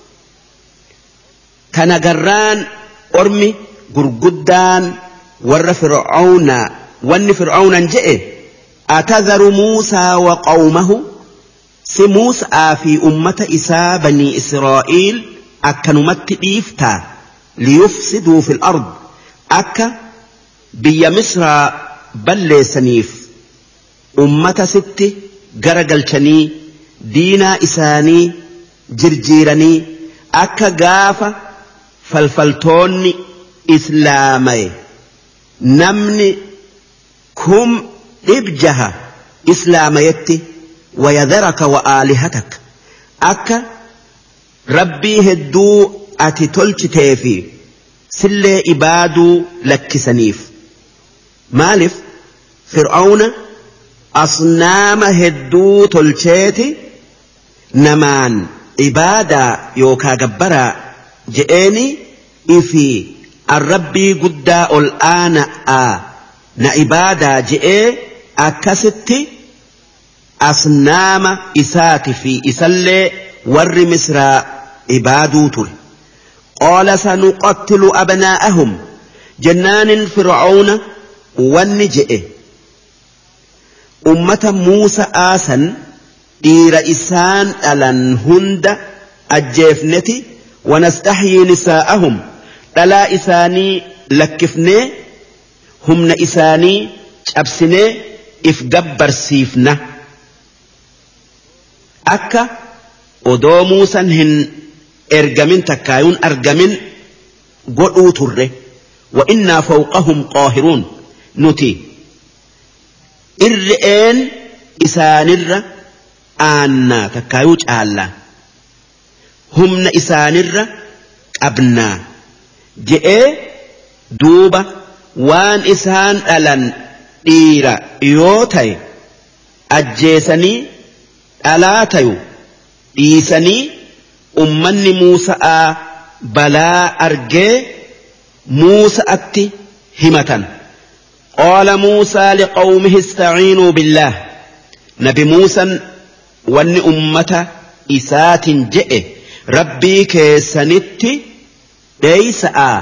كان قران أرمي قرقدان ور فرعون ون فرعون جئ أتذر موسى وقومه سموسى في أمة إساء بني إسرائيل أكنمت إيفتا ليفسدوا في الأرض أكا بيا مصر بل سنيف أمة ست قرقل شني دينا إساني جرجيرني أكا قافة فالفلتوني إسلامي نمني كم إبجها إسلاميتي ويذرك وآلهتك أكا ربي هدو أتي تلش تيفي سلي إبادو لك سنيف مالف فرعون أصنام هدو تلشيتي نمان إبادة يوكا جبرا جئني إفي الربي قدا الآن آ نعبادة جئ أكستي أصنام إسات في إسلي ور مصر إبادو تل قال سنقتل أبناءهم جنان فرعون والنجئ أمة موسى آسا إير إسان ألن هند الجيفنتي ونستحيي نساءهم تلا إساني لكفني هم إساني أبسني إفقبر سيفنا أكا odoo muusan hin ergamin takkaayuun argamin godhuu turre wa innaa fawqahum qaahiruun nuti irre'een isaanirra aannaa takkaayuu caallaa humna isaanirra qabnaa je'ee duuba وان إسان ألن إيرا يوتي أجيسني ألاتيو إيسني أمني موسى بلا أرجي موسى أتي همة قال موسى لقومه استعينوا بالله نبي موسى وان أمة إسات جئ ربي كيسنت ليس آ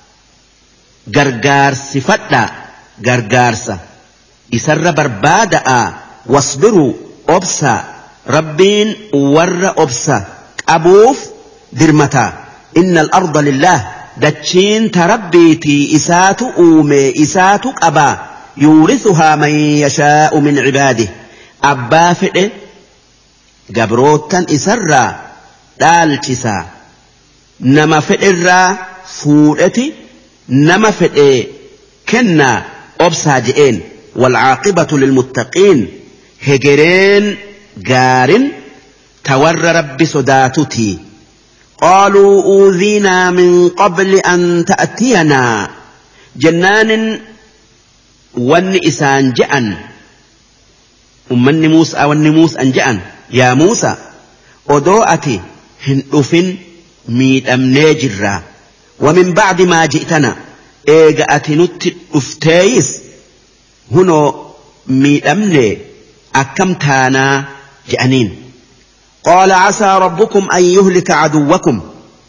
غرغارس فتا غرغارس إسر بربادا واصبروا أبسا ربين ور أبسا أبوف درمتا إن الأرض لله دتشين تربيتي إسات أومي إسات أبا يورثها من يشاء من عباده أبا فئ قبروتا إسرا دالتسا نما فئ فورتي نما فئ كنا أبسا جئين والعاقبة للمتقين هجرين جار تور رب صداتتي قالوا أوذينا من قبل أن تأتينا جنان ون إسان جأن أمني موسى ون موسى أن جأن يا موسى أدوأتي هندفن ميت أمني جرا ومن بعد ما جئتنا إيجأتي نت أفتيس هنو ميت أمني أكمتانا جأنين قال عسى ربكم أن يهلك عدوكم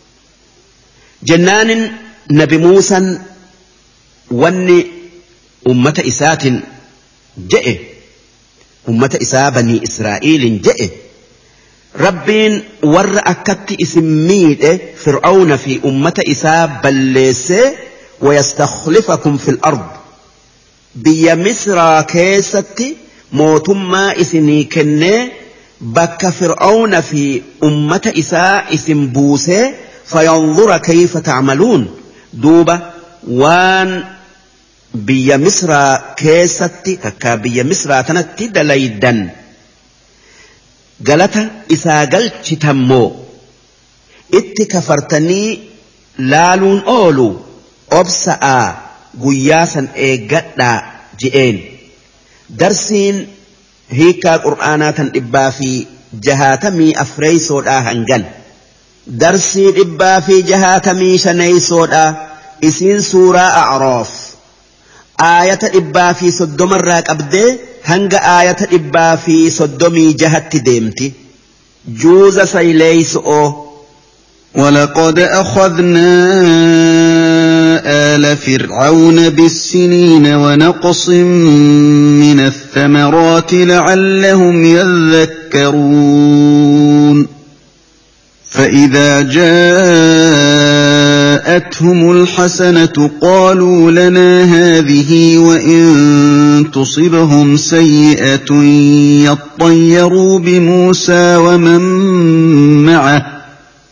جنان نبي موسى ون أمة إسات جئ أمة إسا بني إسرائيل جئ ربين ور أكت اسميد فرعون في أمة إسا بلس ويستخلفكم في الأرض بيا مصر كيست موتما إسني كني بك فرعون في أمة إساء اسم بوسى فينظر كيف تعملون دوبة وان بيا مصر كيستي كا بيا مصر تنتي دليدا قالت إسا قلت تمو إت كفرتني لالون أولو أبسأ قياسا إيقادا جئين درسين هيكا قرآنات إبا في جهاتمي أفري سودا هنجل درسي إبا في جهاتمي شني سودا إسين سورة أعراف آية إبا في صدوم الراك أبدي هنگ آية إبا في صدومي جهت ديمتي جوز سيليس أو ولقد أخذنا آل فرعون بالسنين ونقص من الثمرات لعلهم يذكرون فإذا جاءتهم الحسنة قالوا لنا هذه وإن تصبهم سيئة يطيروا بموسى ومن معه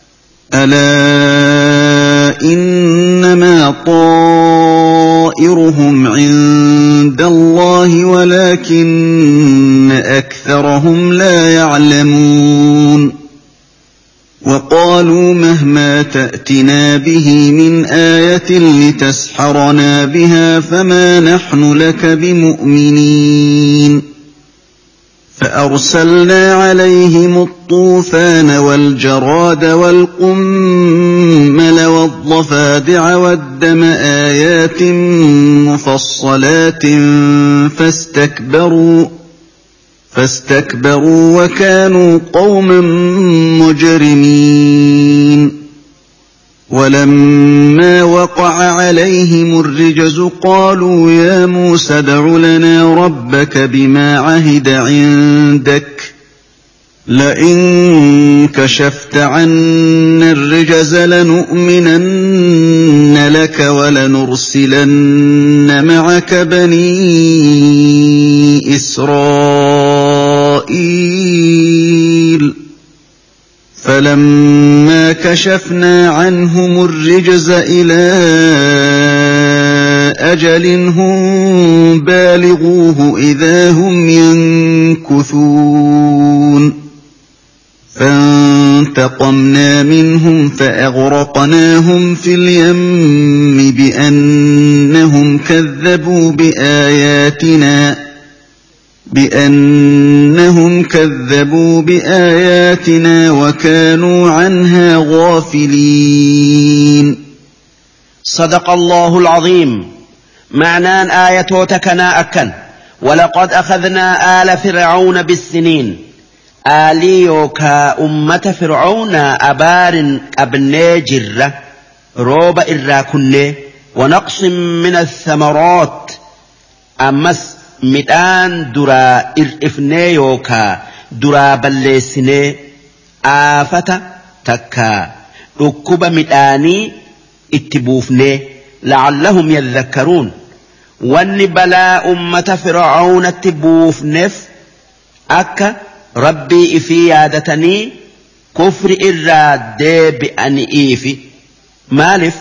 ألا إنما طائرهم عند الله ولكن أكثرهم لا يعلمون وقالوا مهما تأتنا به من آية لتسحرنا بها فما نحن لك بمؤمنين فأرسلنا عليهم الطوفان والجراد والقمل والضفادع والدم آيات مفصلات فاستكبروا فاستكبروا وكانوا قوما مجرمين ولما وقع عليهم الرجز قالوا يا موسى ادع لنا ربك بما عهد عندك لئن كشفت عنا الرجز لنؤمنن لك ولنرسلن معك بني إسرائيل فلما كشفنا عنهم الرجز إلى أجل هم بالغوه إذا هم ينكثون فانتقمنا منهم فأغرقناهم في اليم بأنهم كذبوا بآياتنا بأنهم كذبوا بآياتنا وكانوا عنها غافلين. صدق الله العظيم. معنى آية تكنا أكن ولقد أخذنا آل فرعون بالسنين. آلي يوكا أمة فرعون أبار أبني جرة روب إراكن ونقص من الثمرات أمس midhaan duraa ir'ifnee yookaa duraa balleessinee aafata takkaa dhukkuba midhaanii itti buufnee la'allahum yadhakkaruun wanni balaa ummata fir'aawnatti buufneef akka rabbii ifii yaadatanii kufri irraa deebi'aniifi maaliif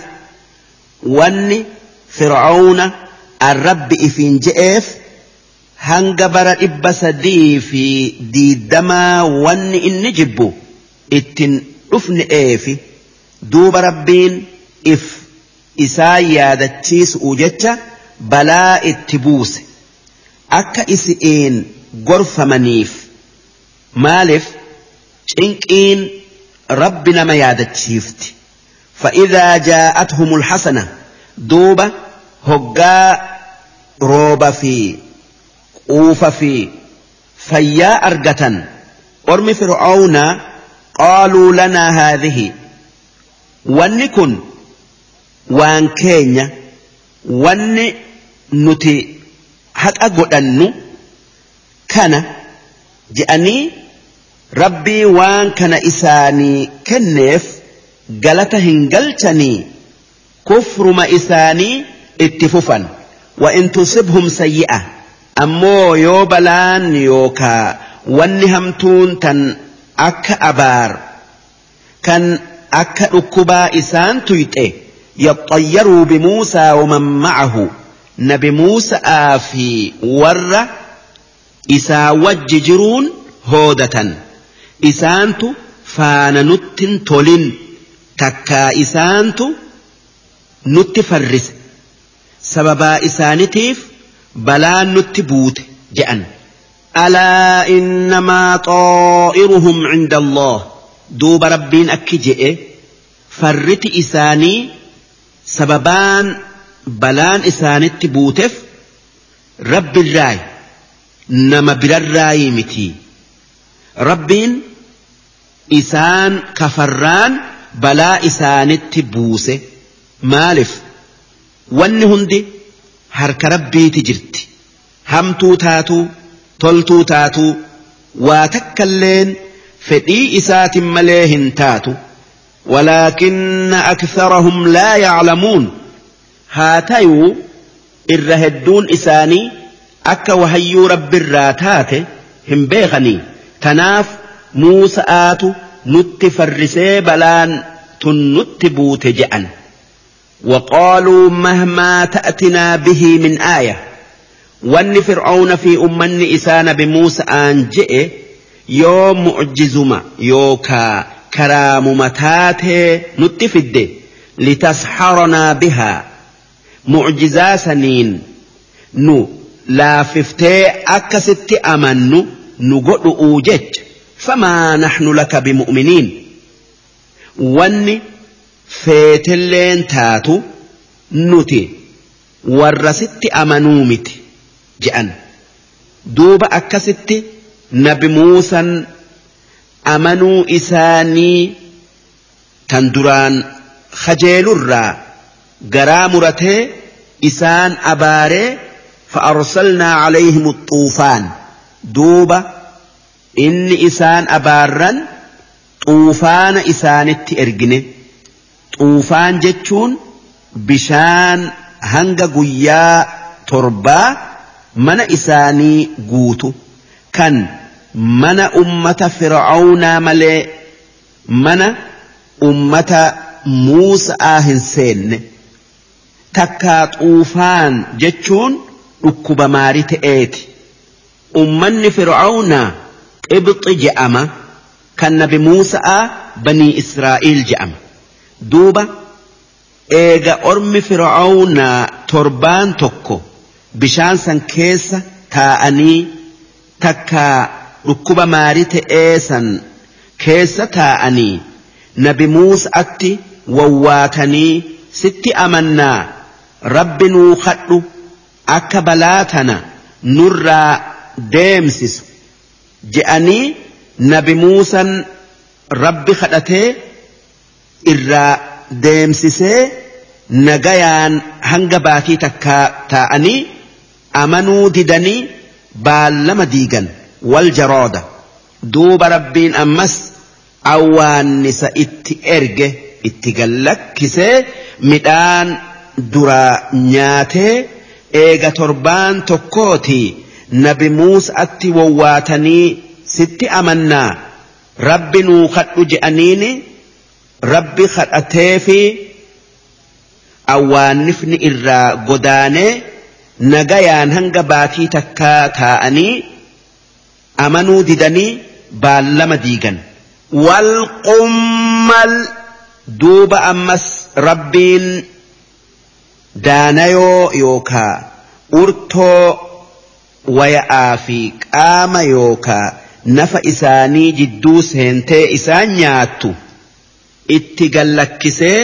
wanni fir'aawna arrabbi ifiin je'eef hanga bara dhibba sadii fi diiddamaa wanni inni jibbu ittin dhufne'eefi duuba rabbiin if isaa yaadachiisuu jecha balaa itti buuse akka isi'iin gorfamaniif maaliif cinqiin rabbi nama yaadachiifti فإذا جاءتهم الحسنة دوبة هقا روبة في quufa fi fayyaa argatan ormi fir'aawna qaaluu lanaa haadhihi wanni kun waan keenya wanni nuti haqa godhannu kana je'anii rabbii waan kana isaanii kenneef galata hin galchanii kufruma isaanii itti fufan wa in tusibhum sayyi'a ammoo yoo balaan yookaa wanni hamtuun tan akka abaar kan akka dhukkubaa isaan tuyxe yaxayyaruu bimuusaa waman ma'ahu nabi muusa'aa fi warra isaa wajji jiruun hoodatan isaantu faana nuttin tolin takkaa isaantu nutti farrise sababaa isaanitiif balaan nutti buute je'an alaa innamaa xaa'iruhum cinda allah duuba rabbiin akki je'e farriti isaanii sababaan balaan isaanitti buuteef rabbirraayi nama birarraayi miti rabbiin isaan kafarraan balaa isaanitti buuse maaliif wanni hundi harka rabbiiti jirti hamtuu taatuu toltuu taatuu waa takkalleen fedhii isaatin malee hin taatu ولكن أكثرهم لا يعلمون هاتيو الرهدون إساني أكا وهيو رب الراتات هم بيغني تناف موسى آتو نتفرسي بلان تنتبوت جأن وقالوا مهما تأتنا به من آية وان فرعون في أمن إسان بموسى آنجئ يوم معجزما يوكا كرام متاته نتفد لتسحرنا بها معجزا سنين نو لا ففتي أكست أمن نقول أوجج فما نحن لك بمؤمنين واني فيتلين تاتو نتي ورست أمنومت جأن دوب أكست نبي موسى أمنوا إساني تندران خجيل الرا قرامرته إسان أباري فأرسلنا عليهم الطوفان دوبة إن إسان أبارا طوفان إسان التئرقن طوفان جتشون بشان هنغ قيا تربا من إساني قوتو كان من أمة فرعون ملي من أمة موسى هنسين تكا طوفان جتشون ركب مارت ايتي أمن فرعون ابط جأما kan nabi Muusaa banii Israa'el je'ama. Duuba eega ormi Fir'aawnaa torbaan tokko bishaan san keessa taa'anii takka dhukkuba maarii ta'ee san keessa taa'anii nabi Muusaatti wawwaatanii sitti amannaa rabbi nuu kadhu akka balaa tana nurraa deemsisu je'anii nabi Muusan rabbi kadhatee irraa deemsisee nagayaan hanga baatii takkaa taa'anii amanuu didanii baallama diigan wal jarooda. Duuba rabbiin ammas awwaannisa itti erge itti gallakkisee midhaan duraa nyaatee eega torbaan tokkooti nabi Muusaatti wawwaatanii sitti amannaa rabbi nuu kadhu je'aniini rabbi kadhatee fi awwaannifni irraa godaanee nagayaan hanga baatii takkaa taa'anii amanuu didanii baallama diigan. Wal qummal duuba ammas rabbiin daanayoo yookaa urtoo waya'aa fi qaama yookaa nafa isaanii jidduu seentee isaan nyaattu itti gallakkisee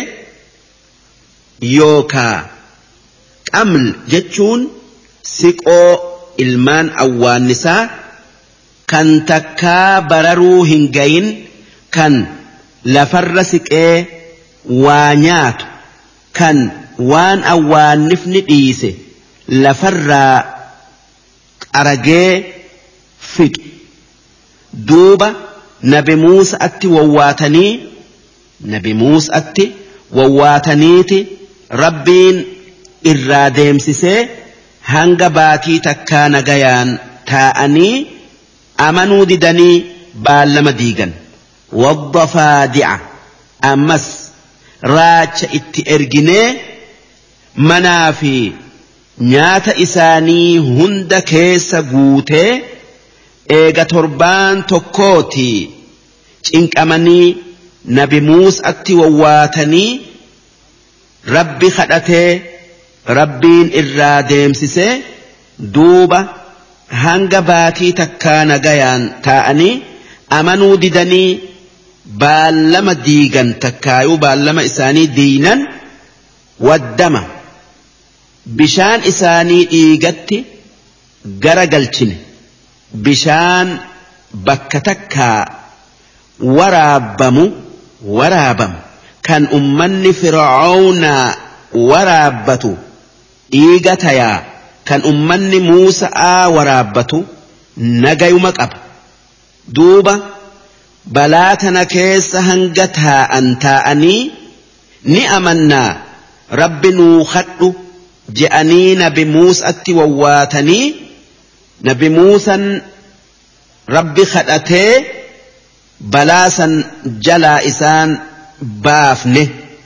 yookaa qaml jechuun siqoo ilmaan awwaannisaa kan takkaa bararuu hin gayin kan lafarra siqee waa nyaatu kan waan awwaannifni dhiise lafarraa qaragee fixu. Duuba nabi Muusaatti wawwaatanii nabi Muusaatti wawwaataniiti rabbiin irraa deemsisee hanga baatii takkaa nagayaan taa'anii amanuu didanii baallama diigan. Waddafaadi'a ammas raacha itti erginee manaa fi nyaata isaanii hunda keessa guutee eega torbaan tokkooti cinqamanii nabi Muusaatti wawwaatanii rabbi kadhatee rabbiin irraa deemsisee duuba hanga baatii takkaa nagayaan taa'anii amanuu didanii baallama diigan takkaayuu baallama isaanii diinan waddama bishaan isaanii dhiigatti gara galchine bishaan bakka takkaa waraabbamu waraabamu kan ummanni Fir'aawnaa waraabbatu dhiiga tayaa kan ummanni Muusaa waraabbatu nagayuma qaba. Duuba balaa tana keessa hanga taa'an taa'anii ni amannaa rabbi nuu kadhu je'anii nabi Muusaatti wawwaatanii nabi Muusan rabbi kadhatee balaa san jalaa isaan baafne.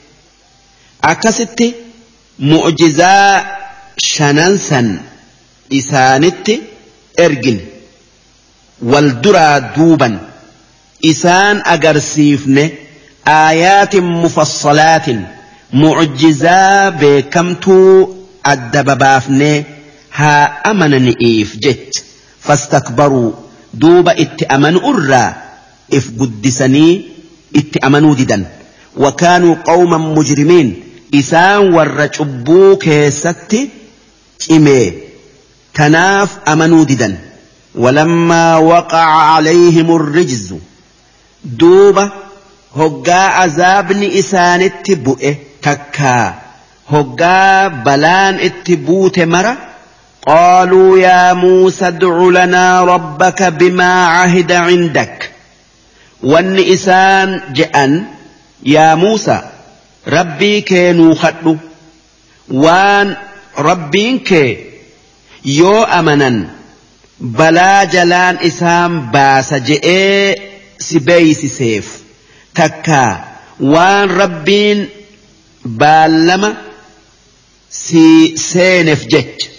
Akkasitti mu'jizaa shanan san isaanitti ergin wal duraa duuban isaan agarsiifne aayaatin mufassalaatin mu'jizaa beekamtuu adda babaafnee haa amananiif jecha fastakbaruu duuba itti amanu irraa if guddisanii itti amanuu didan wakaanuu qawman mujrimiin isaan warra cubbuu keessatti cimee tanaaf amanuu didan. ولما وقع عليهم الرجز دوبة هقا عذابن إسان اتبؤه تكا هقا بلان اتبوت مرة قالوا يا موسى ادع لنا ربك بما عهد عندك وان إسان جأن يا موسى ربي كينو خطو وان ربينك يو أمنا balaa jalaan isaan baasa je'ee si beeysiseef takkaa waan rabbiin baallama si seeneef jecha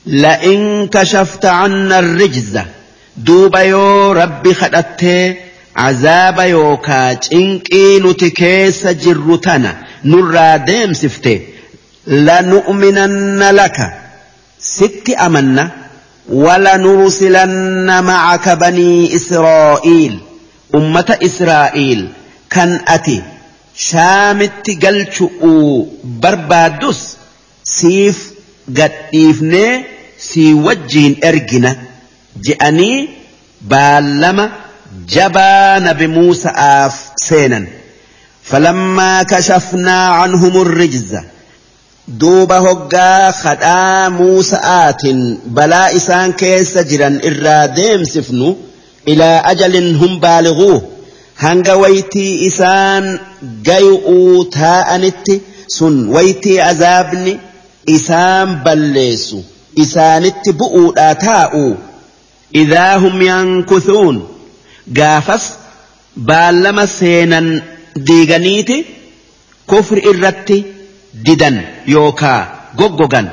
la'in kashafta canna rijza duuba yoo rabbi kadhattee عذاب يوكا إنكي نتكيس جرتنا نرى ديم سفته لنؤمنن لك ست أمنا ولنرسلن معك بني إسرائيل أمة إسرائيل كان أتي شامت قلتشؤ بربادس سيف قد إفني سي وجين إرجنا جأني بالما جبان بموسى آف سينا فلما كشفنا عنهم الرجز دوبا هقا خدا موسى آت بلا إسان كيس جرا إراديم سفنو إلى أجل هم بالغوه هنگا ويتي إسان قيؤو تاءنت سن ويتي عذابني إسان بلسو إسانت بؤو آتاؤو إذا هم ينكثون قافس بالما سينا ديغانيتي كفر إرتي ددن يوكا غوغوغان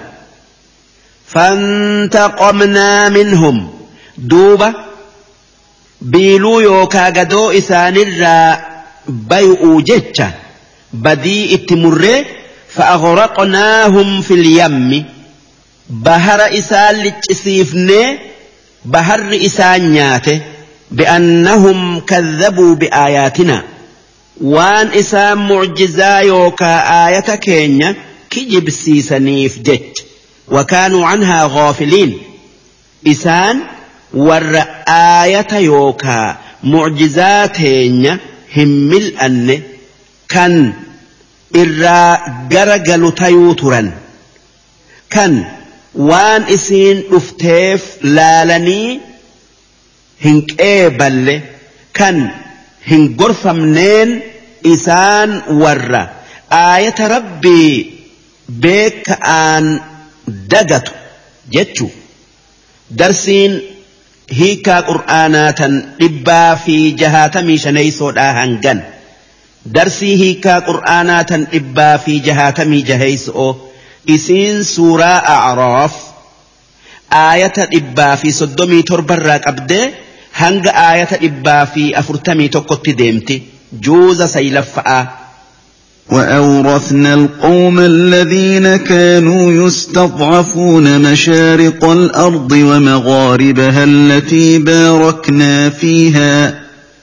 فانتقمنا منهم دوبا بيلو يوكا غدو إسان الرا بيؤو جتشا بدي اتمره فأغرقناهم في اليم بهر إسان لتسيفني بهر إسان نياته بأنهم كذبوا بآياتنا وان إسان معجزا يوكا آية كينيا كجب سيسانيف جج وكانوا عنها غافلين إسان ور آية يوكا معجزاتين هم الأن كان إرى قرقل تيوترا كان وان إسين افتيف لالني هنك إيبال كان هن غرفة منين إسان ورّا آية ربي بيك آن دقت جتشو درسين هيكا قرآناتا إبا في جهات ميشاني سودا هنغن درسي هيكا قرآناتا إبا في جهات ميجهيسو إسين سورة أعراف آية إبا في صدومي تربراك أبدي هنگ آية إبا في أفرتمي تقوت ديمتي جوز سيلفأ وأورثنا القوم الذين كانوا يستضعفون مشارق الأرض ومغاربها التي باركنا فيها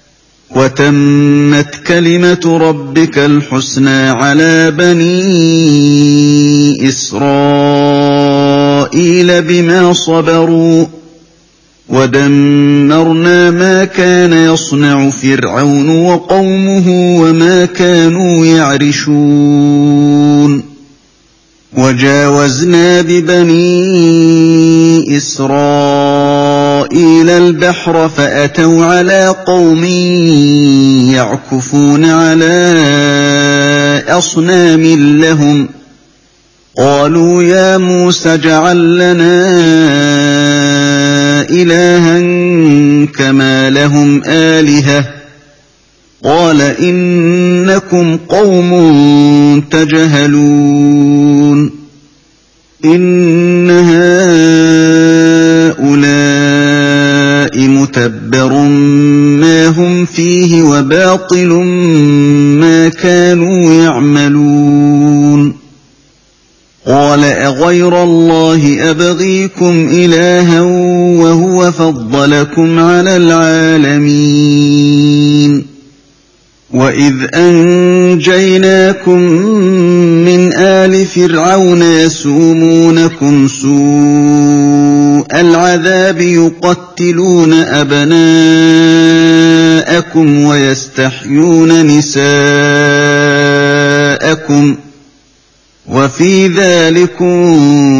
وتمت كلمة ربك الحسنى على بني إسرائيل بما صبروا ودمرنا ما كان يصنع فرعون وقومه وما كانوا يعرشون وجاوزنا ببني إسرائيل البحر فأتوا على قوم يعكفون على أصنام لهم قالوا يا موسى اجعل لنا إلها كما لهم آلهة قال إنكم قوم تجهلون إن هؤلاء متبر ما هم فيه وباطل ما كانوا يعملون قال أغير الله أبغيكم إلها وهو فضلكم على العالمين وإذ أنجيناكم من آل فرعون يسومونكم سوء العذاب يقتلون أبناءكم ويستحيون نساءكم وفي ذلكم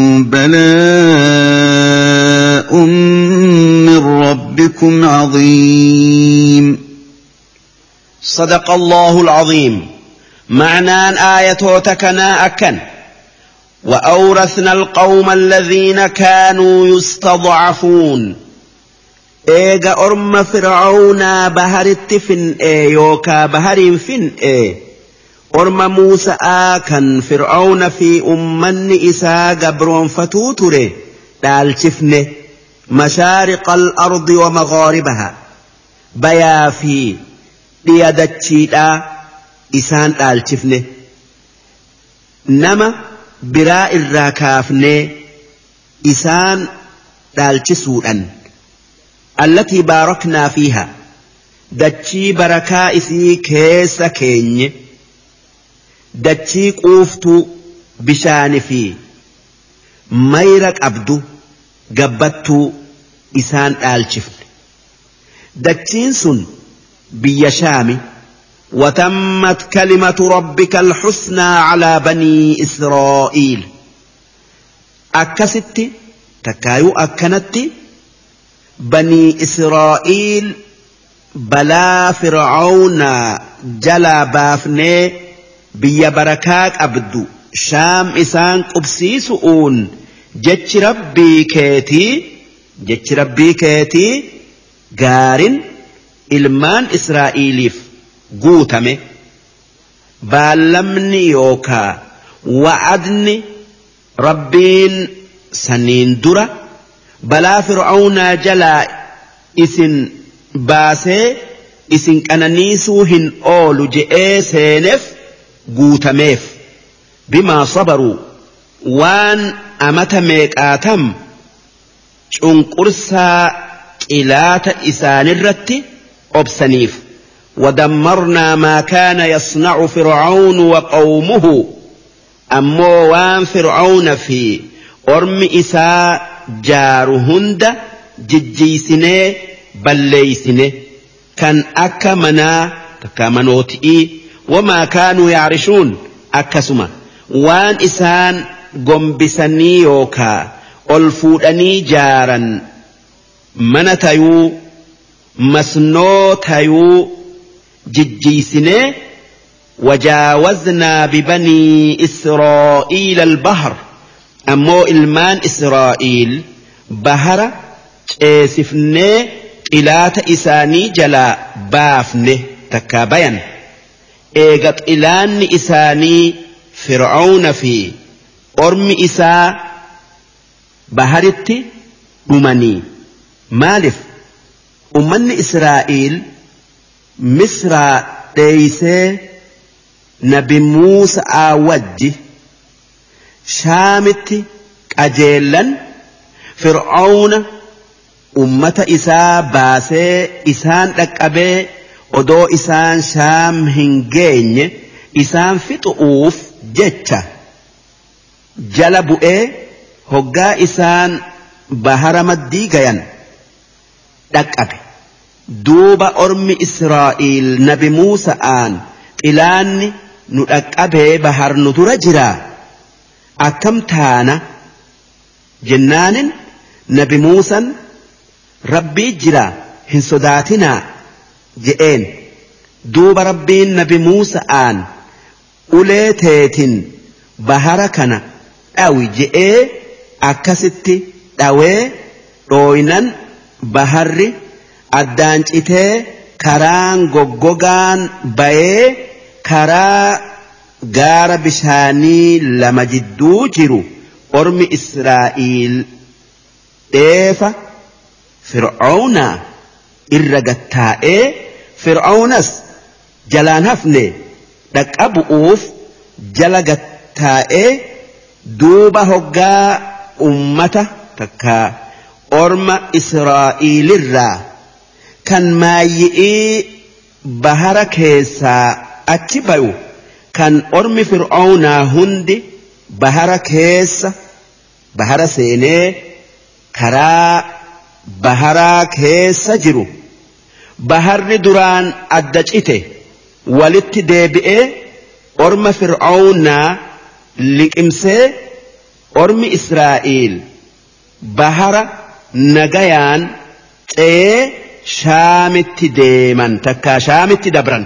بلاء من ربكم عظيم صدق الله العظيم معنى آية تكنا أكن وأورثنا القوم الذين كانوا يستضعفون إيجا أرم فرعون بهر التفن إيه يوكا بهر فن إيه أرم موسى آكن فرعون في أمن إسا قبرون فتوتره دالشفنه مشارق الأرض ومغاربها بيا في dhiyadachiidhaa isaan dhaalchifne nama biraa irraa kaafnee isaan dhaalchisuudhan allatii baaraknaa fiihaa dachii barakaa isii keessa keenye dachii quuftuu bishaani fi mayra qabdu gabbattuu isaan dhaalchifne dachiin sun biyya shaami وتمت كلمة ربك الحسنى على بني إسرائيل أكست تكايو أكنت بني إسرائيل بلا فرعون جلا بافني بيا بركات أبدو شام إسان قبسيسؤون جتش ربي كيتي جتش ربي كيتي قارن إلمان إسرائيليف قوتمي بالمني يوكا وعدني ربين سنين درة بلا فرعون جلا إسن باسي إسن كنانيسوهن أولو جئي سينف قوتميف بما صبروا وان أمتميك آتم شنقرسا إلات إسان الرت أبسنيف ودمرنا ما كان يصنع فرعون وقومه أمو وان فرعون في أرم إساء جارهند ججيسنه بليسنه كان أكا منا تكا منوتئي وما كانوا يعرشون أكسما وان إسان قنبسني يوكا ألفودني جارا من تيو مسنو تيو ججيسنه وجاوزنا ببني إسرائيل البحر أمو إلمان إسرائيل بحر سفنه إلات إساني جلا بافنه تكابين إيغت إلان إساني فرعون في أرم إسا بحرت أمني مالف أمن إسرائيل مصر ديسي نبي موسى آوجي شامت أجيلا فرعون أمة إسا باسي إسان لكأبي ودو إسان شام هنجين إسان فتؤوف جتة جلبوا إيه هقا إسان بحر مديقين لكأبي دوب أرم إسرائيل نبي موسى آن إلاني نلكأبي بحر ندرجرا أكم تانا جنان نبي موسى ربي جرا هن صداتنا جئين دوب ربين نبي موسى آن أوليتين بحركنا أوي جئي أكستي أوي روينا بحري أدانج إتي كران غوغوغان باي كرا غار بشاني لما جدو جرو أرمي إسرائيل إيفا فرعون إرغتائي فرعونس جلان هفني دك أبووف جلغتائي دوبا هقا أمته تكا أرم إسرائيل الرا كان ما يئي بحر كيسا أتبعو كان أرم فرعون هندي بحر كيسا بحر سيني كرا بحر كيسا جرو بحر دران أدجئته ولت ديبئه أرم فرعون لكمسه أرم إسرائيل بحر نغيان تيه شامت ديمن تكا شامت دبرن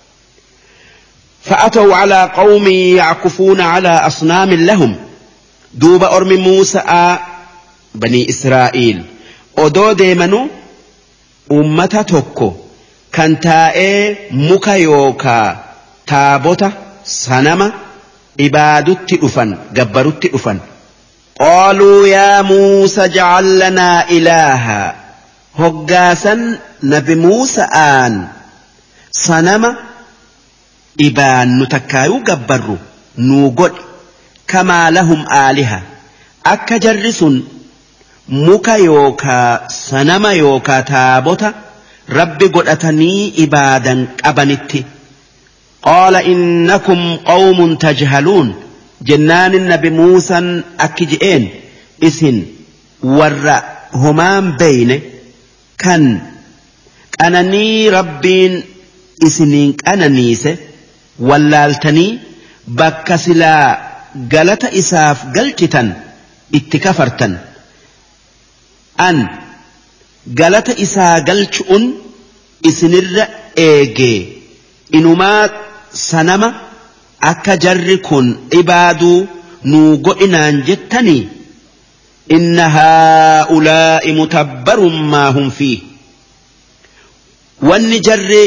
فأتوا على قوم يعكفون على أصنام لهم دوب أرم موسى بني إسرائيل أدو ديمنو أمتا توكو كان تائي مكيوكا تابوتا سنما إبادت أفن قبرت أفن قالوا يا موسى اجعل لنا إلها هقاسا نبي موسى آن sanama ibaannu takkaayuu gabbarru nuu godhi kamaa lahum aaliha akka jarri sun muka yookaa sanama yookaa taabota rabbi godhatanii ibaadan qabanitti. qaala innakum qawmun tajhaluun jennaan nabi muusan akki je'een isin warra homaan beeyne kan qananii rabbiin isiniin qananiise wallaaltanii bakka silaa galata isaaf galchitan itti kafartan. an galata isaa galchuun isinirra eegee inumaa sanama akka jarri kun ibaaduu nuu godhinaan jettanii. inna haa'ulaa'i mutabbarun maa hum fiih wanni jarri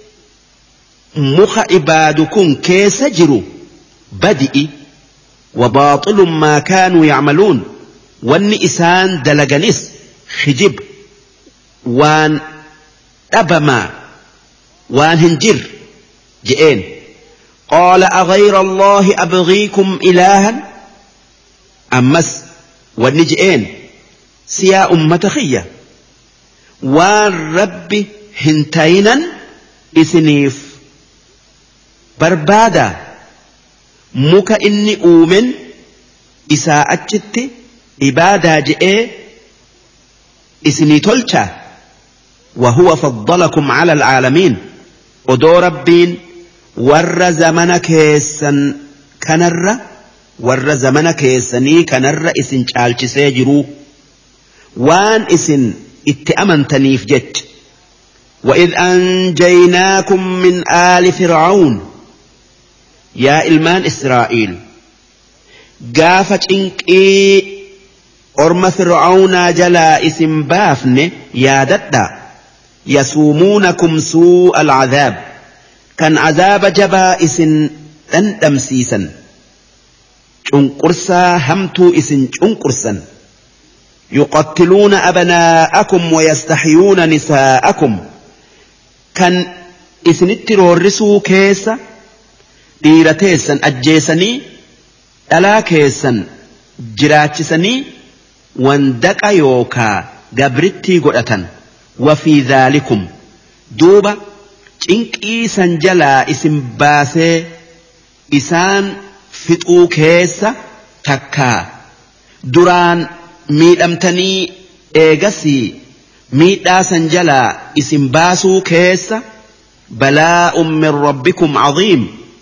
muka ibaadu kun keessa jiru badi'i wabaaxilun maa kaanuu yacmaluun wanni isaan dalaganis khijib waan dhabamaa waan hin jirre je'een. qaala aghayra allaahi abghiikum ilaahan ammas wanni je'een siyaa ummata khiyya waan rabbi hin tayinan isiniif barbaada muka inni uumen isaa achitti ibaadaa je'ee isinii tolcha. وهو فضلكم على العالمين odoo rabbiin warra zamana keessan kanarra warra zamana keessanii kanarra isin caalchisee jiruu waan isin itti amantaniif jecha. وإذ أنجيناكم من آل فرعون يا إلمان إسرائيل قافت إنكي أرم فرعون جلا اسم بافن يا ددا يسومونكم سوء العذاب كان عذاب جبائس تندمسيسا شنقرسا همتو اسن شنقرسا يقتلون أبناءكم ويستحيون نساءكم كان اسن الترورسو كيسا ديرتيسا أجيسني ألا كيسا جراتسني واندك يوكا قبرتي قرأة وفي ذلكم دوبا إنكي سنجلا اسم باسي إسان فتو كيسا تكا دران miidhamtanii eegasii miidhaa san jalaa isin baasuu keessa balaa'un min rabbikum caziim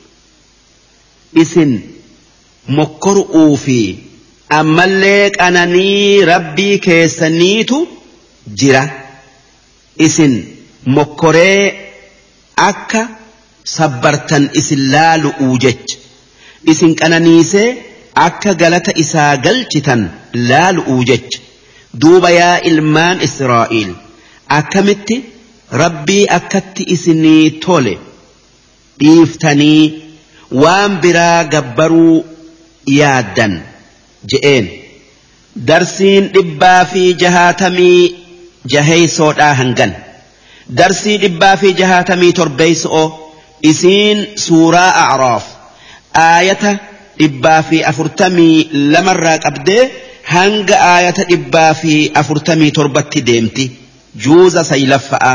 isin mokkoru'uu fi ammallee qananii rabbii keessaniitu jira isin mokkoree akka sabbartan isin laalu'uu jecha isin qananiisee akka galata isaa galchitan laalu'uu jecha. duuba yaa ilmaan Israa'iil akkamitti rabbii akkatti isinii tole dhiiftanii waan biraa gabbaruu yaaddan je'een. darsiin dhibbaa fi jahaatamii jaheysoodhaa hangan darsii dhibbaa fi jahaatamii torbeeyso'o isiin suuraa A'raaf aayata dhibbaa fi afurtamii lamarraa qabdee hanga aayata dhibbaa fi afurtamii torbatti deemti juuza saylaffa'a.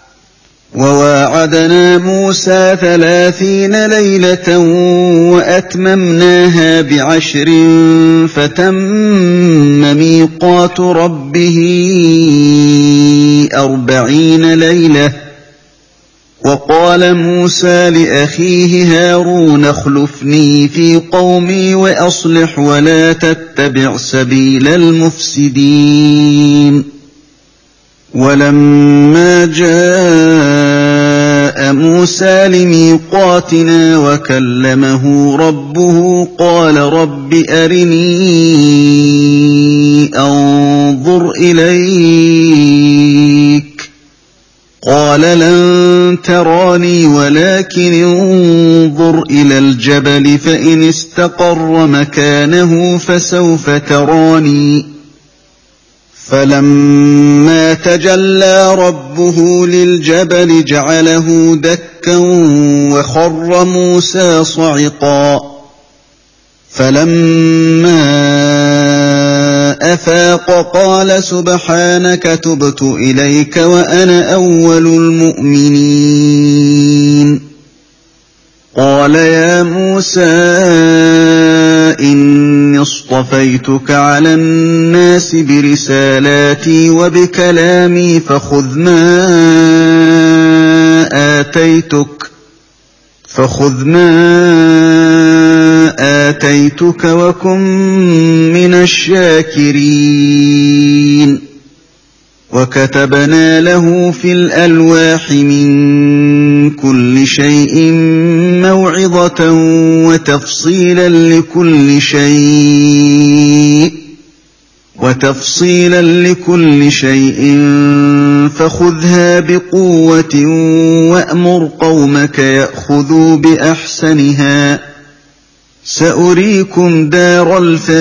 وواعدنا موسى ثلاثين ليلة وأتممناها بعشر فتم ميقات ربه أربعين ليلة وقال موسى لأخيه هارون اخلفني في قومي وأصلح ولا تتبع سبيل المفسدين. ولما جاء موسى لميقاتنا وكلمه ربه قال رب أرني أنظر إليك قال لن تراني ولكن انظر إلى الجبل فإن استقر مكانه فسوف تراني فلما تجلى ربه للجبل جعله دكا وخر موسى صعقا فلما أفاق قال سبحانك تبت إليك وأنا أول المؤمنين قال يا موسى إني اصطفيتك على الناس برسالاتي وبكلامي فخذ ما آتيتك فخذ ما آتيتك وكن من الشاكرين وكتبنا له في الألواح من كل شيء موعظة وتفصيلا لكل شيء وتفصيلا لكل شيء فخذها بقوة وأمر قومك يأخذوا بأحسنها سأريكم دار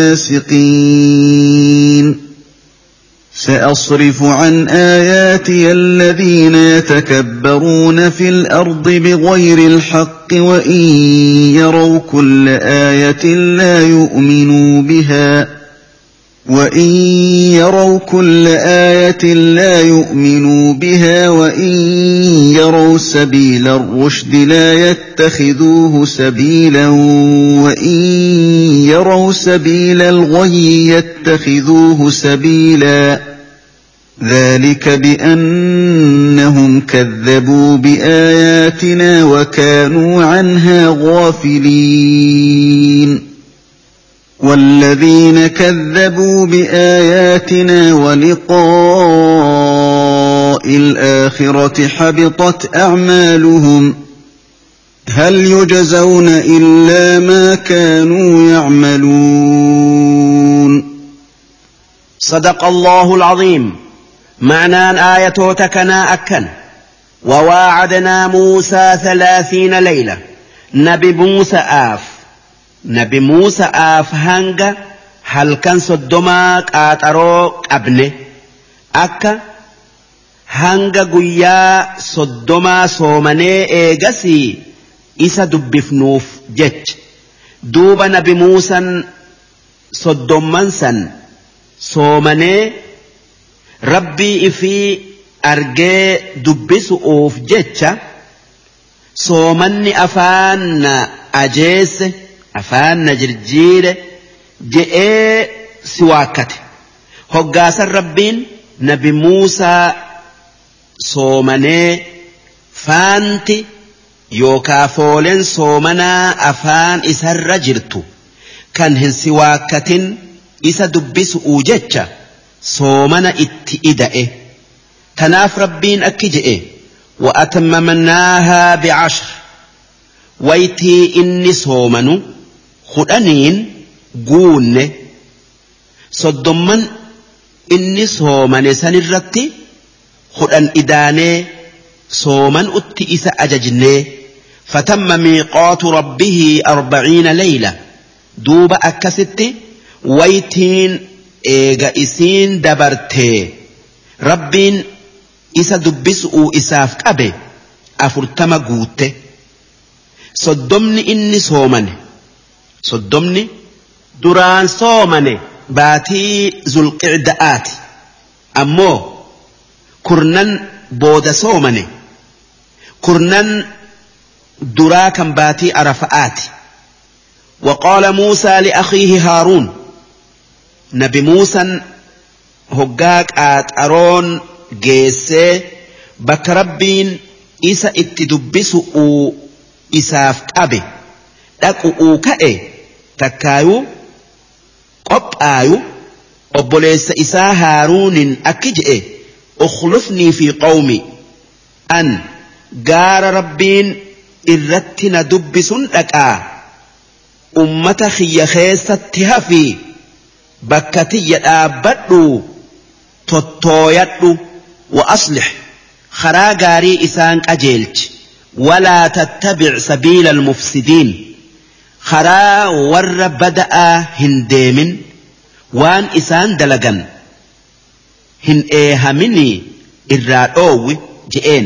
الفاسقين سأصرف عن آياتي الذين يتكبرون في الأرض بغير الحق وإن يروا كل آية لا يؤمنوا بها وإن يروا كل آية لا يؤمنوا بها وإن يروا سبيل الرشد لا يتخذوه سبيلا وإن يروا سبيل الغي يتخذوه سبيلا ذلك بأنهم كذبوا بآياتنا وكانوا عنها غافلين والذين كذبوا بآياتنا ولقاء الآخرة حبطت أعمالهم هل يجزون إلا ما كانوا يعملون صدق الله العظيم. معنى آية تكنا أكن وواعدنا موسى ثلاثين ليلة نبي موسى آف نبي موسى آف هنگا هل كان صدماك آتروك أبني أكا هنگا قويا صدما صومني إيغسي إسا دبفنوف جج دوب نبي موسى صدمانسا صومني ربي إفي أرجي دبسؤوف جج صومني أفان أجيس afaan na jirjiire je'ee si waakkate hoggaasan rabbiin nabi Muusaa soomanee faanti yookaa fooleen soomanaa afaan isarra jirtu kan hin si waakkatin isa dubbisu'uu jecha soomana itti ida'e tanaaf rabbiin akki je'e wa atammamnaahaa bi'ashr waytii inni soomanu خدانين قولن صدمن إني صومن سنرتي خدان إداني صومن أتئس أججني فتم ميقات ربه أربعين ليلة دوب أكستي ويتين إيغا إسين دبرتي ربين إسا دبسؤو إساف كابي أفرتم قوتي صدمني إني صومن صدمني دران صومني باتي ذو القعدآت أمو كرنن بود صومني كرنن دراكا باتي أرفآت وقال موسى لأخيه هارون نبي موسى هقاك آت أرون جيسي بك ربين إسا اتدبسؤو إساف كابي دقؤو كأي تكايو قبآيو أبوليس إسا هارون أكجئ أخلفني في قومي أن قار ربين إرتنا دبس لكا أمة خي خيستها في بكتي آبدو تطويتو وأصلح خراغاري إسان أجيلج ولا تتبع سبيل المفسدين خرا ور بدأ هنديمن وان إسان دلغن هن إيهامني الرأوي جئين.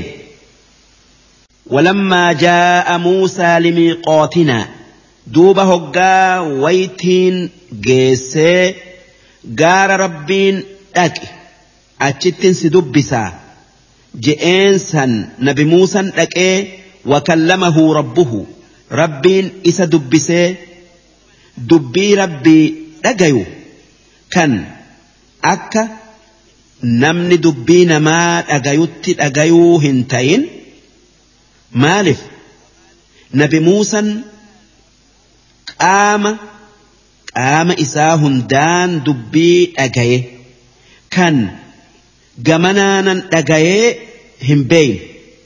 ولما جاء موسى لميقاتنا دوبا هقا ويتين جيسي قار ربين اك اتشتن سدبسا جئين سن نبي موسى اك وكلمه ربه ربين إسا دبسي دبي ربي اقيو كان اكا نمني دبين ما اقيوت اقيو هنتين مالف نبي موسى قام قام إساهن دان دبي أجاي كان جمنانا أجاي هم بين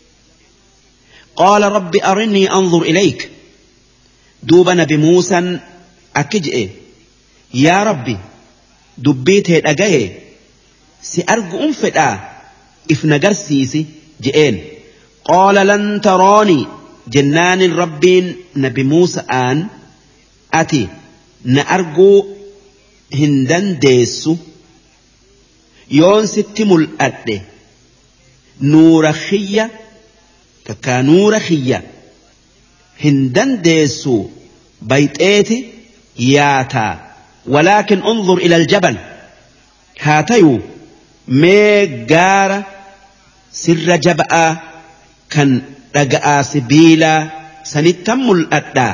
قال رب أرني أنظر إليك دوب نبي موسى أكجئ يا ربي دبيت هيد أجاي سأرجو أنفدا إفنجر سيسي جئين قال لن تراني جنان الربين نبي موسى آن أتي نأرجو هندن ديسو يون ستم الأرض نور خيّة كا نور خيّة هندن ديسو بيت ايتي ياتا ولكن انظر إلى الجبل هاتيو ميقار سر جبأ كان رقاء سبيلا سنتم الأرض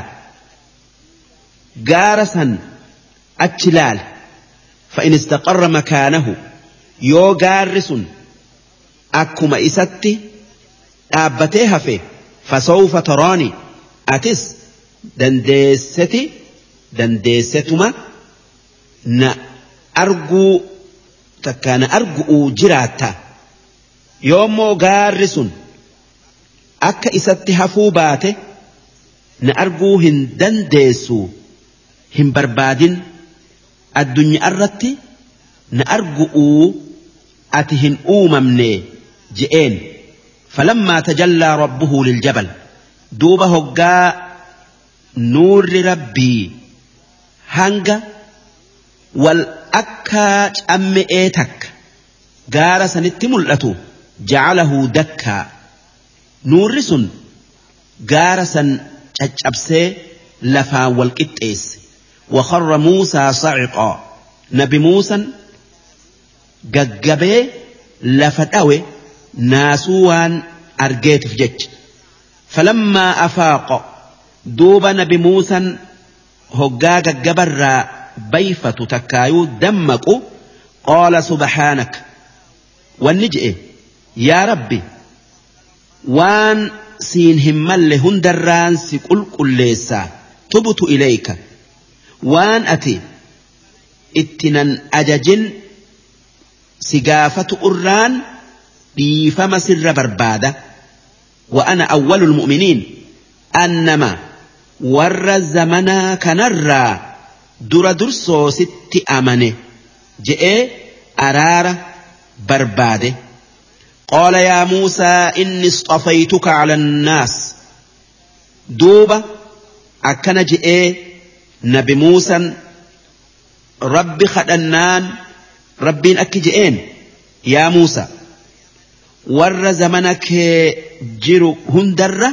قارسا أتشلال فإن استقر مكانه يو قارس أكما إستي أبتيها فيه فسوف تراني أتس دندستي دندستما نا أرجو تكان أرجو جراتا يومو قارس أكا إستي هفوباته نا أرجو هندندسو هم بربادين الدنيا الرتي نأرجو أتهن أوممني جئين فلما تجلى ربه للجبل دوبه جاء نور ربي هنجا والأكا أم إيتك قال سنتملأتو جعله دكا نور سن قال سن أبسي لفا والكتئس وخر موسى صعقا نبي موسى قجبه لفتاوي ناسوان أرجيت في جج فلما أفاق دوب نبي موسى هقا قجبر بيفة تكايو دمكو قال سبحانك والنجئ يا ربي وان سين همال هندران سيقول كليسا تبت إليك وان أتي اتنان أججن سقافة أران بيفم سر بربادة وأنا أول المؤمنين أنما ور الزمنا كنرى در درسو ست أمنه جئ أرار بربادة قال يا موسى إني اصطفيتك على الناس دوبة أكن جئ نبي موسى رب خدنان ربين أكجئين يا موسى ور زمنك جرو هندر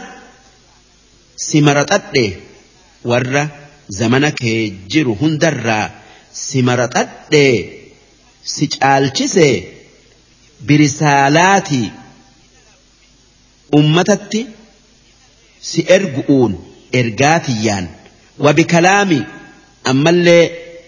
سمرتت ور زمنك جرو هندر سمرتت سجالچسه برسالاتي أمتتي سأرجؤون إرجاتيان وبكلامي أما اللي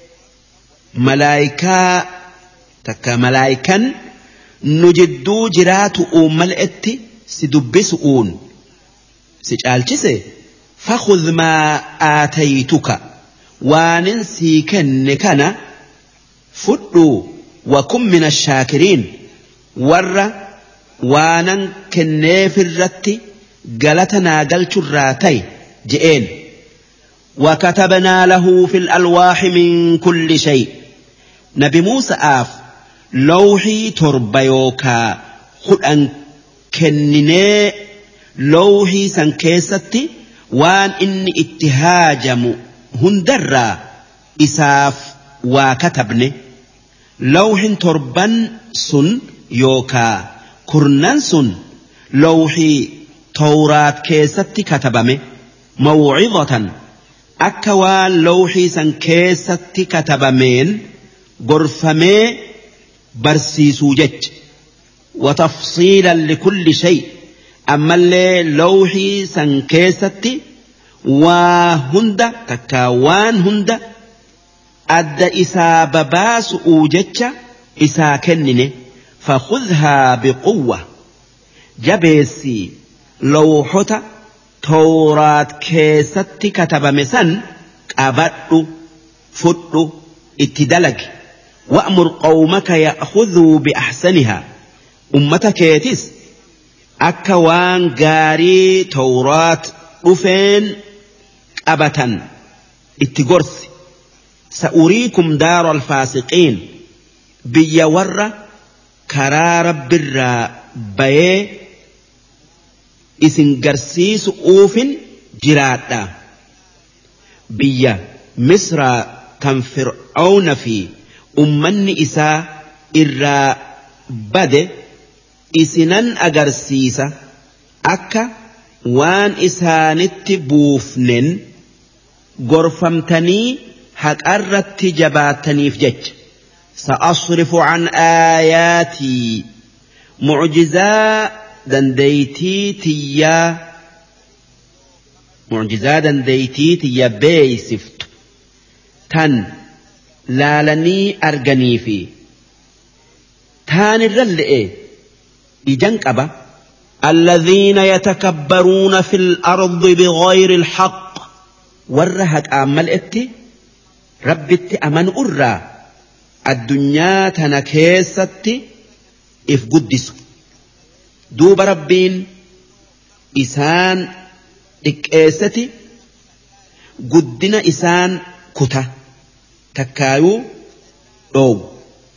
ملايكا تكا ملايكا نجدو جرات أمالئتي سدبسؤون سجالچسه فخذ ما آتيتك واننسي كن كان فدو وكن من الشاكرين ور وانن كنيف الرتي قلتنا قلت الراتي جئين وكتبنا له في الألواح من كل شيء نبي موسى آف لوحي تربيوكا خد أن كنني لوحي سنكيستي وان إني اتهاجم هندر إساف وكتبني lawhin torban sun yookaa kurnan sun lawhii tawraat keessatti katabame maw'izatan akka waan lawhii san keessatti katabameen gorfamee barsiisuu jecha watafsiilan likulli shay ammallee lawhii san keessatti waa hunda takka waan hunda adda isaa babaasu'uu jecha isaa kennine fakhudhaa biquwwa jabeessii lawhota tawraat keessatti katabame san qabadhu fudhu itti dalagi wa'mur qawmaka ya'khudhuu biahsanihaa ummata keetis akka waan gaarii tawraat dhufeen qabatan itti gorsi sa'uriikum daara alfaasiqiin biyya warra karaa rabbirraa bayee isin garsiisu uufin jiraadha biyya misraa kan fir'aawna fi ummanni isaa irraa bade isinan agarsiisa akka waan isaanitti buufnen gorfamtanii haqarratti jabaataniif jecha sa'asrifu an aayaatii mu'jizaa dandeeytii tiyyaa mu'jizaa dandeeytii tiyya beeysiftu tan laalanii arganii fi taanirra le'e ijan qaba الذين يتكبرون في الأرض بغير الحق ورهت أمل إتي ربت أمن أرى الدنيا تنكيست إف قدس دوب ربين إسان إكيستي قدنا إسان كتا تكايو أو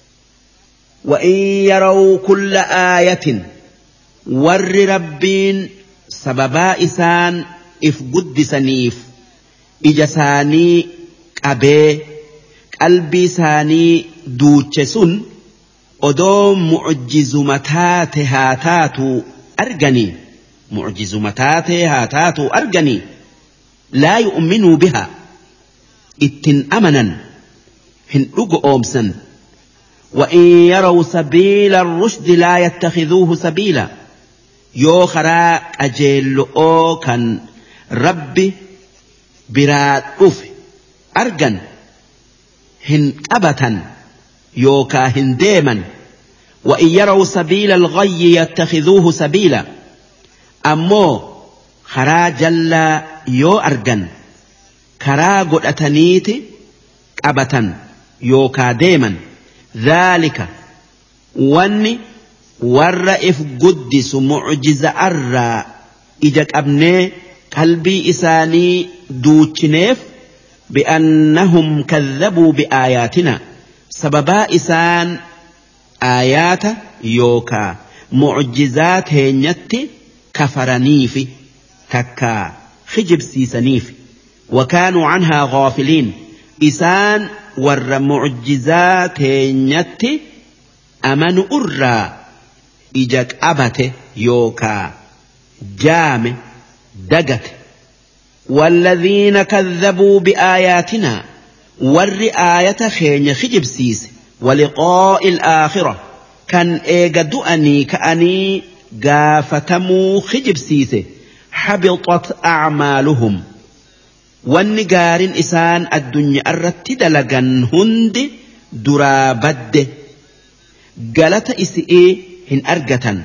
وإن يروا كل آية warri rabbiin sababaa isaan if guddisaniif ija isaanii qabee qalbii isaanii duuche sun odoo mu'jizuma taate haa taatu arganii mu'jizuma taate haa taatu arganii laa yu'minuu bihaa ittin amanan hin dhugo oomsan وإن يروا سبيل الرشد لا يتخذوه سبيلا yoo karaa qajeello'oo kan rabbi biraa dhufe argan hin qabatan yookaa hin deeman وإن يروا سبيل الغي يتخذوه سبيلا أمو karaa jallaa yoo argan karaa godhataniiti qabatan yookaa deeman ذلك wanni warra if guddisu mu'jiza arraa ija qabnee qalbii isaanii duuchineef bi'annahum kadhabuu bi'aayaatina sababaa isaan aayaata yookaa mu'jizaa teenyatti kafaraniifi takkaa hijibsiisaniifi wakaanuu canhaa ghaafiliin isaan warra mu'jizaa teenyatti amanu irraa ija qabate yookaa jaame dagate والذين كذبوا بآياتنا ور آية خين خجبسيس ولقاء الآخرة كان إيجادو أني كأني قافتمو خجبسيس حبطت أعمالهم والنجار إسان الدنيا الرتد لغن هند درابد قالت إسئي هن أرقة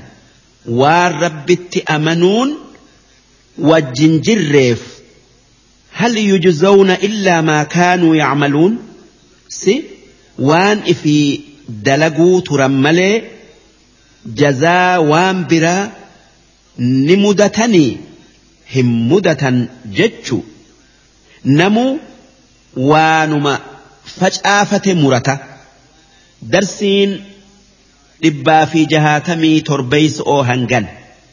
والربت أمنون والجنجرف هل يجزون إلا ما كانوا يعملون سي وان إفي دلقوا ترملي جزاء وان برا نمدتني هم مدة جتشو نمو وانما فجآفة مرة درسين لبا في جهاتمي تربيس أو هنغن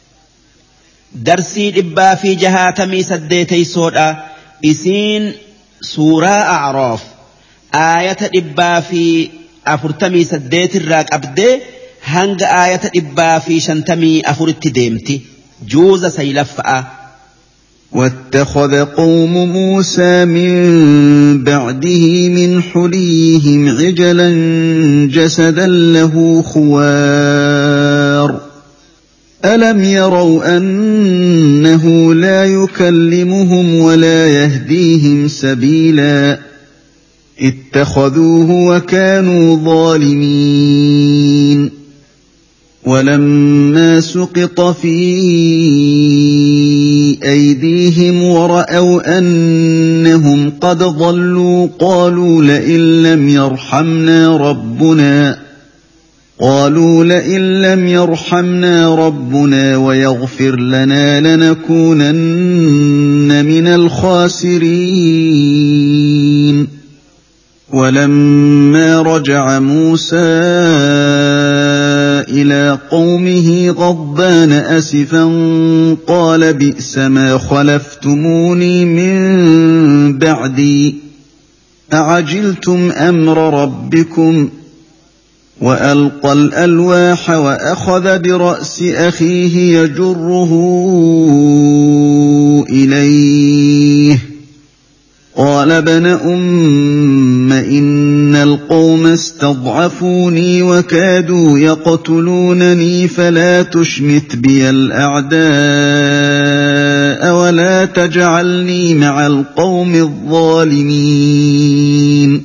درسي لبا في جهاتمي سديتي سودا إسين سورة أعراف آية لبا في أفرتمي سديت الراك أبدي هنگ آية إبا في شنتمي أفرت ديمتي جوز سيلفأ. واتخذ قوم موسى من بعده من حليهم عجلا جسدا له خوار ألم يروا أنه لا يكلمهم ولا يهديهم سبيلا اتخذوه وكانوا ظالمين. ولما سقط في أيديهم ورأوا أنهم قد ضلوا قالوا لئن لم يرحمنا ربنا قالوا لئن لم يرحمنا ربنا ويغفر لنا لنكونن من الخاسرين. ولما رجع موسى إلى قومه غضبان أسفا قال بئس ما خلفتموني من بعدي أعجلتم أمر ربكم وألقى الألواح وأخذ برأس أخيه يجره إليه قال ابن أم إن القوم استضعفوني وكادوا يقتلونني فلا تشمت بي الأعداء ولا تجعلني مع القوم الظالمين.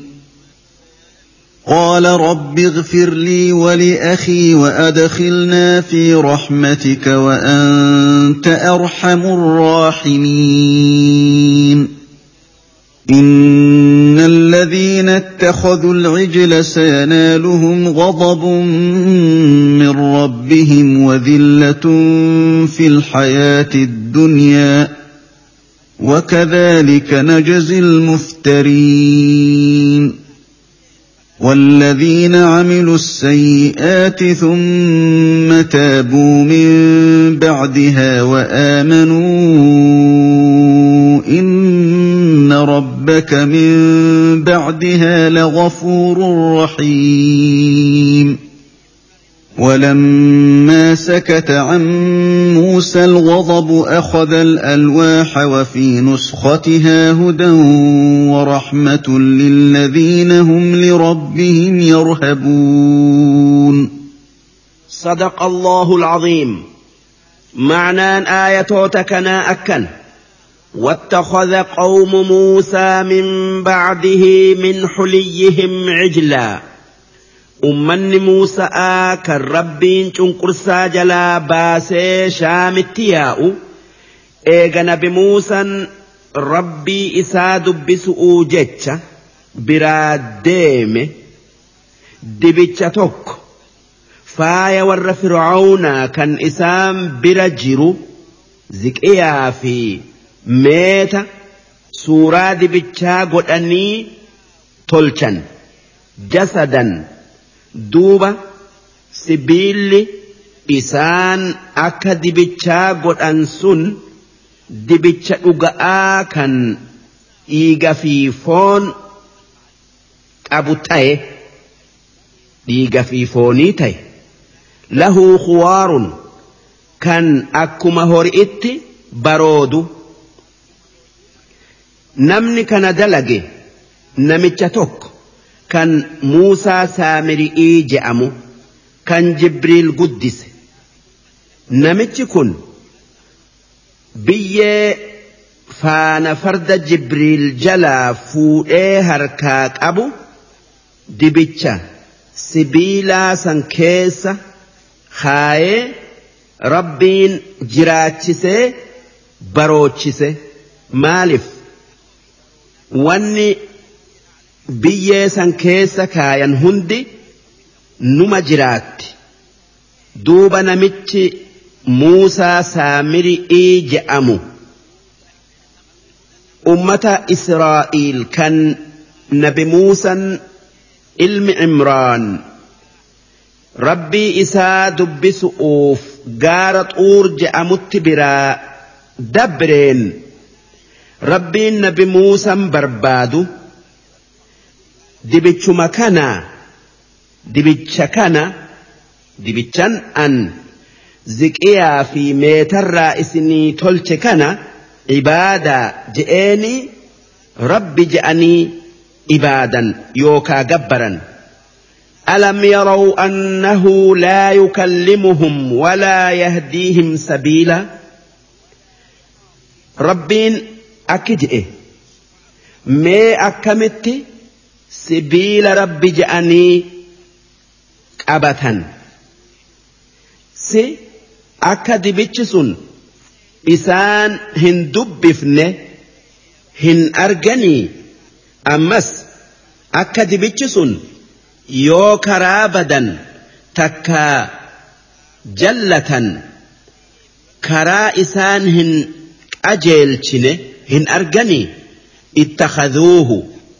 قال رب اغفر لي ولأخي وأدخلنا في رحمتك وأنت أرحم الراحمين. إن الذين اتخذوا العجل سينالهم غضب من ربهم وذلة في الحياة الدنيا وكذلك نجزي المفترين. والذين عملوا السيئات ثم تابوا من بعدها وآمنوا إن ربك من بعدها لغفور رحيم. ولما سكت عن موسى الغضب أخذ الألواح وفي نسختها هدى ورحمة للذين هم لربهم يرهبون. صدق الله العظيم. معنى آية تكنا أكن واتخذ قوم موسى من بعده من حليهم عجلا. أمني موسى كان ربين چنقرسا جلا باسي شامتياؤ إيغا نبي موسى ربي إسا دبسؤو جتشا براديم دبتشا توك فايا ور فرعون كان إسام برجرو زكئيا في ميتا سورة دبتشا قد أني تلشن جسدا duuba sibiilli isaan akka dibichaa godhan sun dibicha dhuga'aa kan dhiiga fi foon qabu ta'e dhiiga fi foonii ta'e lahu khuwaarun kan akkuma hori'itti baroodu. namni kana dalage namicha tokko kan Muusaa Saamiri'ii je'amu kan Jibriil guddise. Namichi kun biyyee faana farda Jibriil jalaa fuudhee harkaa qabu dibicha sibiilaa san keessa kaayee Rabbiin jiraachisee baroochisee. Maaliif wanni biyyee san keessa kaayan hundi numa jiraatti. Duuba namichi Muusaa Saamiri'ii je'amu ummata Israa'iil kan nabi Muusaan ilmi Imraan rabbii isaa dubbisuuf gaara Xuur je'amutti biraa dabreen rabbiin nabi Muusaan barbaadu dibichuma kana dibicha kana dibichan an ziqiyaa fi meetarraa isinii tolche kana ibaadaa je'eeni rabbi je'anii ibaadan yookaa gabbaran. ألم يروا أنه لا يكلمهم ولا يهديهم سبيلا ربين أكجئ ما أكمت سبيل ربي جأني أبتا سي أكد بيتشسون إسان هن دبفن هن أرجني أمس أكد بيتشسون yoo karaa badan takka jallatan karaa isaan hin qajeelchine hin argani ittakhadhuuhu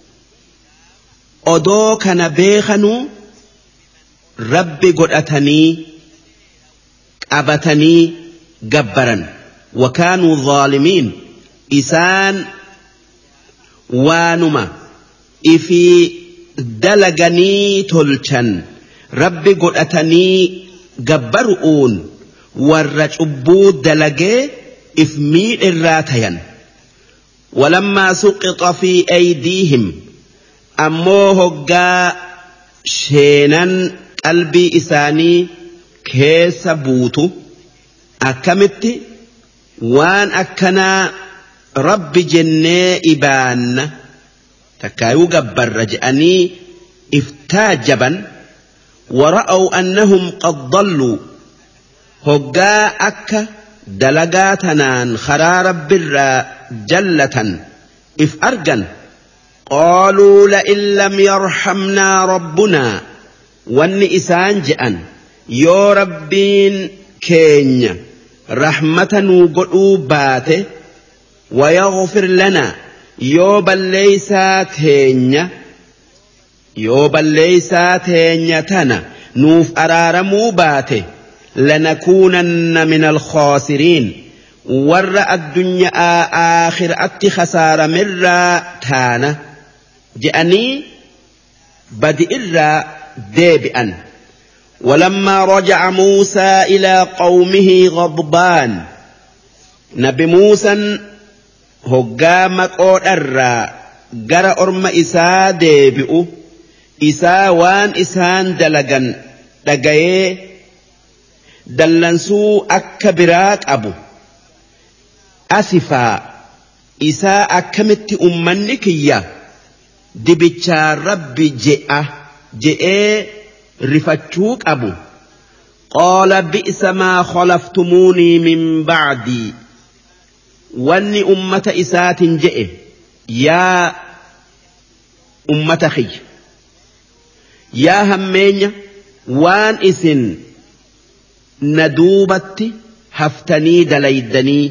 odoo kana beekanuu rabbi godhatanii qabatanii gabbaran wakaanuu zaalimiin isaan waanuma ifii dalaganii tolchan rabbi godhatanii gabbaru'uun warra cubbuu dalagee if miidhirraa tayan walammaa suqita fi aydiihim ammoo hoggaa sheenan qalbii isaanii keessa buutu akkamitti waan akkanaa rabbi jennee ibaanna تكايو جبر رجأني افتاجبا ورأوا أنهم قد ضلوا هجا أكا دلقاتنا خرار برا جلة إف أرجن قالوا لئن لم يرحمنا ربنا والنئسان جأن يو ربين كينيا رحمة وقلوباته ويغفر لنا yoo balleeysaa teenya yoo balleeysaa teenya tana nuuf araaramuu baate lanakuunanna min alkhaasiriin warra addunyaa aakhiraatti khasaaramirraa taana je'anii badi irraa deebi'an ولما رجع موسى إلى قومه غضبان نبي موسى hoggaa maqoo dharraa gara orma isaa deebi'u isaa waan isaan dalagan dhagayee dallansuu akka biraa qabu asifaa isaa akkamitti ummanni kiyya dibichaa rabbi je'a je'ee rifachuu qabu qaala bi'sa maa khalaftumuunii min ba'dii wanni ummata isaatin je'e yaa ummata khiyya yaa hammeenya waan isin na duubatti haftanii dalaydanii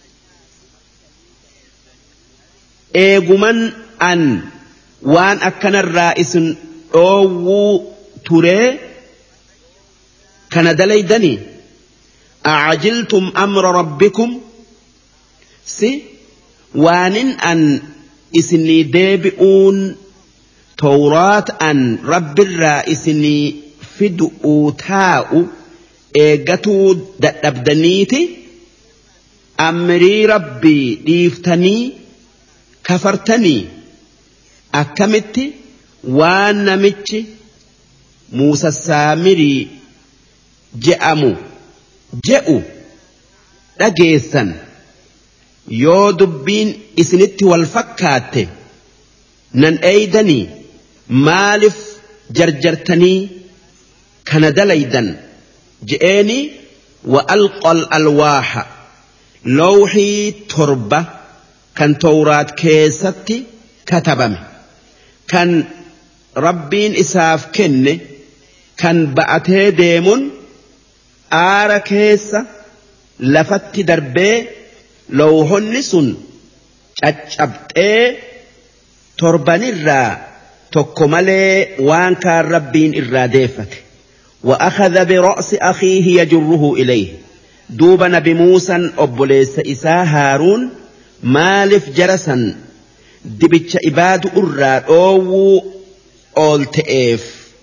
eeguman an waan akkanarraa isin dhoowwuu turee kana dalaydanii a'ajiltum amra rabbikum si waanin an isinii deebi'uun tawraat an rabbirraa isinii fidu'uu taa'u eeggatuu dadhabdaniiti amrii rabbii dhiiftanii kafartanii akkamitti waan namichi Muusaa Saamirii je'amu je'u dhageessan yoo dubbiin isinitti wal fakkaatte nan eeydanii maaliif jarjartanii kana dalaydan je'eeni wa alqal alwaaha lawhii torba kan tawraat keessatti katabame kan rabbiin isaaf kenne kan ba'atee deemun aara keessa lafatti darbee lawhonni sun caccabxee torbanirraa tokko malee waan kaan rabbiin irraa deeffate وأخذ برأس أخيه يجره إليه دوب نبي موسى أبوليس إساء هارون مالف جرسا دبتش إباد أراد أو أول تئف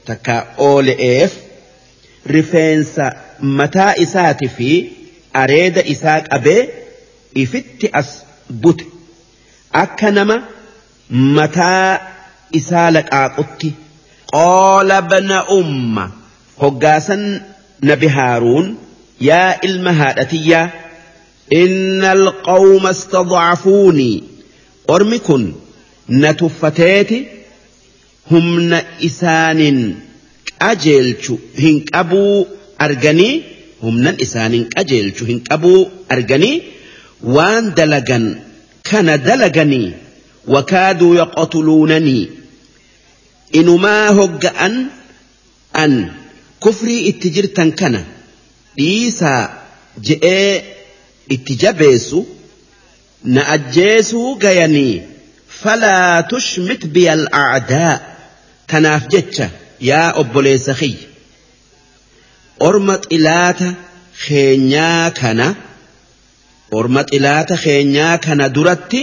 takka oole'eef rifeensa mataa isaati fi areeda isaa qabee ifitti as bute akka nama mataa isaa laqaaqutti. qaala bna umma hoggaasan nabi haaruun yaa ilma haadhatiyyaa inna alqawma istadcafuunii ormi kun na tuffateeti humna isaanin qajeelchu hin qabuu arganii humnan isaanin qajeelchu hin qabuu arganii waan dalagan kana dalaganii wakaaduu yaqtuluunanii inumaa hogga'an an kufrii itti jirtan kana dhiisaa je'ee itti jabeessu na ajjeesuu gayanii falaa tushmit biyal a'daa tanaaf jecha yaa obboleessa kiyya orma xilaata keenyaa kana orma xilaata keenyaa kana duratti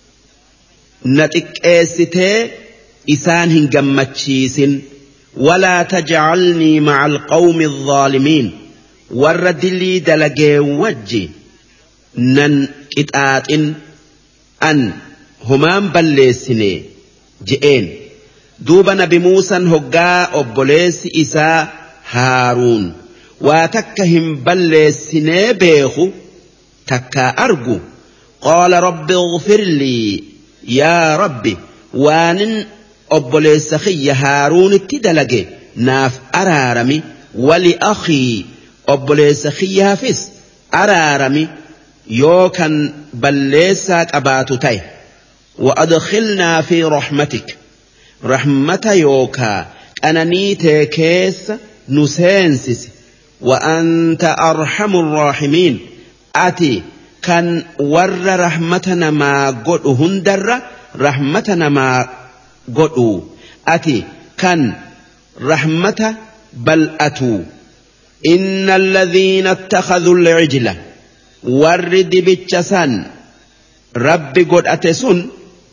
na xiqqeessitee isaan hin gammachiisin walaa tajcalnii maca alqawmi alzaalimiin warra dilii dalagee wajji nan qixaaxin an humaan balleessine je'een duuba nabi muusan hoggaa obboleessi isaa haaruun waa takka hin balleessinee beeku takkaa argu qaala rabbi ighfir lii yaa rabbi waanin obboleessa kiyya haaruunitti dalage naaf araarami wali akhii obboleessa kiyyaafis araarami yoo kan balleessaa qabaatu ta'e وأدخلنا في رحمتك رحمة يوكا أنني تكيس نسينسس وأنت أرحم الراحمين أتي كان ور رحمتنا ما قد هندر رحمتنا ما قد أتي كان رحمة بل أتو إن الذين اتخذوا العجلة ورد بالجسان رب قد أتسن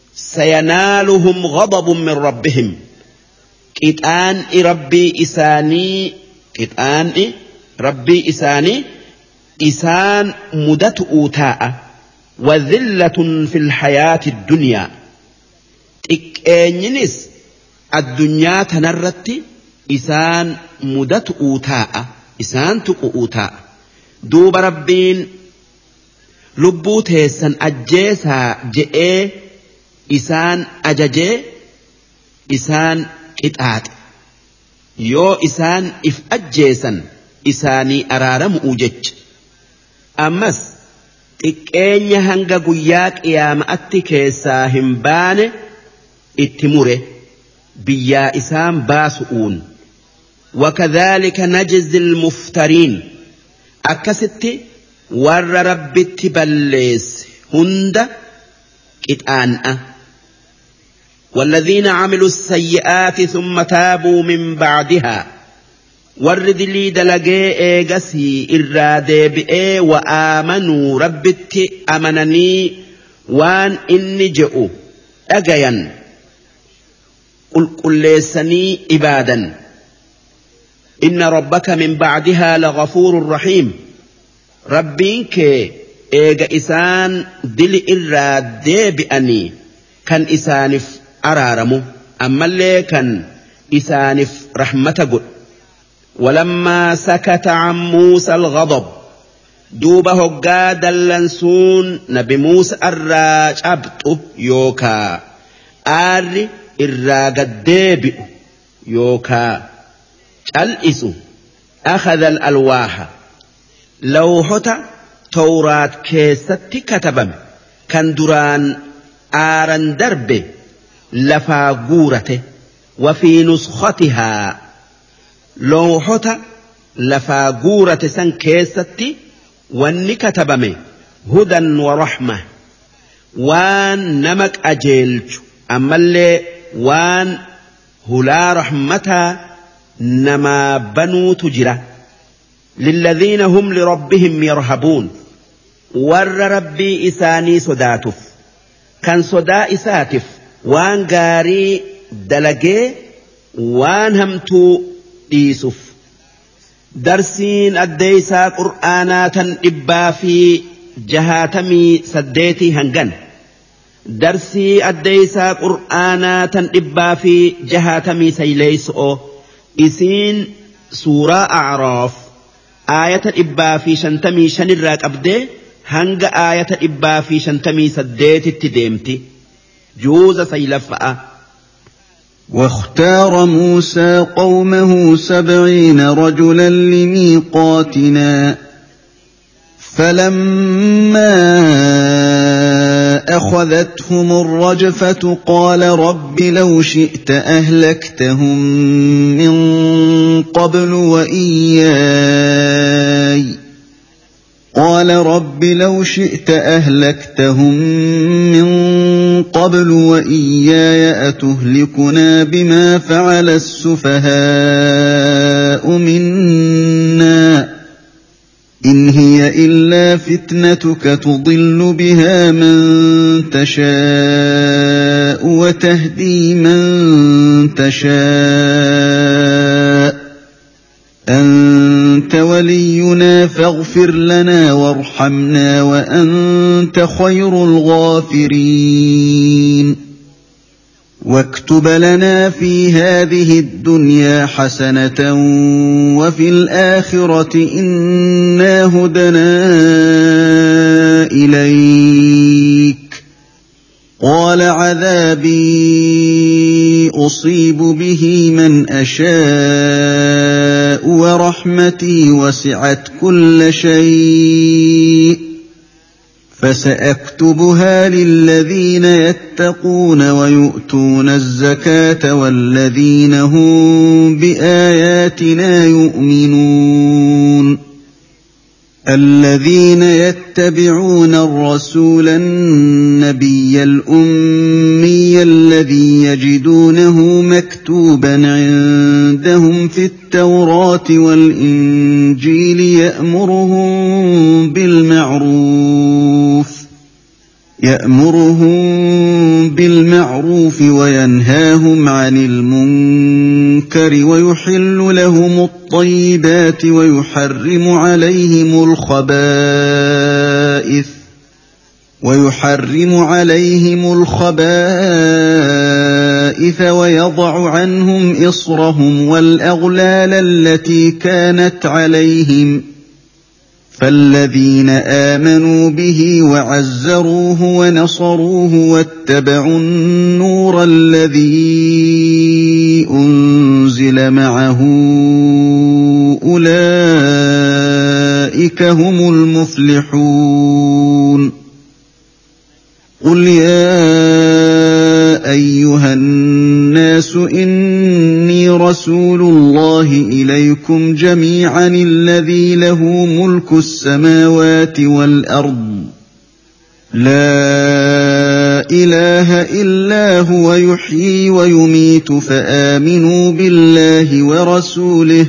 سينالهم غضب من ربهم كتان ربي إساني كتان ربي إساني إسان مدت أوتاء وذلة في الحياة الدنيا إكينيس الدنيا تنرت إسان مدت أوتاء إسان تقو أوتاء دوب ربين لبوتيسا أجيسا جئي إسان أججي إسان إتآت يو إسان إف أجيسا إساني أرارم أوجج أمس إكيني هنگا قياك إيام أتكيسا همبان اتمره بيا إسان باسؤون وكذلك نجز المفترين أكست ور رب تبليس هند كتآن والذين عملوا السيئات ثم تابوا من بعدها ورد لي دلقي ايغسي إرادي بئي وآمنوا ربت أمنني وان إني جئوا أجيا قل قل ليسني إبادا إن ربك من بعدها لغفور رحيم ربينك إيغا إسان دل إرادي بأني كان إسانف أرارمو أما اللي كان إسانف رحمة قل ولما سكت عن موسى الغضب دوبه قاد اللنسون نبي موسى الراج أبطو يوكا آري الراج الديبئ يوكا الإسو أخذ الألواح لوحة توراة كيست كتبم كان دران آران درب لفا قورته وفي نسختها لوحة لفا قورة سن كيست وان كتبم هدى ورحمة وان نمك أجيلج أما اللي وان هلا رحمتا نما بنو تجرة للذين هم لربهم يرهبون ور ربي إساني صداتف كان صدا إساتف وان غاري دلقي وان همتو ديسف درسين الديسا قرآنات إبا في جهاتمي سديتي هنغن درسي الديسا قرآنات إبا في جهاتمي سيليسو إسين سورة أعراف آية إبا في شنتمي شنراك أبدي هنغ آية إبا في شنتمي سديتي تديمتي جوز سيلفأ. واختار موسى قومه سبعين رجلا لميقاتنا فلما أخذتهم الرجفة قال رب لو شئت أهلكتهم من قبل وإياي قال رب لو شئت أهلكتهم من قبل وإياي أتهلكنا بما فعل السفهاء منا إن هي إلا فتنتك تضل بها من تشاء وتهدي من تشاء أنت ولينا فاغفر لنا وارحمنا وأنت خير الغافرين واكتب لنا في هذه الدنيا حسنة وفي الآخرة إنا هدنا إليك قال عذابي أصيب به من أشاء ورحمتي وسعت كل شيء فسأكتبها للذين يتقون ويؤتون الزكاة والذين هم بآياتنا يؤمنون الذين يتبعون الرسول النبي الأمي الذي يجدونه مكتوبا عندهم في التوراة والإنجيل يأمرهم بالمعروف يأمرهم بالمعروف وينهاهم عن المنكر ويحل لهم الطيبات ويحرم عليهم الخبائث ويحرم عليهم الخبائث ويضع عنهم إصرهم والأغلال التي كانت عليهم فالذين آمنوا به وعزروه ونصروه واتبعوا النور الذي أنزل معه أولئك هم المفلحون قل يا أيها الناس إني رسول الله إليكم جميعا الذي له ملك السماوات والأرض لا إله إلا هو يحيي ويميت فآمنوا بالله ورسوله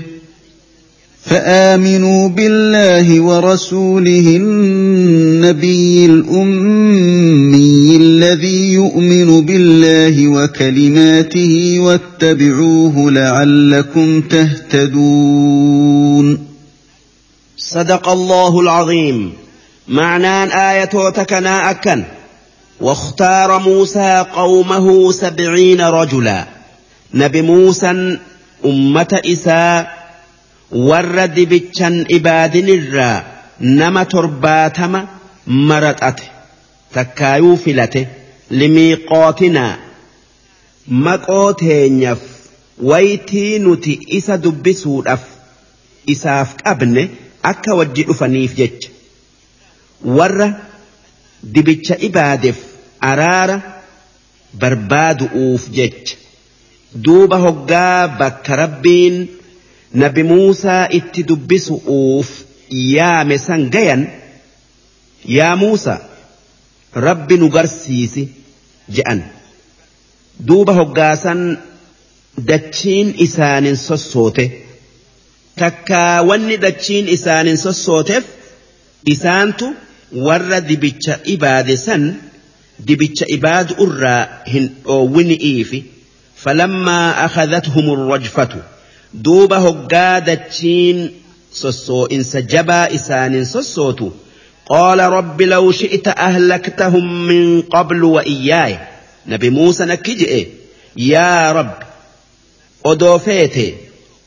فآمنوا بالله ورسوله النبي الأمي الذي يؤمن بالله وكلماته واتبعوه لعلكم تهتدون. صدق الله العظيم. معنى آية تكنا أكن واختار موسى قومه سبعين رجلا نبي موسى أمة إساء ورد بيتشن إبادن الرا نما ترباتما مرتأته تكايو فلته لميقاتنا مقوتين يف ويتي نتي إسا دبسو الأف إساف أبني أكا وجئ فنيف جج ور دبتش إبادف أرار برباد أوف جج دوبا هقا بك ربين نبي موسى اتدبسو أوف يا مسنجيا يا موسى رب نقرسيسي جأن دوبا هقاسا دتشين إسان سوسوته تكا وني دتشين إسان سوسوتف إسانتو ور دبتش إباد سن دبتش إباد أرى هن أو وني إيفي فلما أخذتهم الرجفة دوبه قادتين سسو إن سجبا إسان سسوتو قال رب لو شئت أهلكتهم من قبل وإياي نبي موسى نكجئ يا رب أدو فيتي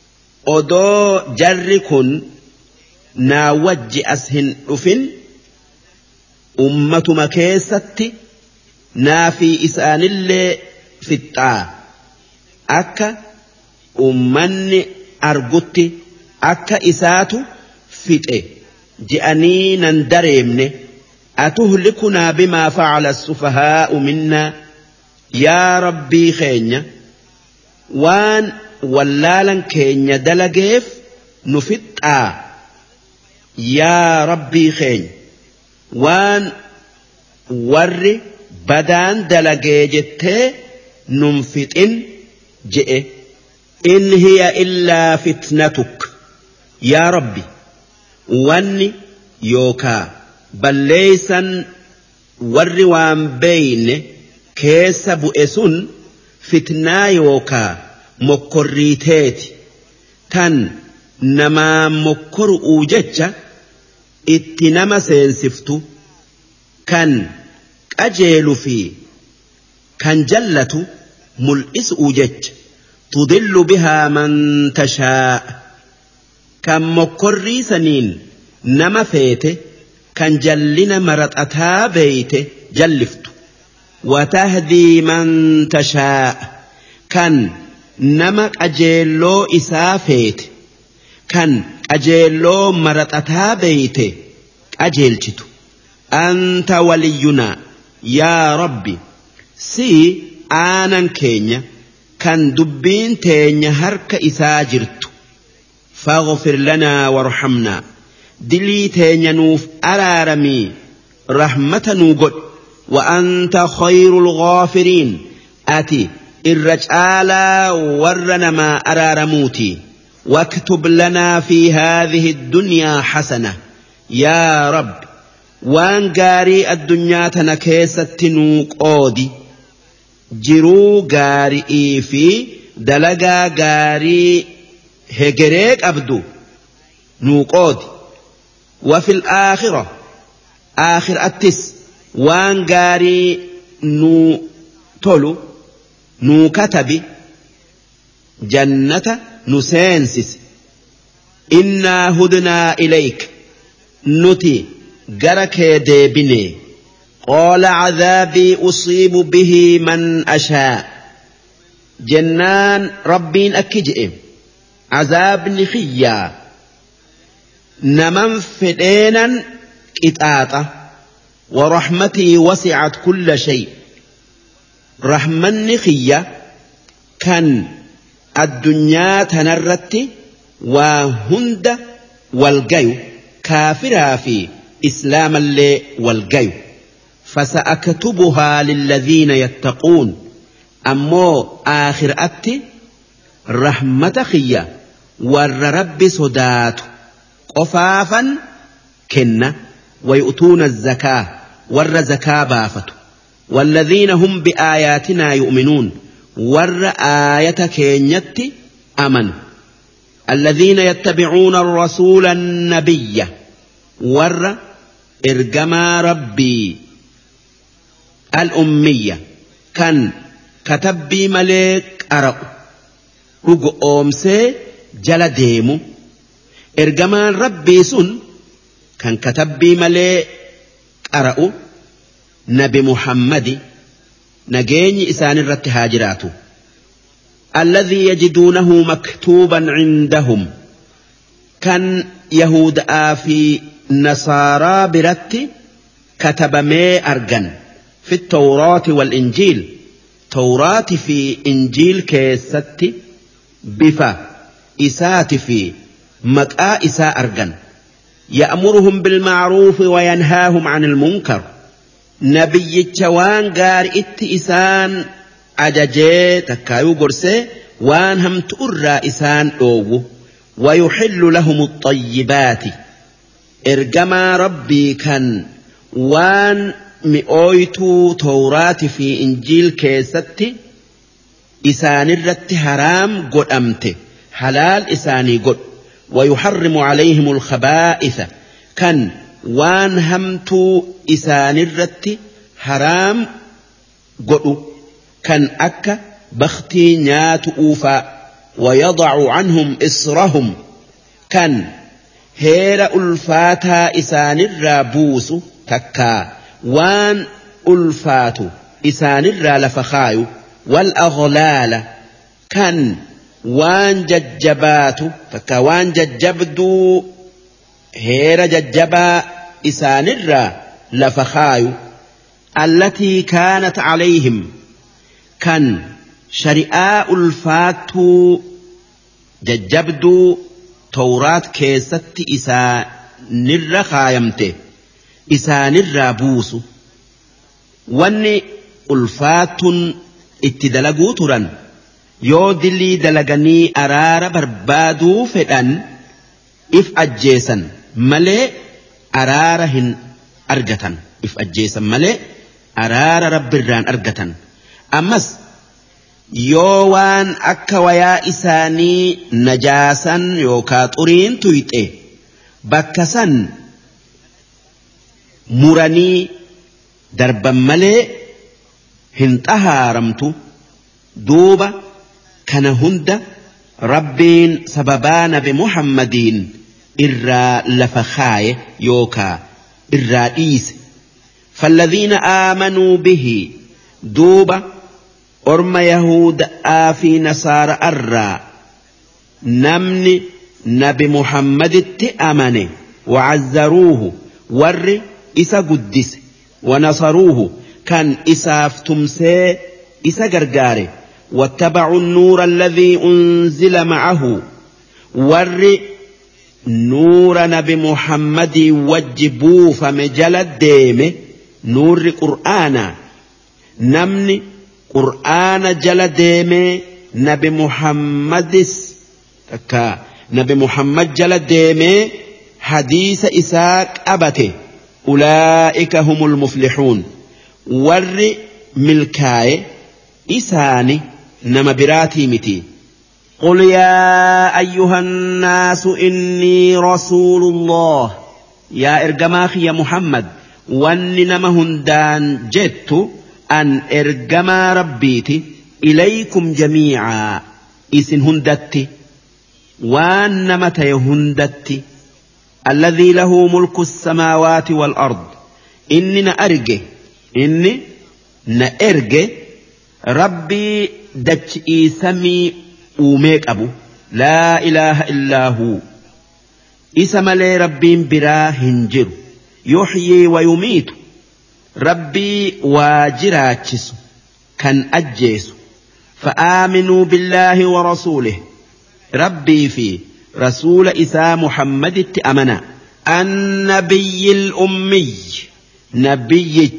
أدو جركن ناوج أسهن أفن أمة مكيستي نافي إسان اللي في الطاعة أكا أمني أرغتي أكا إساتو فتئ جئني نندرمني أتهلكنا بما فعل السفهاء منا يا ربي خينيا وان ولالا كينيا دلقيف نفتآ يا ربي خين وان ور بدان دلقي جتة ننفتن جئ إن هي إلا فتنتك يا ربي واني يوكا بل ليسا ور وان بين كيس بؤسن فتنا يوكا مكريتات تن نما مكر أوجتش اتنما سينسفتو كان أجيل في كان جلة ملئس أوجتش تضل بها من تشاء كان مكري سنين نما فيته كان جلنا مرت أتا بيته جلفت وتهدي من تشاء كان نما أجيلو إسافيت كان أجيلو مرت أتا بيته أجيلتو أنت ولينا يا ربي سي آنا كينيا كان دبين تينيا هرك إساجرت فاغفر لنا وارحمنا دلي تينيا نوف أرارمي رحمة نوغد وأنت خير الغافرين آتي الرجال ورنا ما أرارموتي واكتب لنا في هذه الدنيا حسنة يا رب وان قاري الدنيا تنكيسة نوقودي جرو قاري في دلقا قاري هجريك أبدو نوقودي وفي الآخرة آخر التس وان قاري نو تولو نو كتبي جنة نسينسس إنا هدنا إليك نتي قرك ديبني قال عذابي أصيب به من أشاء جنان ربين أكجئ عذاب نخيا نمن فدينا إتآتا ورحمتي وسعت كل شيء رحمن نخيا كان الدنيا تنرت وهند والجيو كافرا في إسلام اللي والجيو فسأكتبها للذين يتقون أمو آخر أتي رحمة خيا والرب صدات قفافا كنا ويؤتون الزكاة والرزكاة بافت والذين هم بآياتنا يؤمنون ور آية كينيت أمن الذين يتبعون الرسول النبي ور إرجما ربي الأمية كان كتبي ملك أرق رجو أمسي جل ديمو إرجما ربي سن كان كتبي ملك أرق نبي محمد نجيني إسان الرت هاجراته الذي يجدونه مكتوبا عندهم كان يهود آفي نصارى برت كتب مي أرجن في التوراة والإنجيل توراة في إنجيل كيست بفا إسات في مكآ إساء أرجن يأمرهم بالمعروف وينهاهم عن المنكر نبي وان قار ات إسان أججي تكايو قرسي وان هم تؤرى إسان أوغو ويحل لهم الطيبات إرجما ربي كان وان مئويتو توراة في إنجيل كيستي إسان الرت حرام قد أمته حلال إساني قد ويحرم عليهم الخبائث كان وان همتو إسان الرت حرام قد كان أكا بختي نيات أوفا ويضع عنهم إصرهم كان هير ألفاتا إسان الرابوس تكا وان ألفاتو إسان الرالفخايو والأغلال كان وان ججباتو تكا وان ججبدو هير ججبا إسان الرالفخايو التي كانت عليهم كان شريعة ألفاتو ججبدو توراة كيست إسان الرخايمته إسان الرابوس واني ألفات اتدلقوا تران يو دلي دلقني أرار بربادو فدان إف أجيسا ملي أرارهن أرجتن إف أجيسا ملي أرار رب الران أرجتن أمس يوان أكا ويا إساني نجاسا يوكا طرين تويته بكسا مراني دربا ملي هنتها رمتو دوبا كان هند ربين سببان بمحمدين إرى لفخاي يوكا إرى إيس فالذين آمنوا به دوبا أرم يهود آفي نصارى الرا نمني نبي محمد التأمن وعزروه ور إسا قدس ونصروه كان إساف تمسي إسا قرقاري واتبعوا النور الذي أنزل معه ور نور نبي محمد وجبوا فمجل الديم نور قرآن نمني قرآن جل ديمي نبي محمد تكا نبي محمد جل ديمي حديث إساق أبته أولئك هم المفلحون ور ملكاي إساني نما براتي متي قل يا أيها الناس إني رسول الله يا إرجماخي يا محمد واني نما هندان جدت أن إرجما ربيتي إليكم جميعا إسن هندتي وأن متى هندتي الذي له ملك السماوات والأرض إني نأرجه إني نأرجه ربي دجئي سمي أوميك أبو لا إله إلا هو إسم لي ربي برا هنجر يحيي ويميت ربي واجراتشس كان أجيس فآمنوا بالله ورسوله ربي في رسول إسا محمد التأمنا النبي الأمي نبي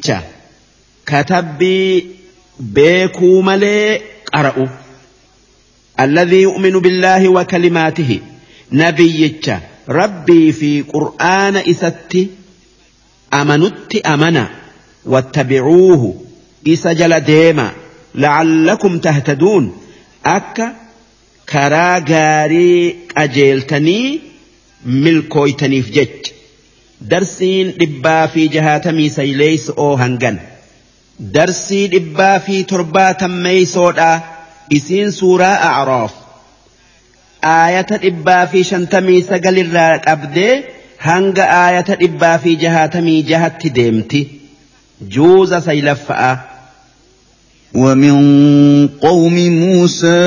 كتبي بيكو ملي قرأوا الذي يؤمن بالله وكلماته نبي ربي في قرآن إستي أمنت أمنا واتبعوه إسجل ديما لعلكم تهتدون أكا كراغاري أجيلتني ملكويتني في جج درسين دبا في جهاتمي سيليس أو هنغن درسي دبا في ترباتا ميسودا إسين سورة أعراف آية دبا في شنتمي سقل الرق أبدي هنغ آية دبا في جهاتمي جهت ديمتي جوز سيلفأ ومن قوم موسى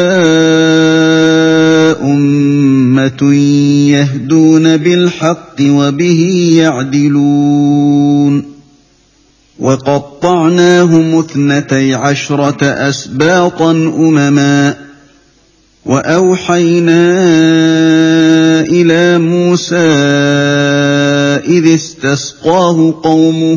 أمة يهدون بالحق وبه يعدلون وقطعناهم اثنتي عشرة أسباطا أمما وأوحينا إلى موسى إذ استسقاه قومه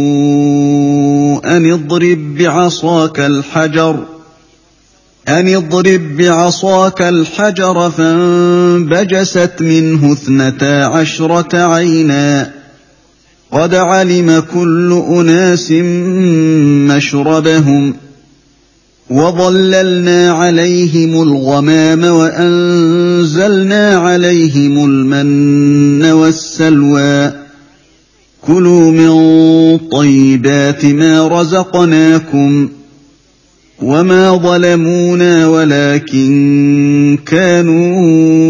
أن اضرب بعصاك الحجر أن اضرب بعصاك الحجر فانبجست منه اثنتا عشرة عينا قد علم كل أناس مشربهم وظللنا عليهم الغمام وأنزلنا عليهم المن والسلوى كلوا من طيبات ما رزقناكم وما ظلمونا ولكن كانوا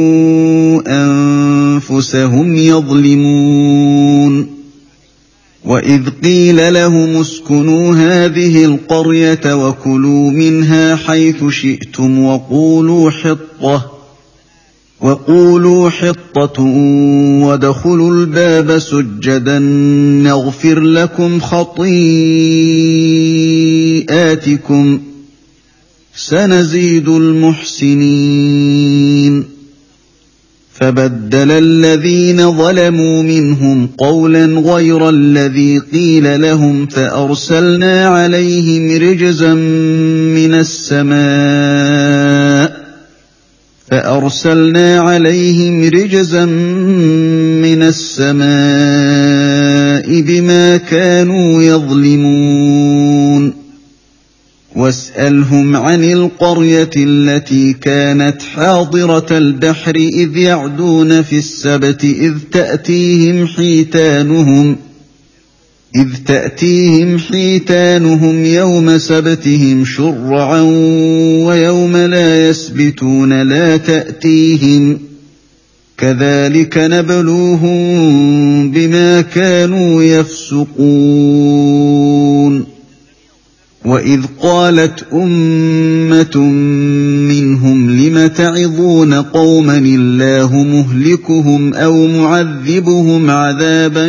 أنفسهم يظلمون وإذ قيل لهم اسكنوا هذه القرية وكلوا منها حيث شئتم وقولوا حطة وقولوا حطة وادخلوا الباب سجدا نغفر لكم خطيئاتكم سنزيد المحسنين فبدل الذين ظلموا منهم قولا غير الذي قيل لهم فأرسلنا عليهم رجزا من السماء فأرسلنا عليهم رجزا من السماء بما كانوا يظلمون واسألهم عن القرية التي كانت حاضرة البحر إذ يعدون في السبت إذ تأتيهم حيتانهم إذ تأتيهم حيتانهم يوم سبتهم شرعا ويوم لا يسبتون لا تأتيهم كذلك نبلوهم بما كانوا يفسقون وإذ قالت أمة منهم لم تعظون قوما الله مهلكهم أو معذبهم عذابا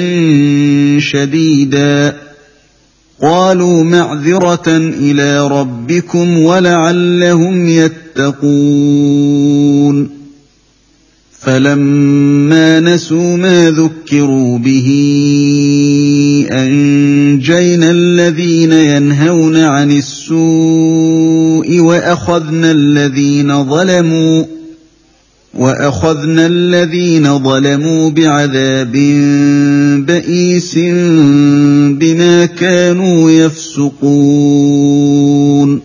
شديدا قالوا معذرة إلى ربكم ولعلهم يتقون فلما نسوا ما ذكروا به أنجينا الذين ينهون عن السوء وأخذنا الذين ظلموا وأخذنا الذين ظلموا بعذاب بئيس بما كانوا يفسقون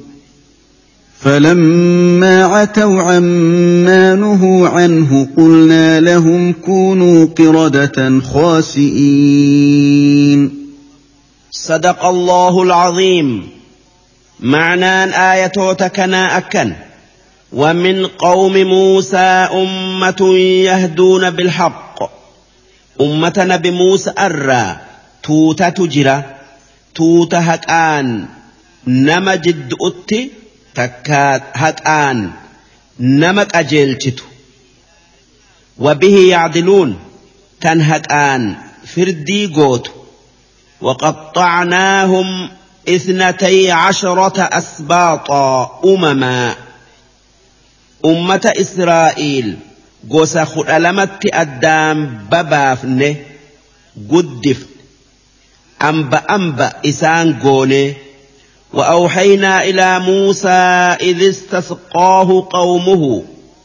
فلما عتوا عما نهوا عنه قلنا لهم كونوا قردة خاسئين صدق الله العظيم. معنى آية تكنا أكن ومن قوم موسى أمة يهدون بالحق أمة نبي موسى أرى توتا تجرى توتا هكآن نما جد أتي تكات هكآن نمك أجلتو وبه يعدلون تنهكآن فردي قوت وقطعناهم اثنتي عشرة أسباطا أمما أمة إسرائيل قوسا خلالمت أدام ببافنه قدف أنبا أنبا إسان قوني وأوحينا إلى موسى إذ استسقاه قومه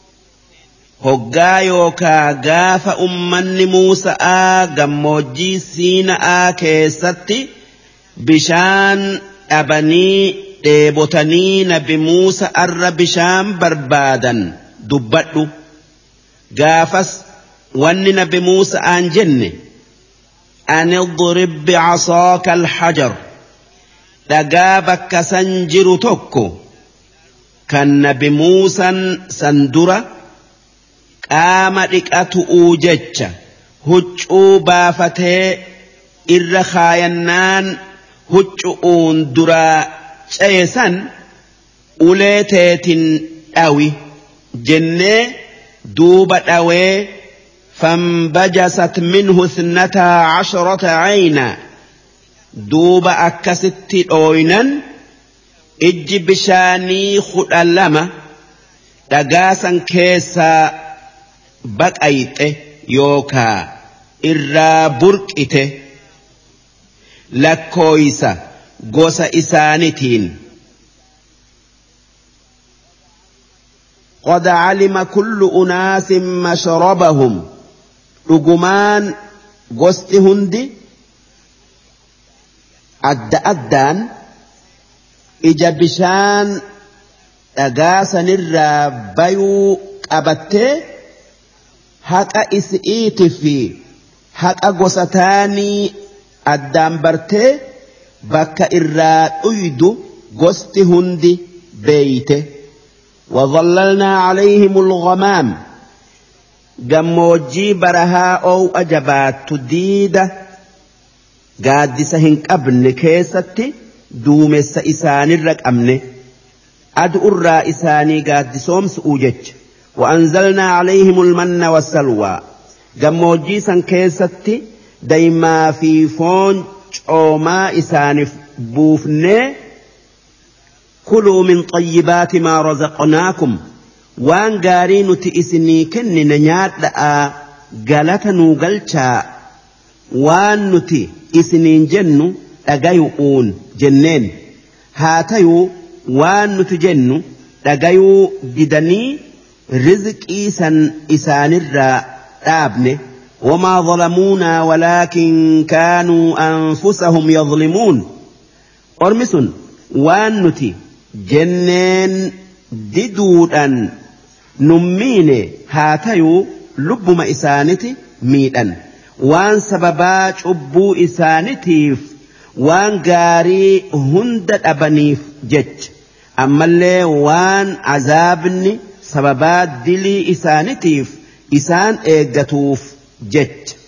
هقايوكا قاف أمن موسى قموجي سينا كيستي بشان أبني ديبوتني نبي موسى أر بشان بربادا دبتو قافس وان نبي موسى أنجن أن اضرب بعصاك الحجر دقابك سنجر توكو كان نبي موسى سندرة قامتك أتؤوجج هجو بافتي إرخاينان هجوون درا شيسان أوليتيت أوي جنة دوبة أوي فانبجست منه اثنتا عشرة عينا دوبة أكست أوينا إج بشاني خلالما دقاسا كيسا بقايته يوكا إرا بركته لكويسا غوسا إسانتين قد علم كل أناس مشربهم رجمان غوست هندي أد أدان إجا بشان أجاسن الرابيو أبته حق إسئيت في حق أجوستاني الدامبرته بك إرّا أيدو قست هندي بيته وظللنا عليهم الغمام جموجي برها أو أجبات تديدة قاد سهنك أبن كيستي دوم السئسان الرق أمنه أدعو الرئيساني قاد سومس أوجج وأنزلنا عليهم المن والسلوى جموجي سن كيستي دايما في فون وما إسانف بوفنه كلوا من طيبات ما رزقناكم وان قارين تئسني كن ننيات لأ قالت نوغلشا وان نتي إسنين جنو أغيقون جنين هاتيو وان نتجنو أغيو ددني رزق إيسان إسان الرّاء آبنه وما ظلمونا ولكن كانوا أنفسهم يظلمون أرمسون وان نتي جنين ددودان نمين هاتيو لبما إسانتي ميدان وان سببا شبو إسانتيف وان غاري هندد أبنيف جج أما اللي وان عذابني سببا دلي إسانتيف إسان إيقاتوف جج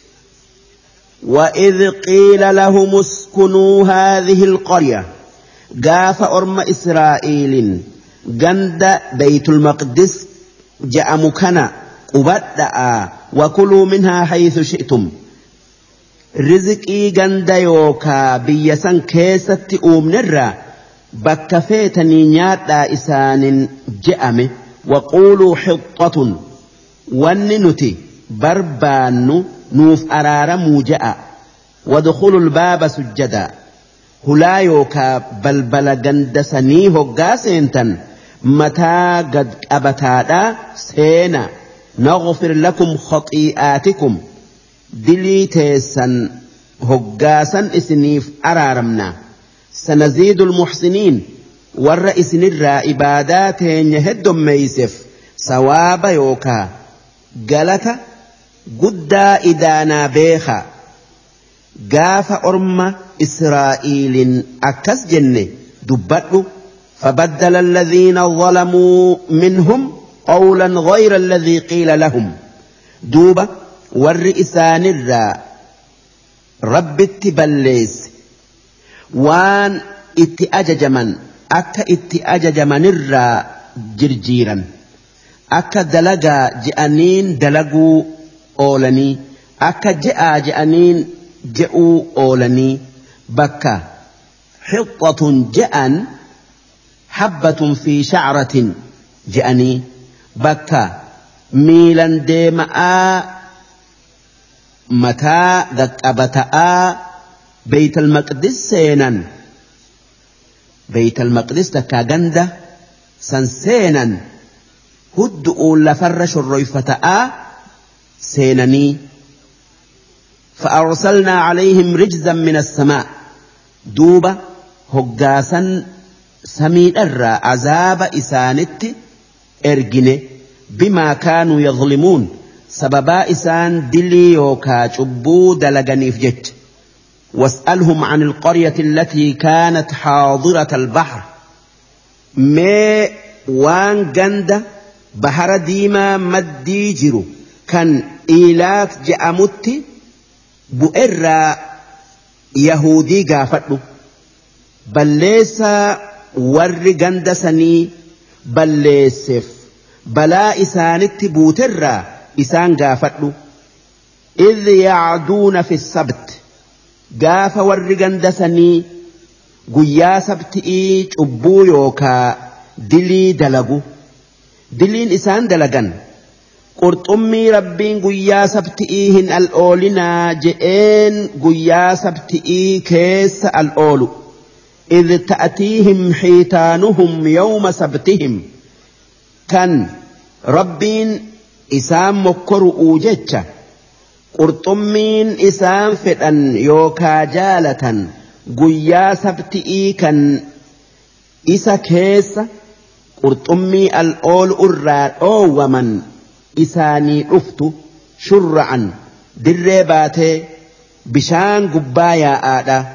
وإذ قيل لهم اسكنوا هذه القرية قاف أرم إسرائيل جند بيت المقدس جاء مكنا قبدأ وكلوا منها حيث شئتم رزقي جند يوكا بيسان كيست أمنرا بكفيتني نياتا إسان جأمه وقولوا حطة وننتي بربان نوف أرار موجأ ودخلوا الباب سجدا هلا يوكا بلبل جندسني هقا سينتن متى قد أبتادا سينا نغفر لكم خطيئاتكم دلي تيسن هقاسا اسنيف أرارمنا سنزيد المحسنين والرئيس نرى إباداتين يهدم ميسف سواب يوكا قالت قدا إدانا بيخا قاف أرم إسرائيل أكس جنة دبته فبدل الذين ظلموا منهم قولا غير الذي قيل لهم دوبة والرئسان الراء رب اتبليس وان اتأجج من أكا اتأجج من الراء جرجيرا أكا دلقا جأنين دلقوا أولني أكا جاء جأنين جاءوا أولني بكا حطة جأن حبة في شعرة جأني بكا ميلا ديماء متى ذكبتاء بيت المقدس سينا بيت المقدس تكا جندة سنسينا هدؤوا لفرش الريفتاء سينني فأرسلنا عليهم رجزا من السماء دوبة هقاسا سمين الرا عذاب إسانت إرجنة بما كانوا يظلمون سببا إسان دلي يوكا شبو دلغني فجت واسألهم عن القرية التي كانت حاضرة البحر ما وان جند بحر ديما مدي جرو كان إيلاك جأمت بؤرا يهودي قافتلو بل ليس ور جندسني بل ليسف بلا إسانت بوترا إسان قافتلو إذ يعدون في السبت قاف ور جندسني قيا سبتئي شبو يوكا دلي دلقو دلين إسان دلقن قرطمي ربين قيا سبتئيهن الأولنا جئين قيا سبتئي كيس الأولو إذ تأتيهم حيتانهم يوم سبتهم كان ربين إسام مكر أوجتش قرطمين إسام فتن يوكا جالة قيا سبتئي كان إسا كيس قرطمي الأول أرى ومن إساني أفتو شرعا دربات بشان قبايا آدا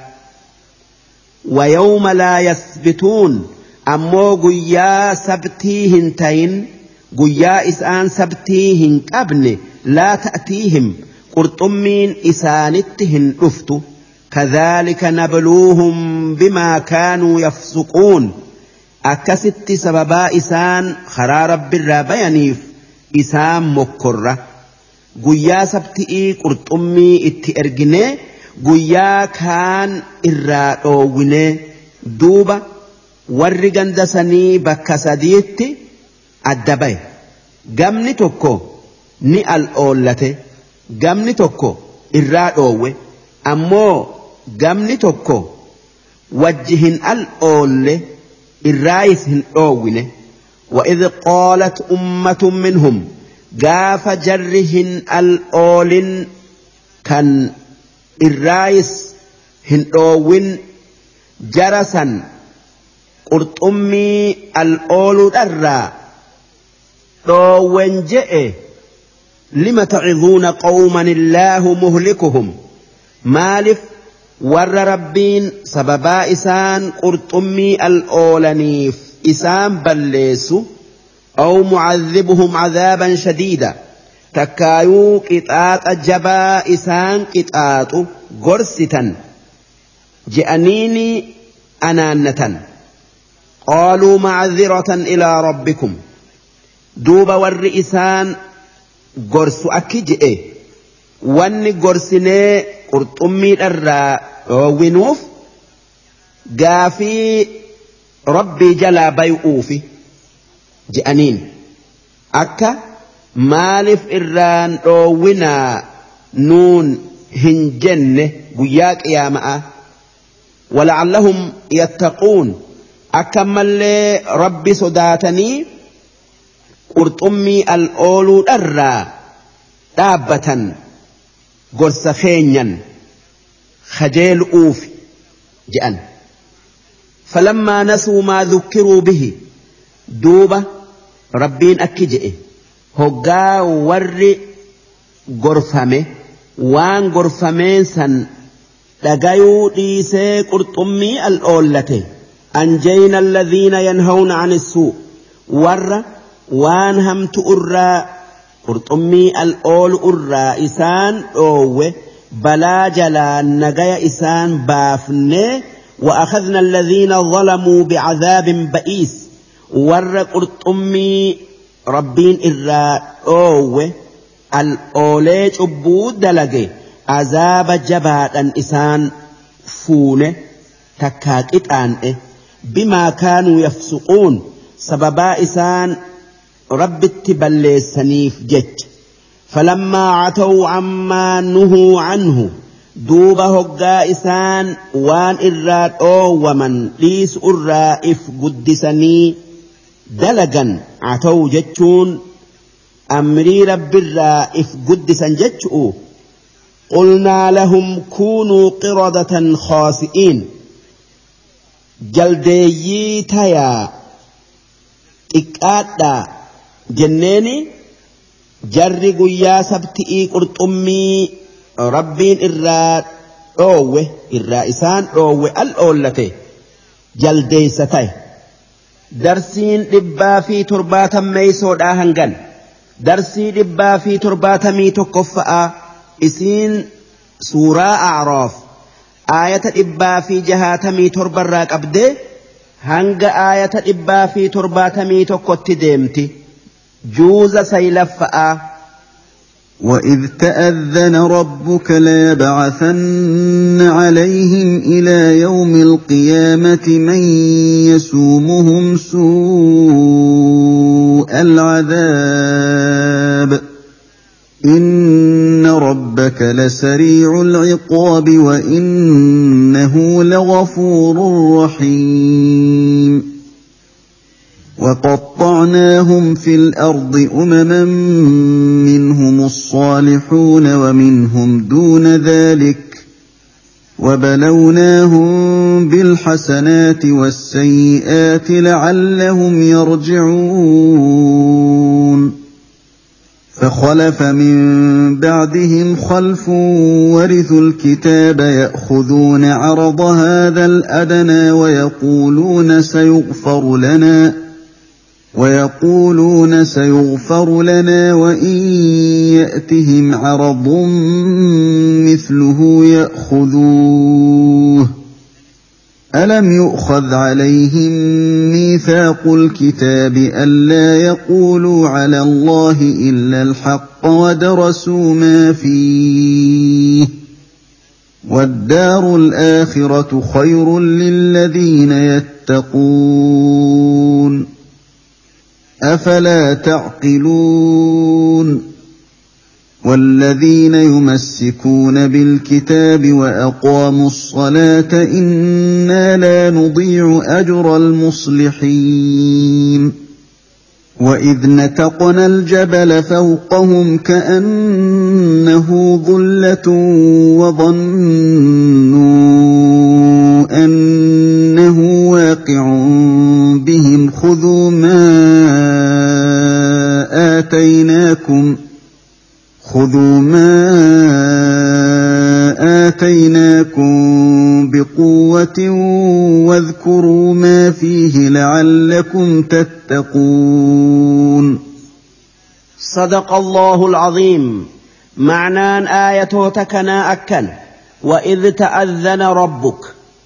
ويوم لا يثبتون أمو قيا سبتيهن تين قيا إسان سبتيهن أبن لا تأتيهم قرطمين إسانتهن أفتو كذلك نبلوهم بما كانوا يفسقون أكست سببا إسان خرارب الرابينيف إسان مكرة قيا سبتئي قرطمي اتئرقني قيا كان إرادووني دوبا ورقن دسني بكسديت الدبي قمني توكو ني الأولة قمني توكو إرادوه أمو قمني توكو وجهن الأولة الرايسهن أوونه وإذ قالت أمة منهم قاف جرهن الأول كان الرايس هن أوين جرسا قرطمي الأول درا أوين جئ لم تعظون قوما الله مهلكهم مالف ور ربين سببا إسان قرطمي الأولانيف إسان بلسو أو معذبهم عذابا شديدا تكايو قطعات الجبا إسان قطعات قرستا جأنيني أنانة قالوا معذرة إلى ربكم دوب ور إسان قرس أكجئ واني قرسني قرطمي الرا ونوف قافي ربي جلا بيؤوفي جأنين أكا مالف إران ونا نون هنجن قياك يا ماء ولعلهم يتقون أكمل ربي صداتني قرطمي الأولو الرا دابة قرص خينيا خجيل أوفي جأن فلما نسوا ما ذكروا به دوبة ربين أكجئ هقا ور قرفمه وان قرفمين سن لقايو ديسي قرطمي الأولة أنجينا الذين ينهون عن السوء ور وان هم تؤرى قرطمي الأول أرى إسان أوه بلا جلا نجايا إسان بافنه وأخذنا الذين ظلموا بعذاب بئيس ور قرطمي ربين إرى أوه الأوليج أبود دلقي عذاب جبات إسان فونه تكاكت آنه بما كانوا يفسقون سببا إسان رب التبلي سنيف جت فلما عتوا عما نهوا عنه دوبه قائسان وان إراد أو ومن ليس الرائف قدسني دلقا عتوا جتشون أمري رب الرائف قدسا جتشؤ قلنا لهم كونوا قردة خاسئين جلدي تيا إكادا جنيني جري قيا سبتئي قرطمي ربين إراد أوه الرائسان أوه الأولة جلدي ستي درسين لبا في ترباتا ميسود آهنغن درسي لبا في ترباتا ميتو كفاء إسين سورة أعراف آية لبا في جهاتمي تربراك أبدي هنگ آية لبا في ترباتمي تكت ديمتي جوز سيلفأ وإذ تأذن ربك ليبعثن عليهم إلى يوم القيامة من يسومهم سوء العذاب إن ربك لسريع العقاب وإنه لغفور رحيم وقطعناهم في الأرض أمما منهم الصالحون ومنهم دون ذلك وبلوناهم بالحسنات والسيئات لعلهم يرجعون فخلف من بعدهم خلف ورثوا الكتاب يأخذون عرض هذا الأدنى ويقولون سيغفر لنا ويقولون سيغفر لنا وإن يأتهم عرض مثله يأخذوه ألم يؤخذ عليهم ميثاق الكتاب ألا يقولوا على الله إلا الحق ودرسوا ما فيه والدار الآخرة خير للذين يتقون أفلا تعقلون والذين يمسكون بالكتاب وأقاموا الصلاة إنا لا نضيع أجر المصلحين وإذ نتقنا الجبل فوقهم كأنه ظلة وظنوا أنه واقع بهم خذوا ما آتيناكم خذوا ما آتيناكم بقوة واذكروا ما فيه لعلكم تتقون صدق الله العظيم. معنى آية تكنا أكن وإذ تأذن ربك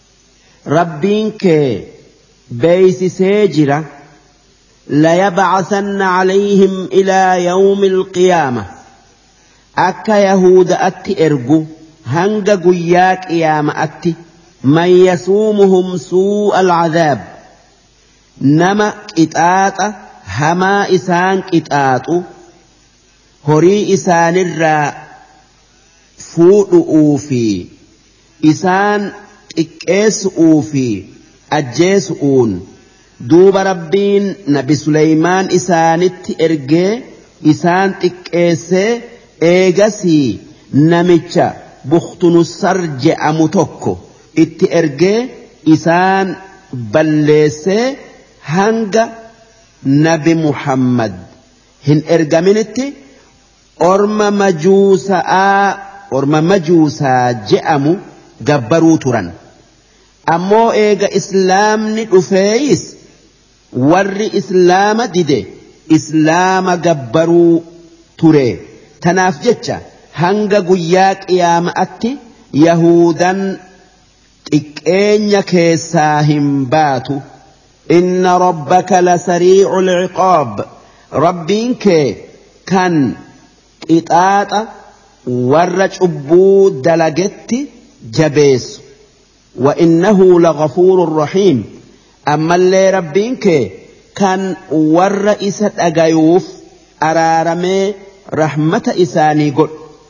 ربك بيس سيجرة ليبعثن عليهم إلى يوم القيامة akka yahuuda'atti ergu hanga guyyaa qiyaama'atti man yasuumuhum suu'al cadaab nama qixaaxa hamaa isaan qixaaxu horii isaanirraa fuudhu'uu fi isaan xiqqeessu'uu fi ajjeesu'uun duuba rabbiin nabi Suleymaan isaanitti ergee isaan xiqqeessee eegasii namicha Bukhtunussar je'amu tokko itti ergee isaan balleessee hanga nabi Muhammad hin ergaminitti orma majuusaa orma majuusaa je'amu gabbaruu turan. Ammoo eega islaamni dhufeeyis warri islaama dide islaama gabbaruu ture. Tanaaf jecha hanga guyyaa qiyaama'atti yahudan xiqqeenya keessaa hin baatu. Inna rabbaka lasariicul ciqaab rabbiin kee kan qixaaxa warra cubbuu dalagetti jabeessu. Wa innahu laghafuurun rahiim ammallee rabbiin kee kan warra isa dhagayuuf araaramee رحمة إساني قل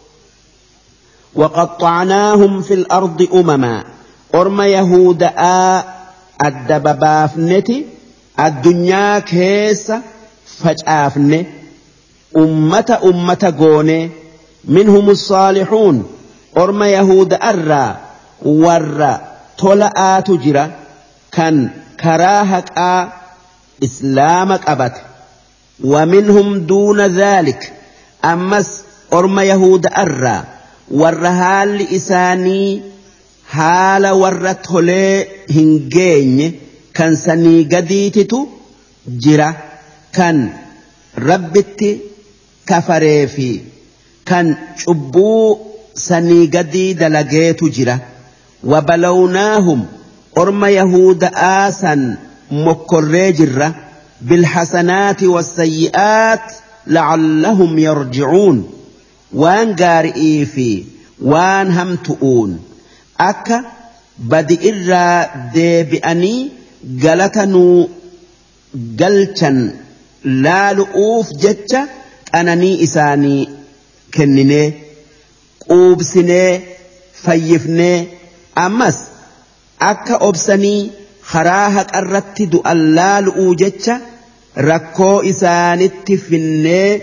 وقطعناهم في الأرض أمما أرم يهود آ الدببافنتي الدنيا كيس فجأفن أمة أمة قوني منهم الصالحون أرم يهود أرى ورى طلعا تجرى كان كراهك آ إسلامك أبت ومنهم دون ذلك أمس أرم يهود أرى والرهال إساني حال ورطهلي هنجين كان سني قديتتو جرا كان ربتي كفريفي كان شبو سني قديد لقيتو جرا وبلوناهم أرم يهود آسا مكري جرا بالحسنات والسيئات لعلهم يرجعون وان قارئي في وان هم تؤون أكا بدئ الرا ديبئني قلتنو قلتن لا لؤوف جتة أنني إساني كنني قوبسني فيفني أمس أكا أبسني خراهك الرتد ألا لؤو جتة rakkoo isaanitti finnee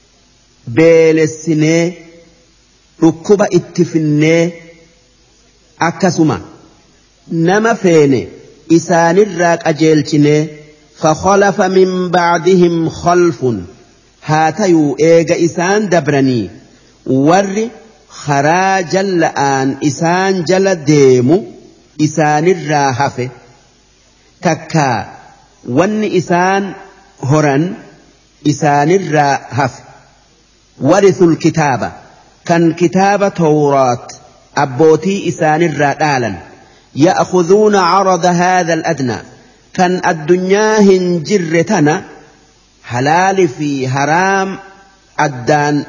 beelessinee dhukkuba itti finnee akkasuma nama feene isaanirraa qajeelchine فخلف من بعدهم خلف هاتيو إيغا إسان دبرني ور خراج الآن إسان جل ديمو إسان الراهف تكا ون إسان هرن إسان الراهف ورثوا الكتابة كان كتاب توراة أبوتي إسان الرادالا يأخذون عرض هذا الأدنى كان الدنيا هنجرتنا حلال في حرام أدان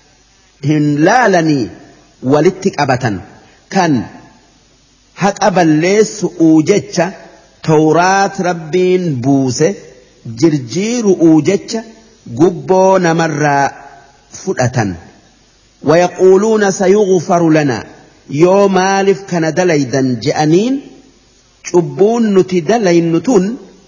هنلالني ولتك أبتا كان حق أبليس أوجتش توراة ربين بوسه جرجير أوجتش قبو نمر فؤة ويقولون سيغفر لنا يوم آلف كان دليدا جأنين cubbuun nuti dalaynu tun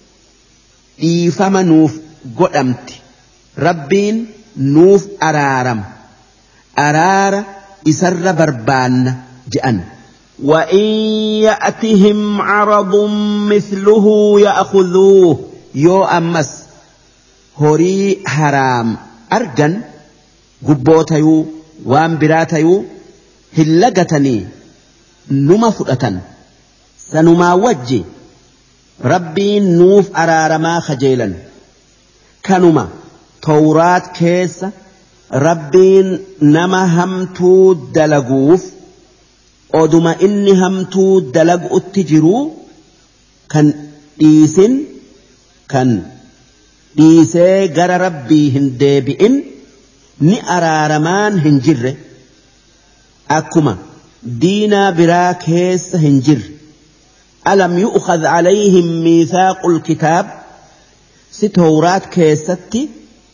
dhiifama nuuf godhamti rabbiin nuuf araaram araara isarra barbaanna je'an وإن يأتهم عرض مثله يأخذوه يو أمس هوري حرام أرجن قبوتيو وانبراتيو هلقتني نما فؤة سنما وجه ربي نوف أرارما خجيلا كانما توراة كيس ربي نما همتو دلقوف ودما إني همتو دلق التجرو كان ديسن كان ديسي غر ربي هندبئن ني أرارمان هنجر أكما دينا برا كيس هنجر ألم يؤخذ عليهم ميثاق الكتاب ستورات كيستي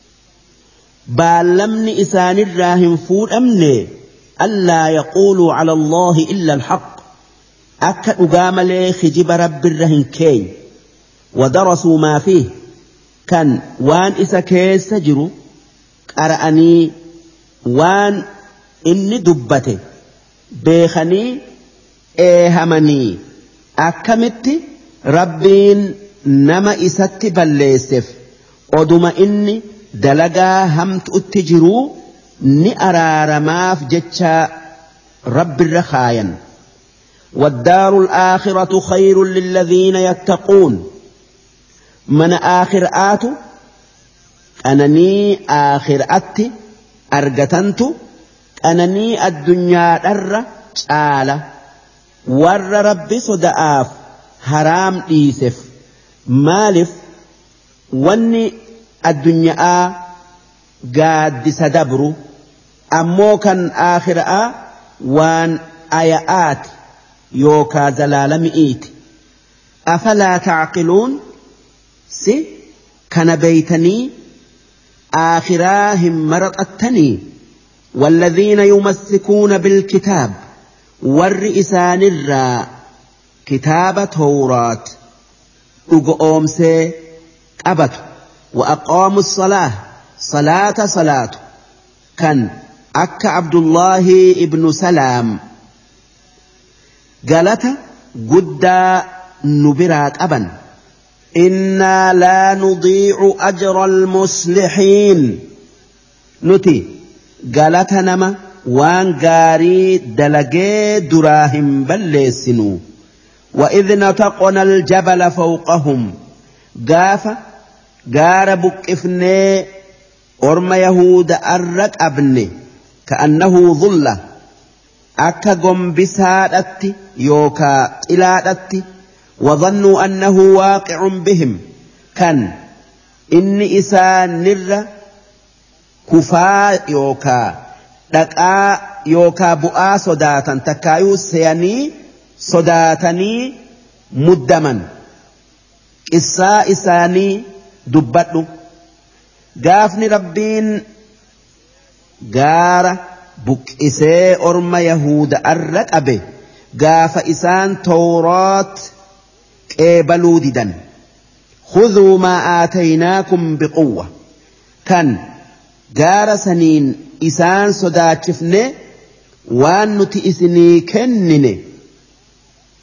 بالمني إسان الراهم فور أمني ألا يقولوا على الله إلا الحق أكا أقام لي خجب رب الرهن كي ودرسوا ما فيه كان وان إسا كيس جرو أرأني وان إني دبته بيخني إيهمني akkamitti rabbiin nama isatti balleesseef oduma inni dalagaa hamtuutti jiruu ni araaramaaf jecha rabbirra khaayan والدار الآخرة خير للذين يتقون من آخر آتو أنني آخر أتي أرجتنت أنني الدنيا در تعالى ور ربي صدآف حرام ديسف مالف وني الدنيا قاد سدبرو أمو كان آخر وان آيات يوكا زلال مئيت أفلا تعقلون سي كان بيتني آخراهم مرقتني والذين يمسكون بالكتاب والرئسان الراء كتاب توراة أقومسي أبت وأقاموا الصلاة صلاة صلاة كان أك عبد الله ابن سلام قالت قد نبرات أبا إنا لا نضيع أجر المصلحين نتي قالت نما وان قاري دلقي دراهم بلسنو وإذ نتقنا الجبل فوقهم قاف قار بكفني أرم يهود أرك أبني كأنه ظلة أكا قم بسادت يوكا إلادت وظنوا أنه واقع بهم كان إني إسان نر كفا يوكا دقا يوكا بؤا صداتا تكايو سياني صداتني مدما إسا إساني دبتو قافني ربين قارة بك إساء أرم يهود أرك أبي قاف إسان توراة قبلوا ددا خذوا ما آتيناكم بقوة كان قار سنين إسان صداتشفني وان نتئسني كنني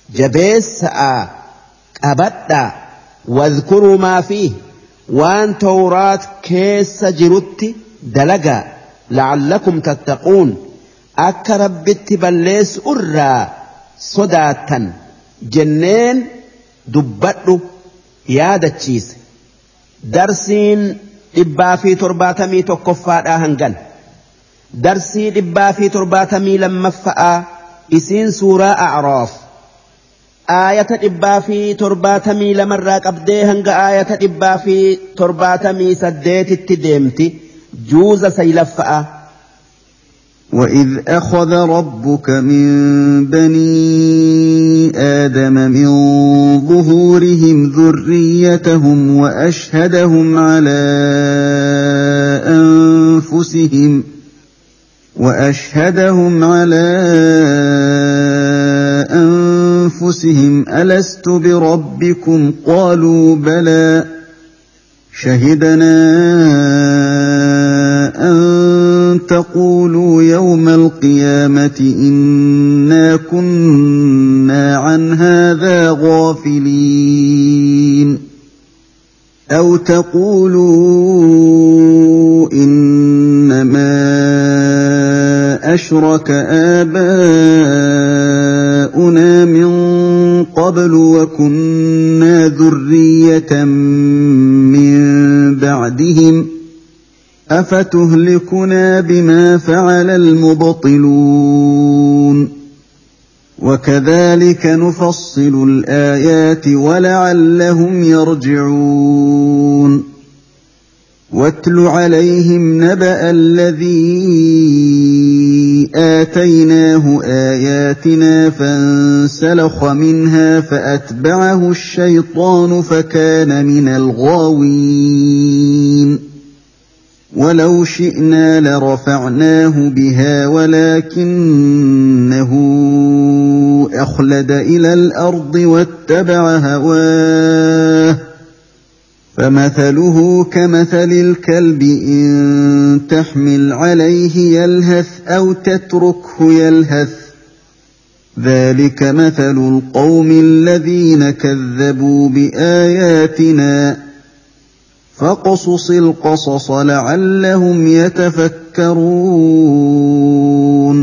جبيسا أبدا واذكروا ما فيه وان توراة كيس جرت دلقا لعلكم تتقون أكا ربت بليس أرى صداتا جنين دبتو يادا تشيس درسين إبا في ترباتمي تكفات آهنغن درسين إبا في ترباتمي لما فأ إسين سورة أعراف آية إبا في ترباتمي لمراك أبديهنغ آية إبا في ترباتمي سديت التديمتي جوز سيلفأ وإذ أخذ ربك من بني آدم من ظهورهم ذريتهم وأشهدهم على أنفسهم وأشهدهم على أنفسهم ألست بربكم قالوا بلى شهدنا أن تقولوا يوم القيامة إنا كنا عن هذا غافلين أو تقولوا إنما أشرك آباؤنا من قبل وكنا ذرية من بعدهم أفتهلكنا بما فعل المبطلون وكذلك نفصل الآيات ولعلهم يرجعون واتل عليهم نبأ الذي آتيناه آياتنا فانسلخ منها فأتبعه الشيطان فكان من الغاوين ولو شئنا لرفعناه بها ولكنه أخلد إلى الأرض واتبع هواه فمثله كمثل الكلب إن تحمل عليه يلهث أو تتركه يلهث ذلك مثل القوم الذين كذبوا بآياتنا فاقصص القصص لعلهم يتفكرون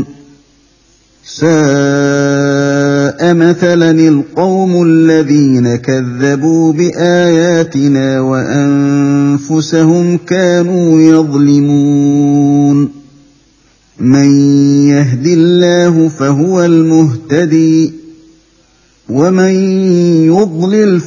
ساء مثلا القوم الذين كذبوا بآياتنا وأنفسهم كانوا يظلمون من يهد الله فهو المهتدي ومن يضلل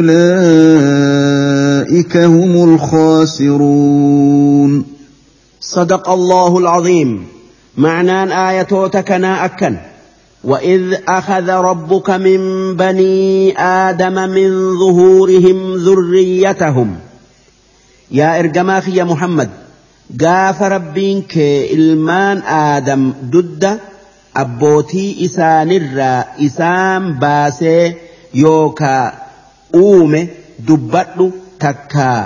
فأولئك هم الخاسرون صدق الله العظيم. معنى آياتك ناءكا وإذ أخذ ربك من بني آدم من ظهورهم ذريتهم يا إرجماخ يا محمد قاف ربينك إلمان آدم ضد أبوتي إسان الرا إسان باسي يوكا أومي دبتلو تكا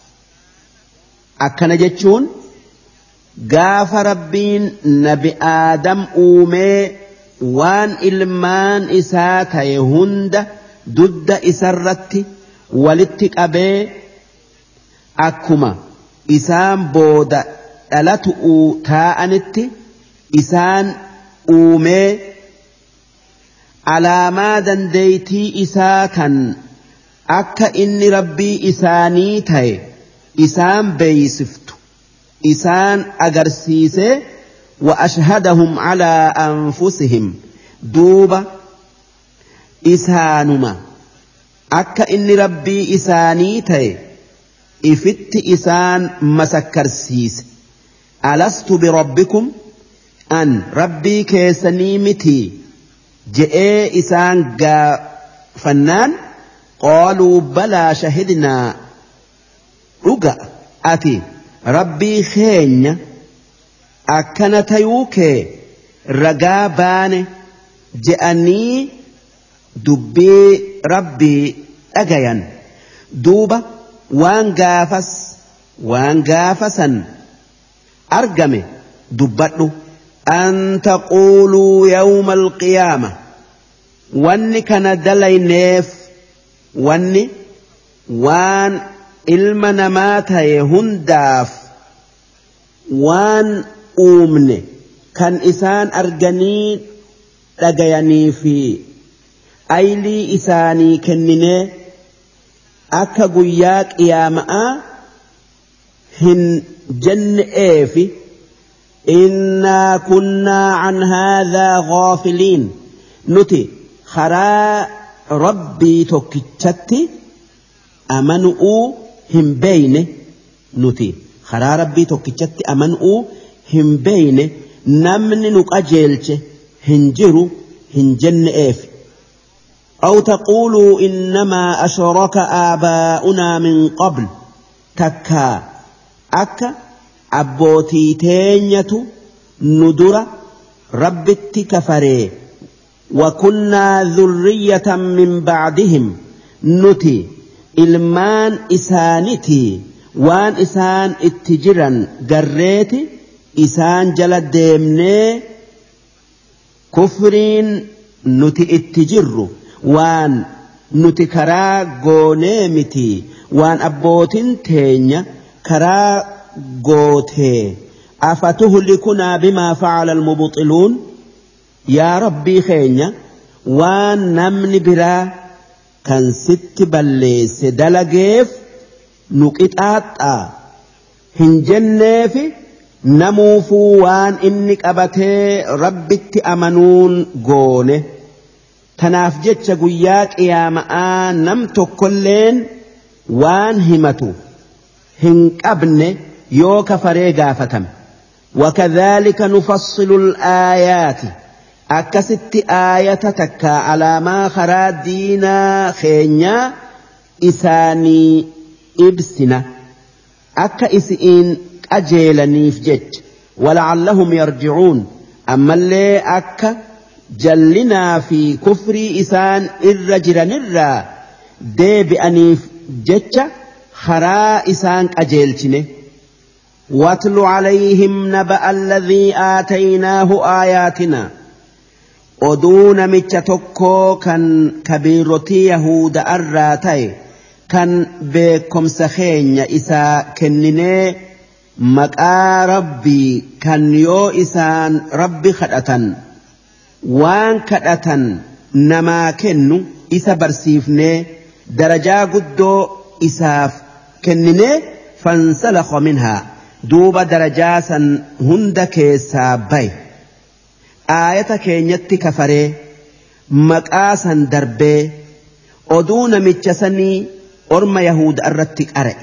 أكنا جتشون قاف ربين نبي آدم أومي وان إلمان إساتا يهند ضد إسرت ولتك أبي أكما إسان بودا ألتؤ تاءنت إسان أومي على ما دنديتي إساكا أكا إني ربي إساني تاي إسان بيسفت إسان أجرسيسه وأشهدهم على أنفسهم دوبا إسانما أكا إني ربي إساني تاي إفت إسان مسكرسيس ألست بربكم أن ربي كيسني متي جئ إسان قا فنان قالوا بلى شهدنا رقا أتي ربي خين أكنت يوكي رقابان جأني دبي ربي أجيا دوبا وان قافس وان قافسا أرقمي دبتلو أن تقولوا يوم القيامة wanni kana dalayneef wanni waan ilma namaa ta'e hundaaf waan uumne kan isaan arganii dhagayanii fi aylii isaanii kenninee akka guyyaa qiyaama'aa hin jenneefi innaa kunnaa an haadhaa ghaafiliin nuti karaa rabbii tokkichatti amanu'uu hin beeyne nuti karaa rabbii tokkichatti amanu'uu hin beeyne namni nu qajeelche hin jiru hin jenneefi أو تقولوا إنما أشرك آباؤنا من قبل تكا أكا أبوتي تينية ندرة ربت كفري وكنا ذرية من بعدهم نتي إلمان إسانتي وان إسان اتجرا قريتي إسان جلد ديمني كفرين نتي اتجروا waan nuti karaa goonee miti waan abbootin teenya karaa gootee afatuhlikunaa bimaa fa'ala almubxiluun yaa rabbii keenya waan namni biraa kan sitti balleesse dalageef nu qixaaxxaa hin jenneefi namuufuu waan inni qabatee rabbitti amanuun goone tanaaf jecha guyyaa qiyaama'aa nam tokkolleen waan himatu hin qabne yoo kafaree gaafatame wakadhaalika nufassilu al-aayaati akkasitti aayata takka alaamaa karaa diinaa keenyaa isaanii ibsina akka isiin qajeelaniif jecha wala'allahum yarji'uun ammallee akka jallinaa fi kufrii isaan irra jiranirraa deebi'aniif jecha karaa isaan qajeelchine واتل عليهم نبأ الذي آتيناه آياتنا أدون متشتكو كان كبيرتي يهود الراتي كان بكم سخين إسا كنني مكا ربي كان يو إسان ربي خدأة وان كدأتن نما كنو إسا برسيفني درجا قدو إساف كنني فانسلخ منها دوب درجاسا هندك سابي آية كينيت كفري مكاسا دربي أدون متشسني أرم يهود أرتك أرئ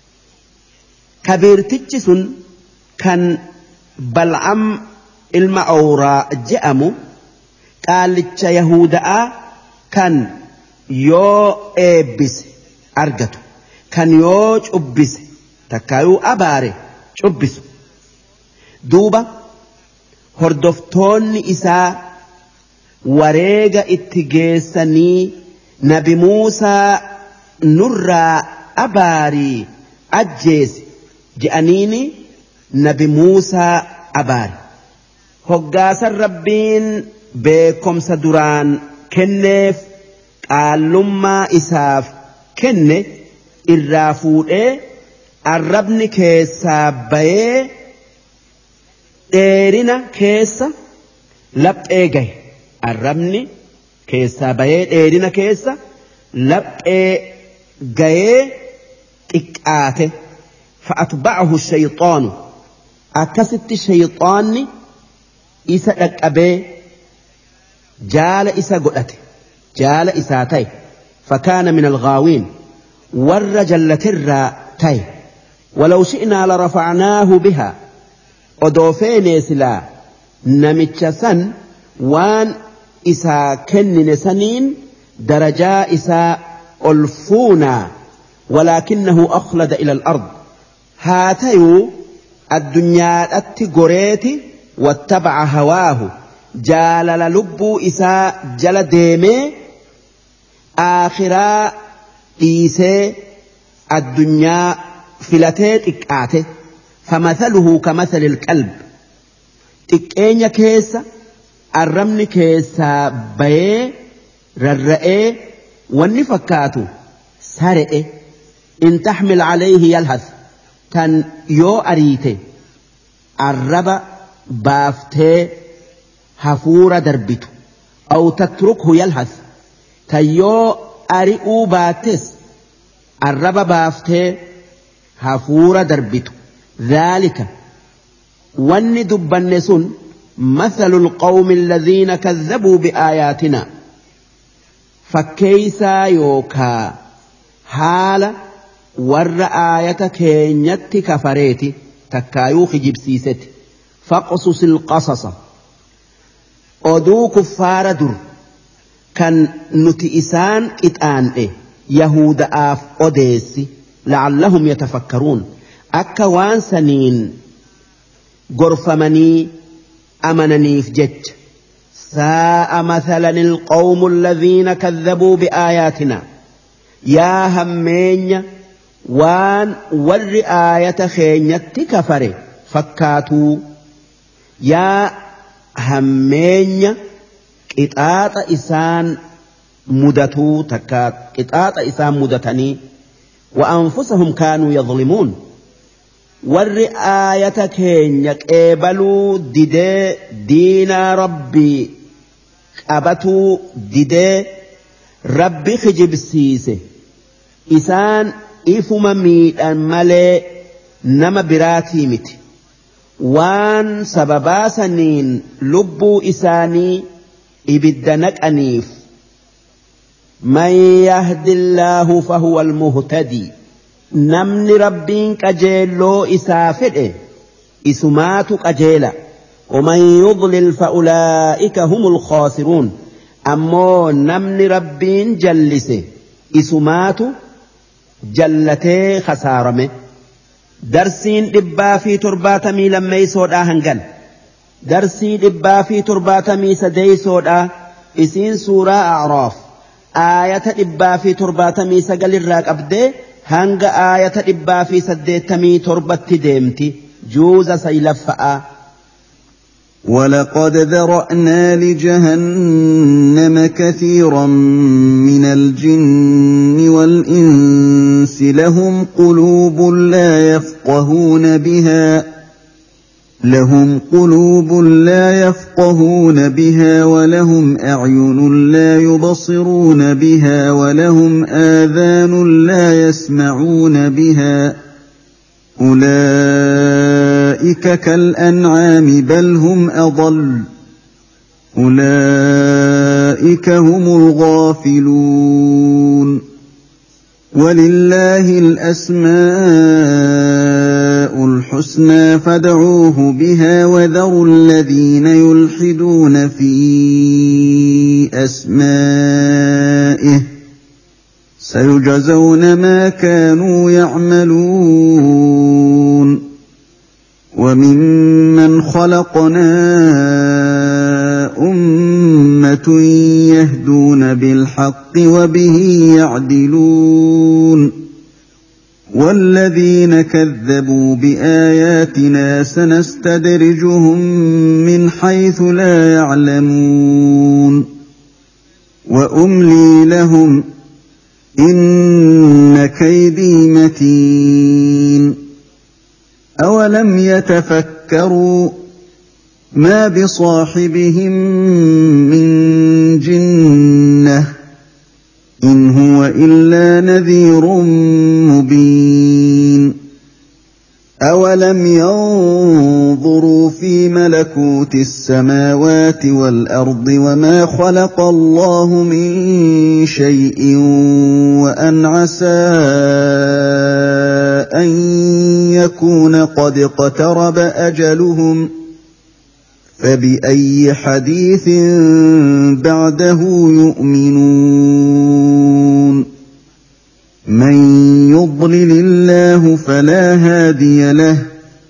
كبير تجسن كان بلعم المعورة جأمو قالتش يهودا كان يو إبس أرجتو كان يو أبس تكايو أباري أبس دوبا هردفتون إساء وريغا اتجيسني نبي موسى نرى أباري أجيس جأنيني نبي موسى أباري هقاس الربين beekomsa duraan kenneef qaallummaa isaaf kenne irraa fuudhee arrabni keessaa bayee dheerina keessa laphee gahe arrabni keessaa bayee dheerina keessa laphee gahee xiqqaate fa'atba'ahu shayxaanu akkasitti shayxaanni isa dhaqqabee جال إسا قلت جال إسا تاي فكان من الغاوين والرجل ترى تاي ولو شئنا لرفعناه بها أدوفين سلا نمتشسن وان إسا كن سنين درجا إسا ألفونا ولكنه أخلد إلى الأرض هاتيو الدنيا التقريت واتبع هواه جالل لبو إساء جل ديمي آخرا إيسي الدنيا فلتيت إكاته فمثله كمثل الكلب تكين كيسا الرمن كيسا بي rarra'ee wanni fakkaatu sare'e in taxmil calayhi yalhas tan yoo ariite arraba baaftee hafuura darbitu aw tatrukhu yalhas tan yoo ari'uu baattes arraba baaftee hafuura darbitu dhaalika wanni dubbanne sun مثل القوم الذين كذبوا بآياتنا فكيسا يوكا حال ور آية كينيت كفريتي تكايو خجبسيست فاقصص القصص أدو كفار در كان نتئسان اتآن إيه يهود آف أديسي لعلهم يتفكرون أكوان سنين غرفمني أمننيف جج ساء مثلا القوم الذين كذبوا بآياتنا يا همين وان والرآية خينيت كفر فكاتوا يا همين قطاط إسان مدتو تكات قطاط إسان مدتني وأنفسهم كانوا يظلمون والرآية كينيك قبلوا ديدي دينا ربي قبتوا ديدي ربي خجب سيسي إسان إفما ميدان ملي نما براتي مت وان سببا سنين لبو إساني إبدنك أنيف من يهد الله فهو المهتدي namni rabbiin qajeelloo isaa fedhe isumaatu qajeela ومن يضلل فأولئك هم الخاسرون أمو نمن ربين جلسه إسمات جلته خسارمه درسين دبا في ترباتمي لما يسود آهنغن درسي دبا في ترباتمي سدي سودا إسين سورة أعراف آية دبا في ترباتمي سقل الراك أبدي hanga aayata dhibbaa fi saddeettamii torbatti deemti juuza saylaffa'a. ولقد ذرأنا لجهنم كثيرا من الجن والإنس لهم قلوب لا يفقهون بها لهم قلوب لا يفقهون بها ولهم أعين لا يبصرون بها ولهم آذان لا يسمعون بها أولئك كالأنعام بل هم أضل أولئك هم الغافلون ولله الأسماء الحسنى فادعوه بها وذروا الذين يلحدون في أسمائه سيجزون ما كانوا يعملون وممن خلقنا أمة يهدون بالحق وبه يعدلون والذين كذبوا بآياتنا سنستدرجهم من حيث لا يعلمون وأملي لهم إن كيدي متين أولم يتفكروا ما بصاحبهم من جنة إن هو إلا نذير مبين أولم ينظروا في ملكوت السماوات والأرض وما خلق الله من شيء وأن عسى أن يكون قد اقترب أجلهم فبأي حديث بعده يؤمنون من يضلل الله فلا هادي له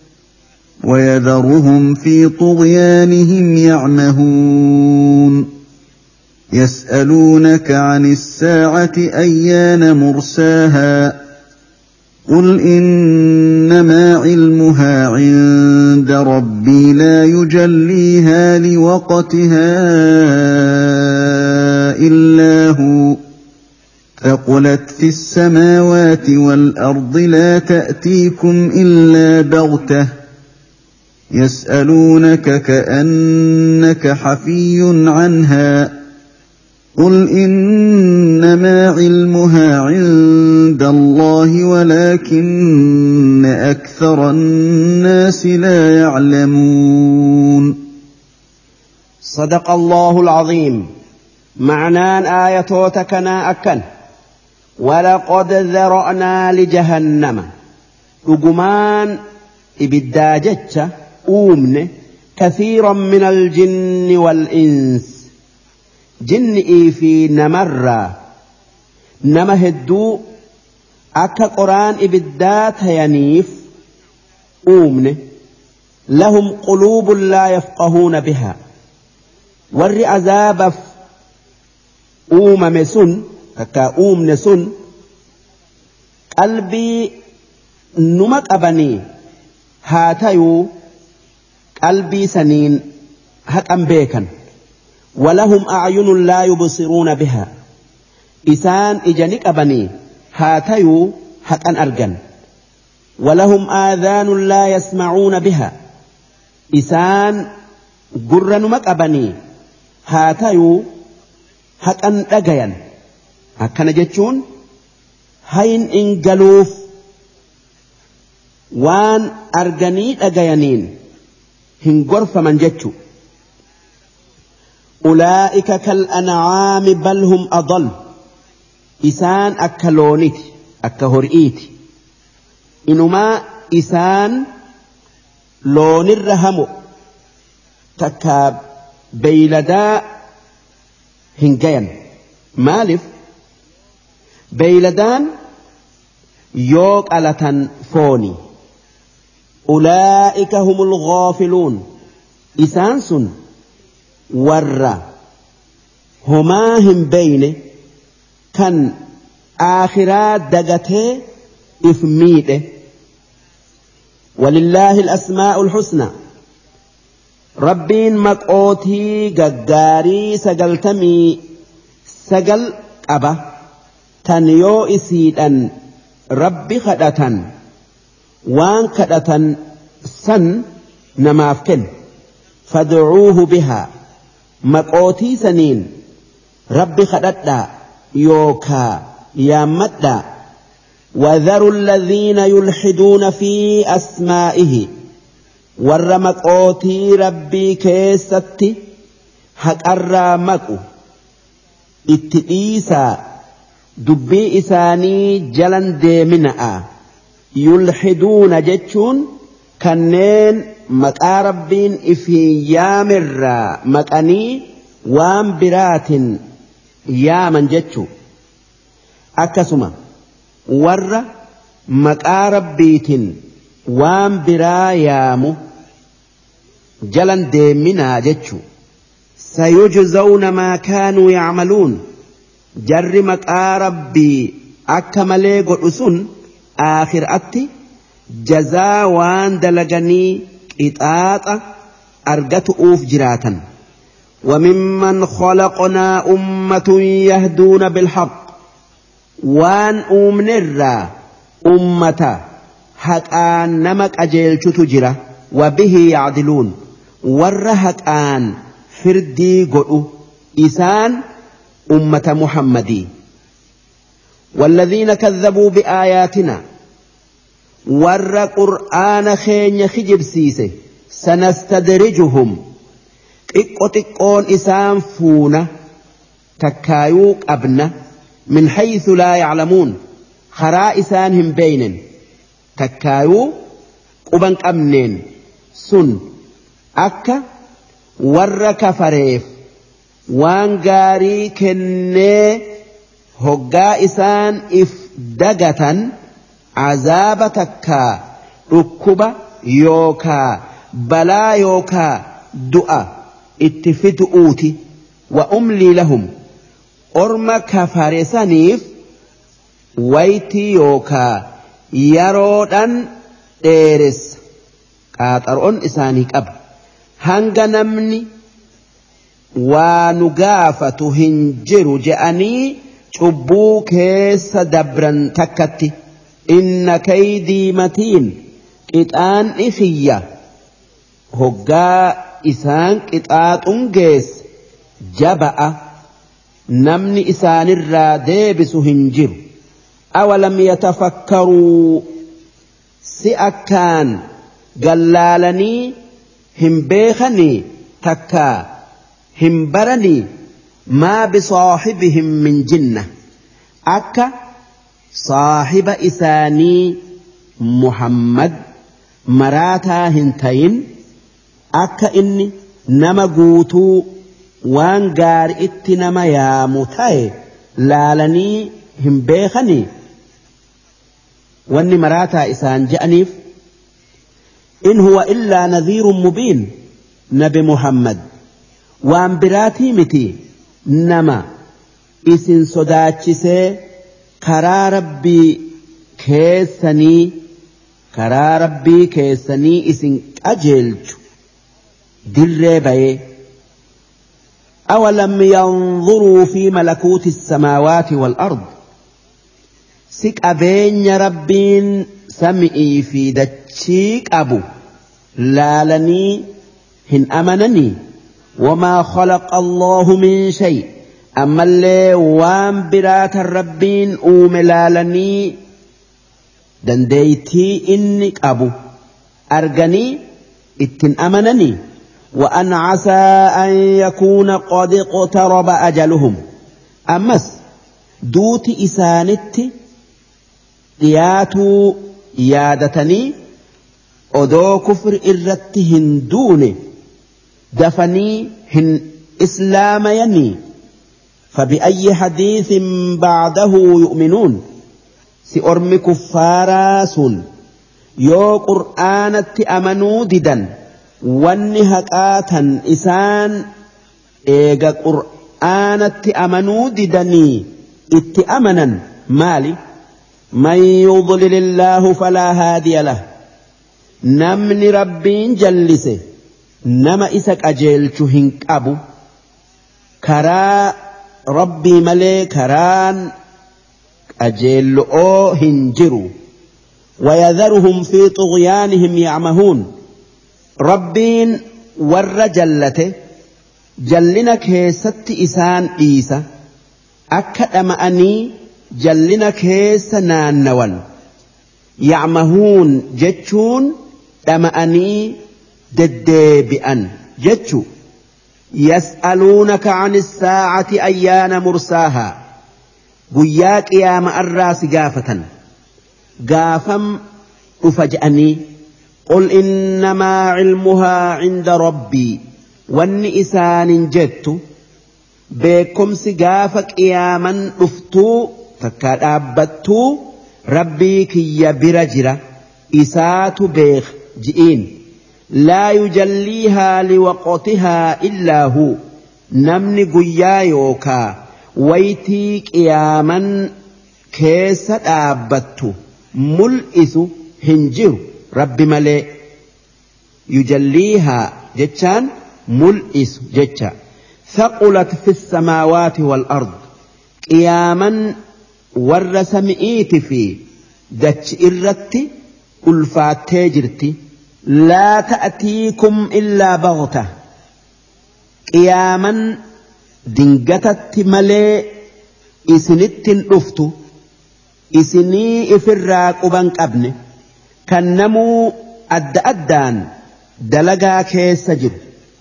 ويذرهم في طغيانهم يعمهون يسألونك عن الساعة أيان مرساها قل إنما علمها عند ربي لا يجليها لوقتها إلا هو ثقلت في السماوات والأرض لا تأتيكم إلا بغتة يسألونك كأنك حفي عنها قل إنما علمها عند الله ولكن أكثر الناس لا يعلمون. صدق الله العظيم. معنان آياتنا أكن ولقد ذرأنا لجهنم رجمان إبداجتش أومن كثيرا من الجن والإنس جن في نمر نمهدو أكا قرآن إبدات ينيف أومن لهم قلوب لا يفقهون بها ور عذاب أومم سن كا أومن سن قلبي نمك أبني هاتيو قلبي سنين هك أمبيكا ولهم أعين لا يبصرون بها إسان إجانك أبني هاتيو هك أن أرجن ولهم آذان لا يسمعون بها إسان قرن مك أبني هاتيو هك أن أجين هكذا جتشون هين إن جلوف وان أرجني أجينين هنجرف من جتشو أولئك كالأنعام بل هم أضل إسان أكلونيت أكهرئيت إنما إسان لون الرهم تكاب بيلدا هنجين مالف بيلدان يوك ألتن فوني أولئك هم الغافلون إسان سن ور هما هم بين كان آخرات دقته إفميته ولله الأسماء الحسنى ربين مقوتي ققاري سقلتمي سقل أبا تنيو إسيدا ربي خدة وان خدة سن نمافكن فادعوه بها مقوتي سنين ربي خدتا يوكا يامتا وذروا الذين يلحدون في أسمائه ور مقوتي ربي كيستي حق الرامكو اتئيسا دبي إساني جلن ديمناء يلحدون جتشون كنين مقا ربين إفي يامر مقاني وام برات يامن جتشو أكسما ور مقا ربيت وام برا يامو جلن ديمنا جتشو سيجزون ما كانوا يعملون جر مقا ربي أكملي قرسون آخر أتي جزا وان دلغني إطاطة أرغت أوف جراتا وممن خلقنا أمة يهدون بالحق وان أمنر أمة حقان نمك أجيل تجرى وبه يعدلون ورهك آن فردي قرؤ إسان أمة محمدي والذين كذبوا بآياتنا ور قرآن خين خجب سيسه سنستدرجهم إقوتقون إسان فونا تكايوك أبنى من حيث لا يعلمون خرا إسانهم بين تكايو قبنك أمنين سن أكا ور كفريف وانغاري كني هقا إسان إف دقة عذاب تكا ركبة يوكا بلا يوكا دعا اتفت أوتي وأملي لهم أرم كفارسانيف ويتي يوكا يرودان ديرس قاطرون إسانيك أب هنغ نمني ونقافة هنجر جأني cubbuu keessa dabran takkatti inna kaydii matiin qixaan ifiyya hoggaa isaan qixaaxun geesse jaba'a namni isaanirraa deebisu hin jiru awalam yatafakkaruu si akkaan gallaalanii hin beekanii takkaa hin baranii ما بصاحبهم من جنة أكا صاحب إساني محمد مراتا هنتين أكا إني نما قوتو وان قار اتنما يا متاي لالني هم بيخني واني مراتا إسان جأنيف إن هو إلا نذير مبين نبي محمد وان براتي متي nama isin sodaachisee karaa rabbii keessanii karaa rabbii keessanii isin qajeelchu dirree bayee awalam yanzuruu fi malakuuti samaawaati wal ard si qabeenya rabbiin sami'ii fi dachii qabu laalanii hin amananii وما خلق الله من شيء أما اللي وام برات الربين أوملالني دنديتي إنك أبو أرجني اتن أمنني وأن عسى أن يكون قد اقترب أجلهم أمس دوت إسانتي قياتو يادتني أدو كفر إرتهن دوني دفني هن إسلام يني فبأي حديث بعده يؤمنون سأرم كفاراس يو قرآن أمنوا ددا والنهكاتا إسان إيغا قرآن أمنوا ددني اتأمنا مالي من يضلل الله فلا هادي له نمن ربين جلسه nama isa qajeelchu hin qabu karaa rabbii malee karaan qajeeloo hin jiru ويذرهم في طغيانهم يعمهون ربين ور جلته جلنك هيست إسان إيسا أكد أمأني جلنك هيس نانوان يعمهون جتشون أمأني ددبئا جتشو يسألونك عن الساعة أيان مرساها قياك يا مأراس قافة قافم أفجأني قل إنما علمها عند ربي والنئسان جدت بكم سقافك يا من أفتو فكاد أبتو ربي كي برجرة إسات بيخ جئين لا يجليها لوقتها إلا هو نمني قيا يوكا ويتيك يا من كيس أبتو ملئس هنجر رب ملئ يجليها جتشان ملئس جتشا ثقلت في السماوات والأرض قياما ورسمئيت في دتش إرتي ألفات تجرتي لا تأتيكم إلا بغتة قياما دنجتت ملئ إسنت أفتو إسني إفراك أبنك أبني كنمو أد أدان دلقا كيس جر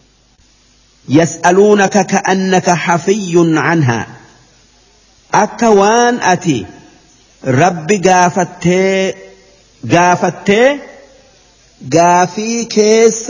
يسألونك كأنك حفي عنها أكوان أتي رب قافتي قافتي قافي كيس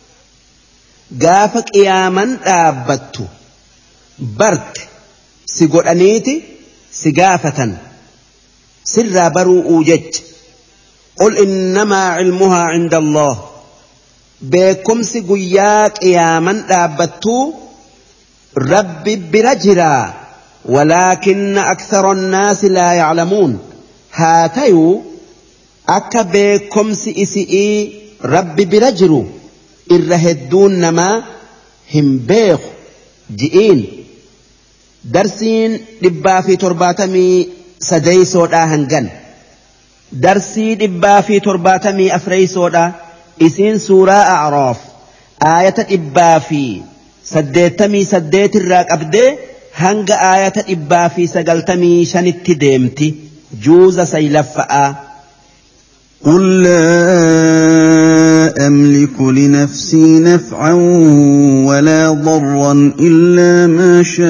قافك إياما أبتو برت سيقول أنيتي سقافة سر برو أوجج قل إنما علمها عند الله بكم سقياك يا من أبتو ربي برجرا ولكن أكثر الناس لا يعلمون هاتيو أكا بكم سئسئي ربي برجرو إرهدون نما هم بيخ ji'iin darsiin dhibbaa fi torbaatamii sadeysoodhaa hangan darsii dhibbaa fi torbaatamii afreysoodhaa isiin suuraa A'raaf aayata dhibbaa fi saddeettamii saddeet irraa qabdee hanga aayata dhibbaa fi sagaltamii shanitti deemti juuza saylaffa'aa. قل لا أملك لنفسي نفعا ولا ضرا إلا ما شاء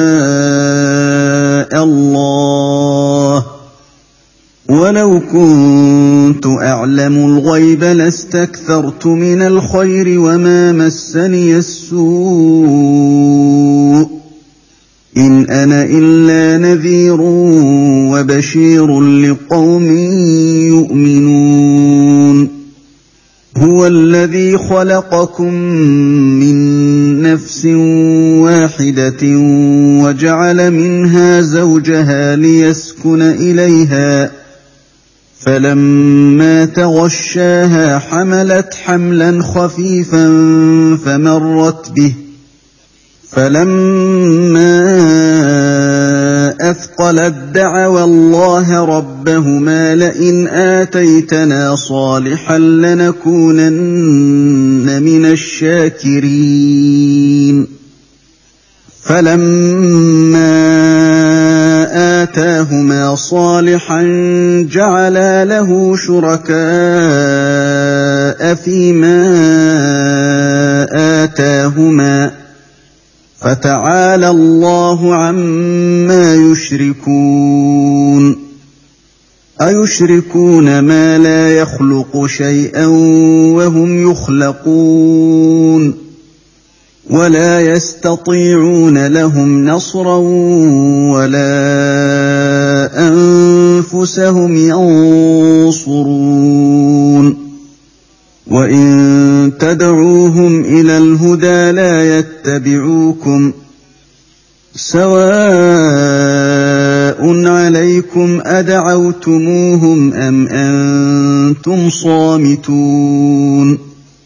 الله ولو كنت أعلم الغيب لاستكثرت من الخير وما مسني السوء إن أنا إلا نذير وبشير لقوم يؤمنون هو الذي خلقكم من نفس واحدة وجعل منها زوجها ليسكن إليها فلما تغشاها حملت حملا خفيفا فمرت به فلما أثقلت دعوا الله ربهما لئن آتيتنا صالحا لنكونن من الشاكرين فلما آتاهما صالحا جعلا له شركاء فيما آتاهما فتعالى الله عما يشركون أيشركون ما لا يخلق شيئا وهم يخلقون ولا يستطيعون لهم نصرا ولا أنفسهم ينصرون وإن تدعوهم إلى الهدى لا يتبعوكم سواء عليكم أدعوتموهم أم أنتم صامتون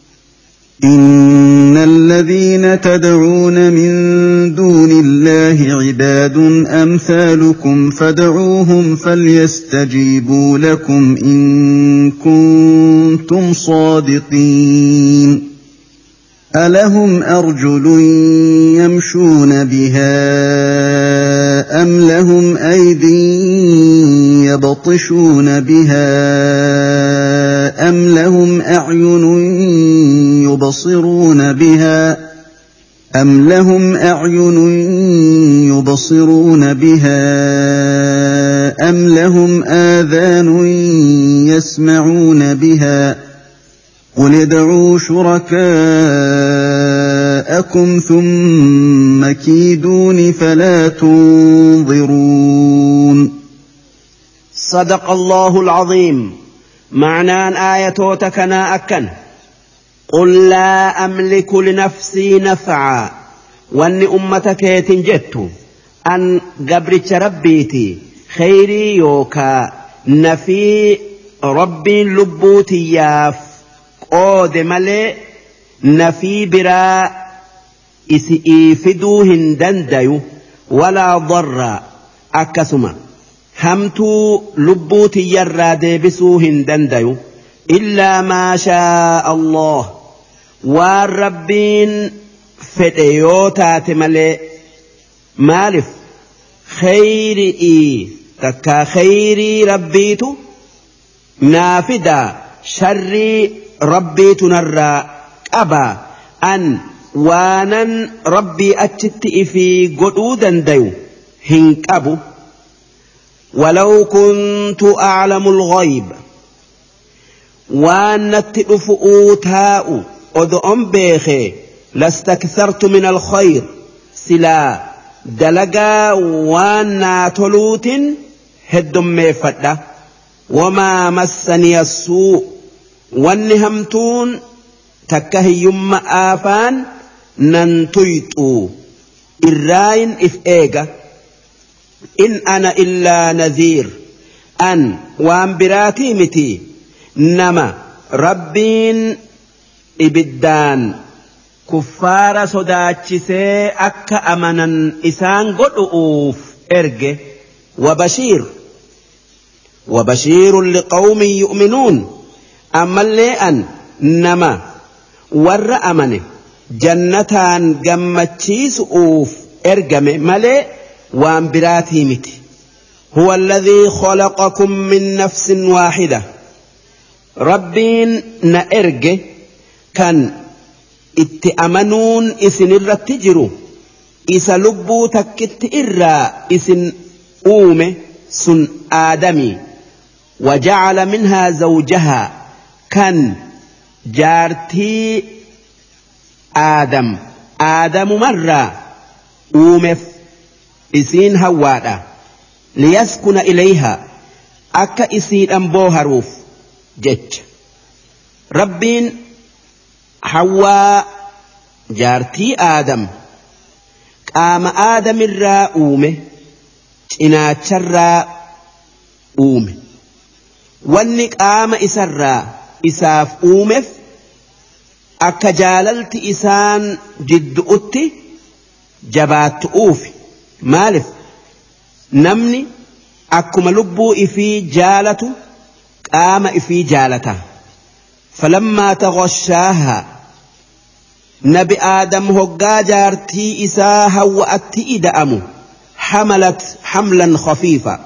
إن الذين تدعون من دون الله عباد أمثالكم فادعوهم فليستجيبوا لكم إن كنتم صادقين ألهم أرجل يمشون بها أم لهم أيدي يبطشون بها أم لهم أعين يبصرون بها أم لهم أعين يبصرون بها أم لهم آذان يسمعون بها قل ادعوا شركاءكم ثم كيدون فلا تنظرون. صدق الله العظيم. معنى آية تكنا أكن قل لا أملك لنفسي نفعا وأن أمتك يتنجت أن قبرت ربيتي خيري يوكا نفي ربي لبوتي ياف قود ملي نفي برا إفدوهن دنديو ولا ضر أكسما همتو لبوتي يرى بسوهن دنديو إلا ما شاء الله والربين فتيوتات ملي مالف خيري تكا خيري ربيتو نافدا شري ربيتو نرى أبا أن وانا ربي أتشت في قدودا ديو هنك أبو ولو كنت أعلم الغيب وأن تدفؤوا تاء أدعم بيخي لاستكثرت من الخير سلا دلقا وأن تلوت هدم مفدة وما مسني السوء والنهمتون تكهي يم آفان ننتيتو الراين إف إيغا إن أنا إلا نذير أن وان براتي متي نما ربين إبدان كفار صداتشسي أكا أمنا إسان قدؤوف إرجه وبشير وبشير لقوم يؤمنون أما اللي أن نما ور أمنه جنتان قمتشيس أوف إرجم ملئ وانبراتي متي هو الذي خلقكم من نفس واحدة ربين نأرجه كان اتأمنون إسن الرتجروا إسا لبو تكت إرى إسن أومه سن آدمي وجعل منها زوجها كان جارتي آدم آدم مرة أومف إسين هوادا ليسكن إليها أكا إسين أنبوهروف جج ربين حواء جارتي آدم قام آدم الرا أومه إناتش الرا أومه وانك قام إسرا إساف أومف أكا جاللت إسان جد أتي جبات أوفي مالف نمني أكما لبو إفي جالته قام إفي جالته فلما تغشاها نبي آدم هقا جارتي إساها وأتي إدأمو حملت حملا خفيفا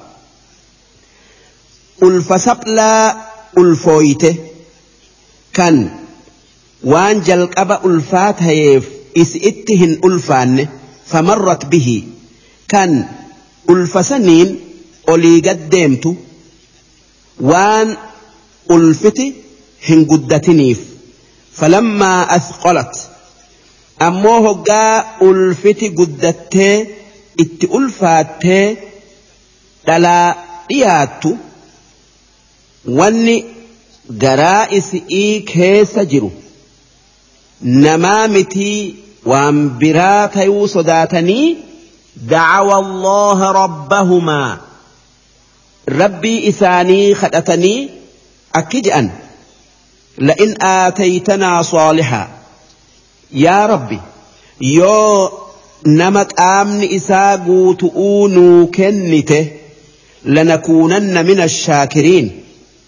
الفسبلا الفويته كان وان جلقب ألفات هيف إسئتهن ألفان فمرت به كان ألفسنين أولي قدمت وان ألفتي هن قدتنيف فلما أثقلت أموه قا ألفتي قدته ات ألفاته دلا إياتو واني قرائس إي كيس جرو نمامتي وانبرات يوصداتني دعوا الله ربهما ربي إساني خدتني أكجأن لئن آتيتنا صالحا يا ربي يو نمك آمن إساقو تؤونو كنته لنكونن من الشاكرين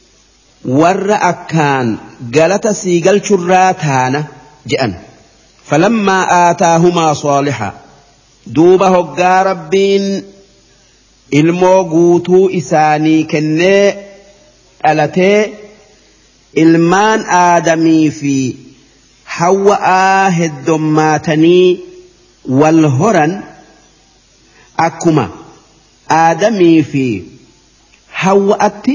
ور أكان قالت سيقل شراتانا جأن فلما آتاهما صالحا دوبه قا ربين الموقوتو إساني كنه ألتي ilmaan aadamii fi hawwa'aa heddommaatanii wal horan akkuma aadamii fi hawwa'atti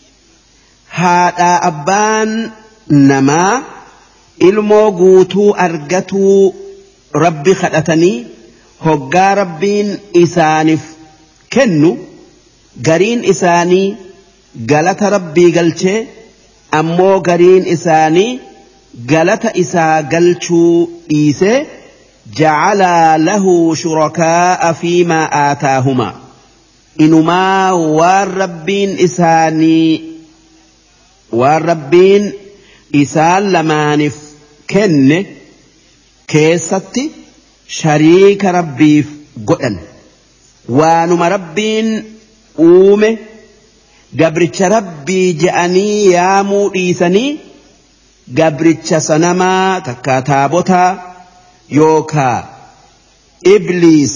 haadhaa abbaan namaa ilmoo guutuu argatuu rabbi kadhatanii hoggaa rabbiin isaaniif kennu gariin isaanii galata rabbii galchee ammoo gariin isaanii galata isaa galchuu dhiise ja'ala lahu shurakaa fiimaa aataahuma inumaa waan rabbiin isaanii waan rabbiin isaan lamaaniif kenne keessatti shariika rabbiif godhan waanuma rabbiin uume gabricha rabbii je'anii yaamuu dhiisanii gabricha sanamaa takkaa taabotaa yookaa ibliis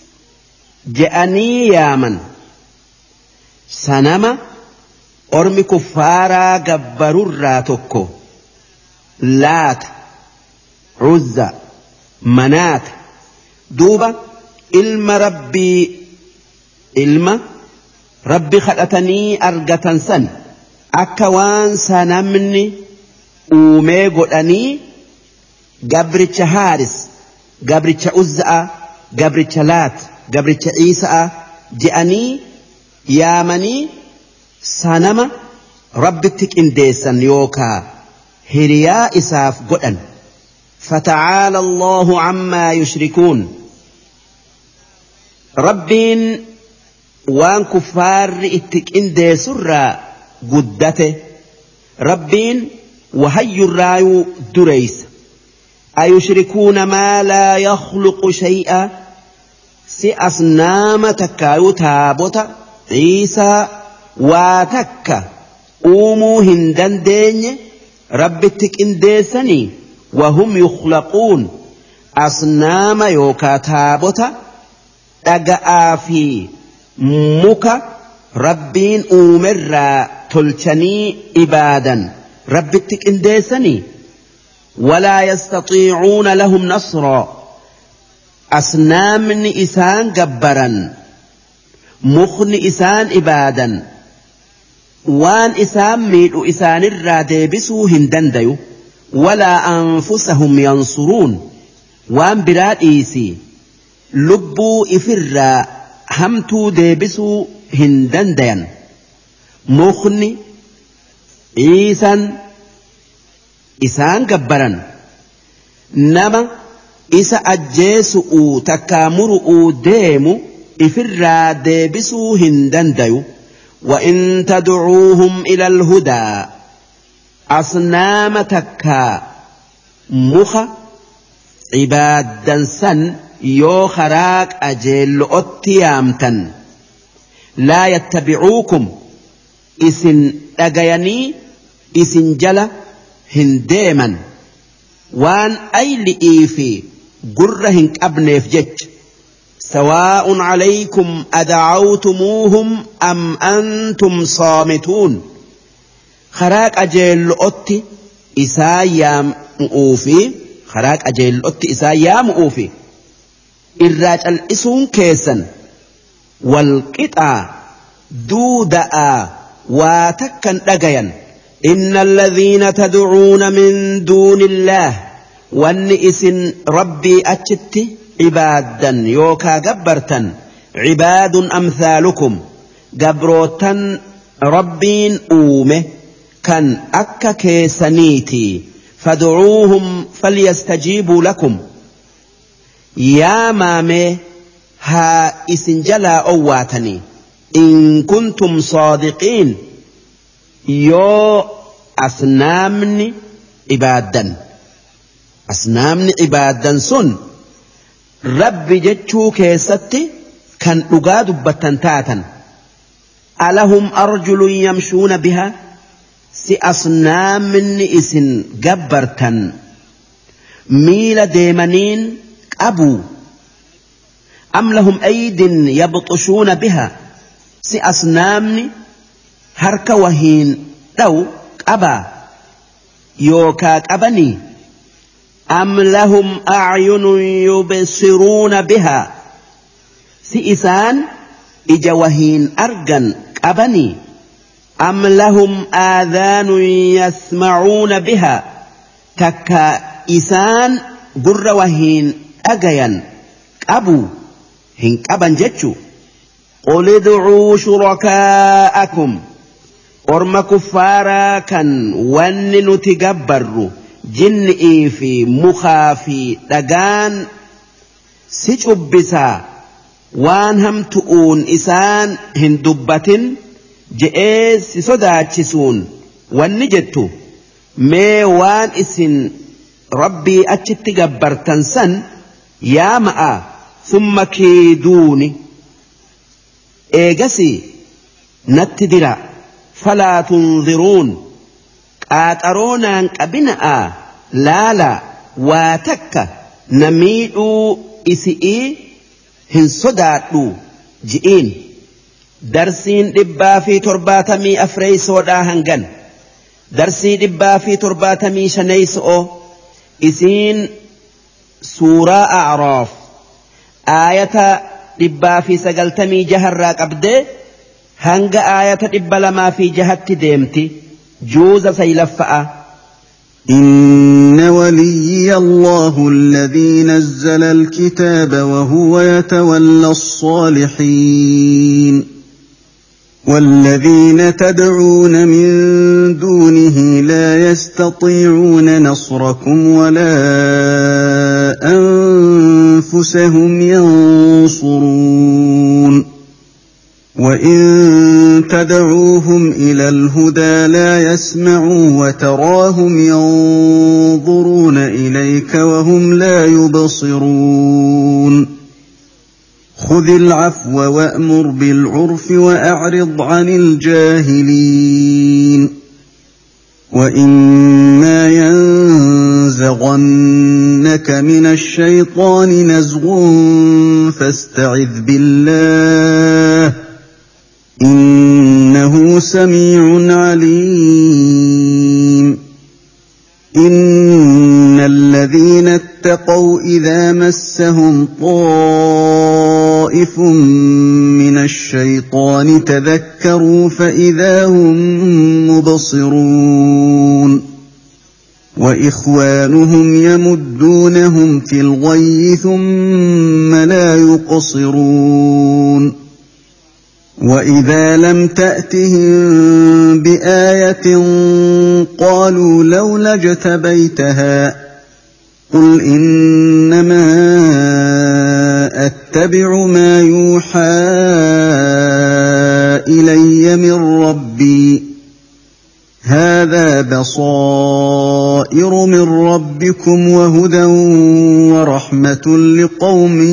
je'anii yaaman sanama ormi kuffaaraa gabbarurraa tokko laata uzza manaata duuba ilma rabbii ilma rabbi kadhatanii argatan san akka waan sanamni uumee godhanii gabricha haaris gabricha uzza'a gabricha laat gabricha ciisa'a je'anii yaamanii sanama rabbitti qindeessan yookaa hiriyaa isaaf godhan فتعالى الله عما يشركون ربين وان كفار اتكين دي سرى قدته ربين وهي الرايو دريس أيشركون ما لا يخلق شيئا سي أصنام تكايو تابوتا عيسى واتكا أومو هندن ديني ربتك انديسني وهم يخلقون أصنام يوكا تابوتا أقا في مكا ربين أمر تلتني إبادا ربتك انديسني ولا يستطيعون لهم نصرا أصنام إسان جبرا مخن إسان إبادا وان إسان ميل إسان الرادي بسو هندنديو ولا أنفسهم ينصرون وان براد إيسي لبو إفرا همتو ديبسو هندندين مخن إيسان إسان جبرا نما إسا أجيسو تكامرو ديمو إفرا ديبسو هندنديو وإن تدعوهم إلى الهدى أصنام تكا مخ عبادا سن يو خراك أجيل أتيامتا لا يتبعوكم إسن أجيني إسن جل هنديما وان أي لإيفي قرهن أبنيف جج سواء عليكم أدعوتموهم أم أنتم صامتون خراك أجيل أتي إسايا مؤوفي خراك أجيل أتي إسايا مؤوفي الراج الإسون كيسا والقطع دودا واتكا لقيا إن الذين تدعون من دون الله والنئس ربي أجت عبادا يوكا جبرتا عباد أمثالكم جبروتا ربين أومه كان أكا كيسانيتي فادعوهم فليستجيبوا لكم يا مامي ها إسنجلا أواتني إن كنتم صادقين يو أصنامني عبادا أصنامني عبادا سن رب جتشو كيستي كان أقاد بتنتاتا ألهم أرجل يمشون بها سي أصنامني إسن جبرتا ميل ديمانين أبو أم لهم أيد يبطشون بها سي أصنامني هرك وهين لو أبا يوكاك أبني أم لهم أعين يبصرون بها سئسان إجوهين أرجن أبني أم لهم آذان يسمعون بها تكا إسان قر وهين أجيا أبو هنك أبن جتشو قل ادعوا شركاءكم أرم كفارا كان ون نتجبر جنئي في مخافي دقان سجبسا وان هم تؤون إسان هندبة جئيس صداتشسون والنجتو مي وان إسن ربي أتشتجبر تنسن يا ماء ثم كيدوني إيجسي نتدرا فلا تنظرون قاترونا أبناء لا لا واتك نميدو إسئي هن صداتو جئين درسين دبا في ترباتمي أفري سودا هنغن درسي دبا في ترباتمي شنيسو إسين سورة أعراف آية دبا في سقلتمي جهر راك أبدي هنغ آية دبا لما في جهت ديمتي جوز سيلفأ إن ولي الله الذي نزل الكتاب وهو يتولى الصالحين والذين تدعون من دونه لا يستطيعون نصركم ولا أنفسهم ينصرون وإن تدعوهم إلى الهدى لا يسمعوا وتراهم ينظرون إليك وهم لا يبصرون خذ العفو وأمر بالعرف وأعرض عن الجاهلين وإما ينزغنك من الشيطان نزغ فاستعذ بالله إنه سميع عليم إن الذين اتقوا إذا مسهم طائف من الشيطان تذكروا فإذا هم مبصرون وإخوانهم يمدونهم في الغي ثم لا يقصرون وإذا لم تأتهم بآية قالوا لولا اجتبيتها قل إنما أتبع ما يوحى إلي من ربي هذا بصائر من ربكم وهدى ورحمة لقوم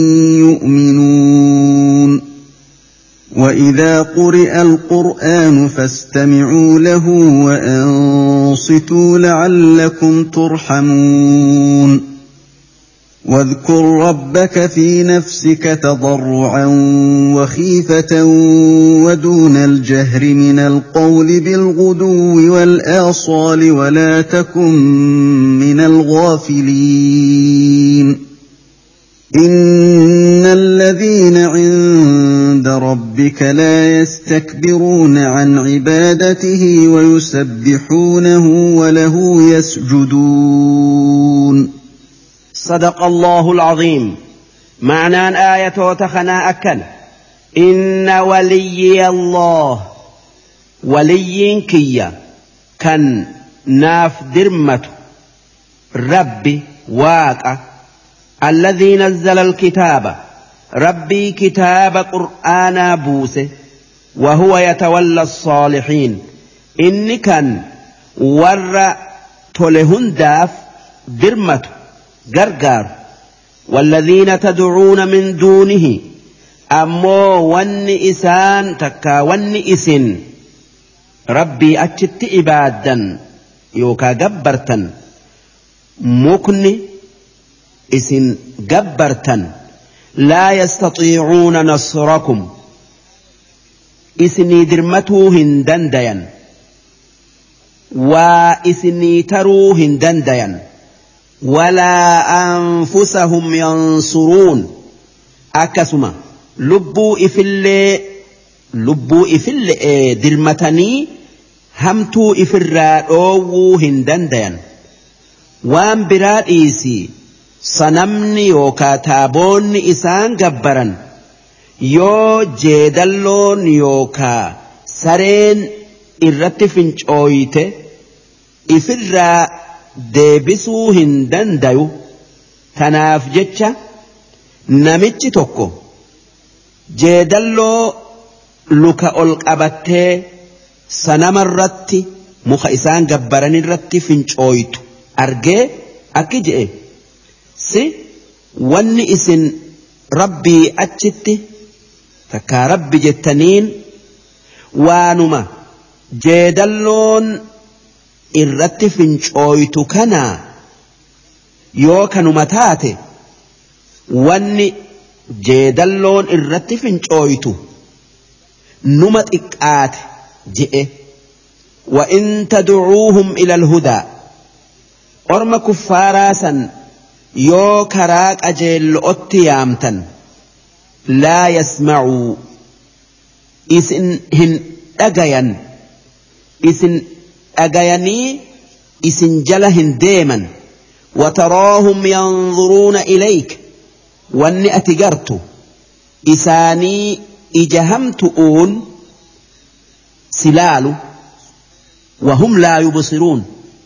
يؤمنون وإذا قرئ القرآن فاستمعوا له وأنصتوا لعلكم ترحمون واذكر ربك في نفسك تضرعا وخيفة ودون الجهر من القول بالغدو والآصال ولا تكن من الغافلين إن الذين عند ربك لا يستكبرون عن عبادته ويسبحونه وله يسجدون. صدق الله العظيم. معنى آية وتخنا أكل إن ولي الله ولي كيا كان ناف درمة ربي واقع الذي نزل الكتاب ربي كتاب قرآن بوسه وهو يتولى الصالحين إن كان ور تلهن داف درمة غرغر والذين تدعون من دونه أمو ون إسان تكا ون إسن ربي أجت إبادا يوكا جبرتا مكن إسن جبرتا لا يستطيعون نصركم إسني درمتوهن دنديا وإسني تروهن دنديا ولا أنفسهم ينصرون أكسما لبو إفل لبو إفل درمتني همتو إفرادو هندندين وان براد إيسي صنمني يوكا تابون إسان جبرا يو جيدلون يوكا سرين إرتفنش أويته إفراد deebisuu hin dandayu tanaaf jecha namichi tokko jeedalloo luka ol qabattee sanamarratti muka isaan gabbaran irratti fincooytu argee akki je'e si wanni isin rabbii achitti takkaa rabbi jettaniin waanuma jeedalloon irratti fincooytu kana yoo kanuma taate wanni jeedalloon irratti fincooytu numa xiqqaate je'e wa in tad'uuhum ila alhudaa orma kuffaaraa san yoo karaa qajeellootti yaamtan laa yasma'uu isin hin dhagayan isin أجيني إسن جلهن ديما وتراهم ينظرون إليك واني أتجرت إساني إجهمت أون سلال وهم لا يبصرون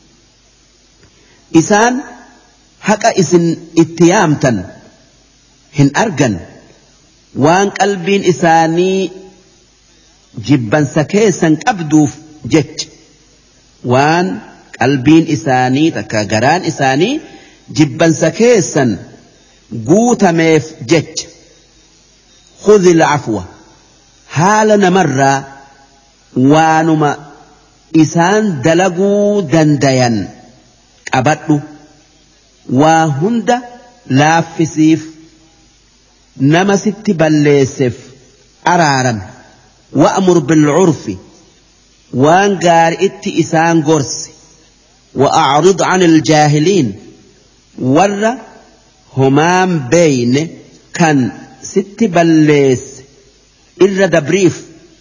إسان حق إسن اتيامتا هن أرجن وان قلبين إساني جبا سكيسا أبدو جج وان قلبين إساني تكا قران إساني جبا سكيسا قوت ميف جج خذ العفو حالنا مرة وانما إسان دلقوا دنديا أبدو وهند لافسيف نما ست بلسف أرارا وأمر بالعرف وانقار ات إسان قرس وأعرض عن الجاهلين ور همام بين كان ست بلس إلا دبريف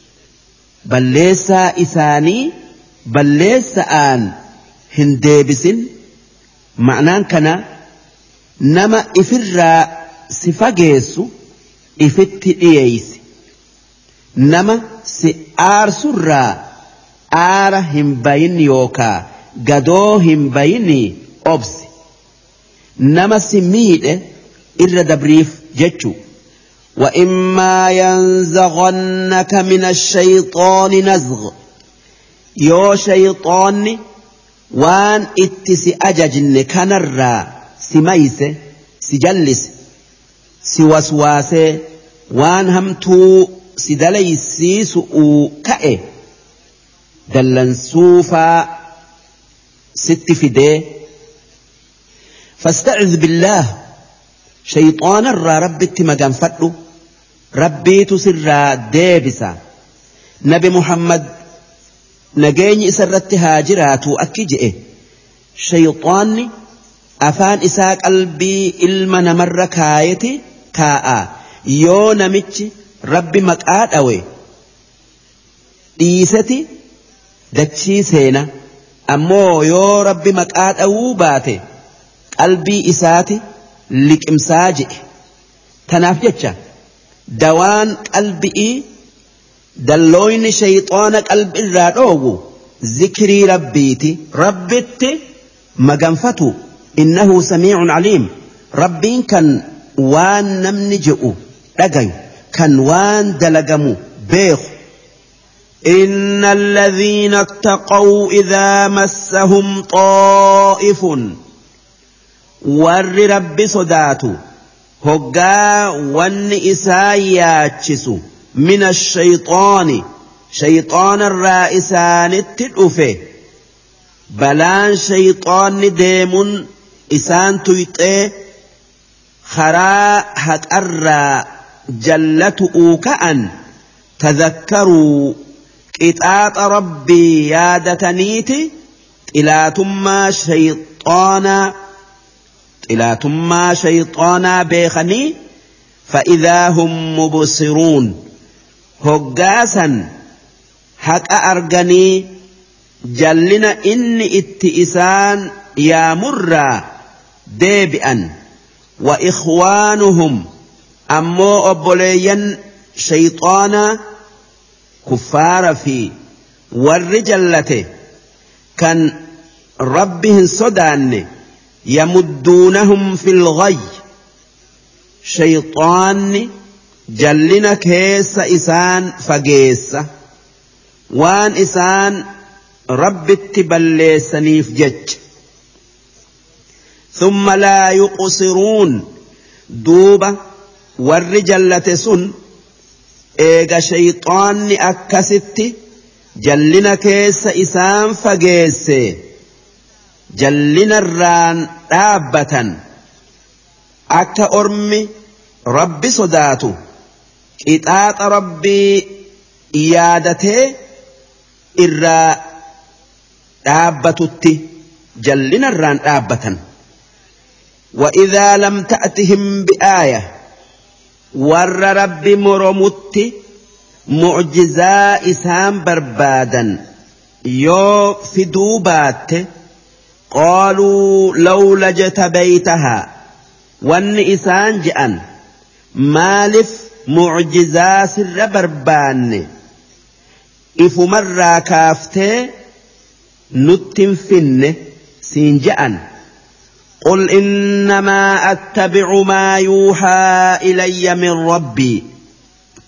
بلسا إساني بلسا آن هندبس معنان كان نما إفر سفاقيسو إفت إيس نما سآر سرى آر هم بين يوكا قدو هم بيني أبس نما سميد إر دبريف جتشو وإما ينزغنك من الشيطان نزغ يو شيطان وان اتسي أججن كنرى سميس سجلس سوسواس وان همتو سدليسي سؤو كأي دلن سوفا ست فدي فاستعذ بالله شيطان الرا ربي اتمقان فتلو ربي تسر ديبسا نبي محمد نجيني سرت هاجرات أكجئه شيطاني أفان إساق قلبي إلما نمر كايتي كاء يو نمتش ربي مقاد أوي ديستي دتشي سينا أمو يو ربي مقاد أو باتي قلبي إساتي لك إمساجئ تنافجتش دوان قلبي دلوين شيطان قلب الرادوغو ذكري ربيتي ربيتي مغنفتو إنه سميع عليم ربين كان وان نمنجئو لغايو كان وان دلقمو بيخ إن الذين اتقوا إذا مسهم طائف ور رب صداتو هقا وان إساياتشسو من الشيطان شيطان الرائسان التلؤفه بلان شيطان ديمون إسان تيطي خراء هتأرى جلته كأن تذكروا قطاط ربي يادتنيتي إلى ثم شيطانا إلى ثم شيطانا بيخني فإذا هم مبصرون هقاسا حق أرغني جلنا إني اتئسان يا مرة ديبئا وإخوانهم أمو أبوليا شيطانا كفار في والرجلته كان ربهم صدان يمدونهم في الغي شيطان جلنا كيس إسان فقيس وان إسان رب التبلي سنيف جج ثم لا يقصرون دوبة والرجلة سن إيغا شيطان أكست جلنا كيس إسان فقيس جلنا الران دابة أكا أرمي ربي صداتو إطاط ربي إيادته إرى دابتت جلنا الران دابة وإذا لم تأتهم بآية ور ربي مرمت معجزا إسام بربادا يو في دوبات قالوا لولا جتبيتها وان إسان جأن مالف معجزا سر بربان إفو مرة كافته نتنفن سينجأن قل إنما أتبع ما يوحى إلي من ربي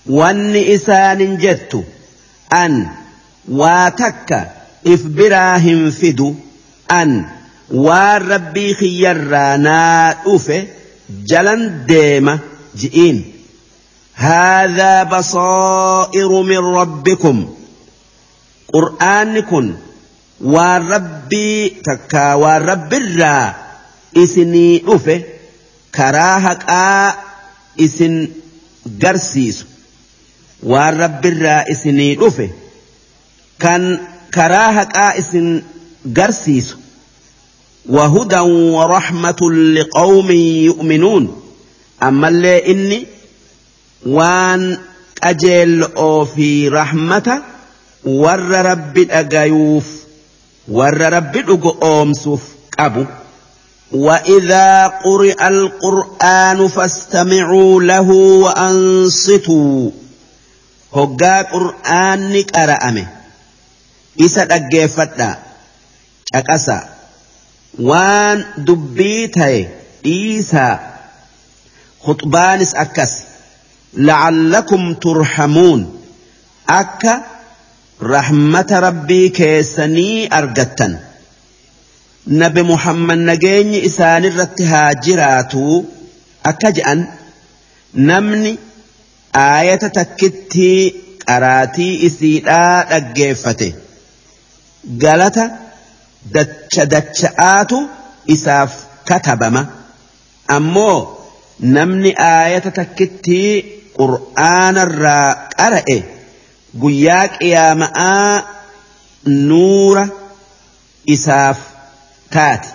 واني إسان جدت أن واتك إفبراهم فدو أن والربي خيرانا أفه جلن ديمة جئين هذا بصائر من ربكم قرآنكم والربي تكا والرب الرا إسني أفه كراهك آ إسن قرسيس والرب الرا إسني أفه كان كراهك آ إسن قرسيس وهدى ورحمة لقوم يؤمنون أما اللي إني وان أجل أو في رحمة ور رب الأجايوف ور رب الأجومسوف أبو وإذا قرئ القرآن فاستمعوا له وأنصتوا هجا قرآن قرأمه إسا أجفتنا أكسا وان دبيته إيسا خطبانس أكس لعلكم ترحمون أكا رحمة ربي كيسني أرجتن نبي محمد نجيني إسان الرتها جراتو أكجأن نمني آية تكتي قراتي إسيدا أجيفته قالت دتش دتشآتو إساف كتبما أمو نمني آية تكتي قرآن الرا قرأه قياك يا ماء نور إساف تات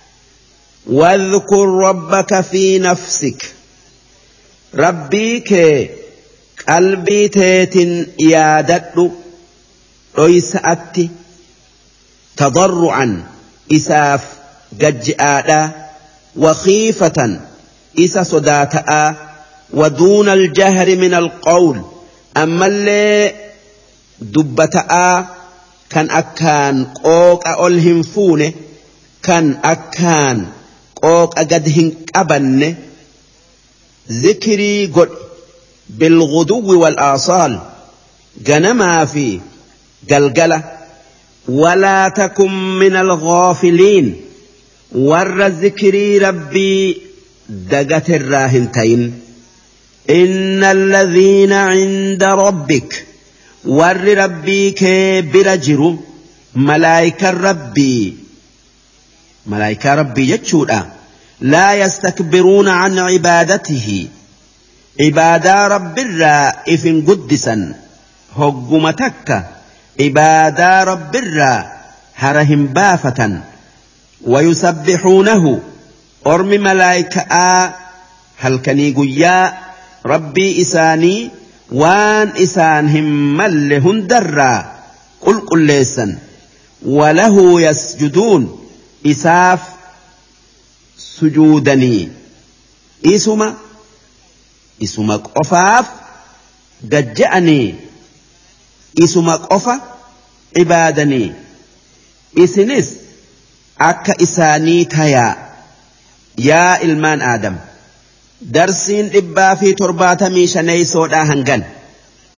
واذكر ربك في نفسك ربيك قلبي تيت يادت ريسأتي تضرعا إساف ججآدا وخيفة إسا صداتا ودون الجهر من القول أما اللي دبتا كان أكان قوك أولهم فونه كان أكان قوك أقدهن أبن ذكري قد بالغدو والآصال جنما في قلقلة ولا تكن من الغافلين ور ذكري ربي دقت الراهنتين إن الذين عند ربك ور ربك برجر ملائكة ربي ملائكة ربي يجودا لا يستكبرون عن عبادته عبادة رب الرائف قدسا هقمتك عبادة رب الرا هرهم بافة ويسبحونه أرم ملائكة هل كني قيا ربي إساني وان إسانهم ملهن درا قل قل ليسا وله يسجدون إساف سجودني إسما إسما قفاف قجأني إسما قفا عبادني إسنس أكا إساني تيا يا إلمان آدم درسين إبا في تربات ميشاني سودا هنغن